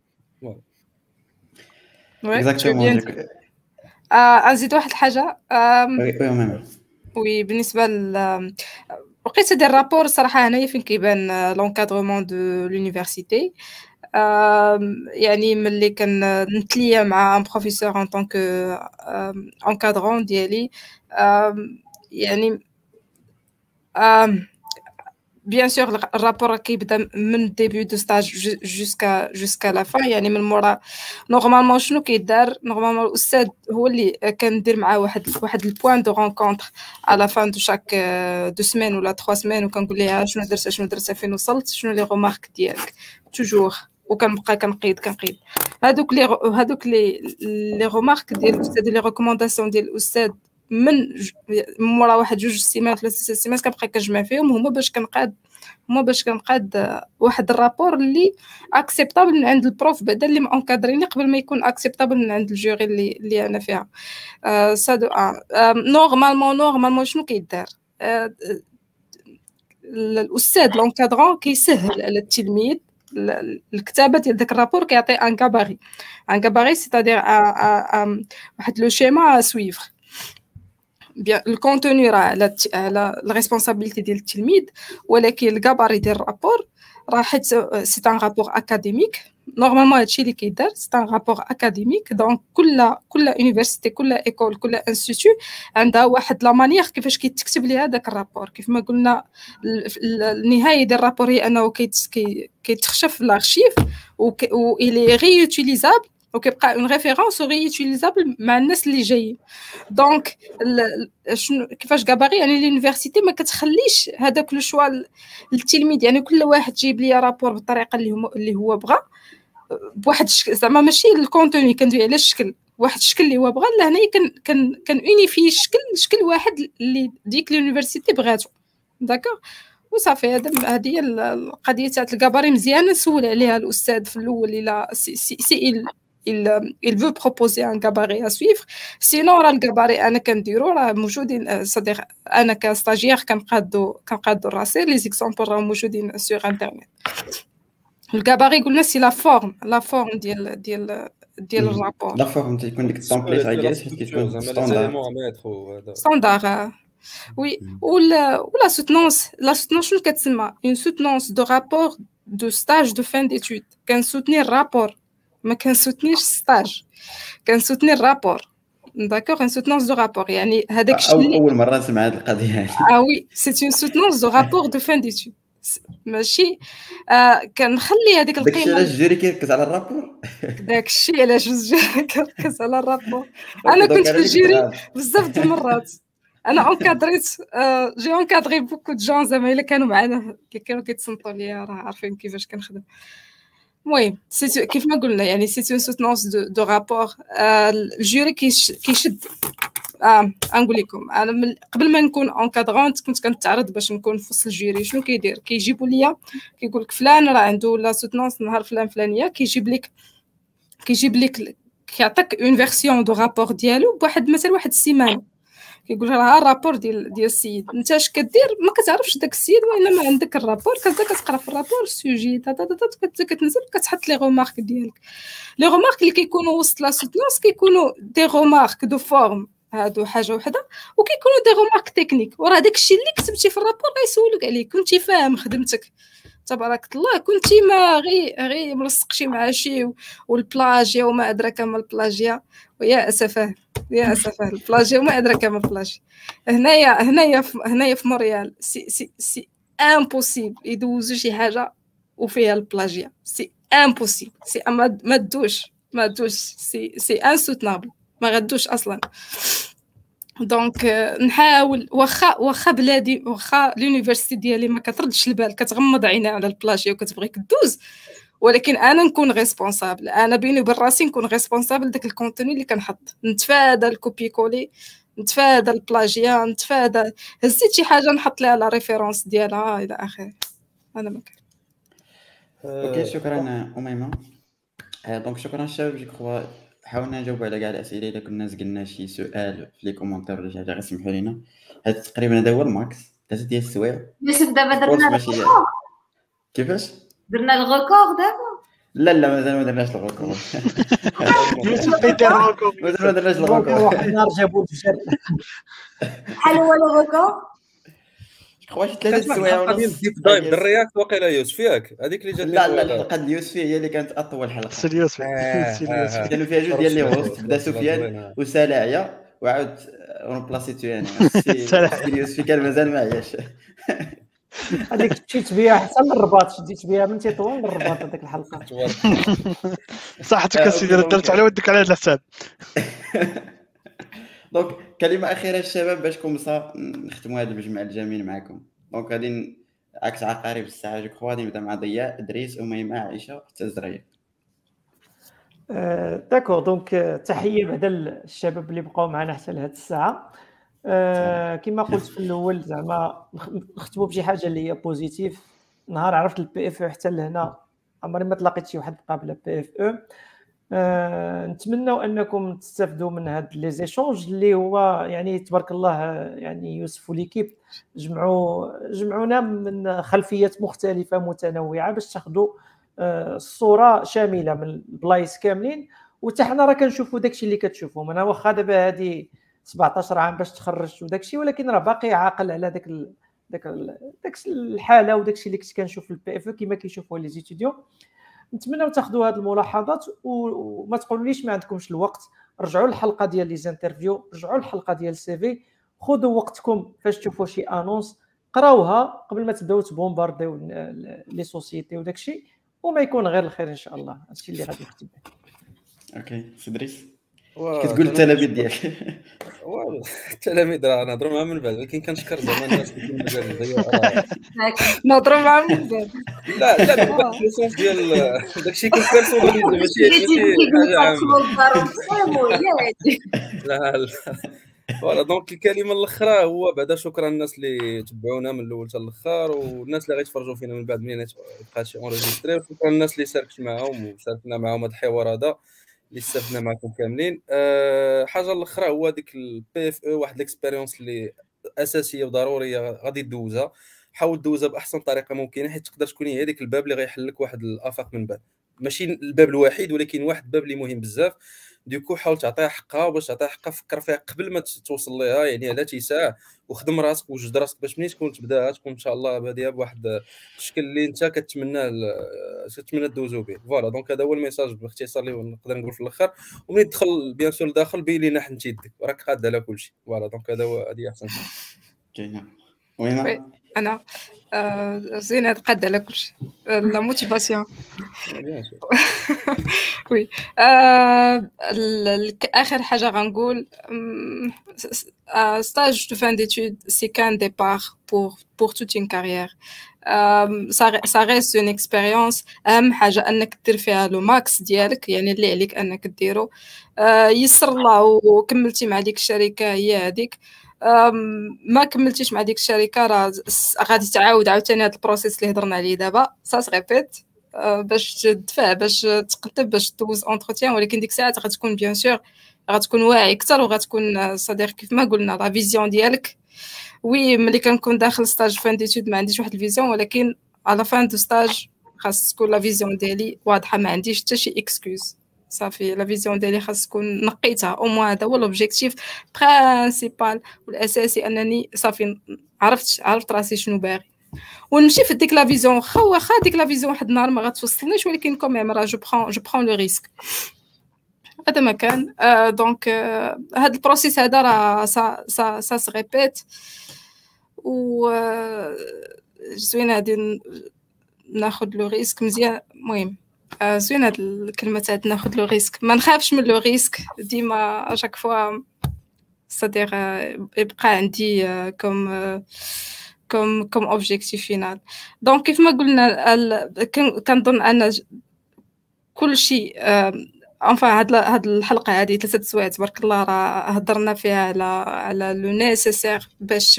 اكزاكتومون. نزيد واحد الحاجه. وي بالنسبه لقيت هذا الرابور صراحه هنايا فين كيبان لونكادرومون دو لونيفرسيتي. يعني ملي كنتليا مع ان بروفيسور ان طونك انكادرون ديالي، يعني bien sûr الرابور كيبدا من الديبي دو ستاج جوسكا لا فان. يعني من مورا نورمالمون شنو كيدار، نورمالمون الاستاذ هو اللي كندير معاه واحد البوين دو رونكونتر على فان دو شاك دو سيمين ولا 3 سيمين، وكنقول ليها شنو درت فين وصلت، شنو لي غومارك ديالك توجور، وكنبقى كنقيد هادوك لي غومارك ديال الاستاذ، لي ريكومونداسيون ديال الاستاذ من مورا واحد 2 سيمانات 3 سيمانات كنبقى كنجمع فيهم هما باش كنقاد واحد الرابور اللي اكسبتابل من عند البروف بعدا اللي مانكادريني قبل ما يكون اكسبتابل من عند الجوري اللي انا فيها. سادو نورمالمون شنو كيدار الاستاذ لونكادرون كيسهل على التلميذ الكتابه ديال داك الرابور، كيعطي ان كاباري سيتادير واحد لو شيما سويفر. بيان الكونتوني راه على الريسبونسابيلتي ديال التلميذ، ولكن الكاباري ديال الرابور راه حيت سي ان رابور اكاديميك. نورمالمون هادشي اللي كيدار سي ان رابور اكاديميك، دونك كل يونيفرسيتي كل ايكول كل انستيتو عندها واحد لا مانيير كيفاش كيتكتب ليها داك الرابور. كيف ما قلنا النهايه ديال الرابور هي انه كيتخشف في الارشيف و الي ريوتيليزابل وكيبقى اون ريفيرونس ريوتيليزابل مع الناس اللي جايين. دونك شنو كيفاش كاباري يعني لونيفرسيتي ما كتخليش هذاك لو شوا للتلميذ، يعني كل واحد جيب لي رابور بالطريقه اللي هو بغى بواحد زعما ماشي الكونتوني كندوي على الشكل، واحد الشكل اللي هو بغى. لهنايا كان اونيفي شكل واحد اللي ديك لونيفرسيتي بغاتو داكوغ وصافي. هذه هي القضيه تاع الكاباري. مزيان نسول عليها الاستاذ في الاول الا سي il veut proposer un gabarit à suivre. Sinon راه الكاباري انا كنديرو راه موجودين، صديق انا كستاجير كنقادو راسي لي زيكزامبل راه موجودين سور انترنت. الكاباري قلنا سي لا فورم ديال الرابور. لا فورم تيكون ديك التمبليت عايز كيكون ستاندار. وي ولا سوتنونس شنو كتسمى اون سوتنونس دو رابور دو ستاج دو فان ديتود. كنسوتني الرابور ما كنسوتنيش ستاج، كنسوتني الرابور داكوغ. ان سوتنونس دو رابور يعني هذاك الشيء اول مره نسمع هذه القضيه هذه. وي سي اون سوتنونس دو رابور دو فان ديتود، ماشي كنخلي هذيك القيمه. داكشي علاش الجوري كيركز على الرابور، داكشي علاش الجوري كيركز على الرابور. انا كنت في الجوري بزاف د المرات، انا انكادريت جي انكادري بوكو دو جون زعما الا كانوا معنا اللي كانوا كيتصنتوا ليا راه عارفين كيفاش كنخدم. المهم كيف ما قلنا يعني سي اون سوتنونس دو رابور. الجوري كيشد نقول لكم انا قبل ما نكون اونكادرونت كنت كنتعرض باش نكون في وسط الجيري. شنو كيدير؟ كيجيبوا ليا كيقول لك فلان راه عنده لا سوتونس نهار فلان فلانيه، كيجيب لك كيعطيك اون فيرسيون دو رابور ديالو بواحد مثلا واحد السيمانه، كيقول ها الرابور ديال السيد. انت اش كدير؟ ما كتعرفش داك السيد وانما عندك الرابور، كتبدا كتقرا في الرابور السوجي كتنزل كتحط لي غومارك ديالك. لي غومارك اللي كيكونوا وسط لا سوتونس كيكونوا دي غومارك دو فورم، هادو حاجه وحده، وكيكونوا دي غومارك تكنيك. وراه داكشي اللي كتبتي في الرابور غيسولك عليه، كنتي فاهم خدمتك تبارك الله، كنتي ما غير ملصقشي مع شي والبلاجيا وما ادراك ما البلاجيا. ويا اسفه البلاجيا وما ادراك ما البلاجيا. هنايا في مونريال سي امبوسيبل يدوزو شي حاجه وفيها البلاجيا، سي امبوسيبل، سي ما تدوش سي انسوتنابل، ما غدوش اصلا. دونك نحاول واخا بلادي واخا لونيفرسيتي ديالي ما كتردش البال، كتغمض عينها على البلاجيا وكتبغيك دوز، ولكن انا نكون ريسبونسابل، انا بيني وبين راسي نكون ريسبونسابل داك الكونتوني اللي كنحط، نتفادى الكوبي كولي، نتفادى البلاجيا، نتفادى هزيت شي حاجه نحط لها لا ريفيرونس ديالها الى اخره. انا ما كان اوكي شكرا اميمه. دونك شكرا الشباب. جو كخوا حاولنا نجاوب على كاع الاسئله. الا كنا زقلنا شي سؤال في لي كومونتير ولا شي حاجه غير سمحوا لينا. هذا تقريبا هذا هو الماكس 3 ديال السوايع. يوسف دابا درنا الريكورد. كيفاش درنا الريكورد دابا؟ لا مازال ما درناش الريكورد. يوسف يدير الريكورد، مازال ما درناش الريكورد. واحد النهار جابوا الفجر. شحال هو الريكورد؟ خويا 3 السوايع ونص. ديب دايف الرياكت واقيلا يوسف ياك هذيك اللي جات. لا الحلقه ديال يوسف هي اللي كانت اطول حلقه. سيريوس كانوا فيها جوج ديال لي هوست، بدا سفيان وسلاعيه وعاود اونبلاسيتو يعني يوسف كان مازال ما عياش. هذيك مشيت بها حتى للرباط، شديت بها من تطوان للرباط هذيك الحلقه. صحتك اسيدي، درت على ودك على هذا الحساب. دونك كلمه اخيره الشباب باش كومسا نختموا هذا المجمع الجميل معكم. دونك غادي عكس عقارب الساعه جو كخوا غادي نبدا مع ضياء، ادريس، اميمه، عائشه حتى الزريه. داكور. دونك تحيه بعدا الشباب اللي بقاو معنا حتى لهاد الساعه. كما قلت في الاول زعما نختموا بشي حاجه اللي هي بوزيتيف. نهار عرفت البي اف او حتى لهنا عمري ما تلاقيت شي واحد بقى بلا بي اف او. نتمنوا انكم تستافدوا من هاد لي زيشونج اللي هو يعني تبارك الله يعني يوسف وليكيب جمعونا من خلفيات مختلفه متنوعه باش تاخذوا الصوره شامله من البلايص كاملين. وحتى حنا راه كنشوفوا داكشي اللي كتشوفوا. انا واخا دابا هادي 17 عام باش تخرجت وداكشي، ولكن راه باقي عاقل على داك الحاله وداكشي اللي كنت كنشوف في البي اف كما كيشوفوا لي زيتيديون. نتمنوا تاخذوا هذه الملاحظات وما تقولوليش ما عندكمش الوقت. رجعوا للحلقه ديال لي زانترفيو، رجعوا للحلقه ديال السي في، خذوا وقتكم فاش تشوفوا شي انونس، قراوها قبل ما تبداو تبومبارديو لي سوسيتي وداكشي، وما يكون غير الخير ان شاء الله. هادشي اللي غادي نختم به. اوكي سدريس كتقول التلاميذ ديالك. التلاميذ راه نهضروا معاهم من بعد، ولكن كنشكر زعما الناس اللي كانوا مازال ضياء نهضروا معاهم من بعد. لا السونس ديال داكشي كون بيرسوناليزي ماشي حاجه لا. فوالا دونك الكلمه الاخرى هو بعدا شكرا الناس اللي تبعونا من الاول حتى الاخر، والناس اللي غيتفرجوا فينا من بعد منين يبقى شي اونجستري. شكرا الناس اللي شاركت معاهم وشاركنا معاهم هذا الحوار هذا اللي استفدنا معكم كاملين. حاجه الاخرى هو ديك البي اف او واحد الاكسبيريونس اللي اساسيه وضروريه غادي دوزها. حاول دوزها باحسن طريقه ممكنه، حيت تقدر تكون هي ديك الباب اللي غيحل لك واحد الافاق من بعد، ماشي الباب الوحيد ولكن واحد الباب اللي مهم بزاف. ديكو حاول تعطيها حقها، وباش تعطيها حقها فكر فيها قبل ما توصل ليها، يعني على تيساع وخدم راسك وجد راسك باش ملي تكون تبداها تكون ان شاء الله باديه بواحد الشكل اللي انت كتمنى دوزو به. فوالا دونك هذا هو الميساج باختصار اللي نقدر نقول في الاخر. وملي تدخل بيان سور لداخل بين لينا حنت يدك راك قاد على كل شيء. فوالا دونك هذا هو هذه احسن شيء. كاينه وين انا زينة قد على كل شيء لا موتيفاسيون وي. اخر حاجه غنقول stage de fin d'études c'est qu'un départ pour toute une carrière. ça reste une expérience. اهم حاجه انك دير فيها لو ماكس ديالك، يعني اللي عليك انك ديرو. يسر الله وكملتي مع ديك الشركه هي هذيك. ما كملتيش مع ديك الشركه راه غادي تعاود عاوتاني هذا البروسيس اللي هضرنا عليه دابا سا سغيبيت باش تدفع باش تقدم باش دوز اونتروتيان، ولكن ديك الساعه غتكون بيان سور غتكون واعي اكثر وغتكون صديق كيف ما قلنا لا فيزيون ديالك. وي ملي كنكون داخل ستاج فان ديتود ما عنديش واحد الفيزيون، ولكن على فان دو ستاج خاص تكون لا فيزيون ديالي واضحه، ما عنديش حتى شي اكسكوز. صافي لا فيزيون ديالي خاص تكون نقيتها او موان. هذا هو لوبجيكتيف برينسيبال والاساسي، انني صافي عرفت راسي شنو باغي ونمشي في ديك لا فيزيون. واخا ديك لا فيزيون واحد النهار ما غتوصلنيش، ولكن كوميم راه جو برون لو ريسك. هذا ما كان. دونك هاد البروسيس هذا راه سا سا ريبيت و زوين غادي ناخذ لو ريسك مزيان. المهم زوين هاد الكلمه تاع ناخذ لو ريسك، ما نخافش من لو ريسك ديما اشاك فوا صديق يبقى عندي كوم اوبجيكتيف فينال. دونك كيف ما قلنا كنظن ان كل شيء هاد الحلقه هذه 3 سوايع تبارك الله راه هضرنا فيها على لو نيسيسير باش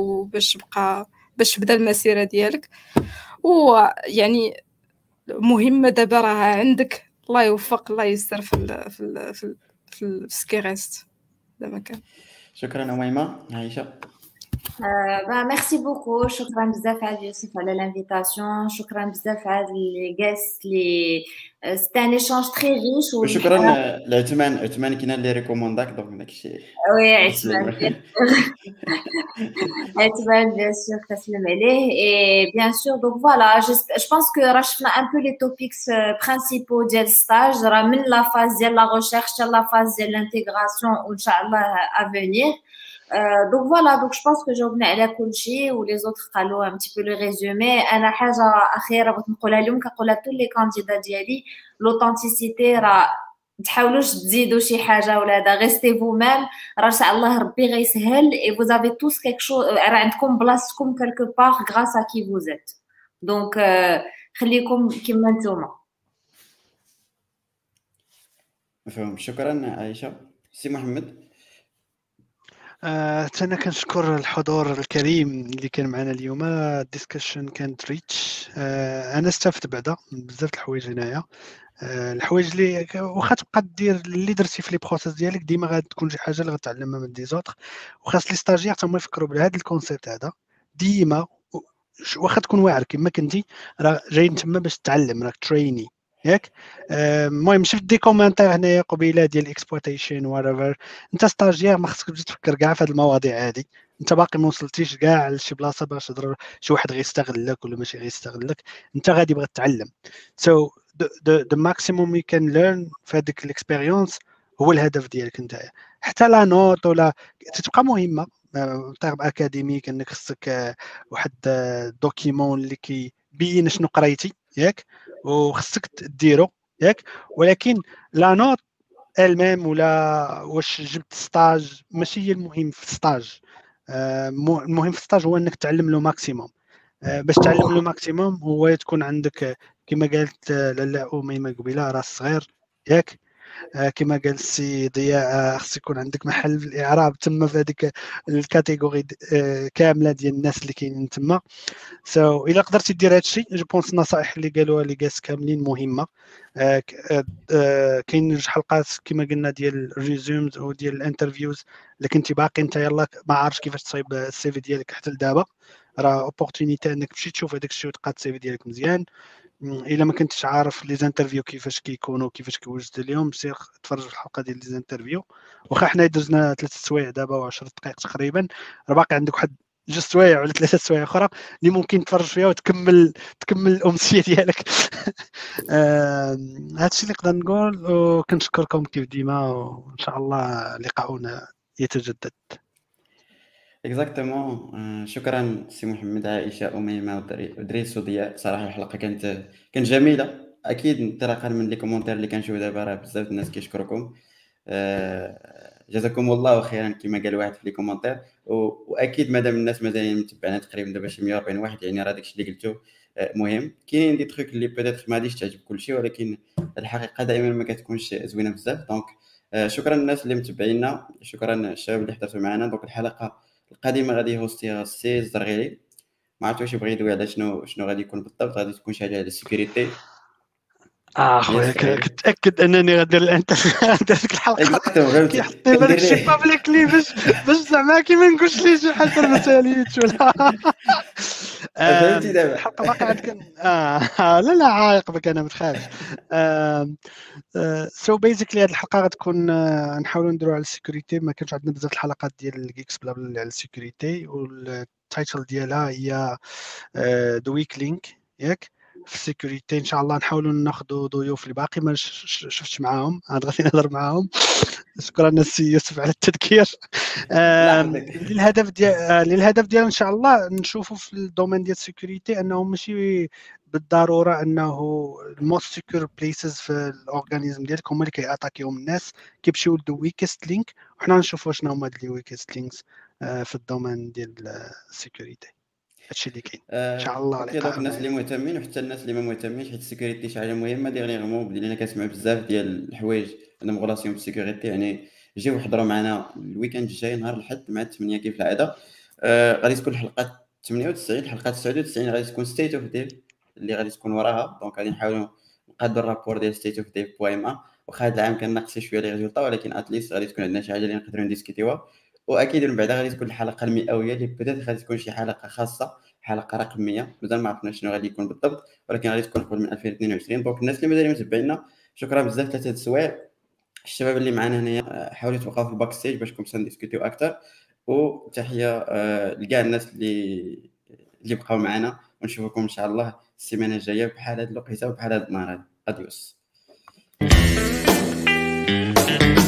تبدا المسيره ديالك. ويعني مهمه دابا راه عندك، الله يوفق الله يستر في سكيرست دابا كان. شكرا أميمة. عايشة. ميرسي بوكو. شكرا بزاف على يوسف على لانفيتاسيون. شكرا بزاف على لي غيست لي سيتي ان ايشانج تري ريش. وشكرا لعثمان كاين اللي ريكومونداك دونك داكشي. وي عثمان عثمان بيان سور تسلم عليه. اي بيان سور دونك فوالا جو بونس كو راه شفنا ان بو لي توبيكس برينسيبو ديال ستاج، راه من لا فاز ديال لا ريشيرش حتى لا فاز ديال لانتيغراسيون وان شاء الله افونير. Donc voilà, donc je pense que جاوبنا على كل شيء ولي زوتر قالوا un petit peu le résumé. انا حاجه اخيره بغيت نقولها لهم كنقولها لكل لي كانديدا ديالي، لوثنتيسيتي راه تحاولوش تزيدوا شي حاجه ولا هذا، غيستي فو ميم، راه ان شاء الله ربي غيسهل. اي فوز افي توس كيك شو، راه عندكم بلاصتكم كالكو باغ غراس ا كي فوز ات. دونك خليكم كيما نتوما. مفهوم. شكرا عائشه. سي محمد. أنا كنشكر الحضور الكريم اللي كان معنا اليوم. الديسكشن كانت ريتش. انا استفدت بعدا بزاف د الحوايج هنايا. الحوايج اللي واخا تبقى دير اللي درتي في لي بروسيس ديالك ديما غتكون شي حاجه اللي غتعلمها من دي زوتر، وخاص لي ستاجير حتى هما يفكروا بهذا الكونسيبت هذا ديما. واخا تكون واعر كما كنتي راه جاي تما باش تتعلم، راك تريني ياك. المهم شفت دي كومونتير هنايا قبيله ديال الاكسبلويتيشن ورايفر. انت ستاجير ما خصكش تبدا تفكر كاع في هذه المواضيع هذه، انت باقي ما وصلتيش كاع لشي بلاصه باش تضرب شي واحد غيستغلك ولا ماشي غيستغلك، انت غادي باغي تتعلم. سو the maximum you can learn في هذيك الاكسبيريونس هو الهدف ديالك انت. حتى لا نوت ولا تبقى مهمه طيب اكاديميك انك خصك واحد دوكيمون اللي كيبين شنو قريتي ياك وخصك ديرو ياك، ولكن لا نوت الميم ولا واش جبت ستاج ماشي هي المهم في الستاج. المهم في الستاج هو انك تعلم له ماكسيموم. باش تعلم له ماكسيموم هو تكون عندك كما قالت لاله أميمة قبيله راس صغير ياك. كما قال السي ضياء خص يكون عندك محل في الاعراب تما في هذيك الكاتيجوري كامله ديال الناس اللي كاينين تما. سو الا قدرتي دير هذا الشيء جو بونس النصائح اللي قالوها لي جاس كاملين مهمه. كاين جوج حلقات كما قلنا ديال الريزومز او ديال الانترفيوز، الا كنتي باقي انت يلاه ما عارفش كيفاش تصايب السي في ديالك حتى لدابا راه اوبورتونيتي انك تمشي تشوف هذاك الشيء وتقاد السي في ديالك مزيان. الا ما كنتش عارف لي زانترفيو كيفاش كيكونوا كيفاش كيوجد اليوم سير تفرج في الحلقه ديال لي زانترفيو. واخا حنا درنا 3 سوايع دابا و10 دقائق تقريبا، راه باقي عندك واحد 2 سوايع ولا 3 سوايع اخرى اللي ممكن تفرج فيها وتكمل الامسيه ديالك. هادشي اللي نقدر نقول، وكنشكركم كيف ديما وان شاء الله لقاؤنا يتجدد. اكزاكتومون. شكرا سي محمد، عائشه، اميمه، ودريس وضياء. صراحه الحلقه كانت جميله. اكيد انطلاقا من لي كومونتير اللي كنشوف دابا راه بزاف الناس كيشكركم. جزاكم الله خيرا كما قال واحد في لي كومونتير. واكيد مادام الناس مازالين متبعنا تقريبا دابا شي 140 واحد، يعني راه داكشي اللي قلتو مهم. كاين دي تروك اللي بيتيت ما غاديش تعجب كلشي، ولكن الحقيقه دائما ما كتكونش زوينه بزاف. دونك شكرا الناس اللي متبعينا، شكرا الشباب اللي حضرتوا معنا. دونك الحلقه القادمه غادي هوستيها سي الزرغيلي. ما عرفت واش يبغي يدوي على شنو غادي يكون بالضبط. غادي تكون شي حاجه على السيكوريتي. خويا كنتاكد انني غندير ديك الحلقه كيحطني بهذاك الشيء بابليكلي باش زعما كيما نقولش ليه شي حاجه ما ساليتش ولا فهمتي دابا الحلقه باقي عندك. لا عايق بك، انا ما تخافش. سو بيزيكلي هذه الحلقه غتكون نحاولوا نديروا على السيكوريتي. ما كانش عندنا بزاف الحلقات ديال جيكس بلا على السيكوريتي، والتايتل ديالها هي ذا ويك لينك ياك في السيكوريتي. ان شاء الله نحاولوا ناخذوا ضيوف اللي باقي ما شفتش معاهم، عاد غادي نهضر معاهم. شكرا السي يوسف على التذكير. للهدف ديال ان شاء الله نشوفوا في الدومين ديال السيكوريتي انه ماشي بالضروره انه الموست سيكور بليسز في الاورغانيزم ديالك هما اللي كياتاكيهم الناس، كيمشيو للدو ويكست لينك، وحنا نشوفوا شنو هما هاد لي ويكست لينكس في الدومين ديال السيكوريتي. هادشي اللي كاين ان شاء الله. دونك الناس اللي مهتمين وحتى الناس اللي ما مهتمينش، حيت السيكوريتي شي حاجه مهمه. ديغنيغمون بدينا كنسمعوا بزاف ديال الحوايج عندهم غولاسيون بالسيكوريتي. يعني جيو حضروا معنا الويكاند الجاي نهار الاحد مع 8 كيف العاده. غادي تكون الحلقه 98. الحلقه 99 غادي تكون ستيت اوف ديف اللي غادي تكون وراها. دونك غادي نحاولوا نقادوا الرابور ديال ستيت اوف ديف بويما. واخا هذا العام كناقص شويه لي ريزولطا، ولكن اتليست غادي تكون عندنا شي حاجه اللي نقدروا نديسكوتيوها. واكيد من بعدها غادي تكون الحلقه المئويه اللي بدات غادي تكون شي حلقه خاصه، حلقه رقميه. مازال ما عرفنا شنو غادي يكون بالضبط، ولكن غادي تكون قبل من 2022. دونك الناس اللي مازال متبعينا شكرا بزاف. 3 السوايع الشباب اللي معنا هنايا حاولوا توقفوا في الباك ستيج باش كون نديسكوتيو اكثر. وتحيه لكاع الناس اللي بقاو معنا، ونشوفكم ان شاء الله السيمانه الجايه بحال هاد الوقيته وبحال هاد النهار. اديوس.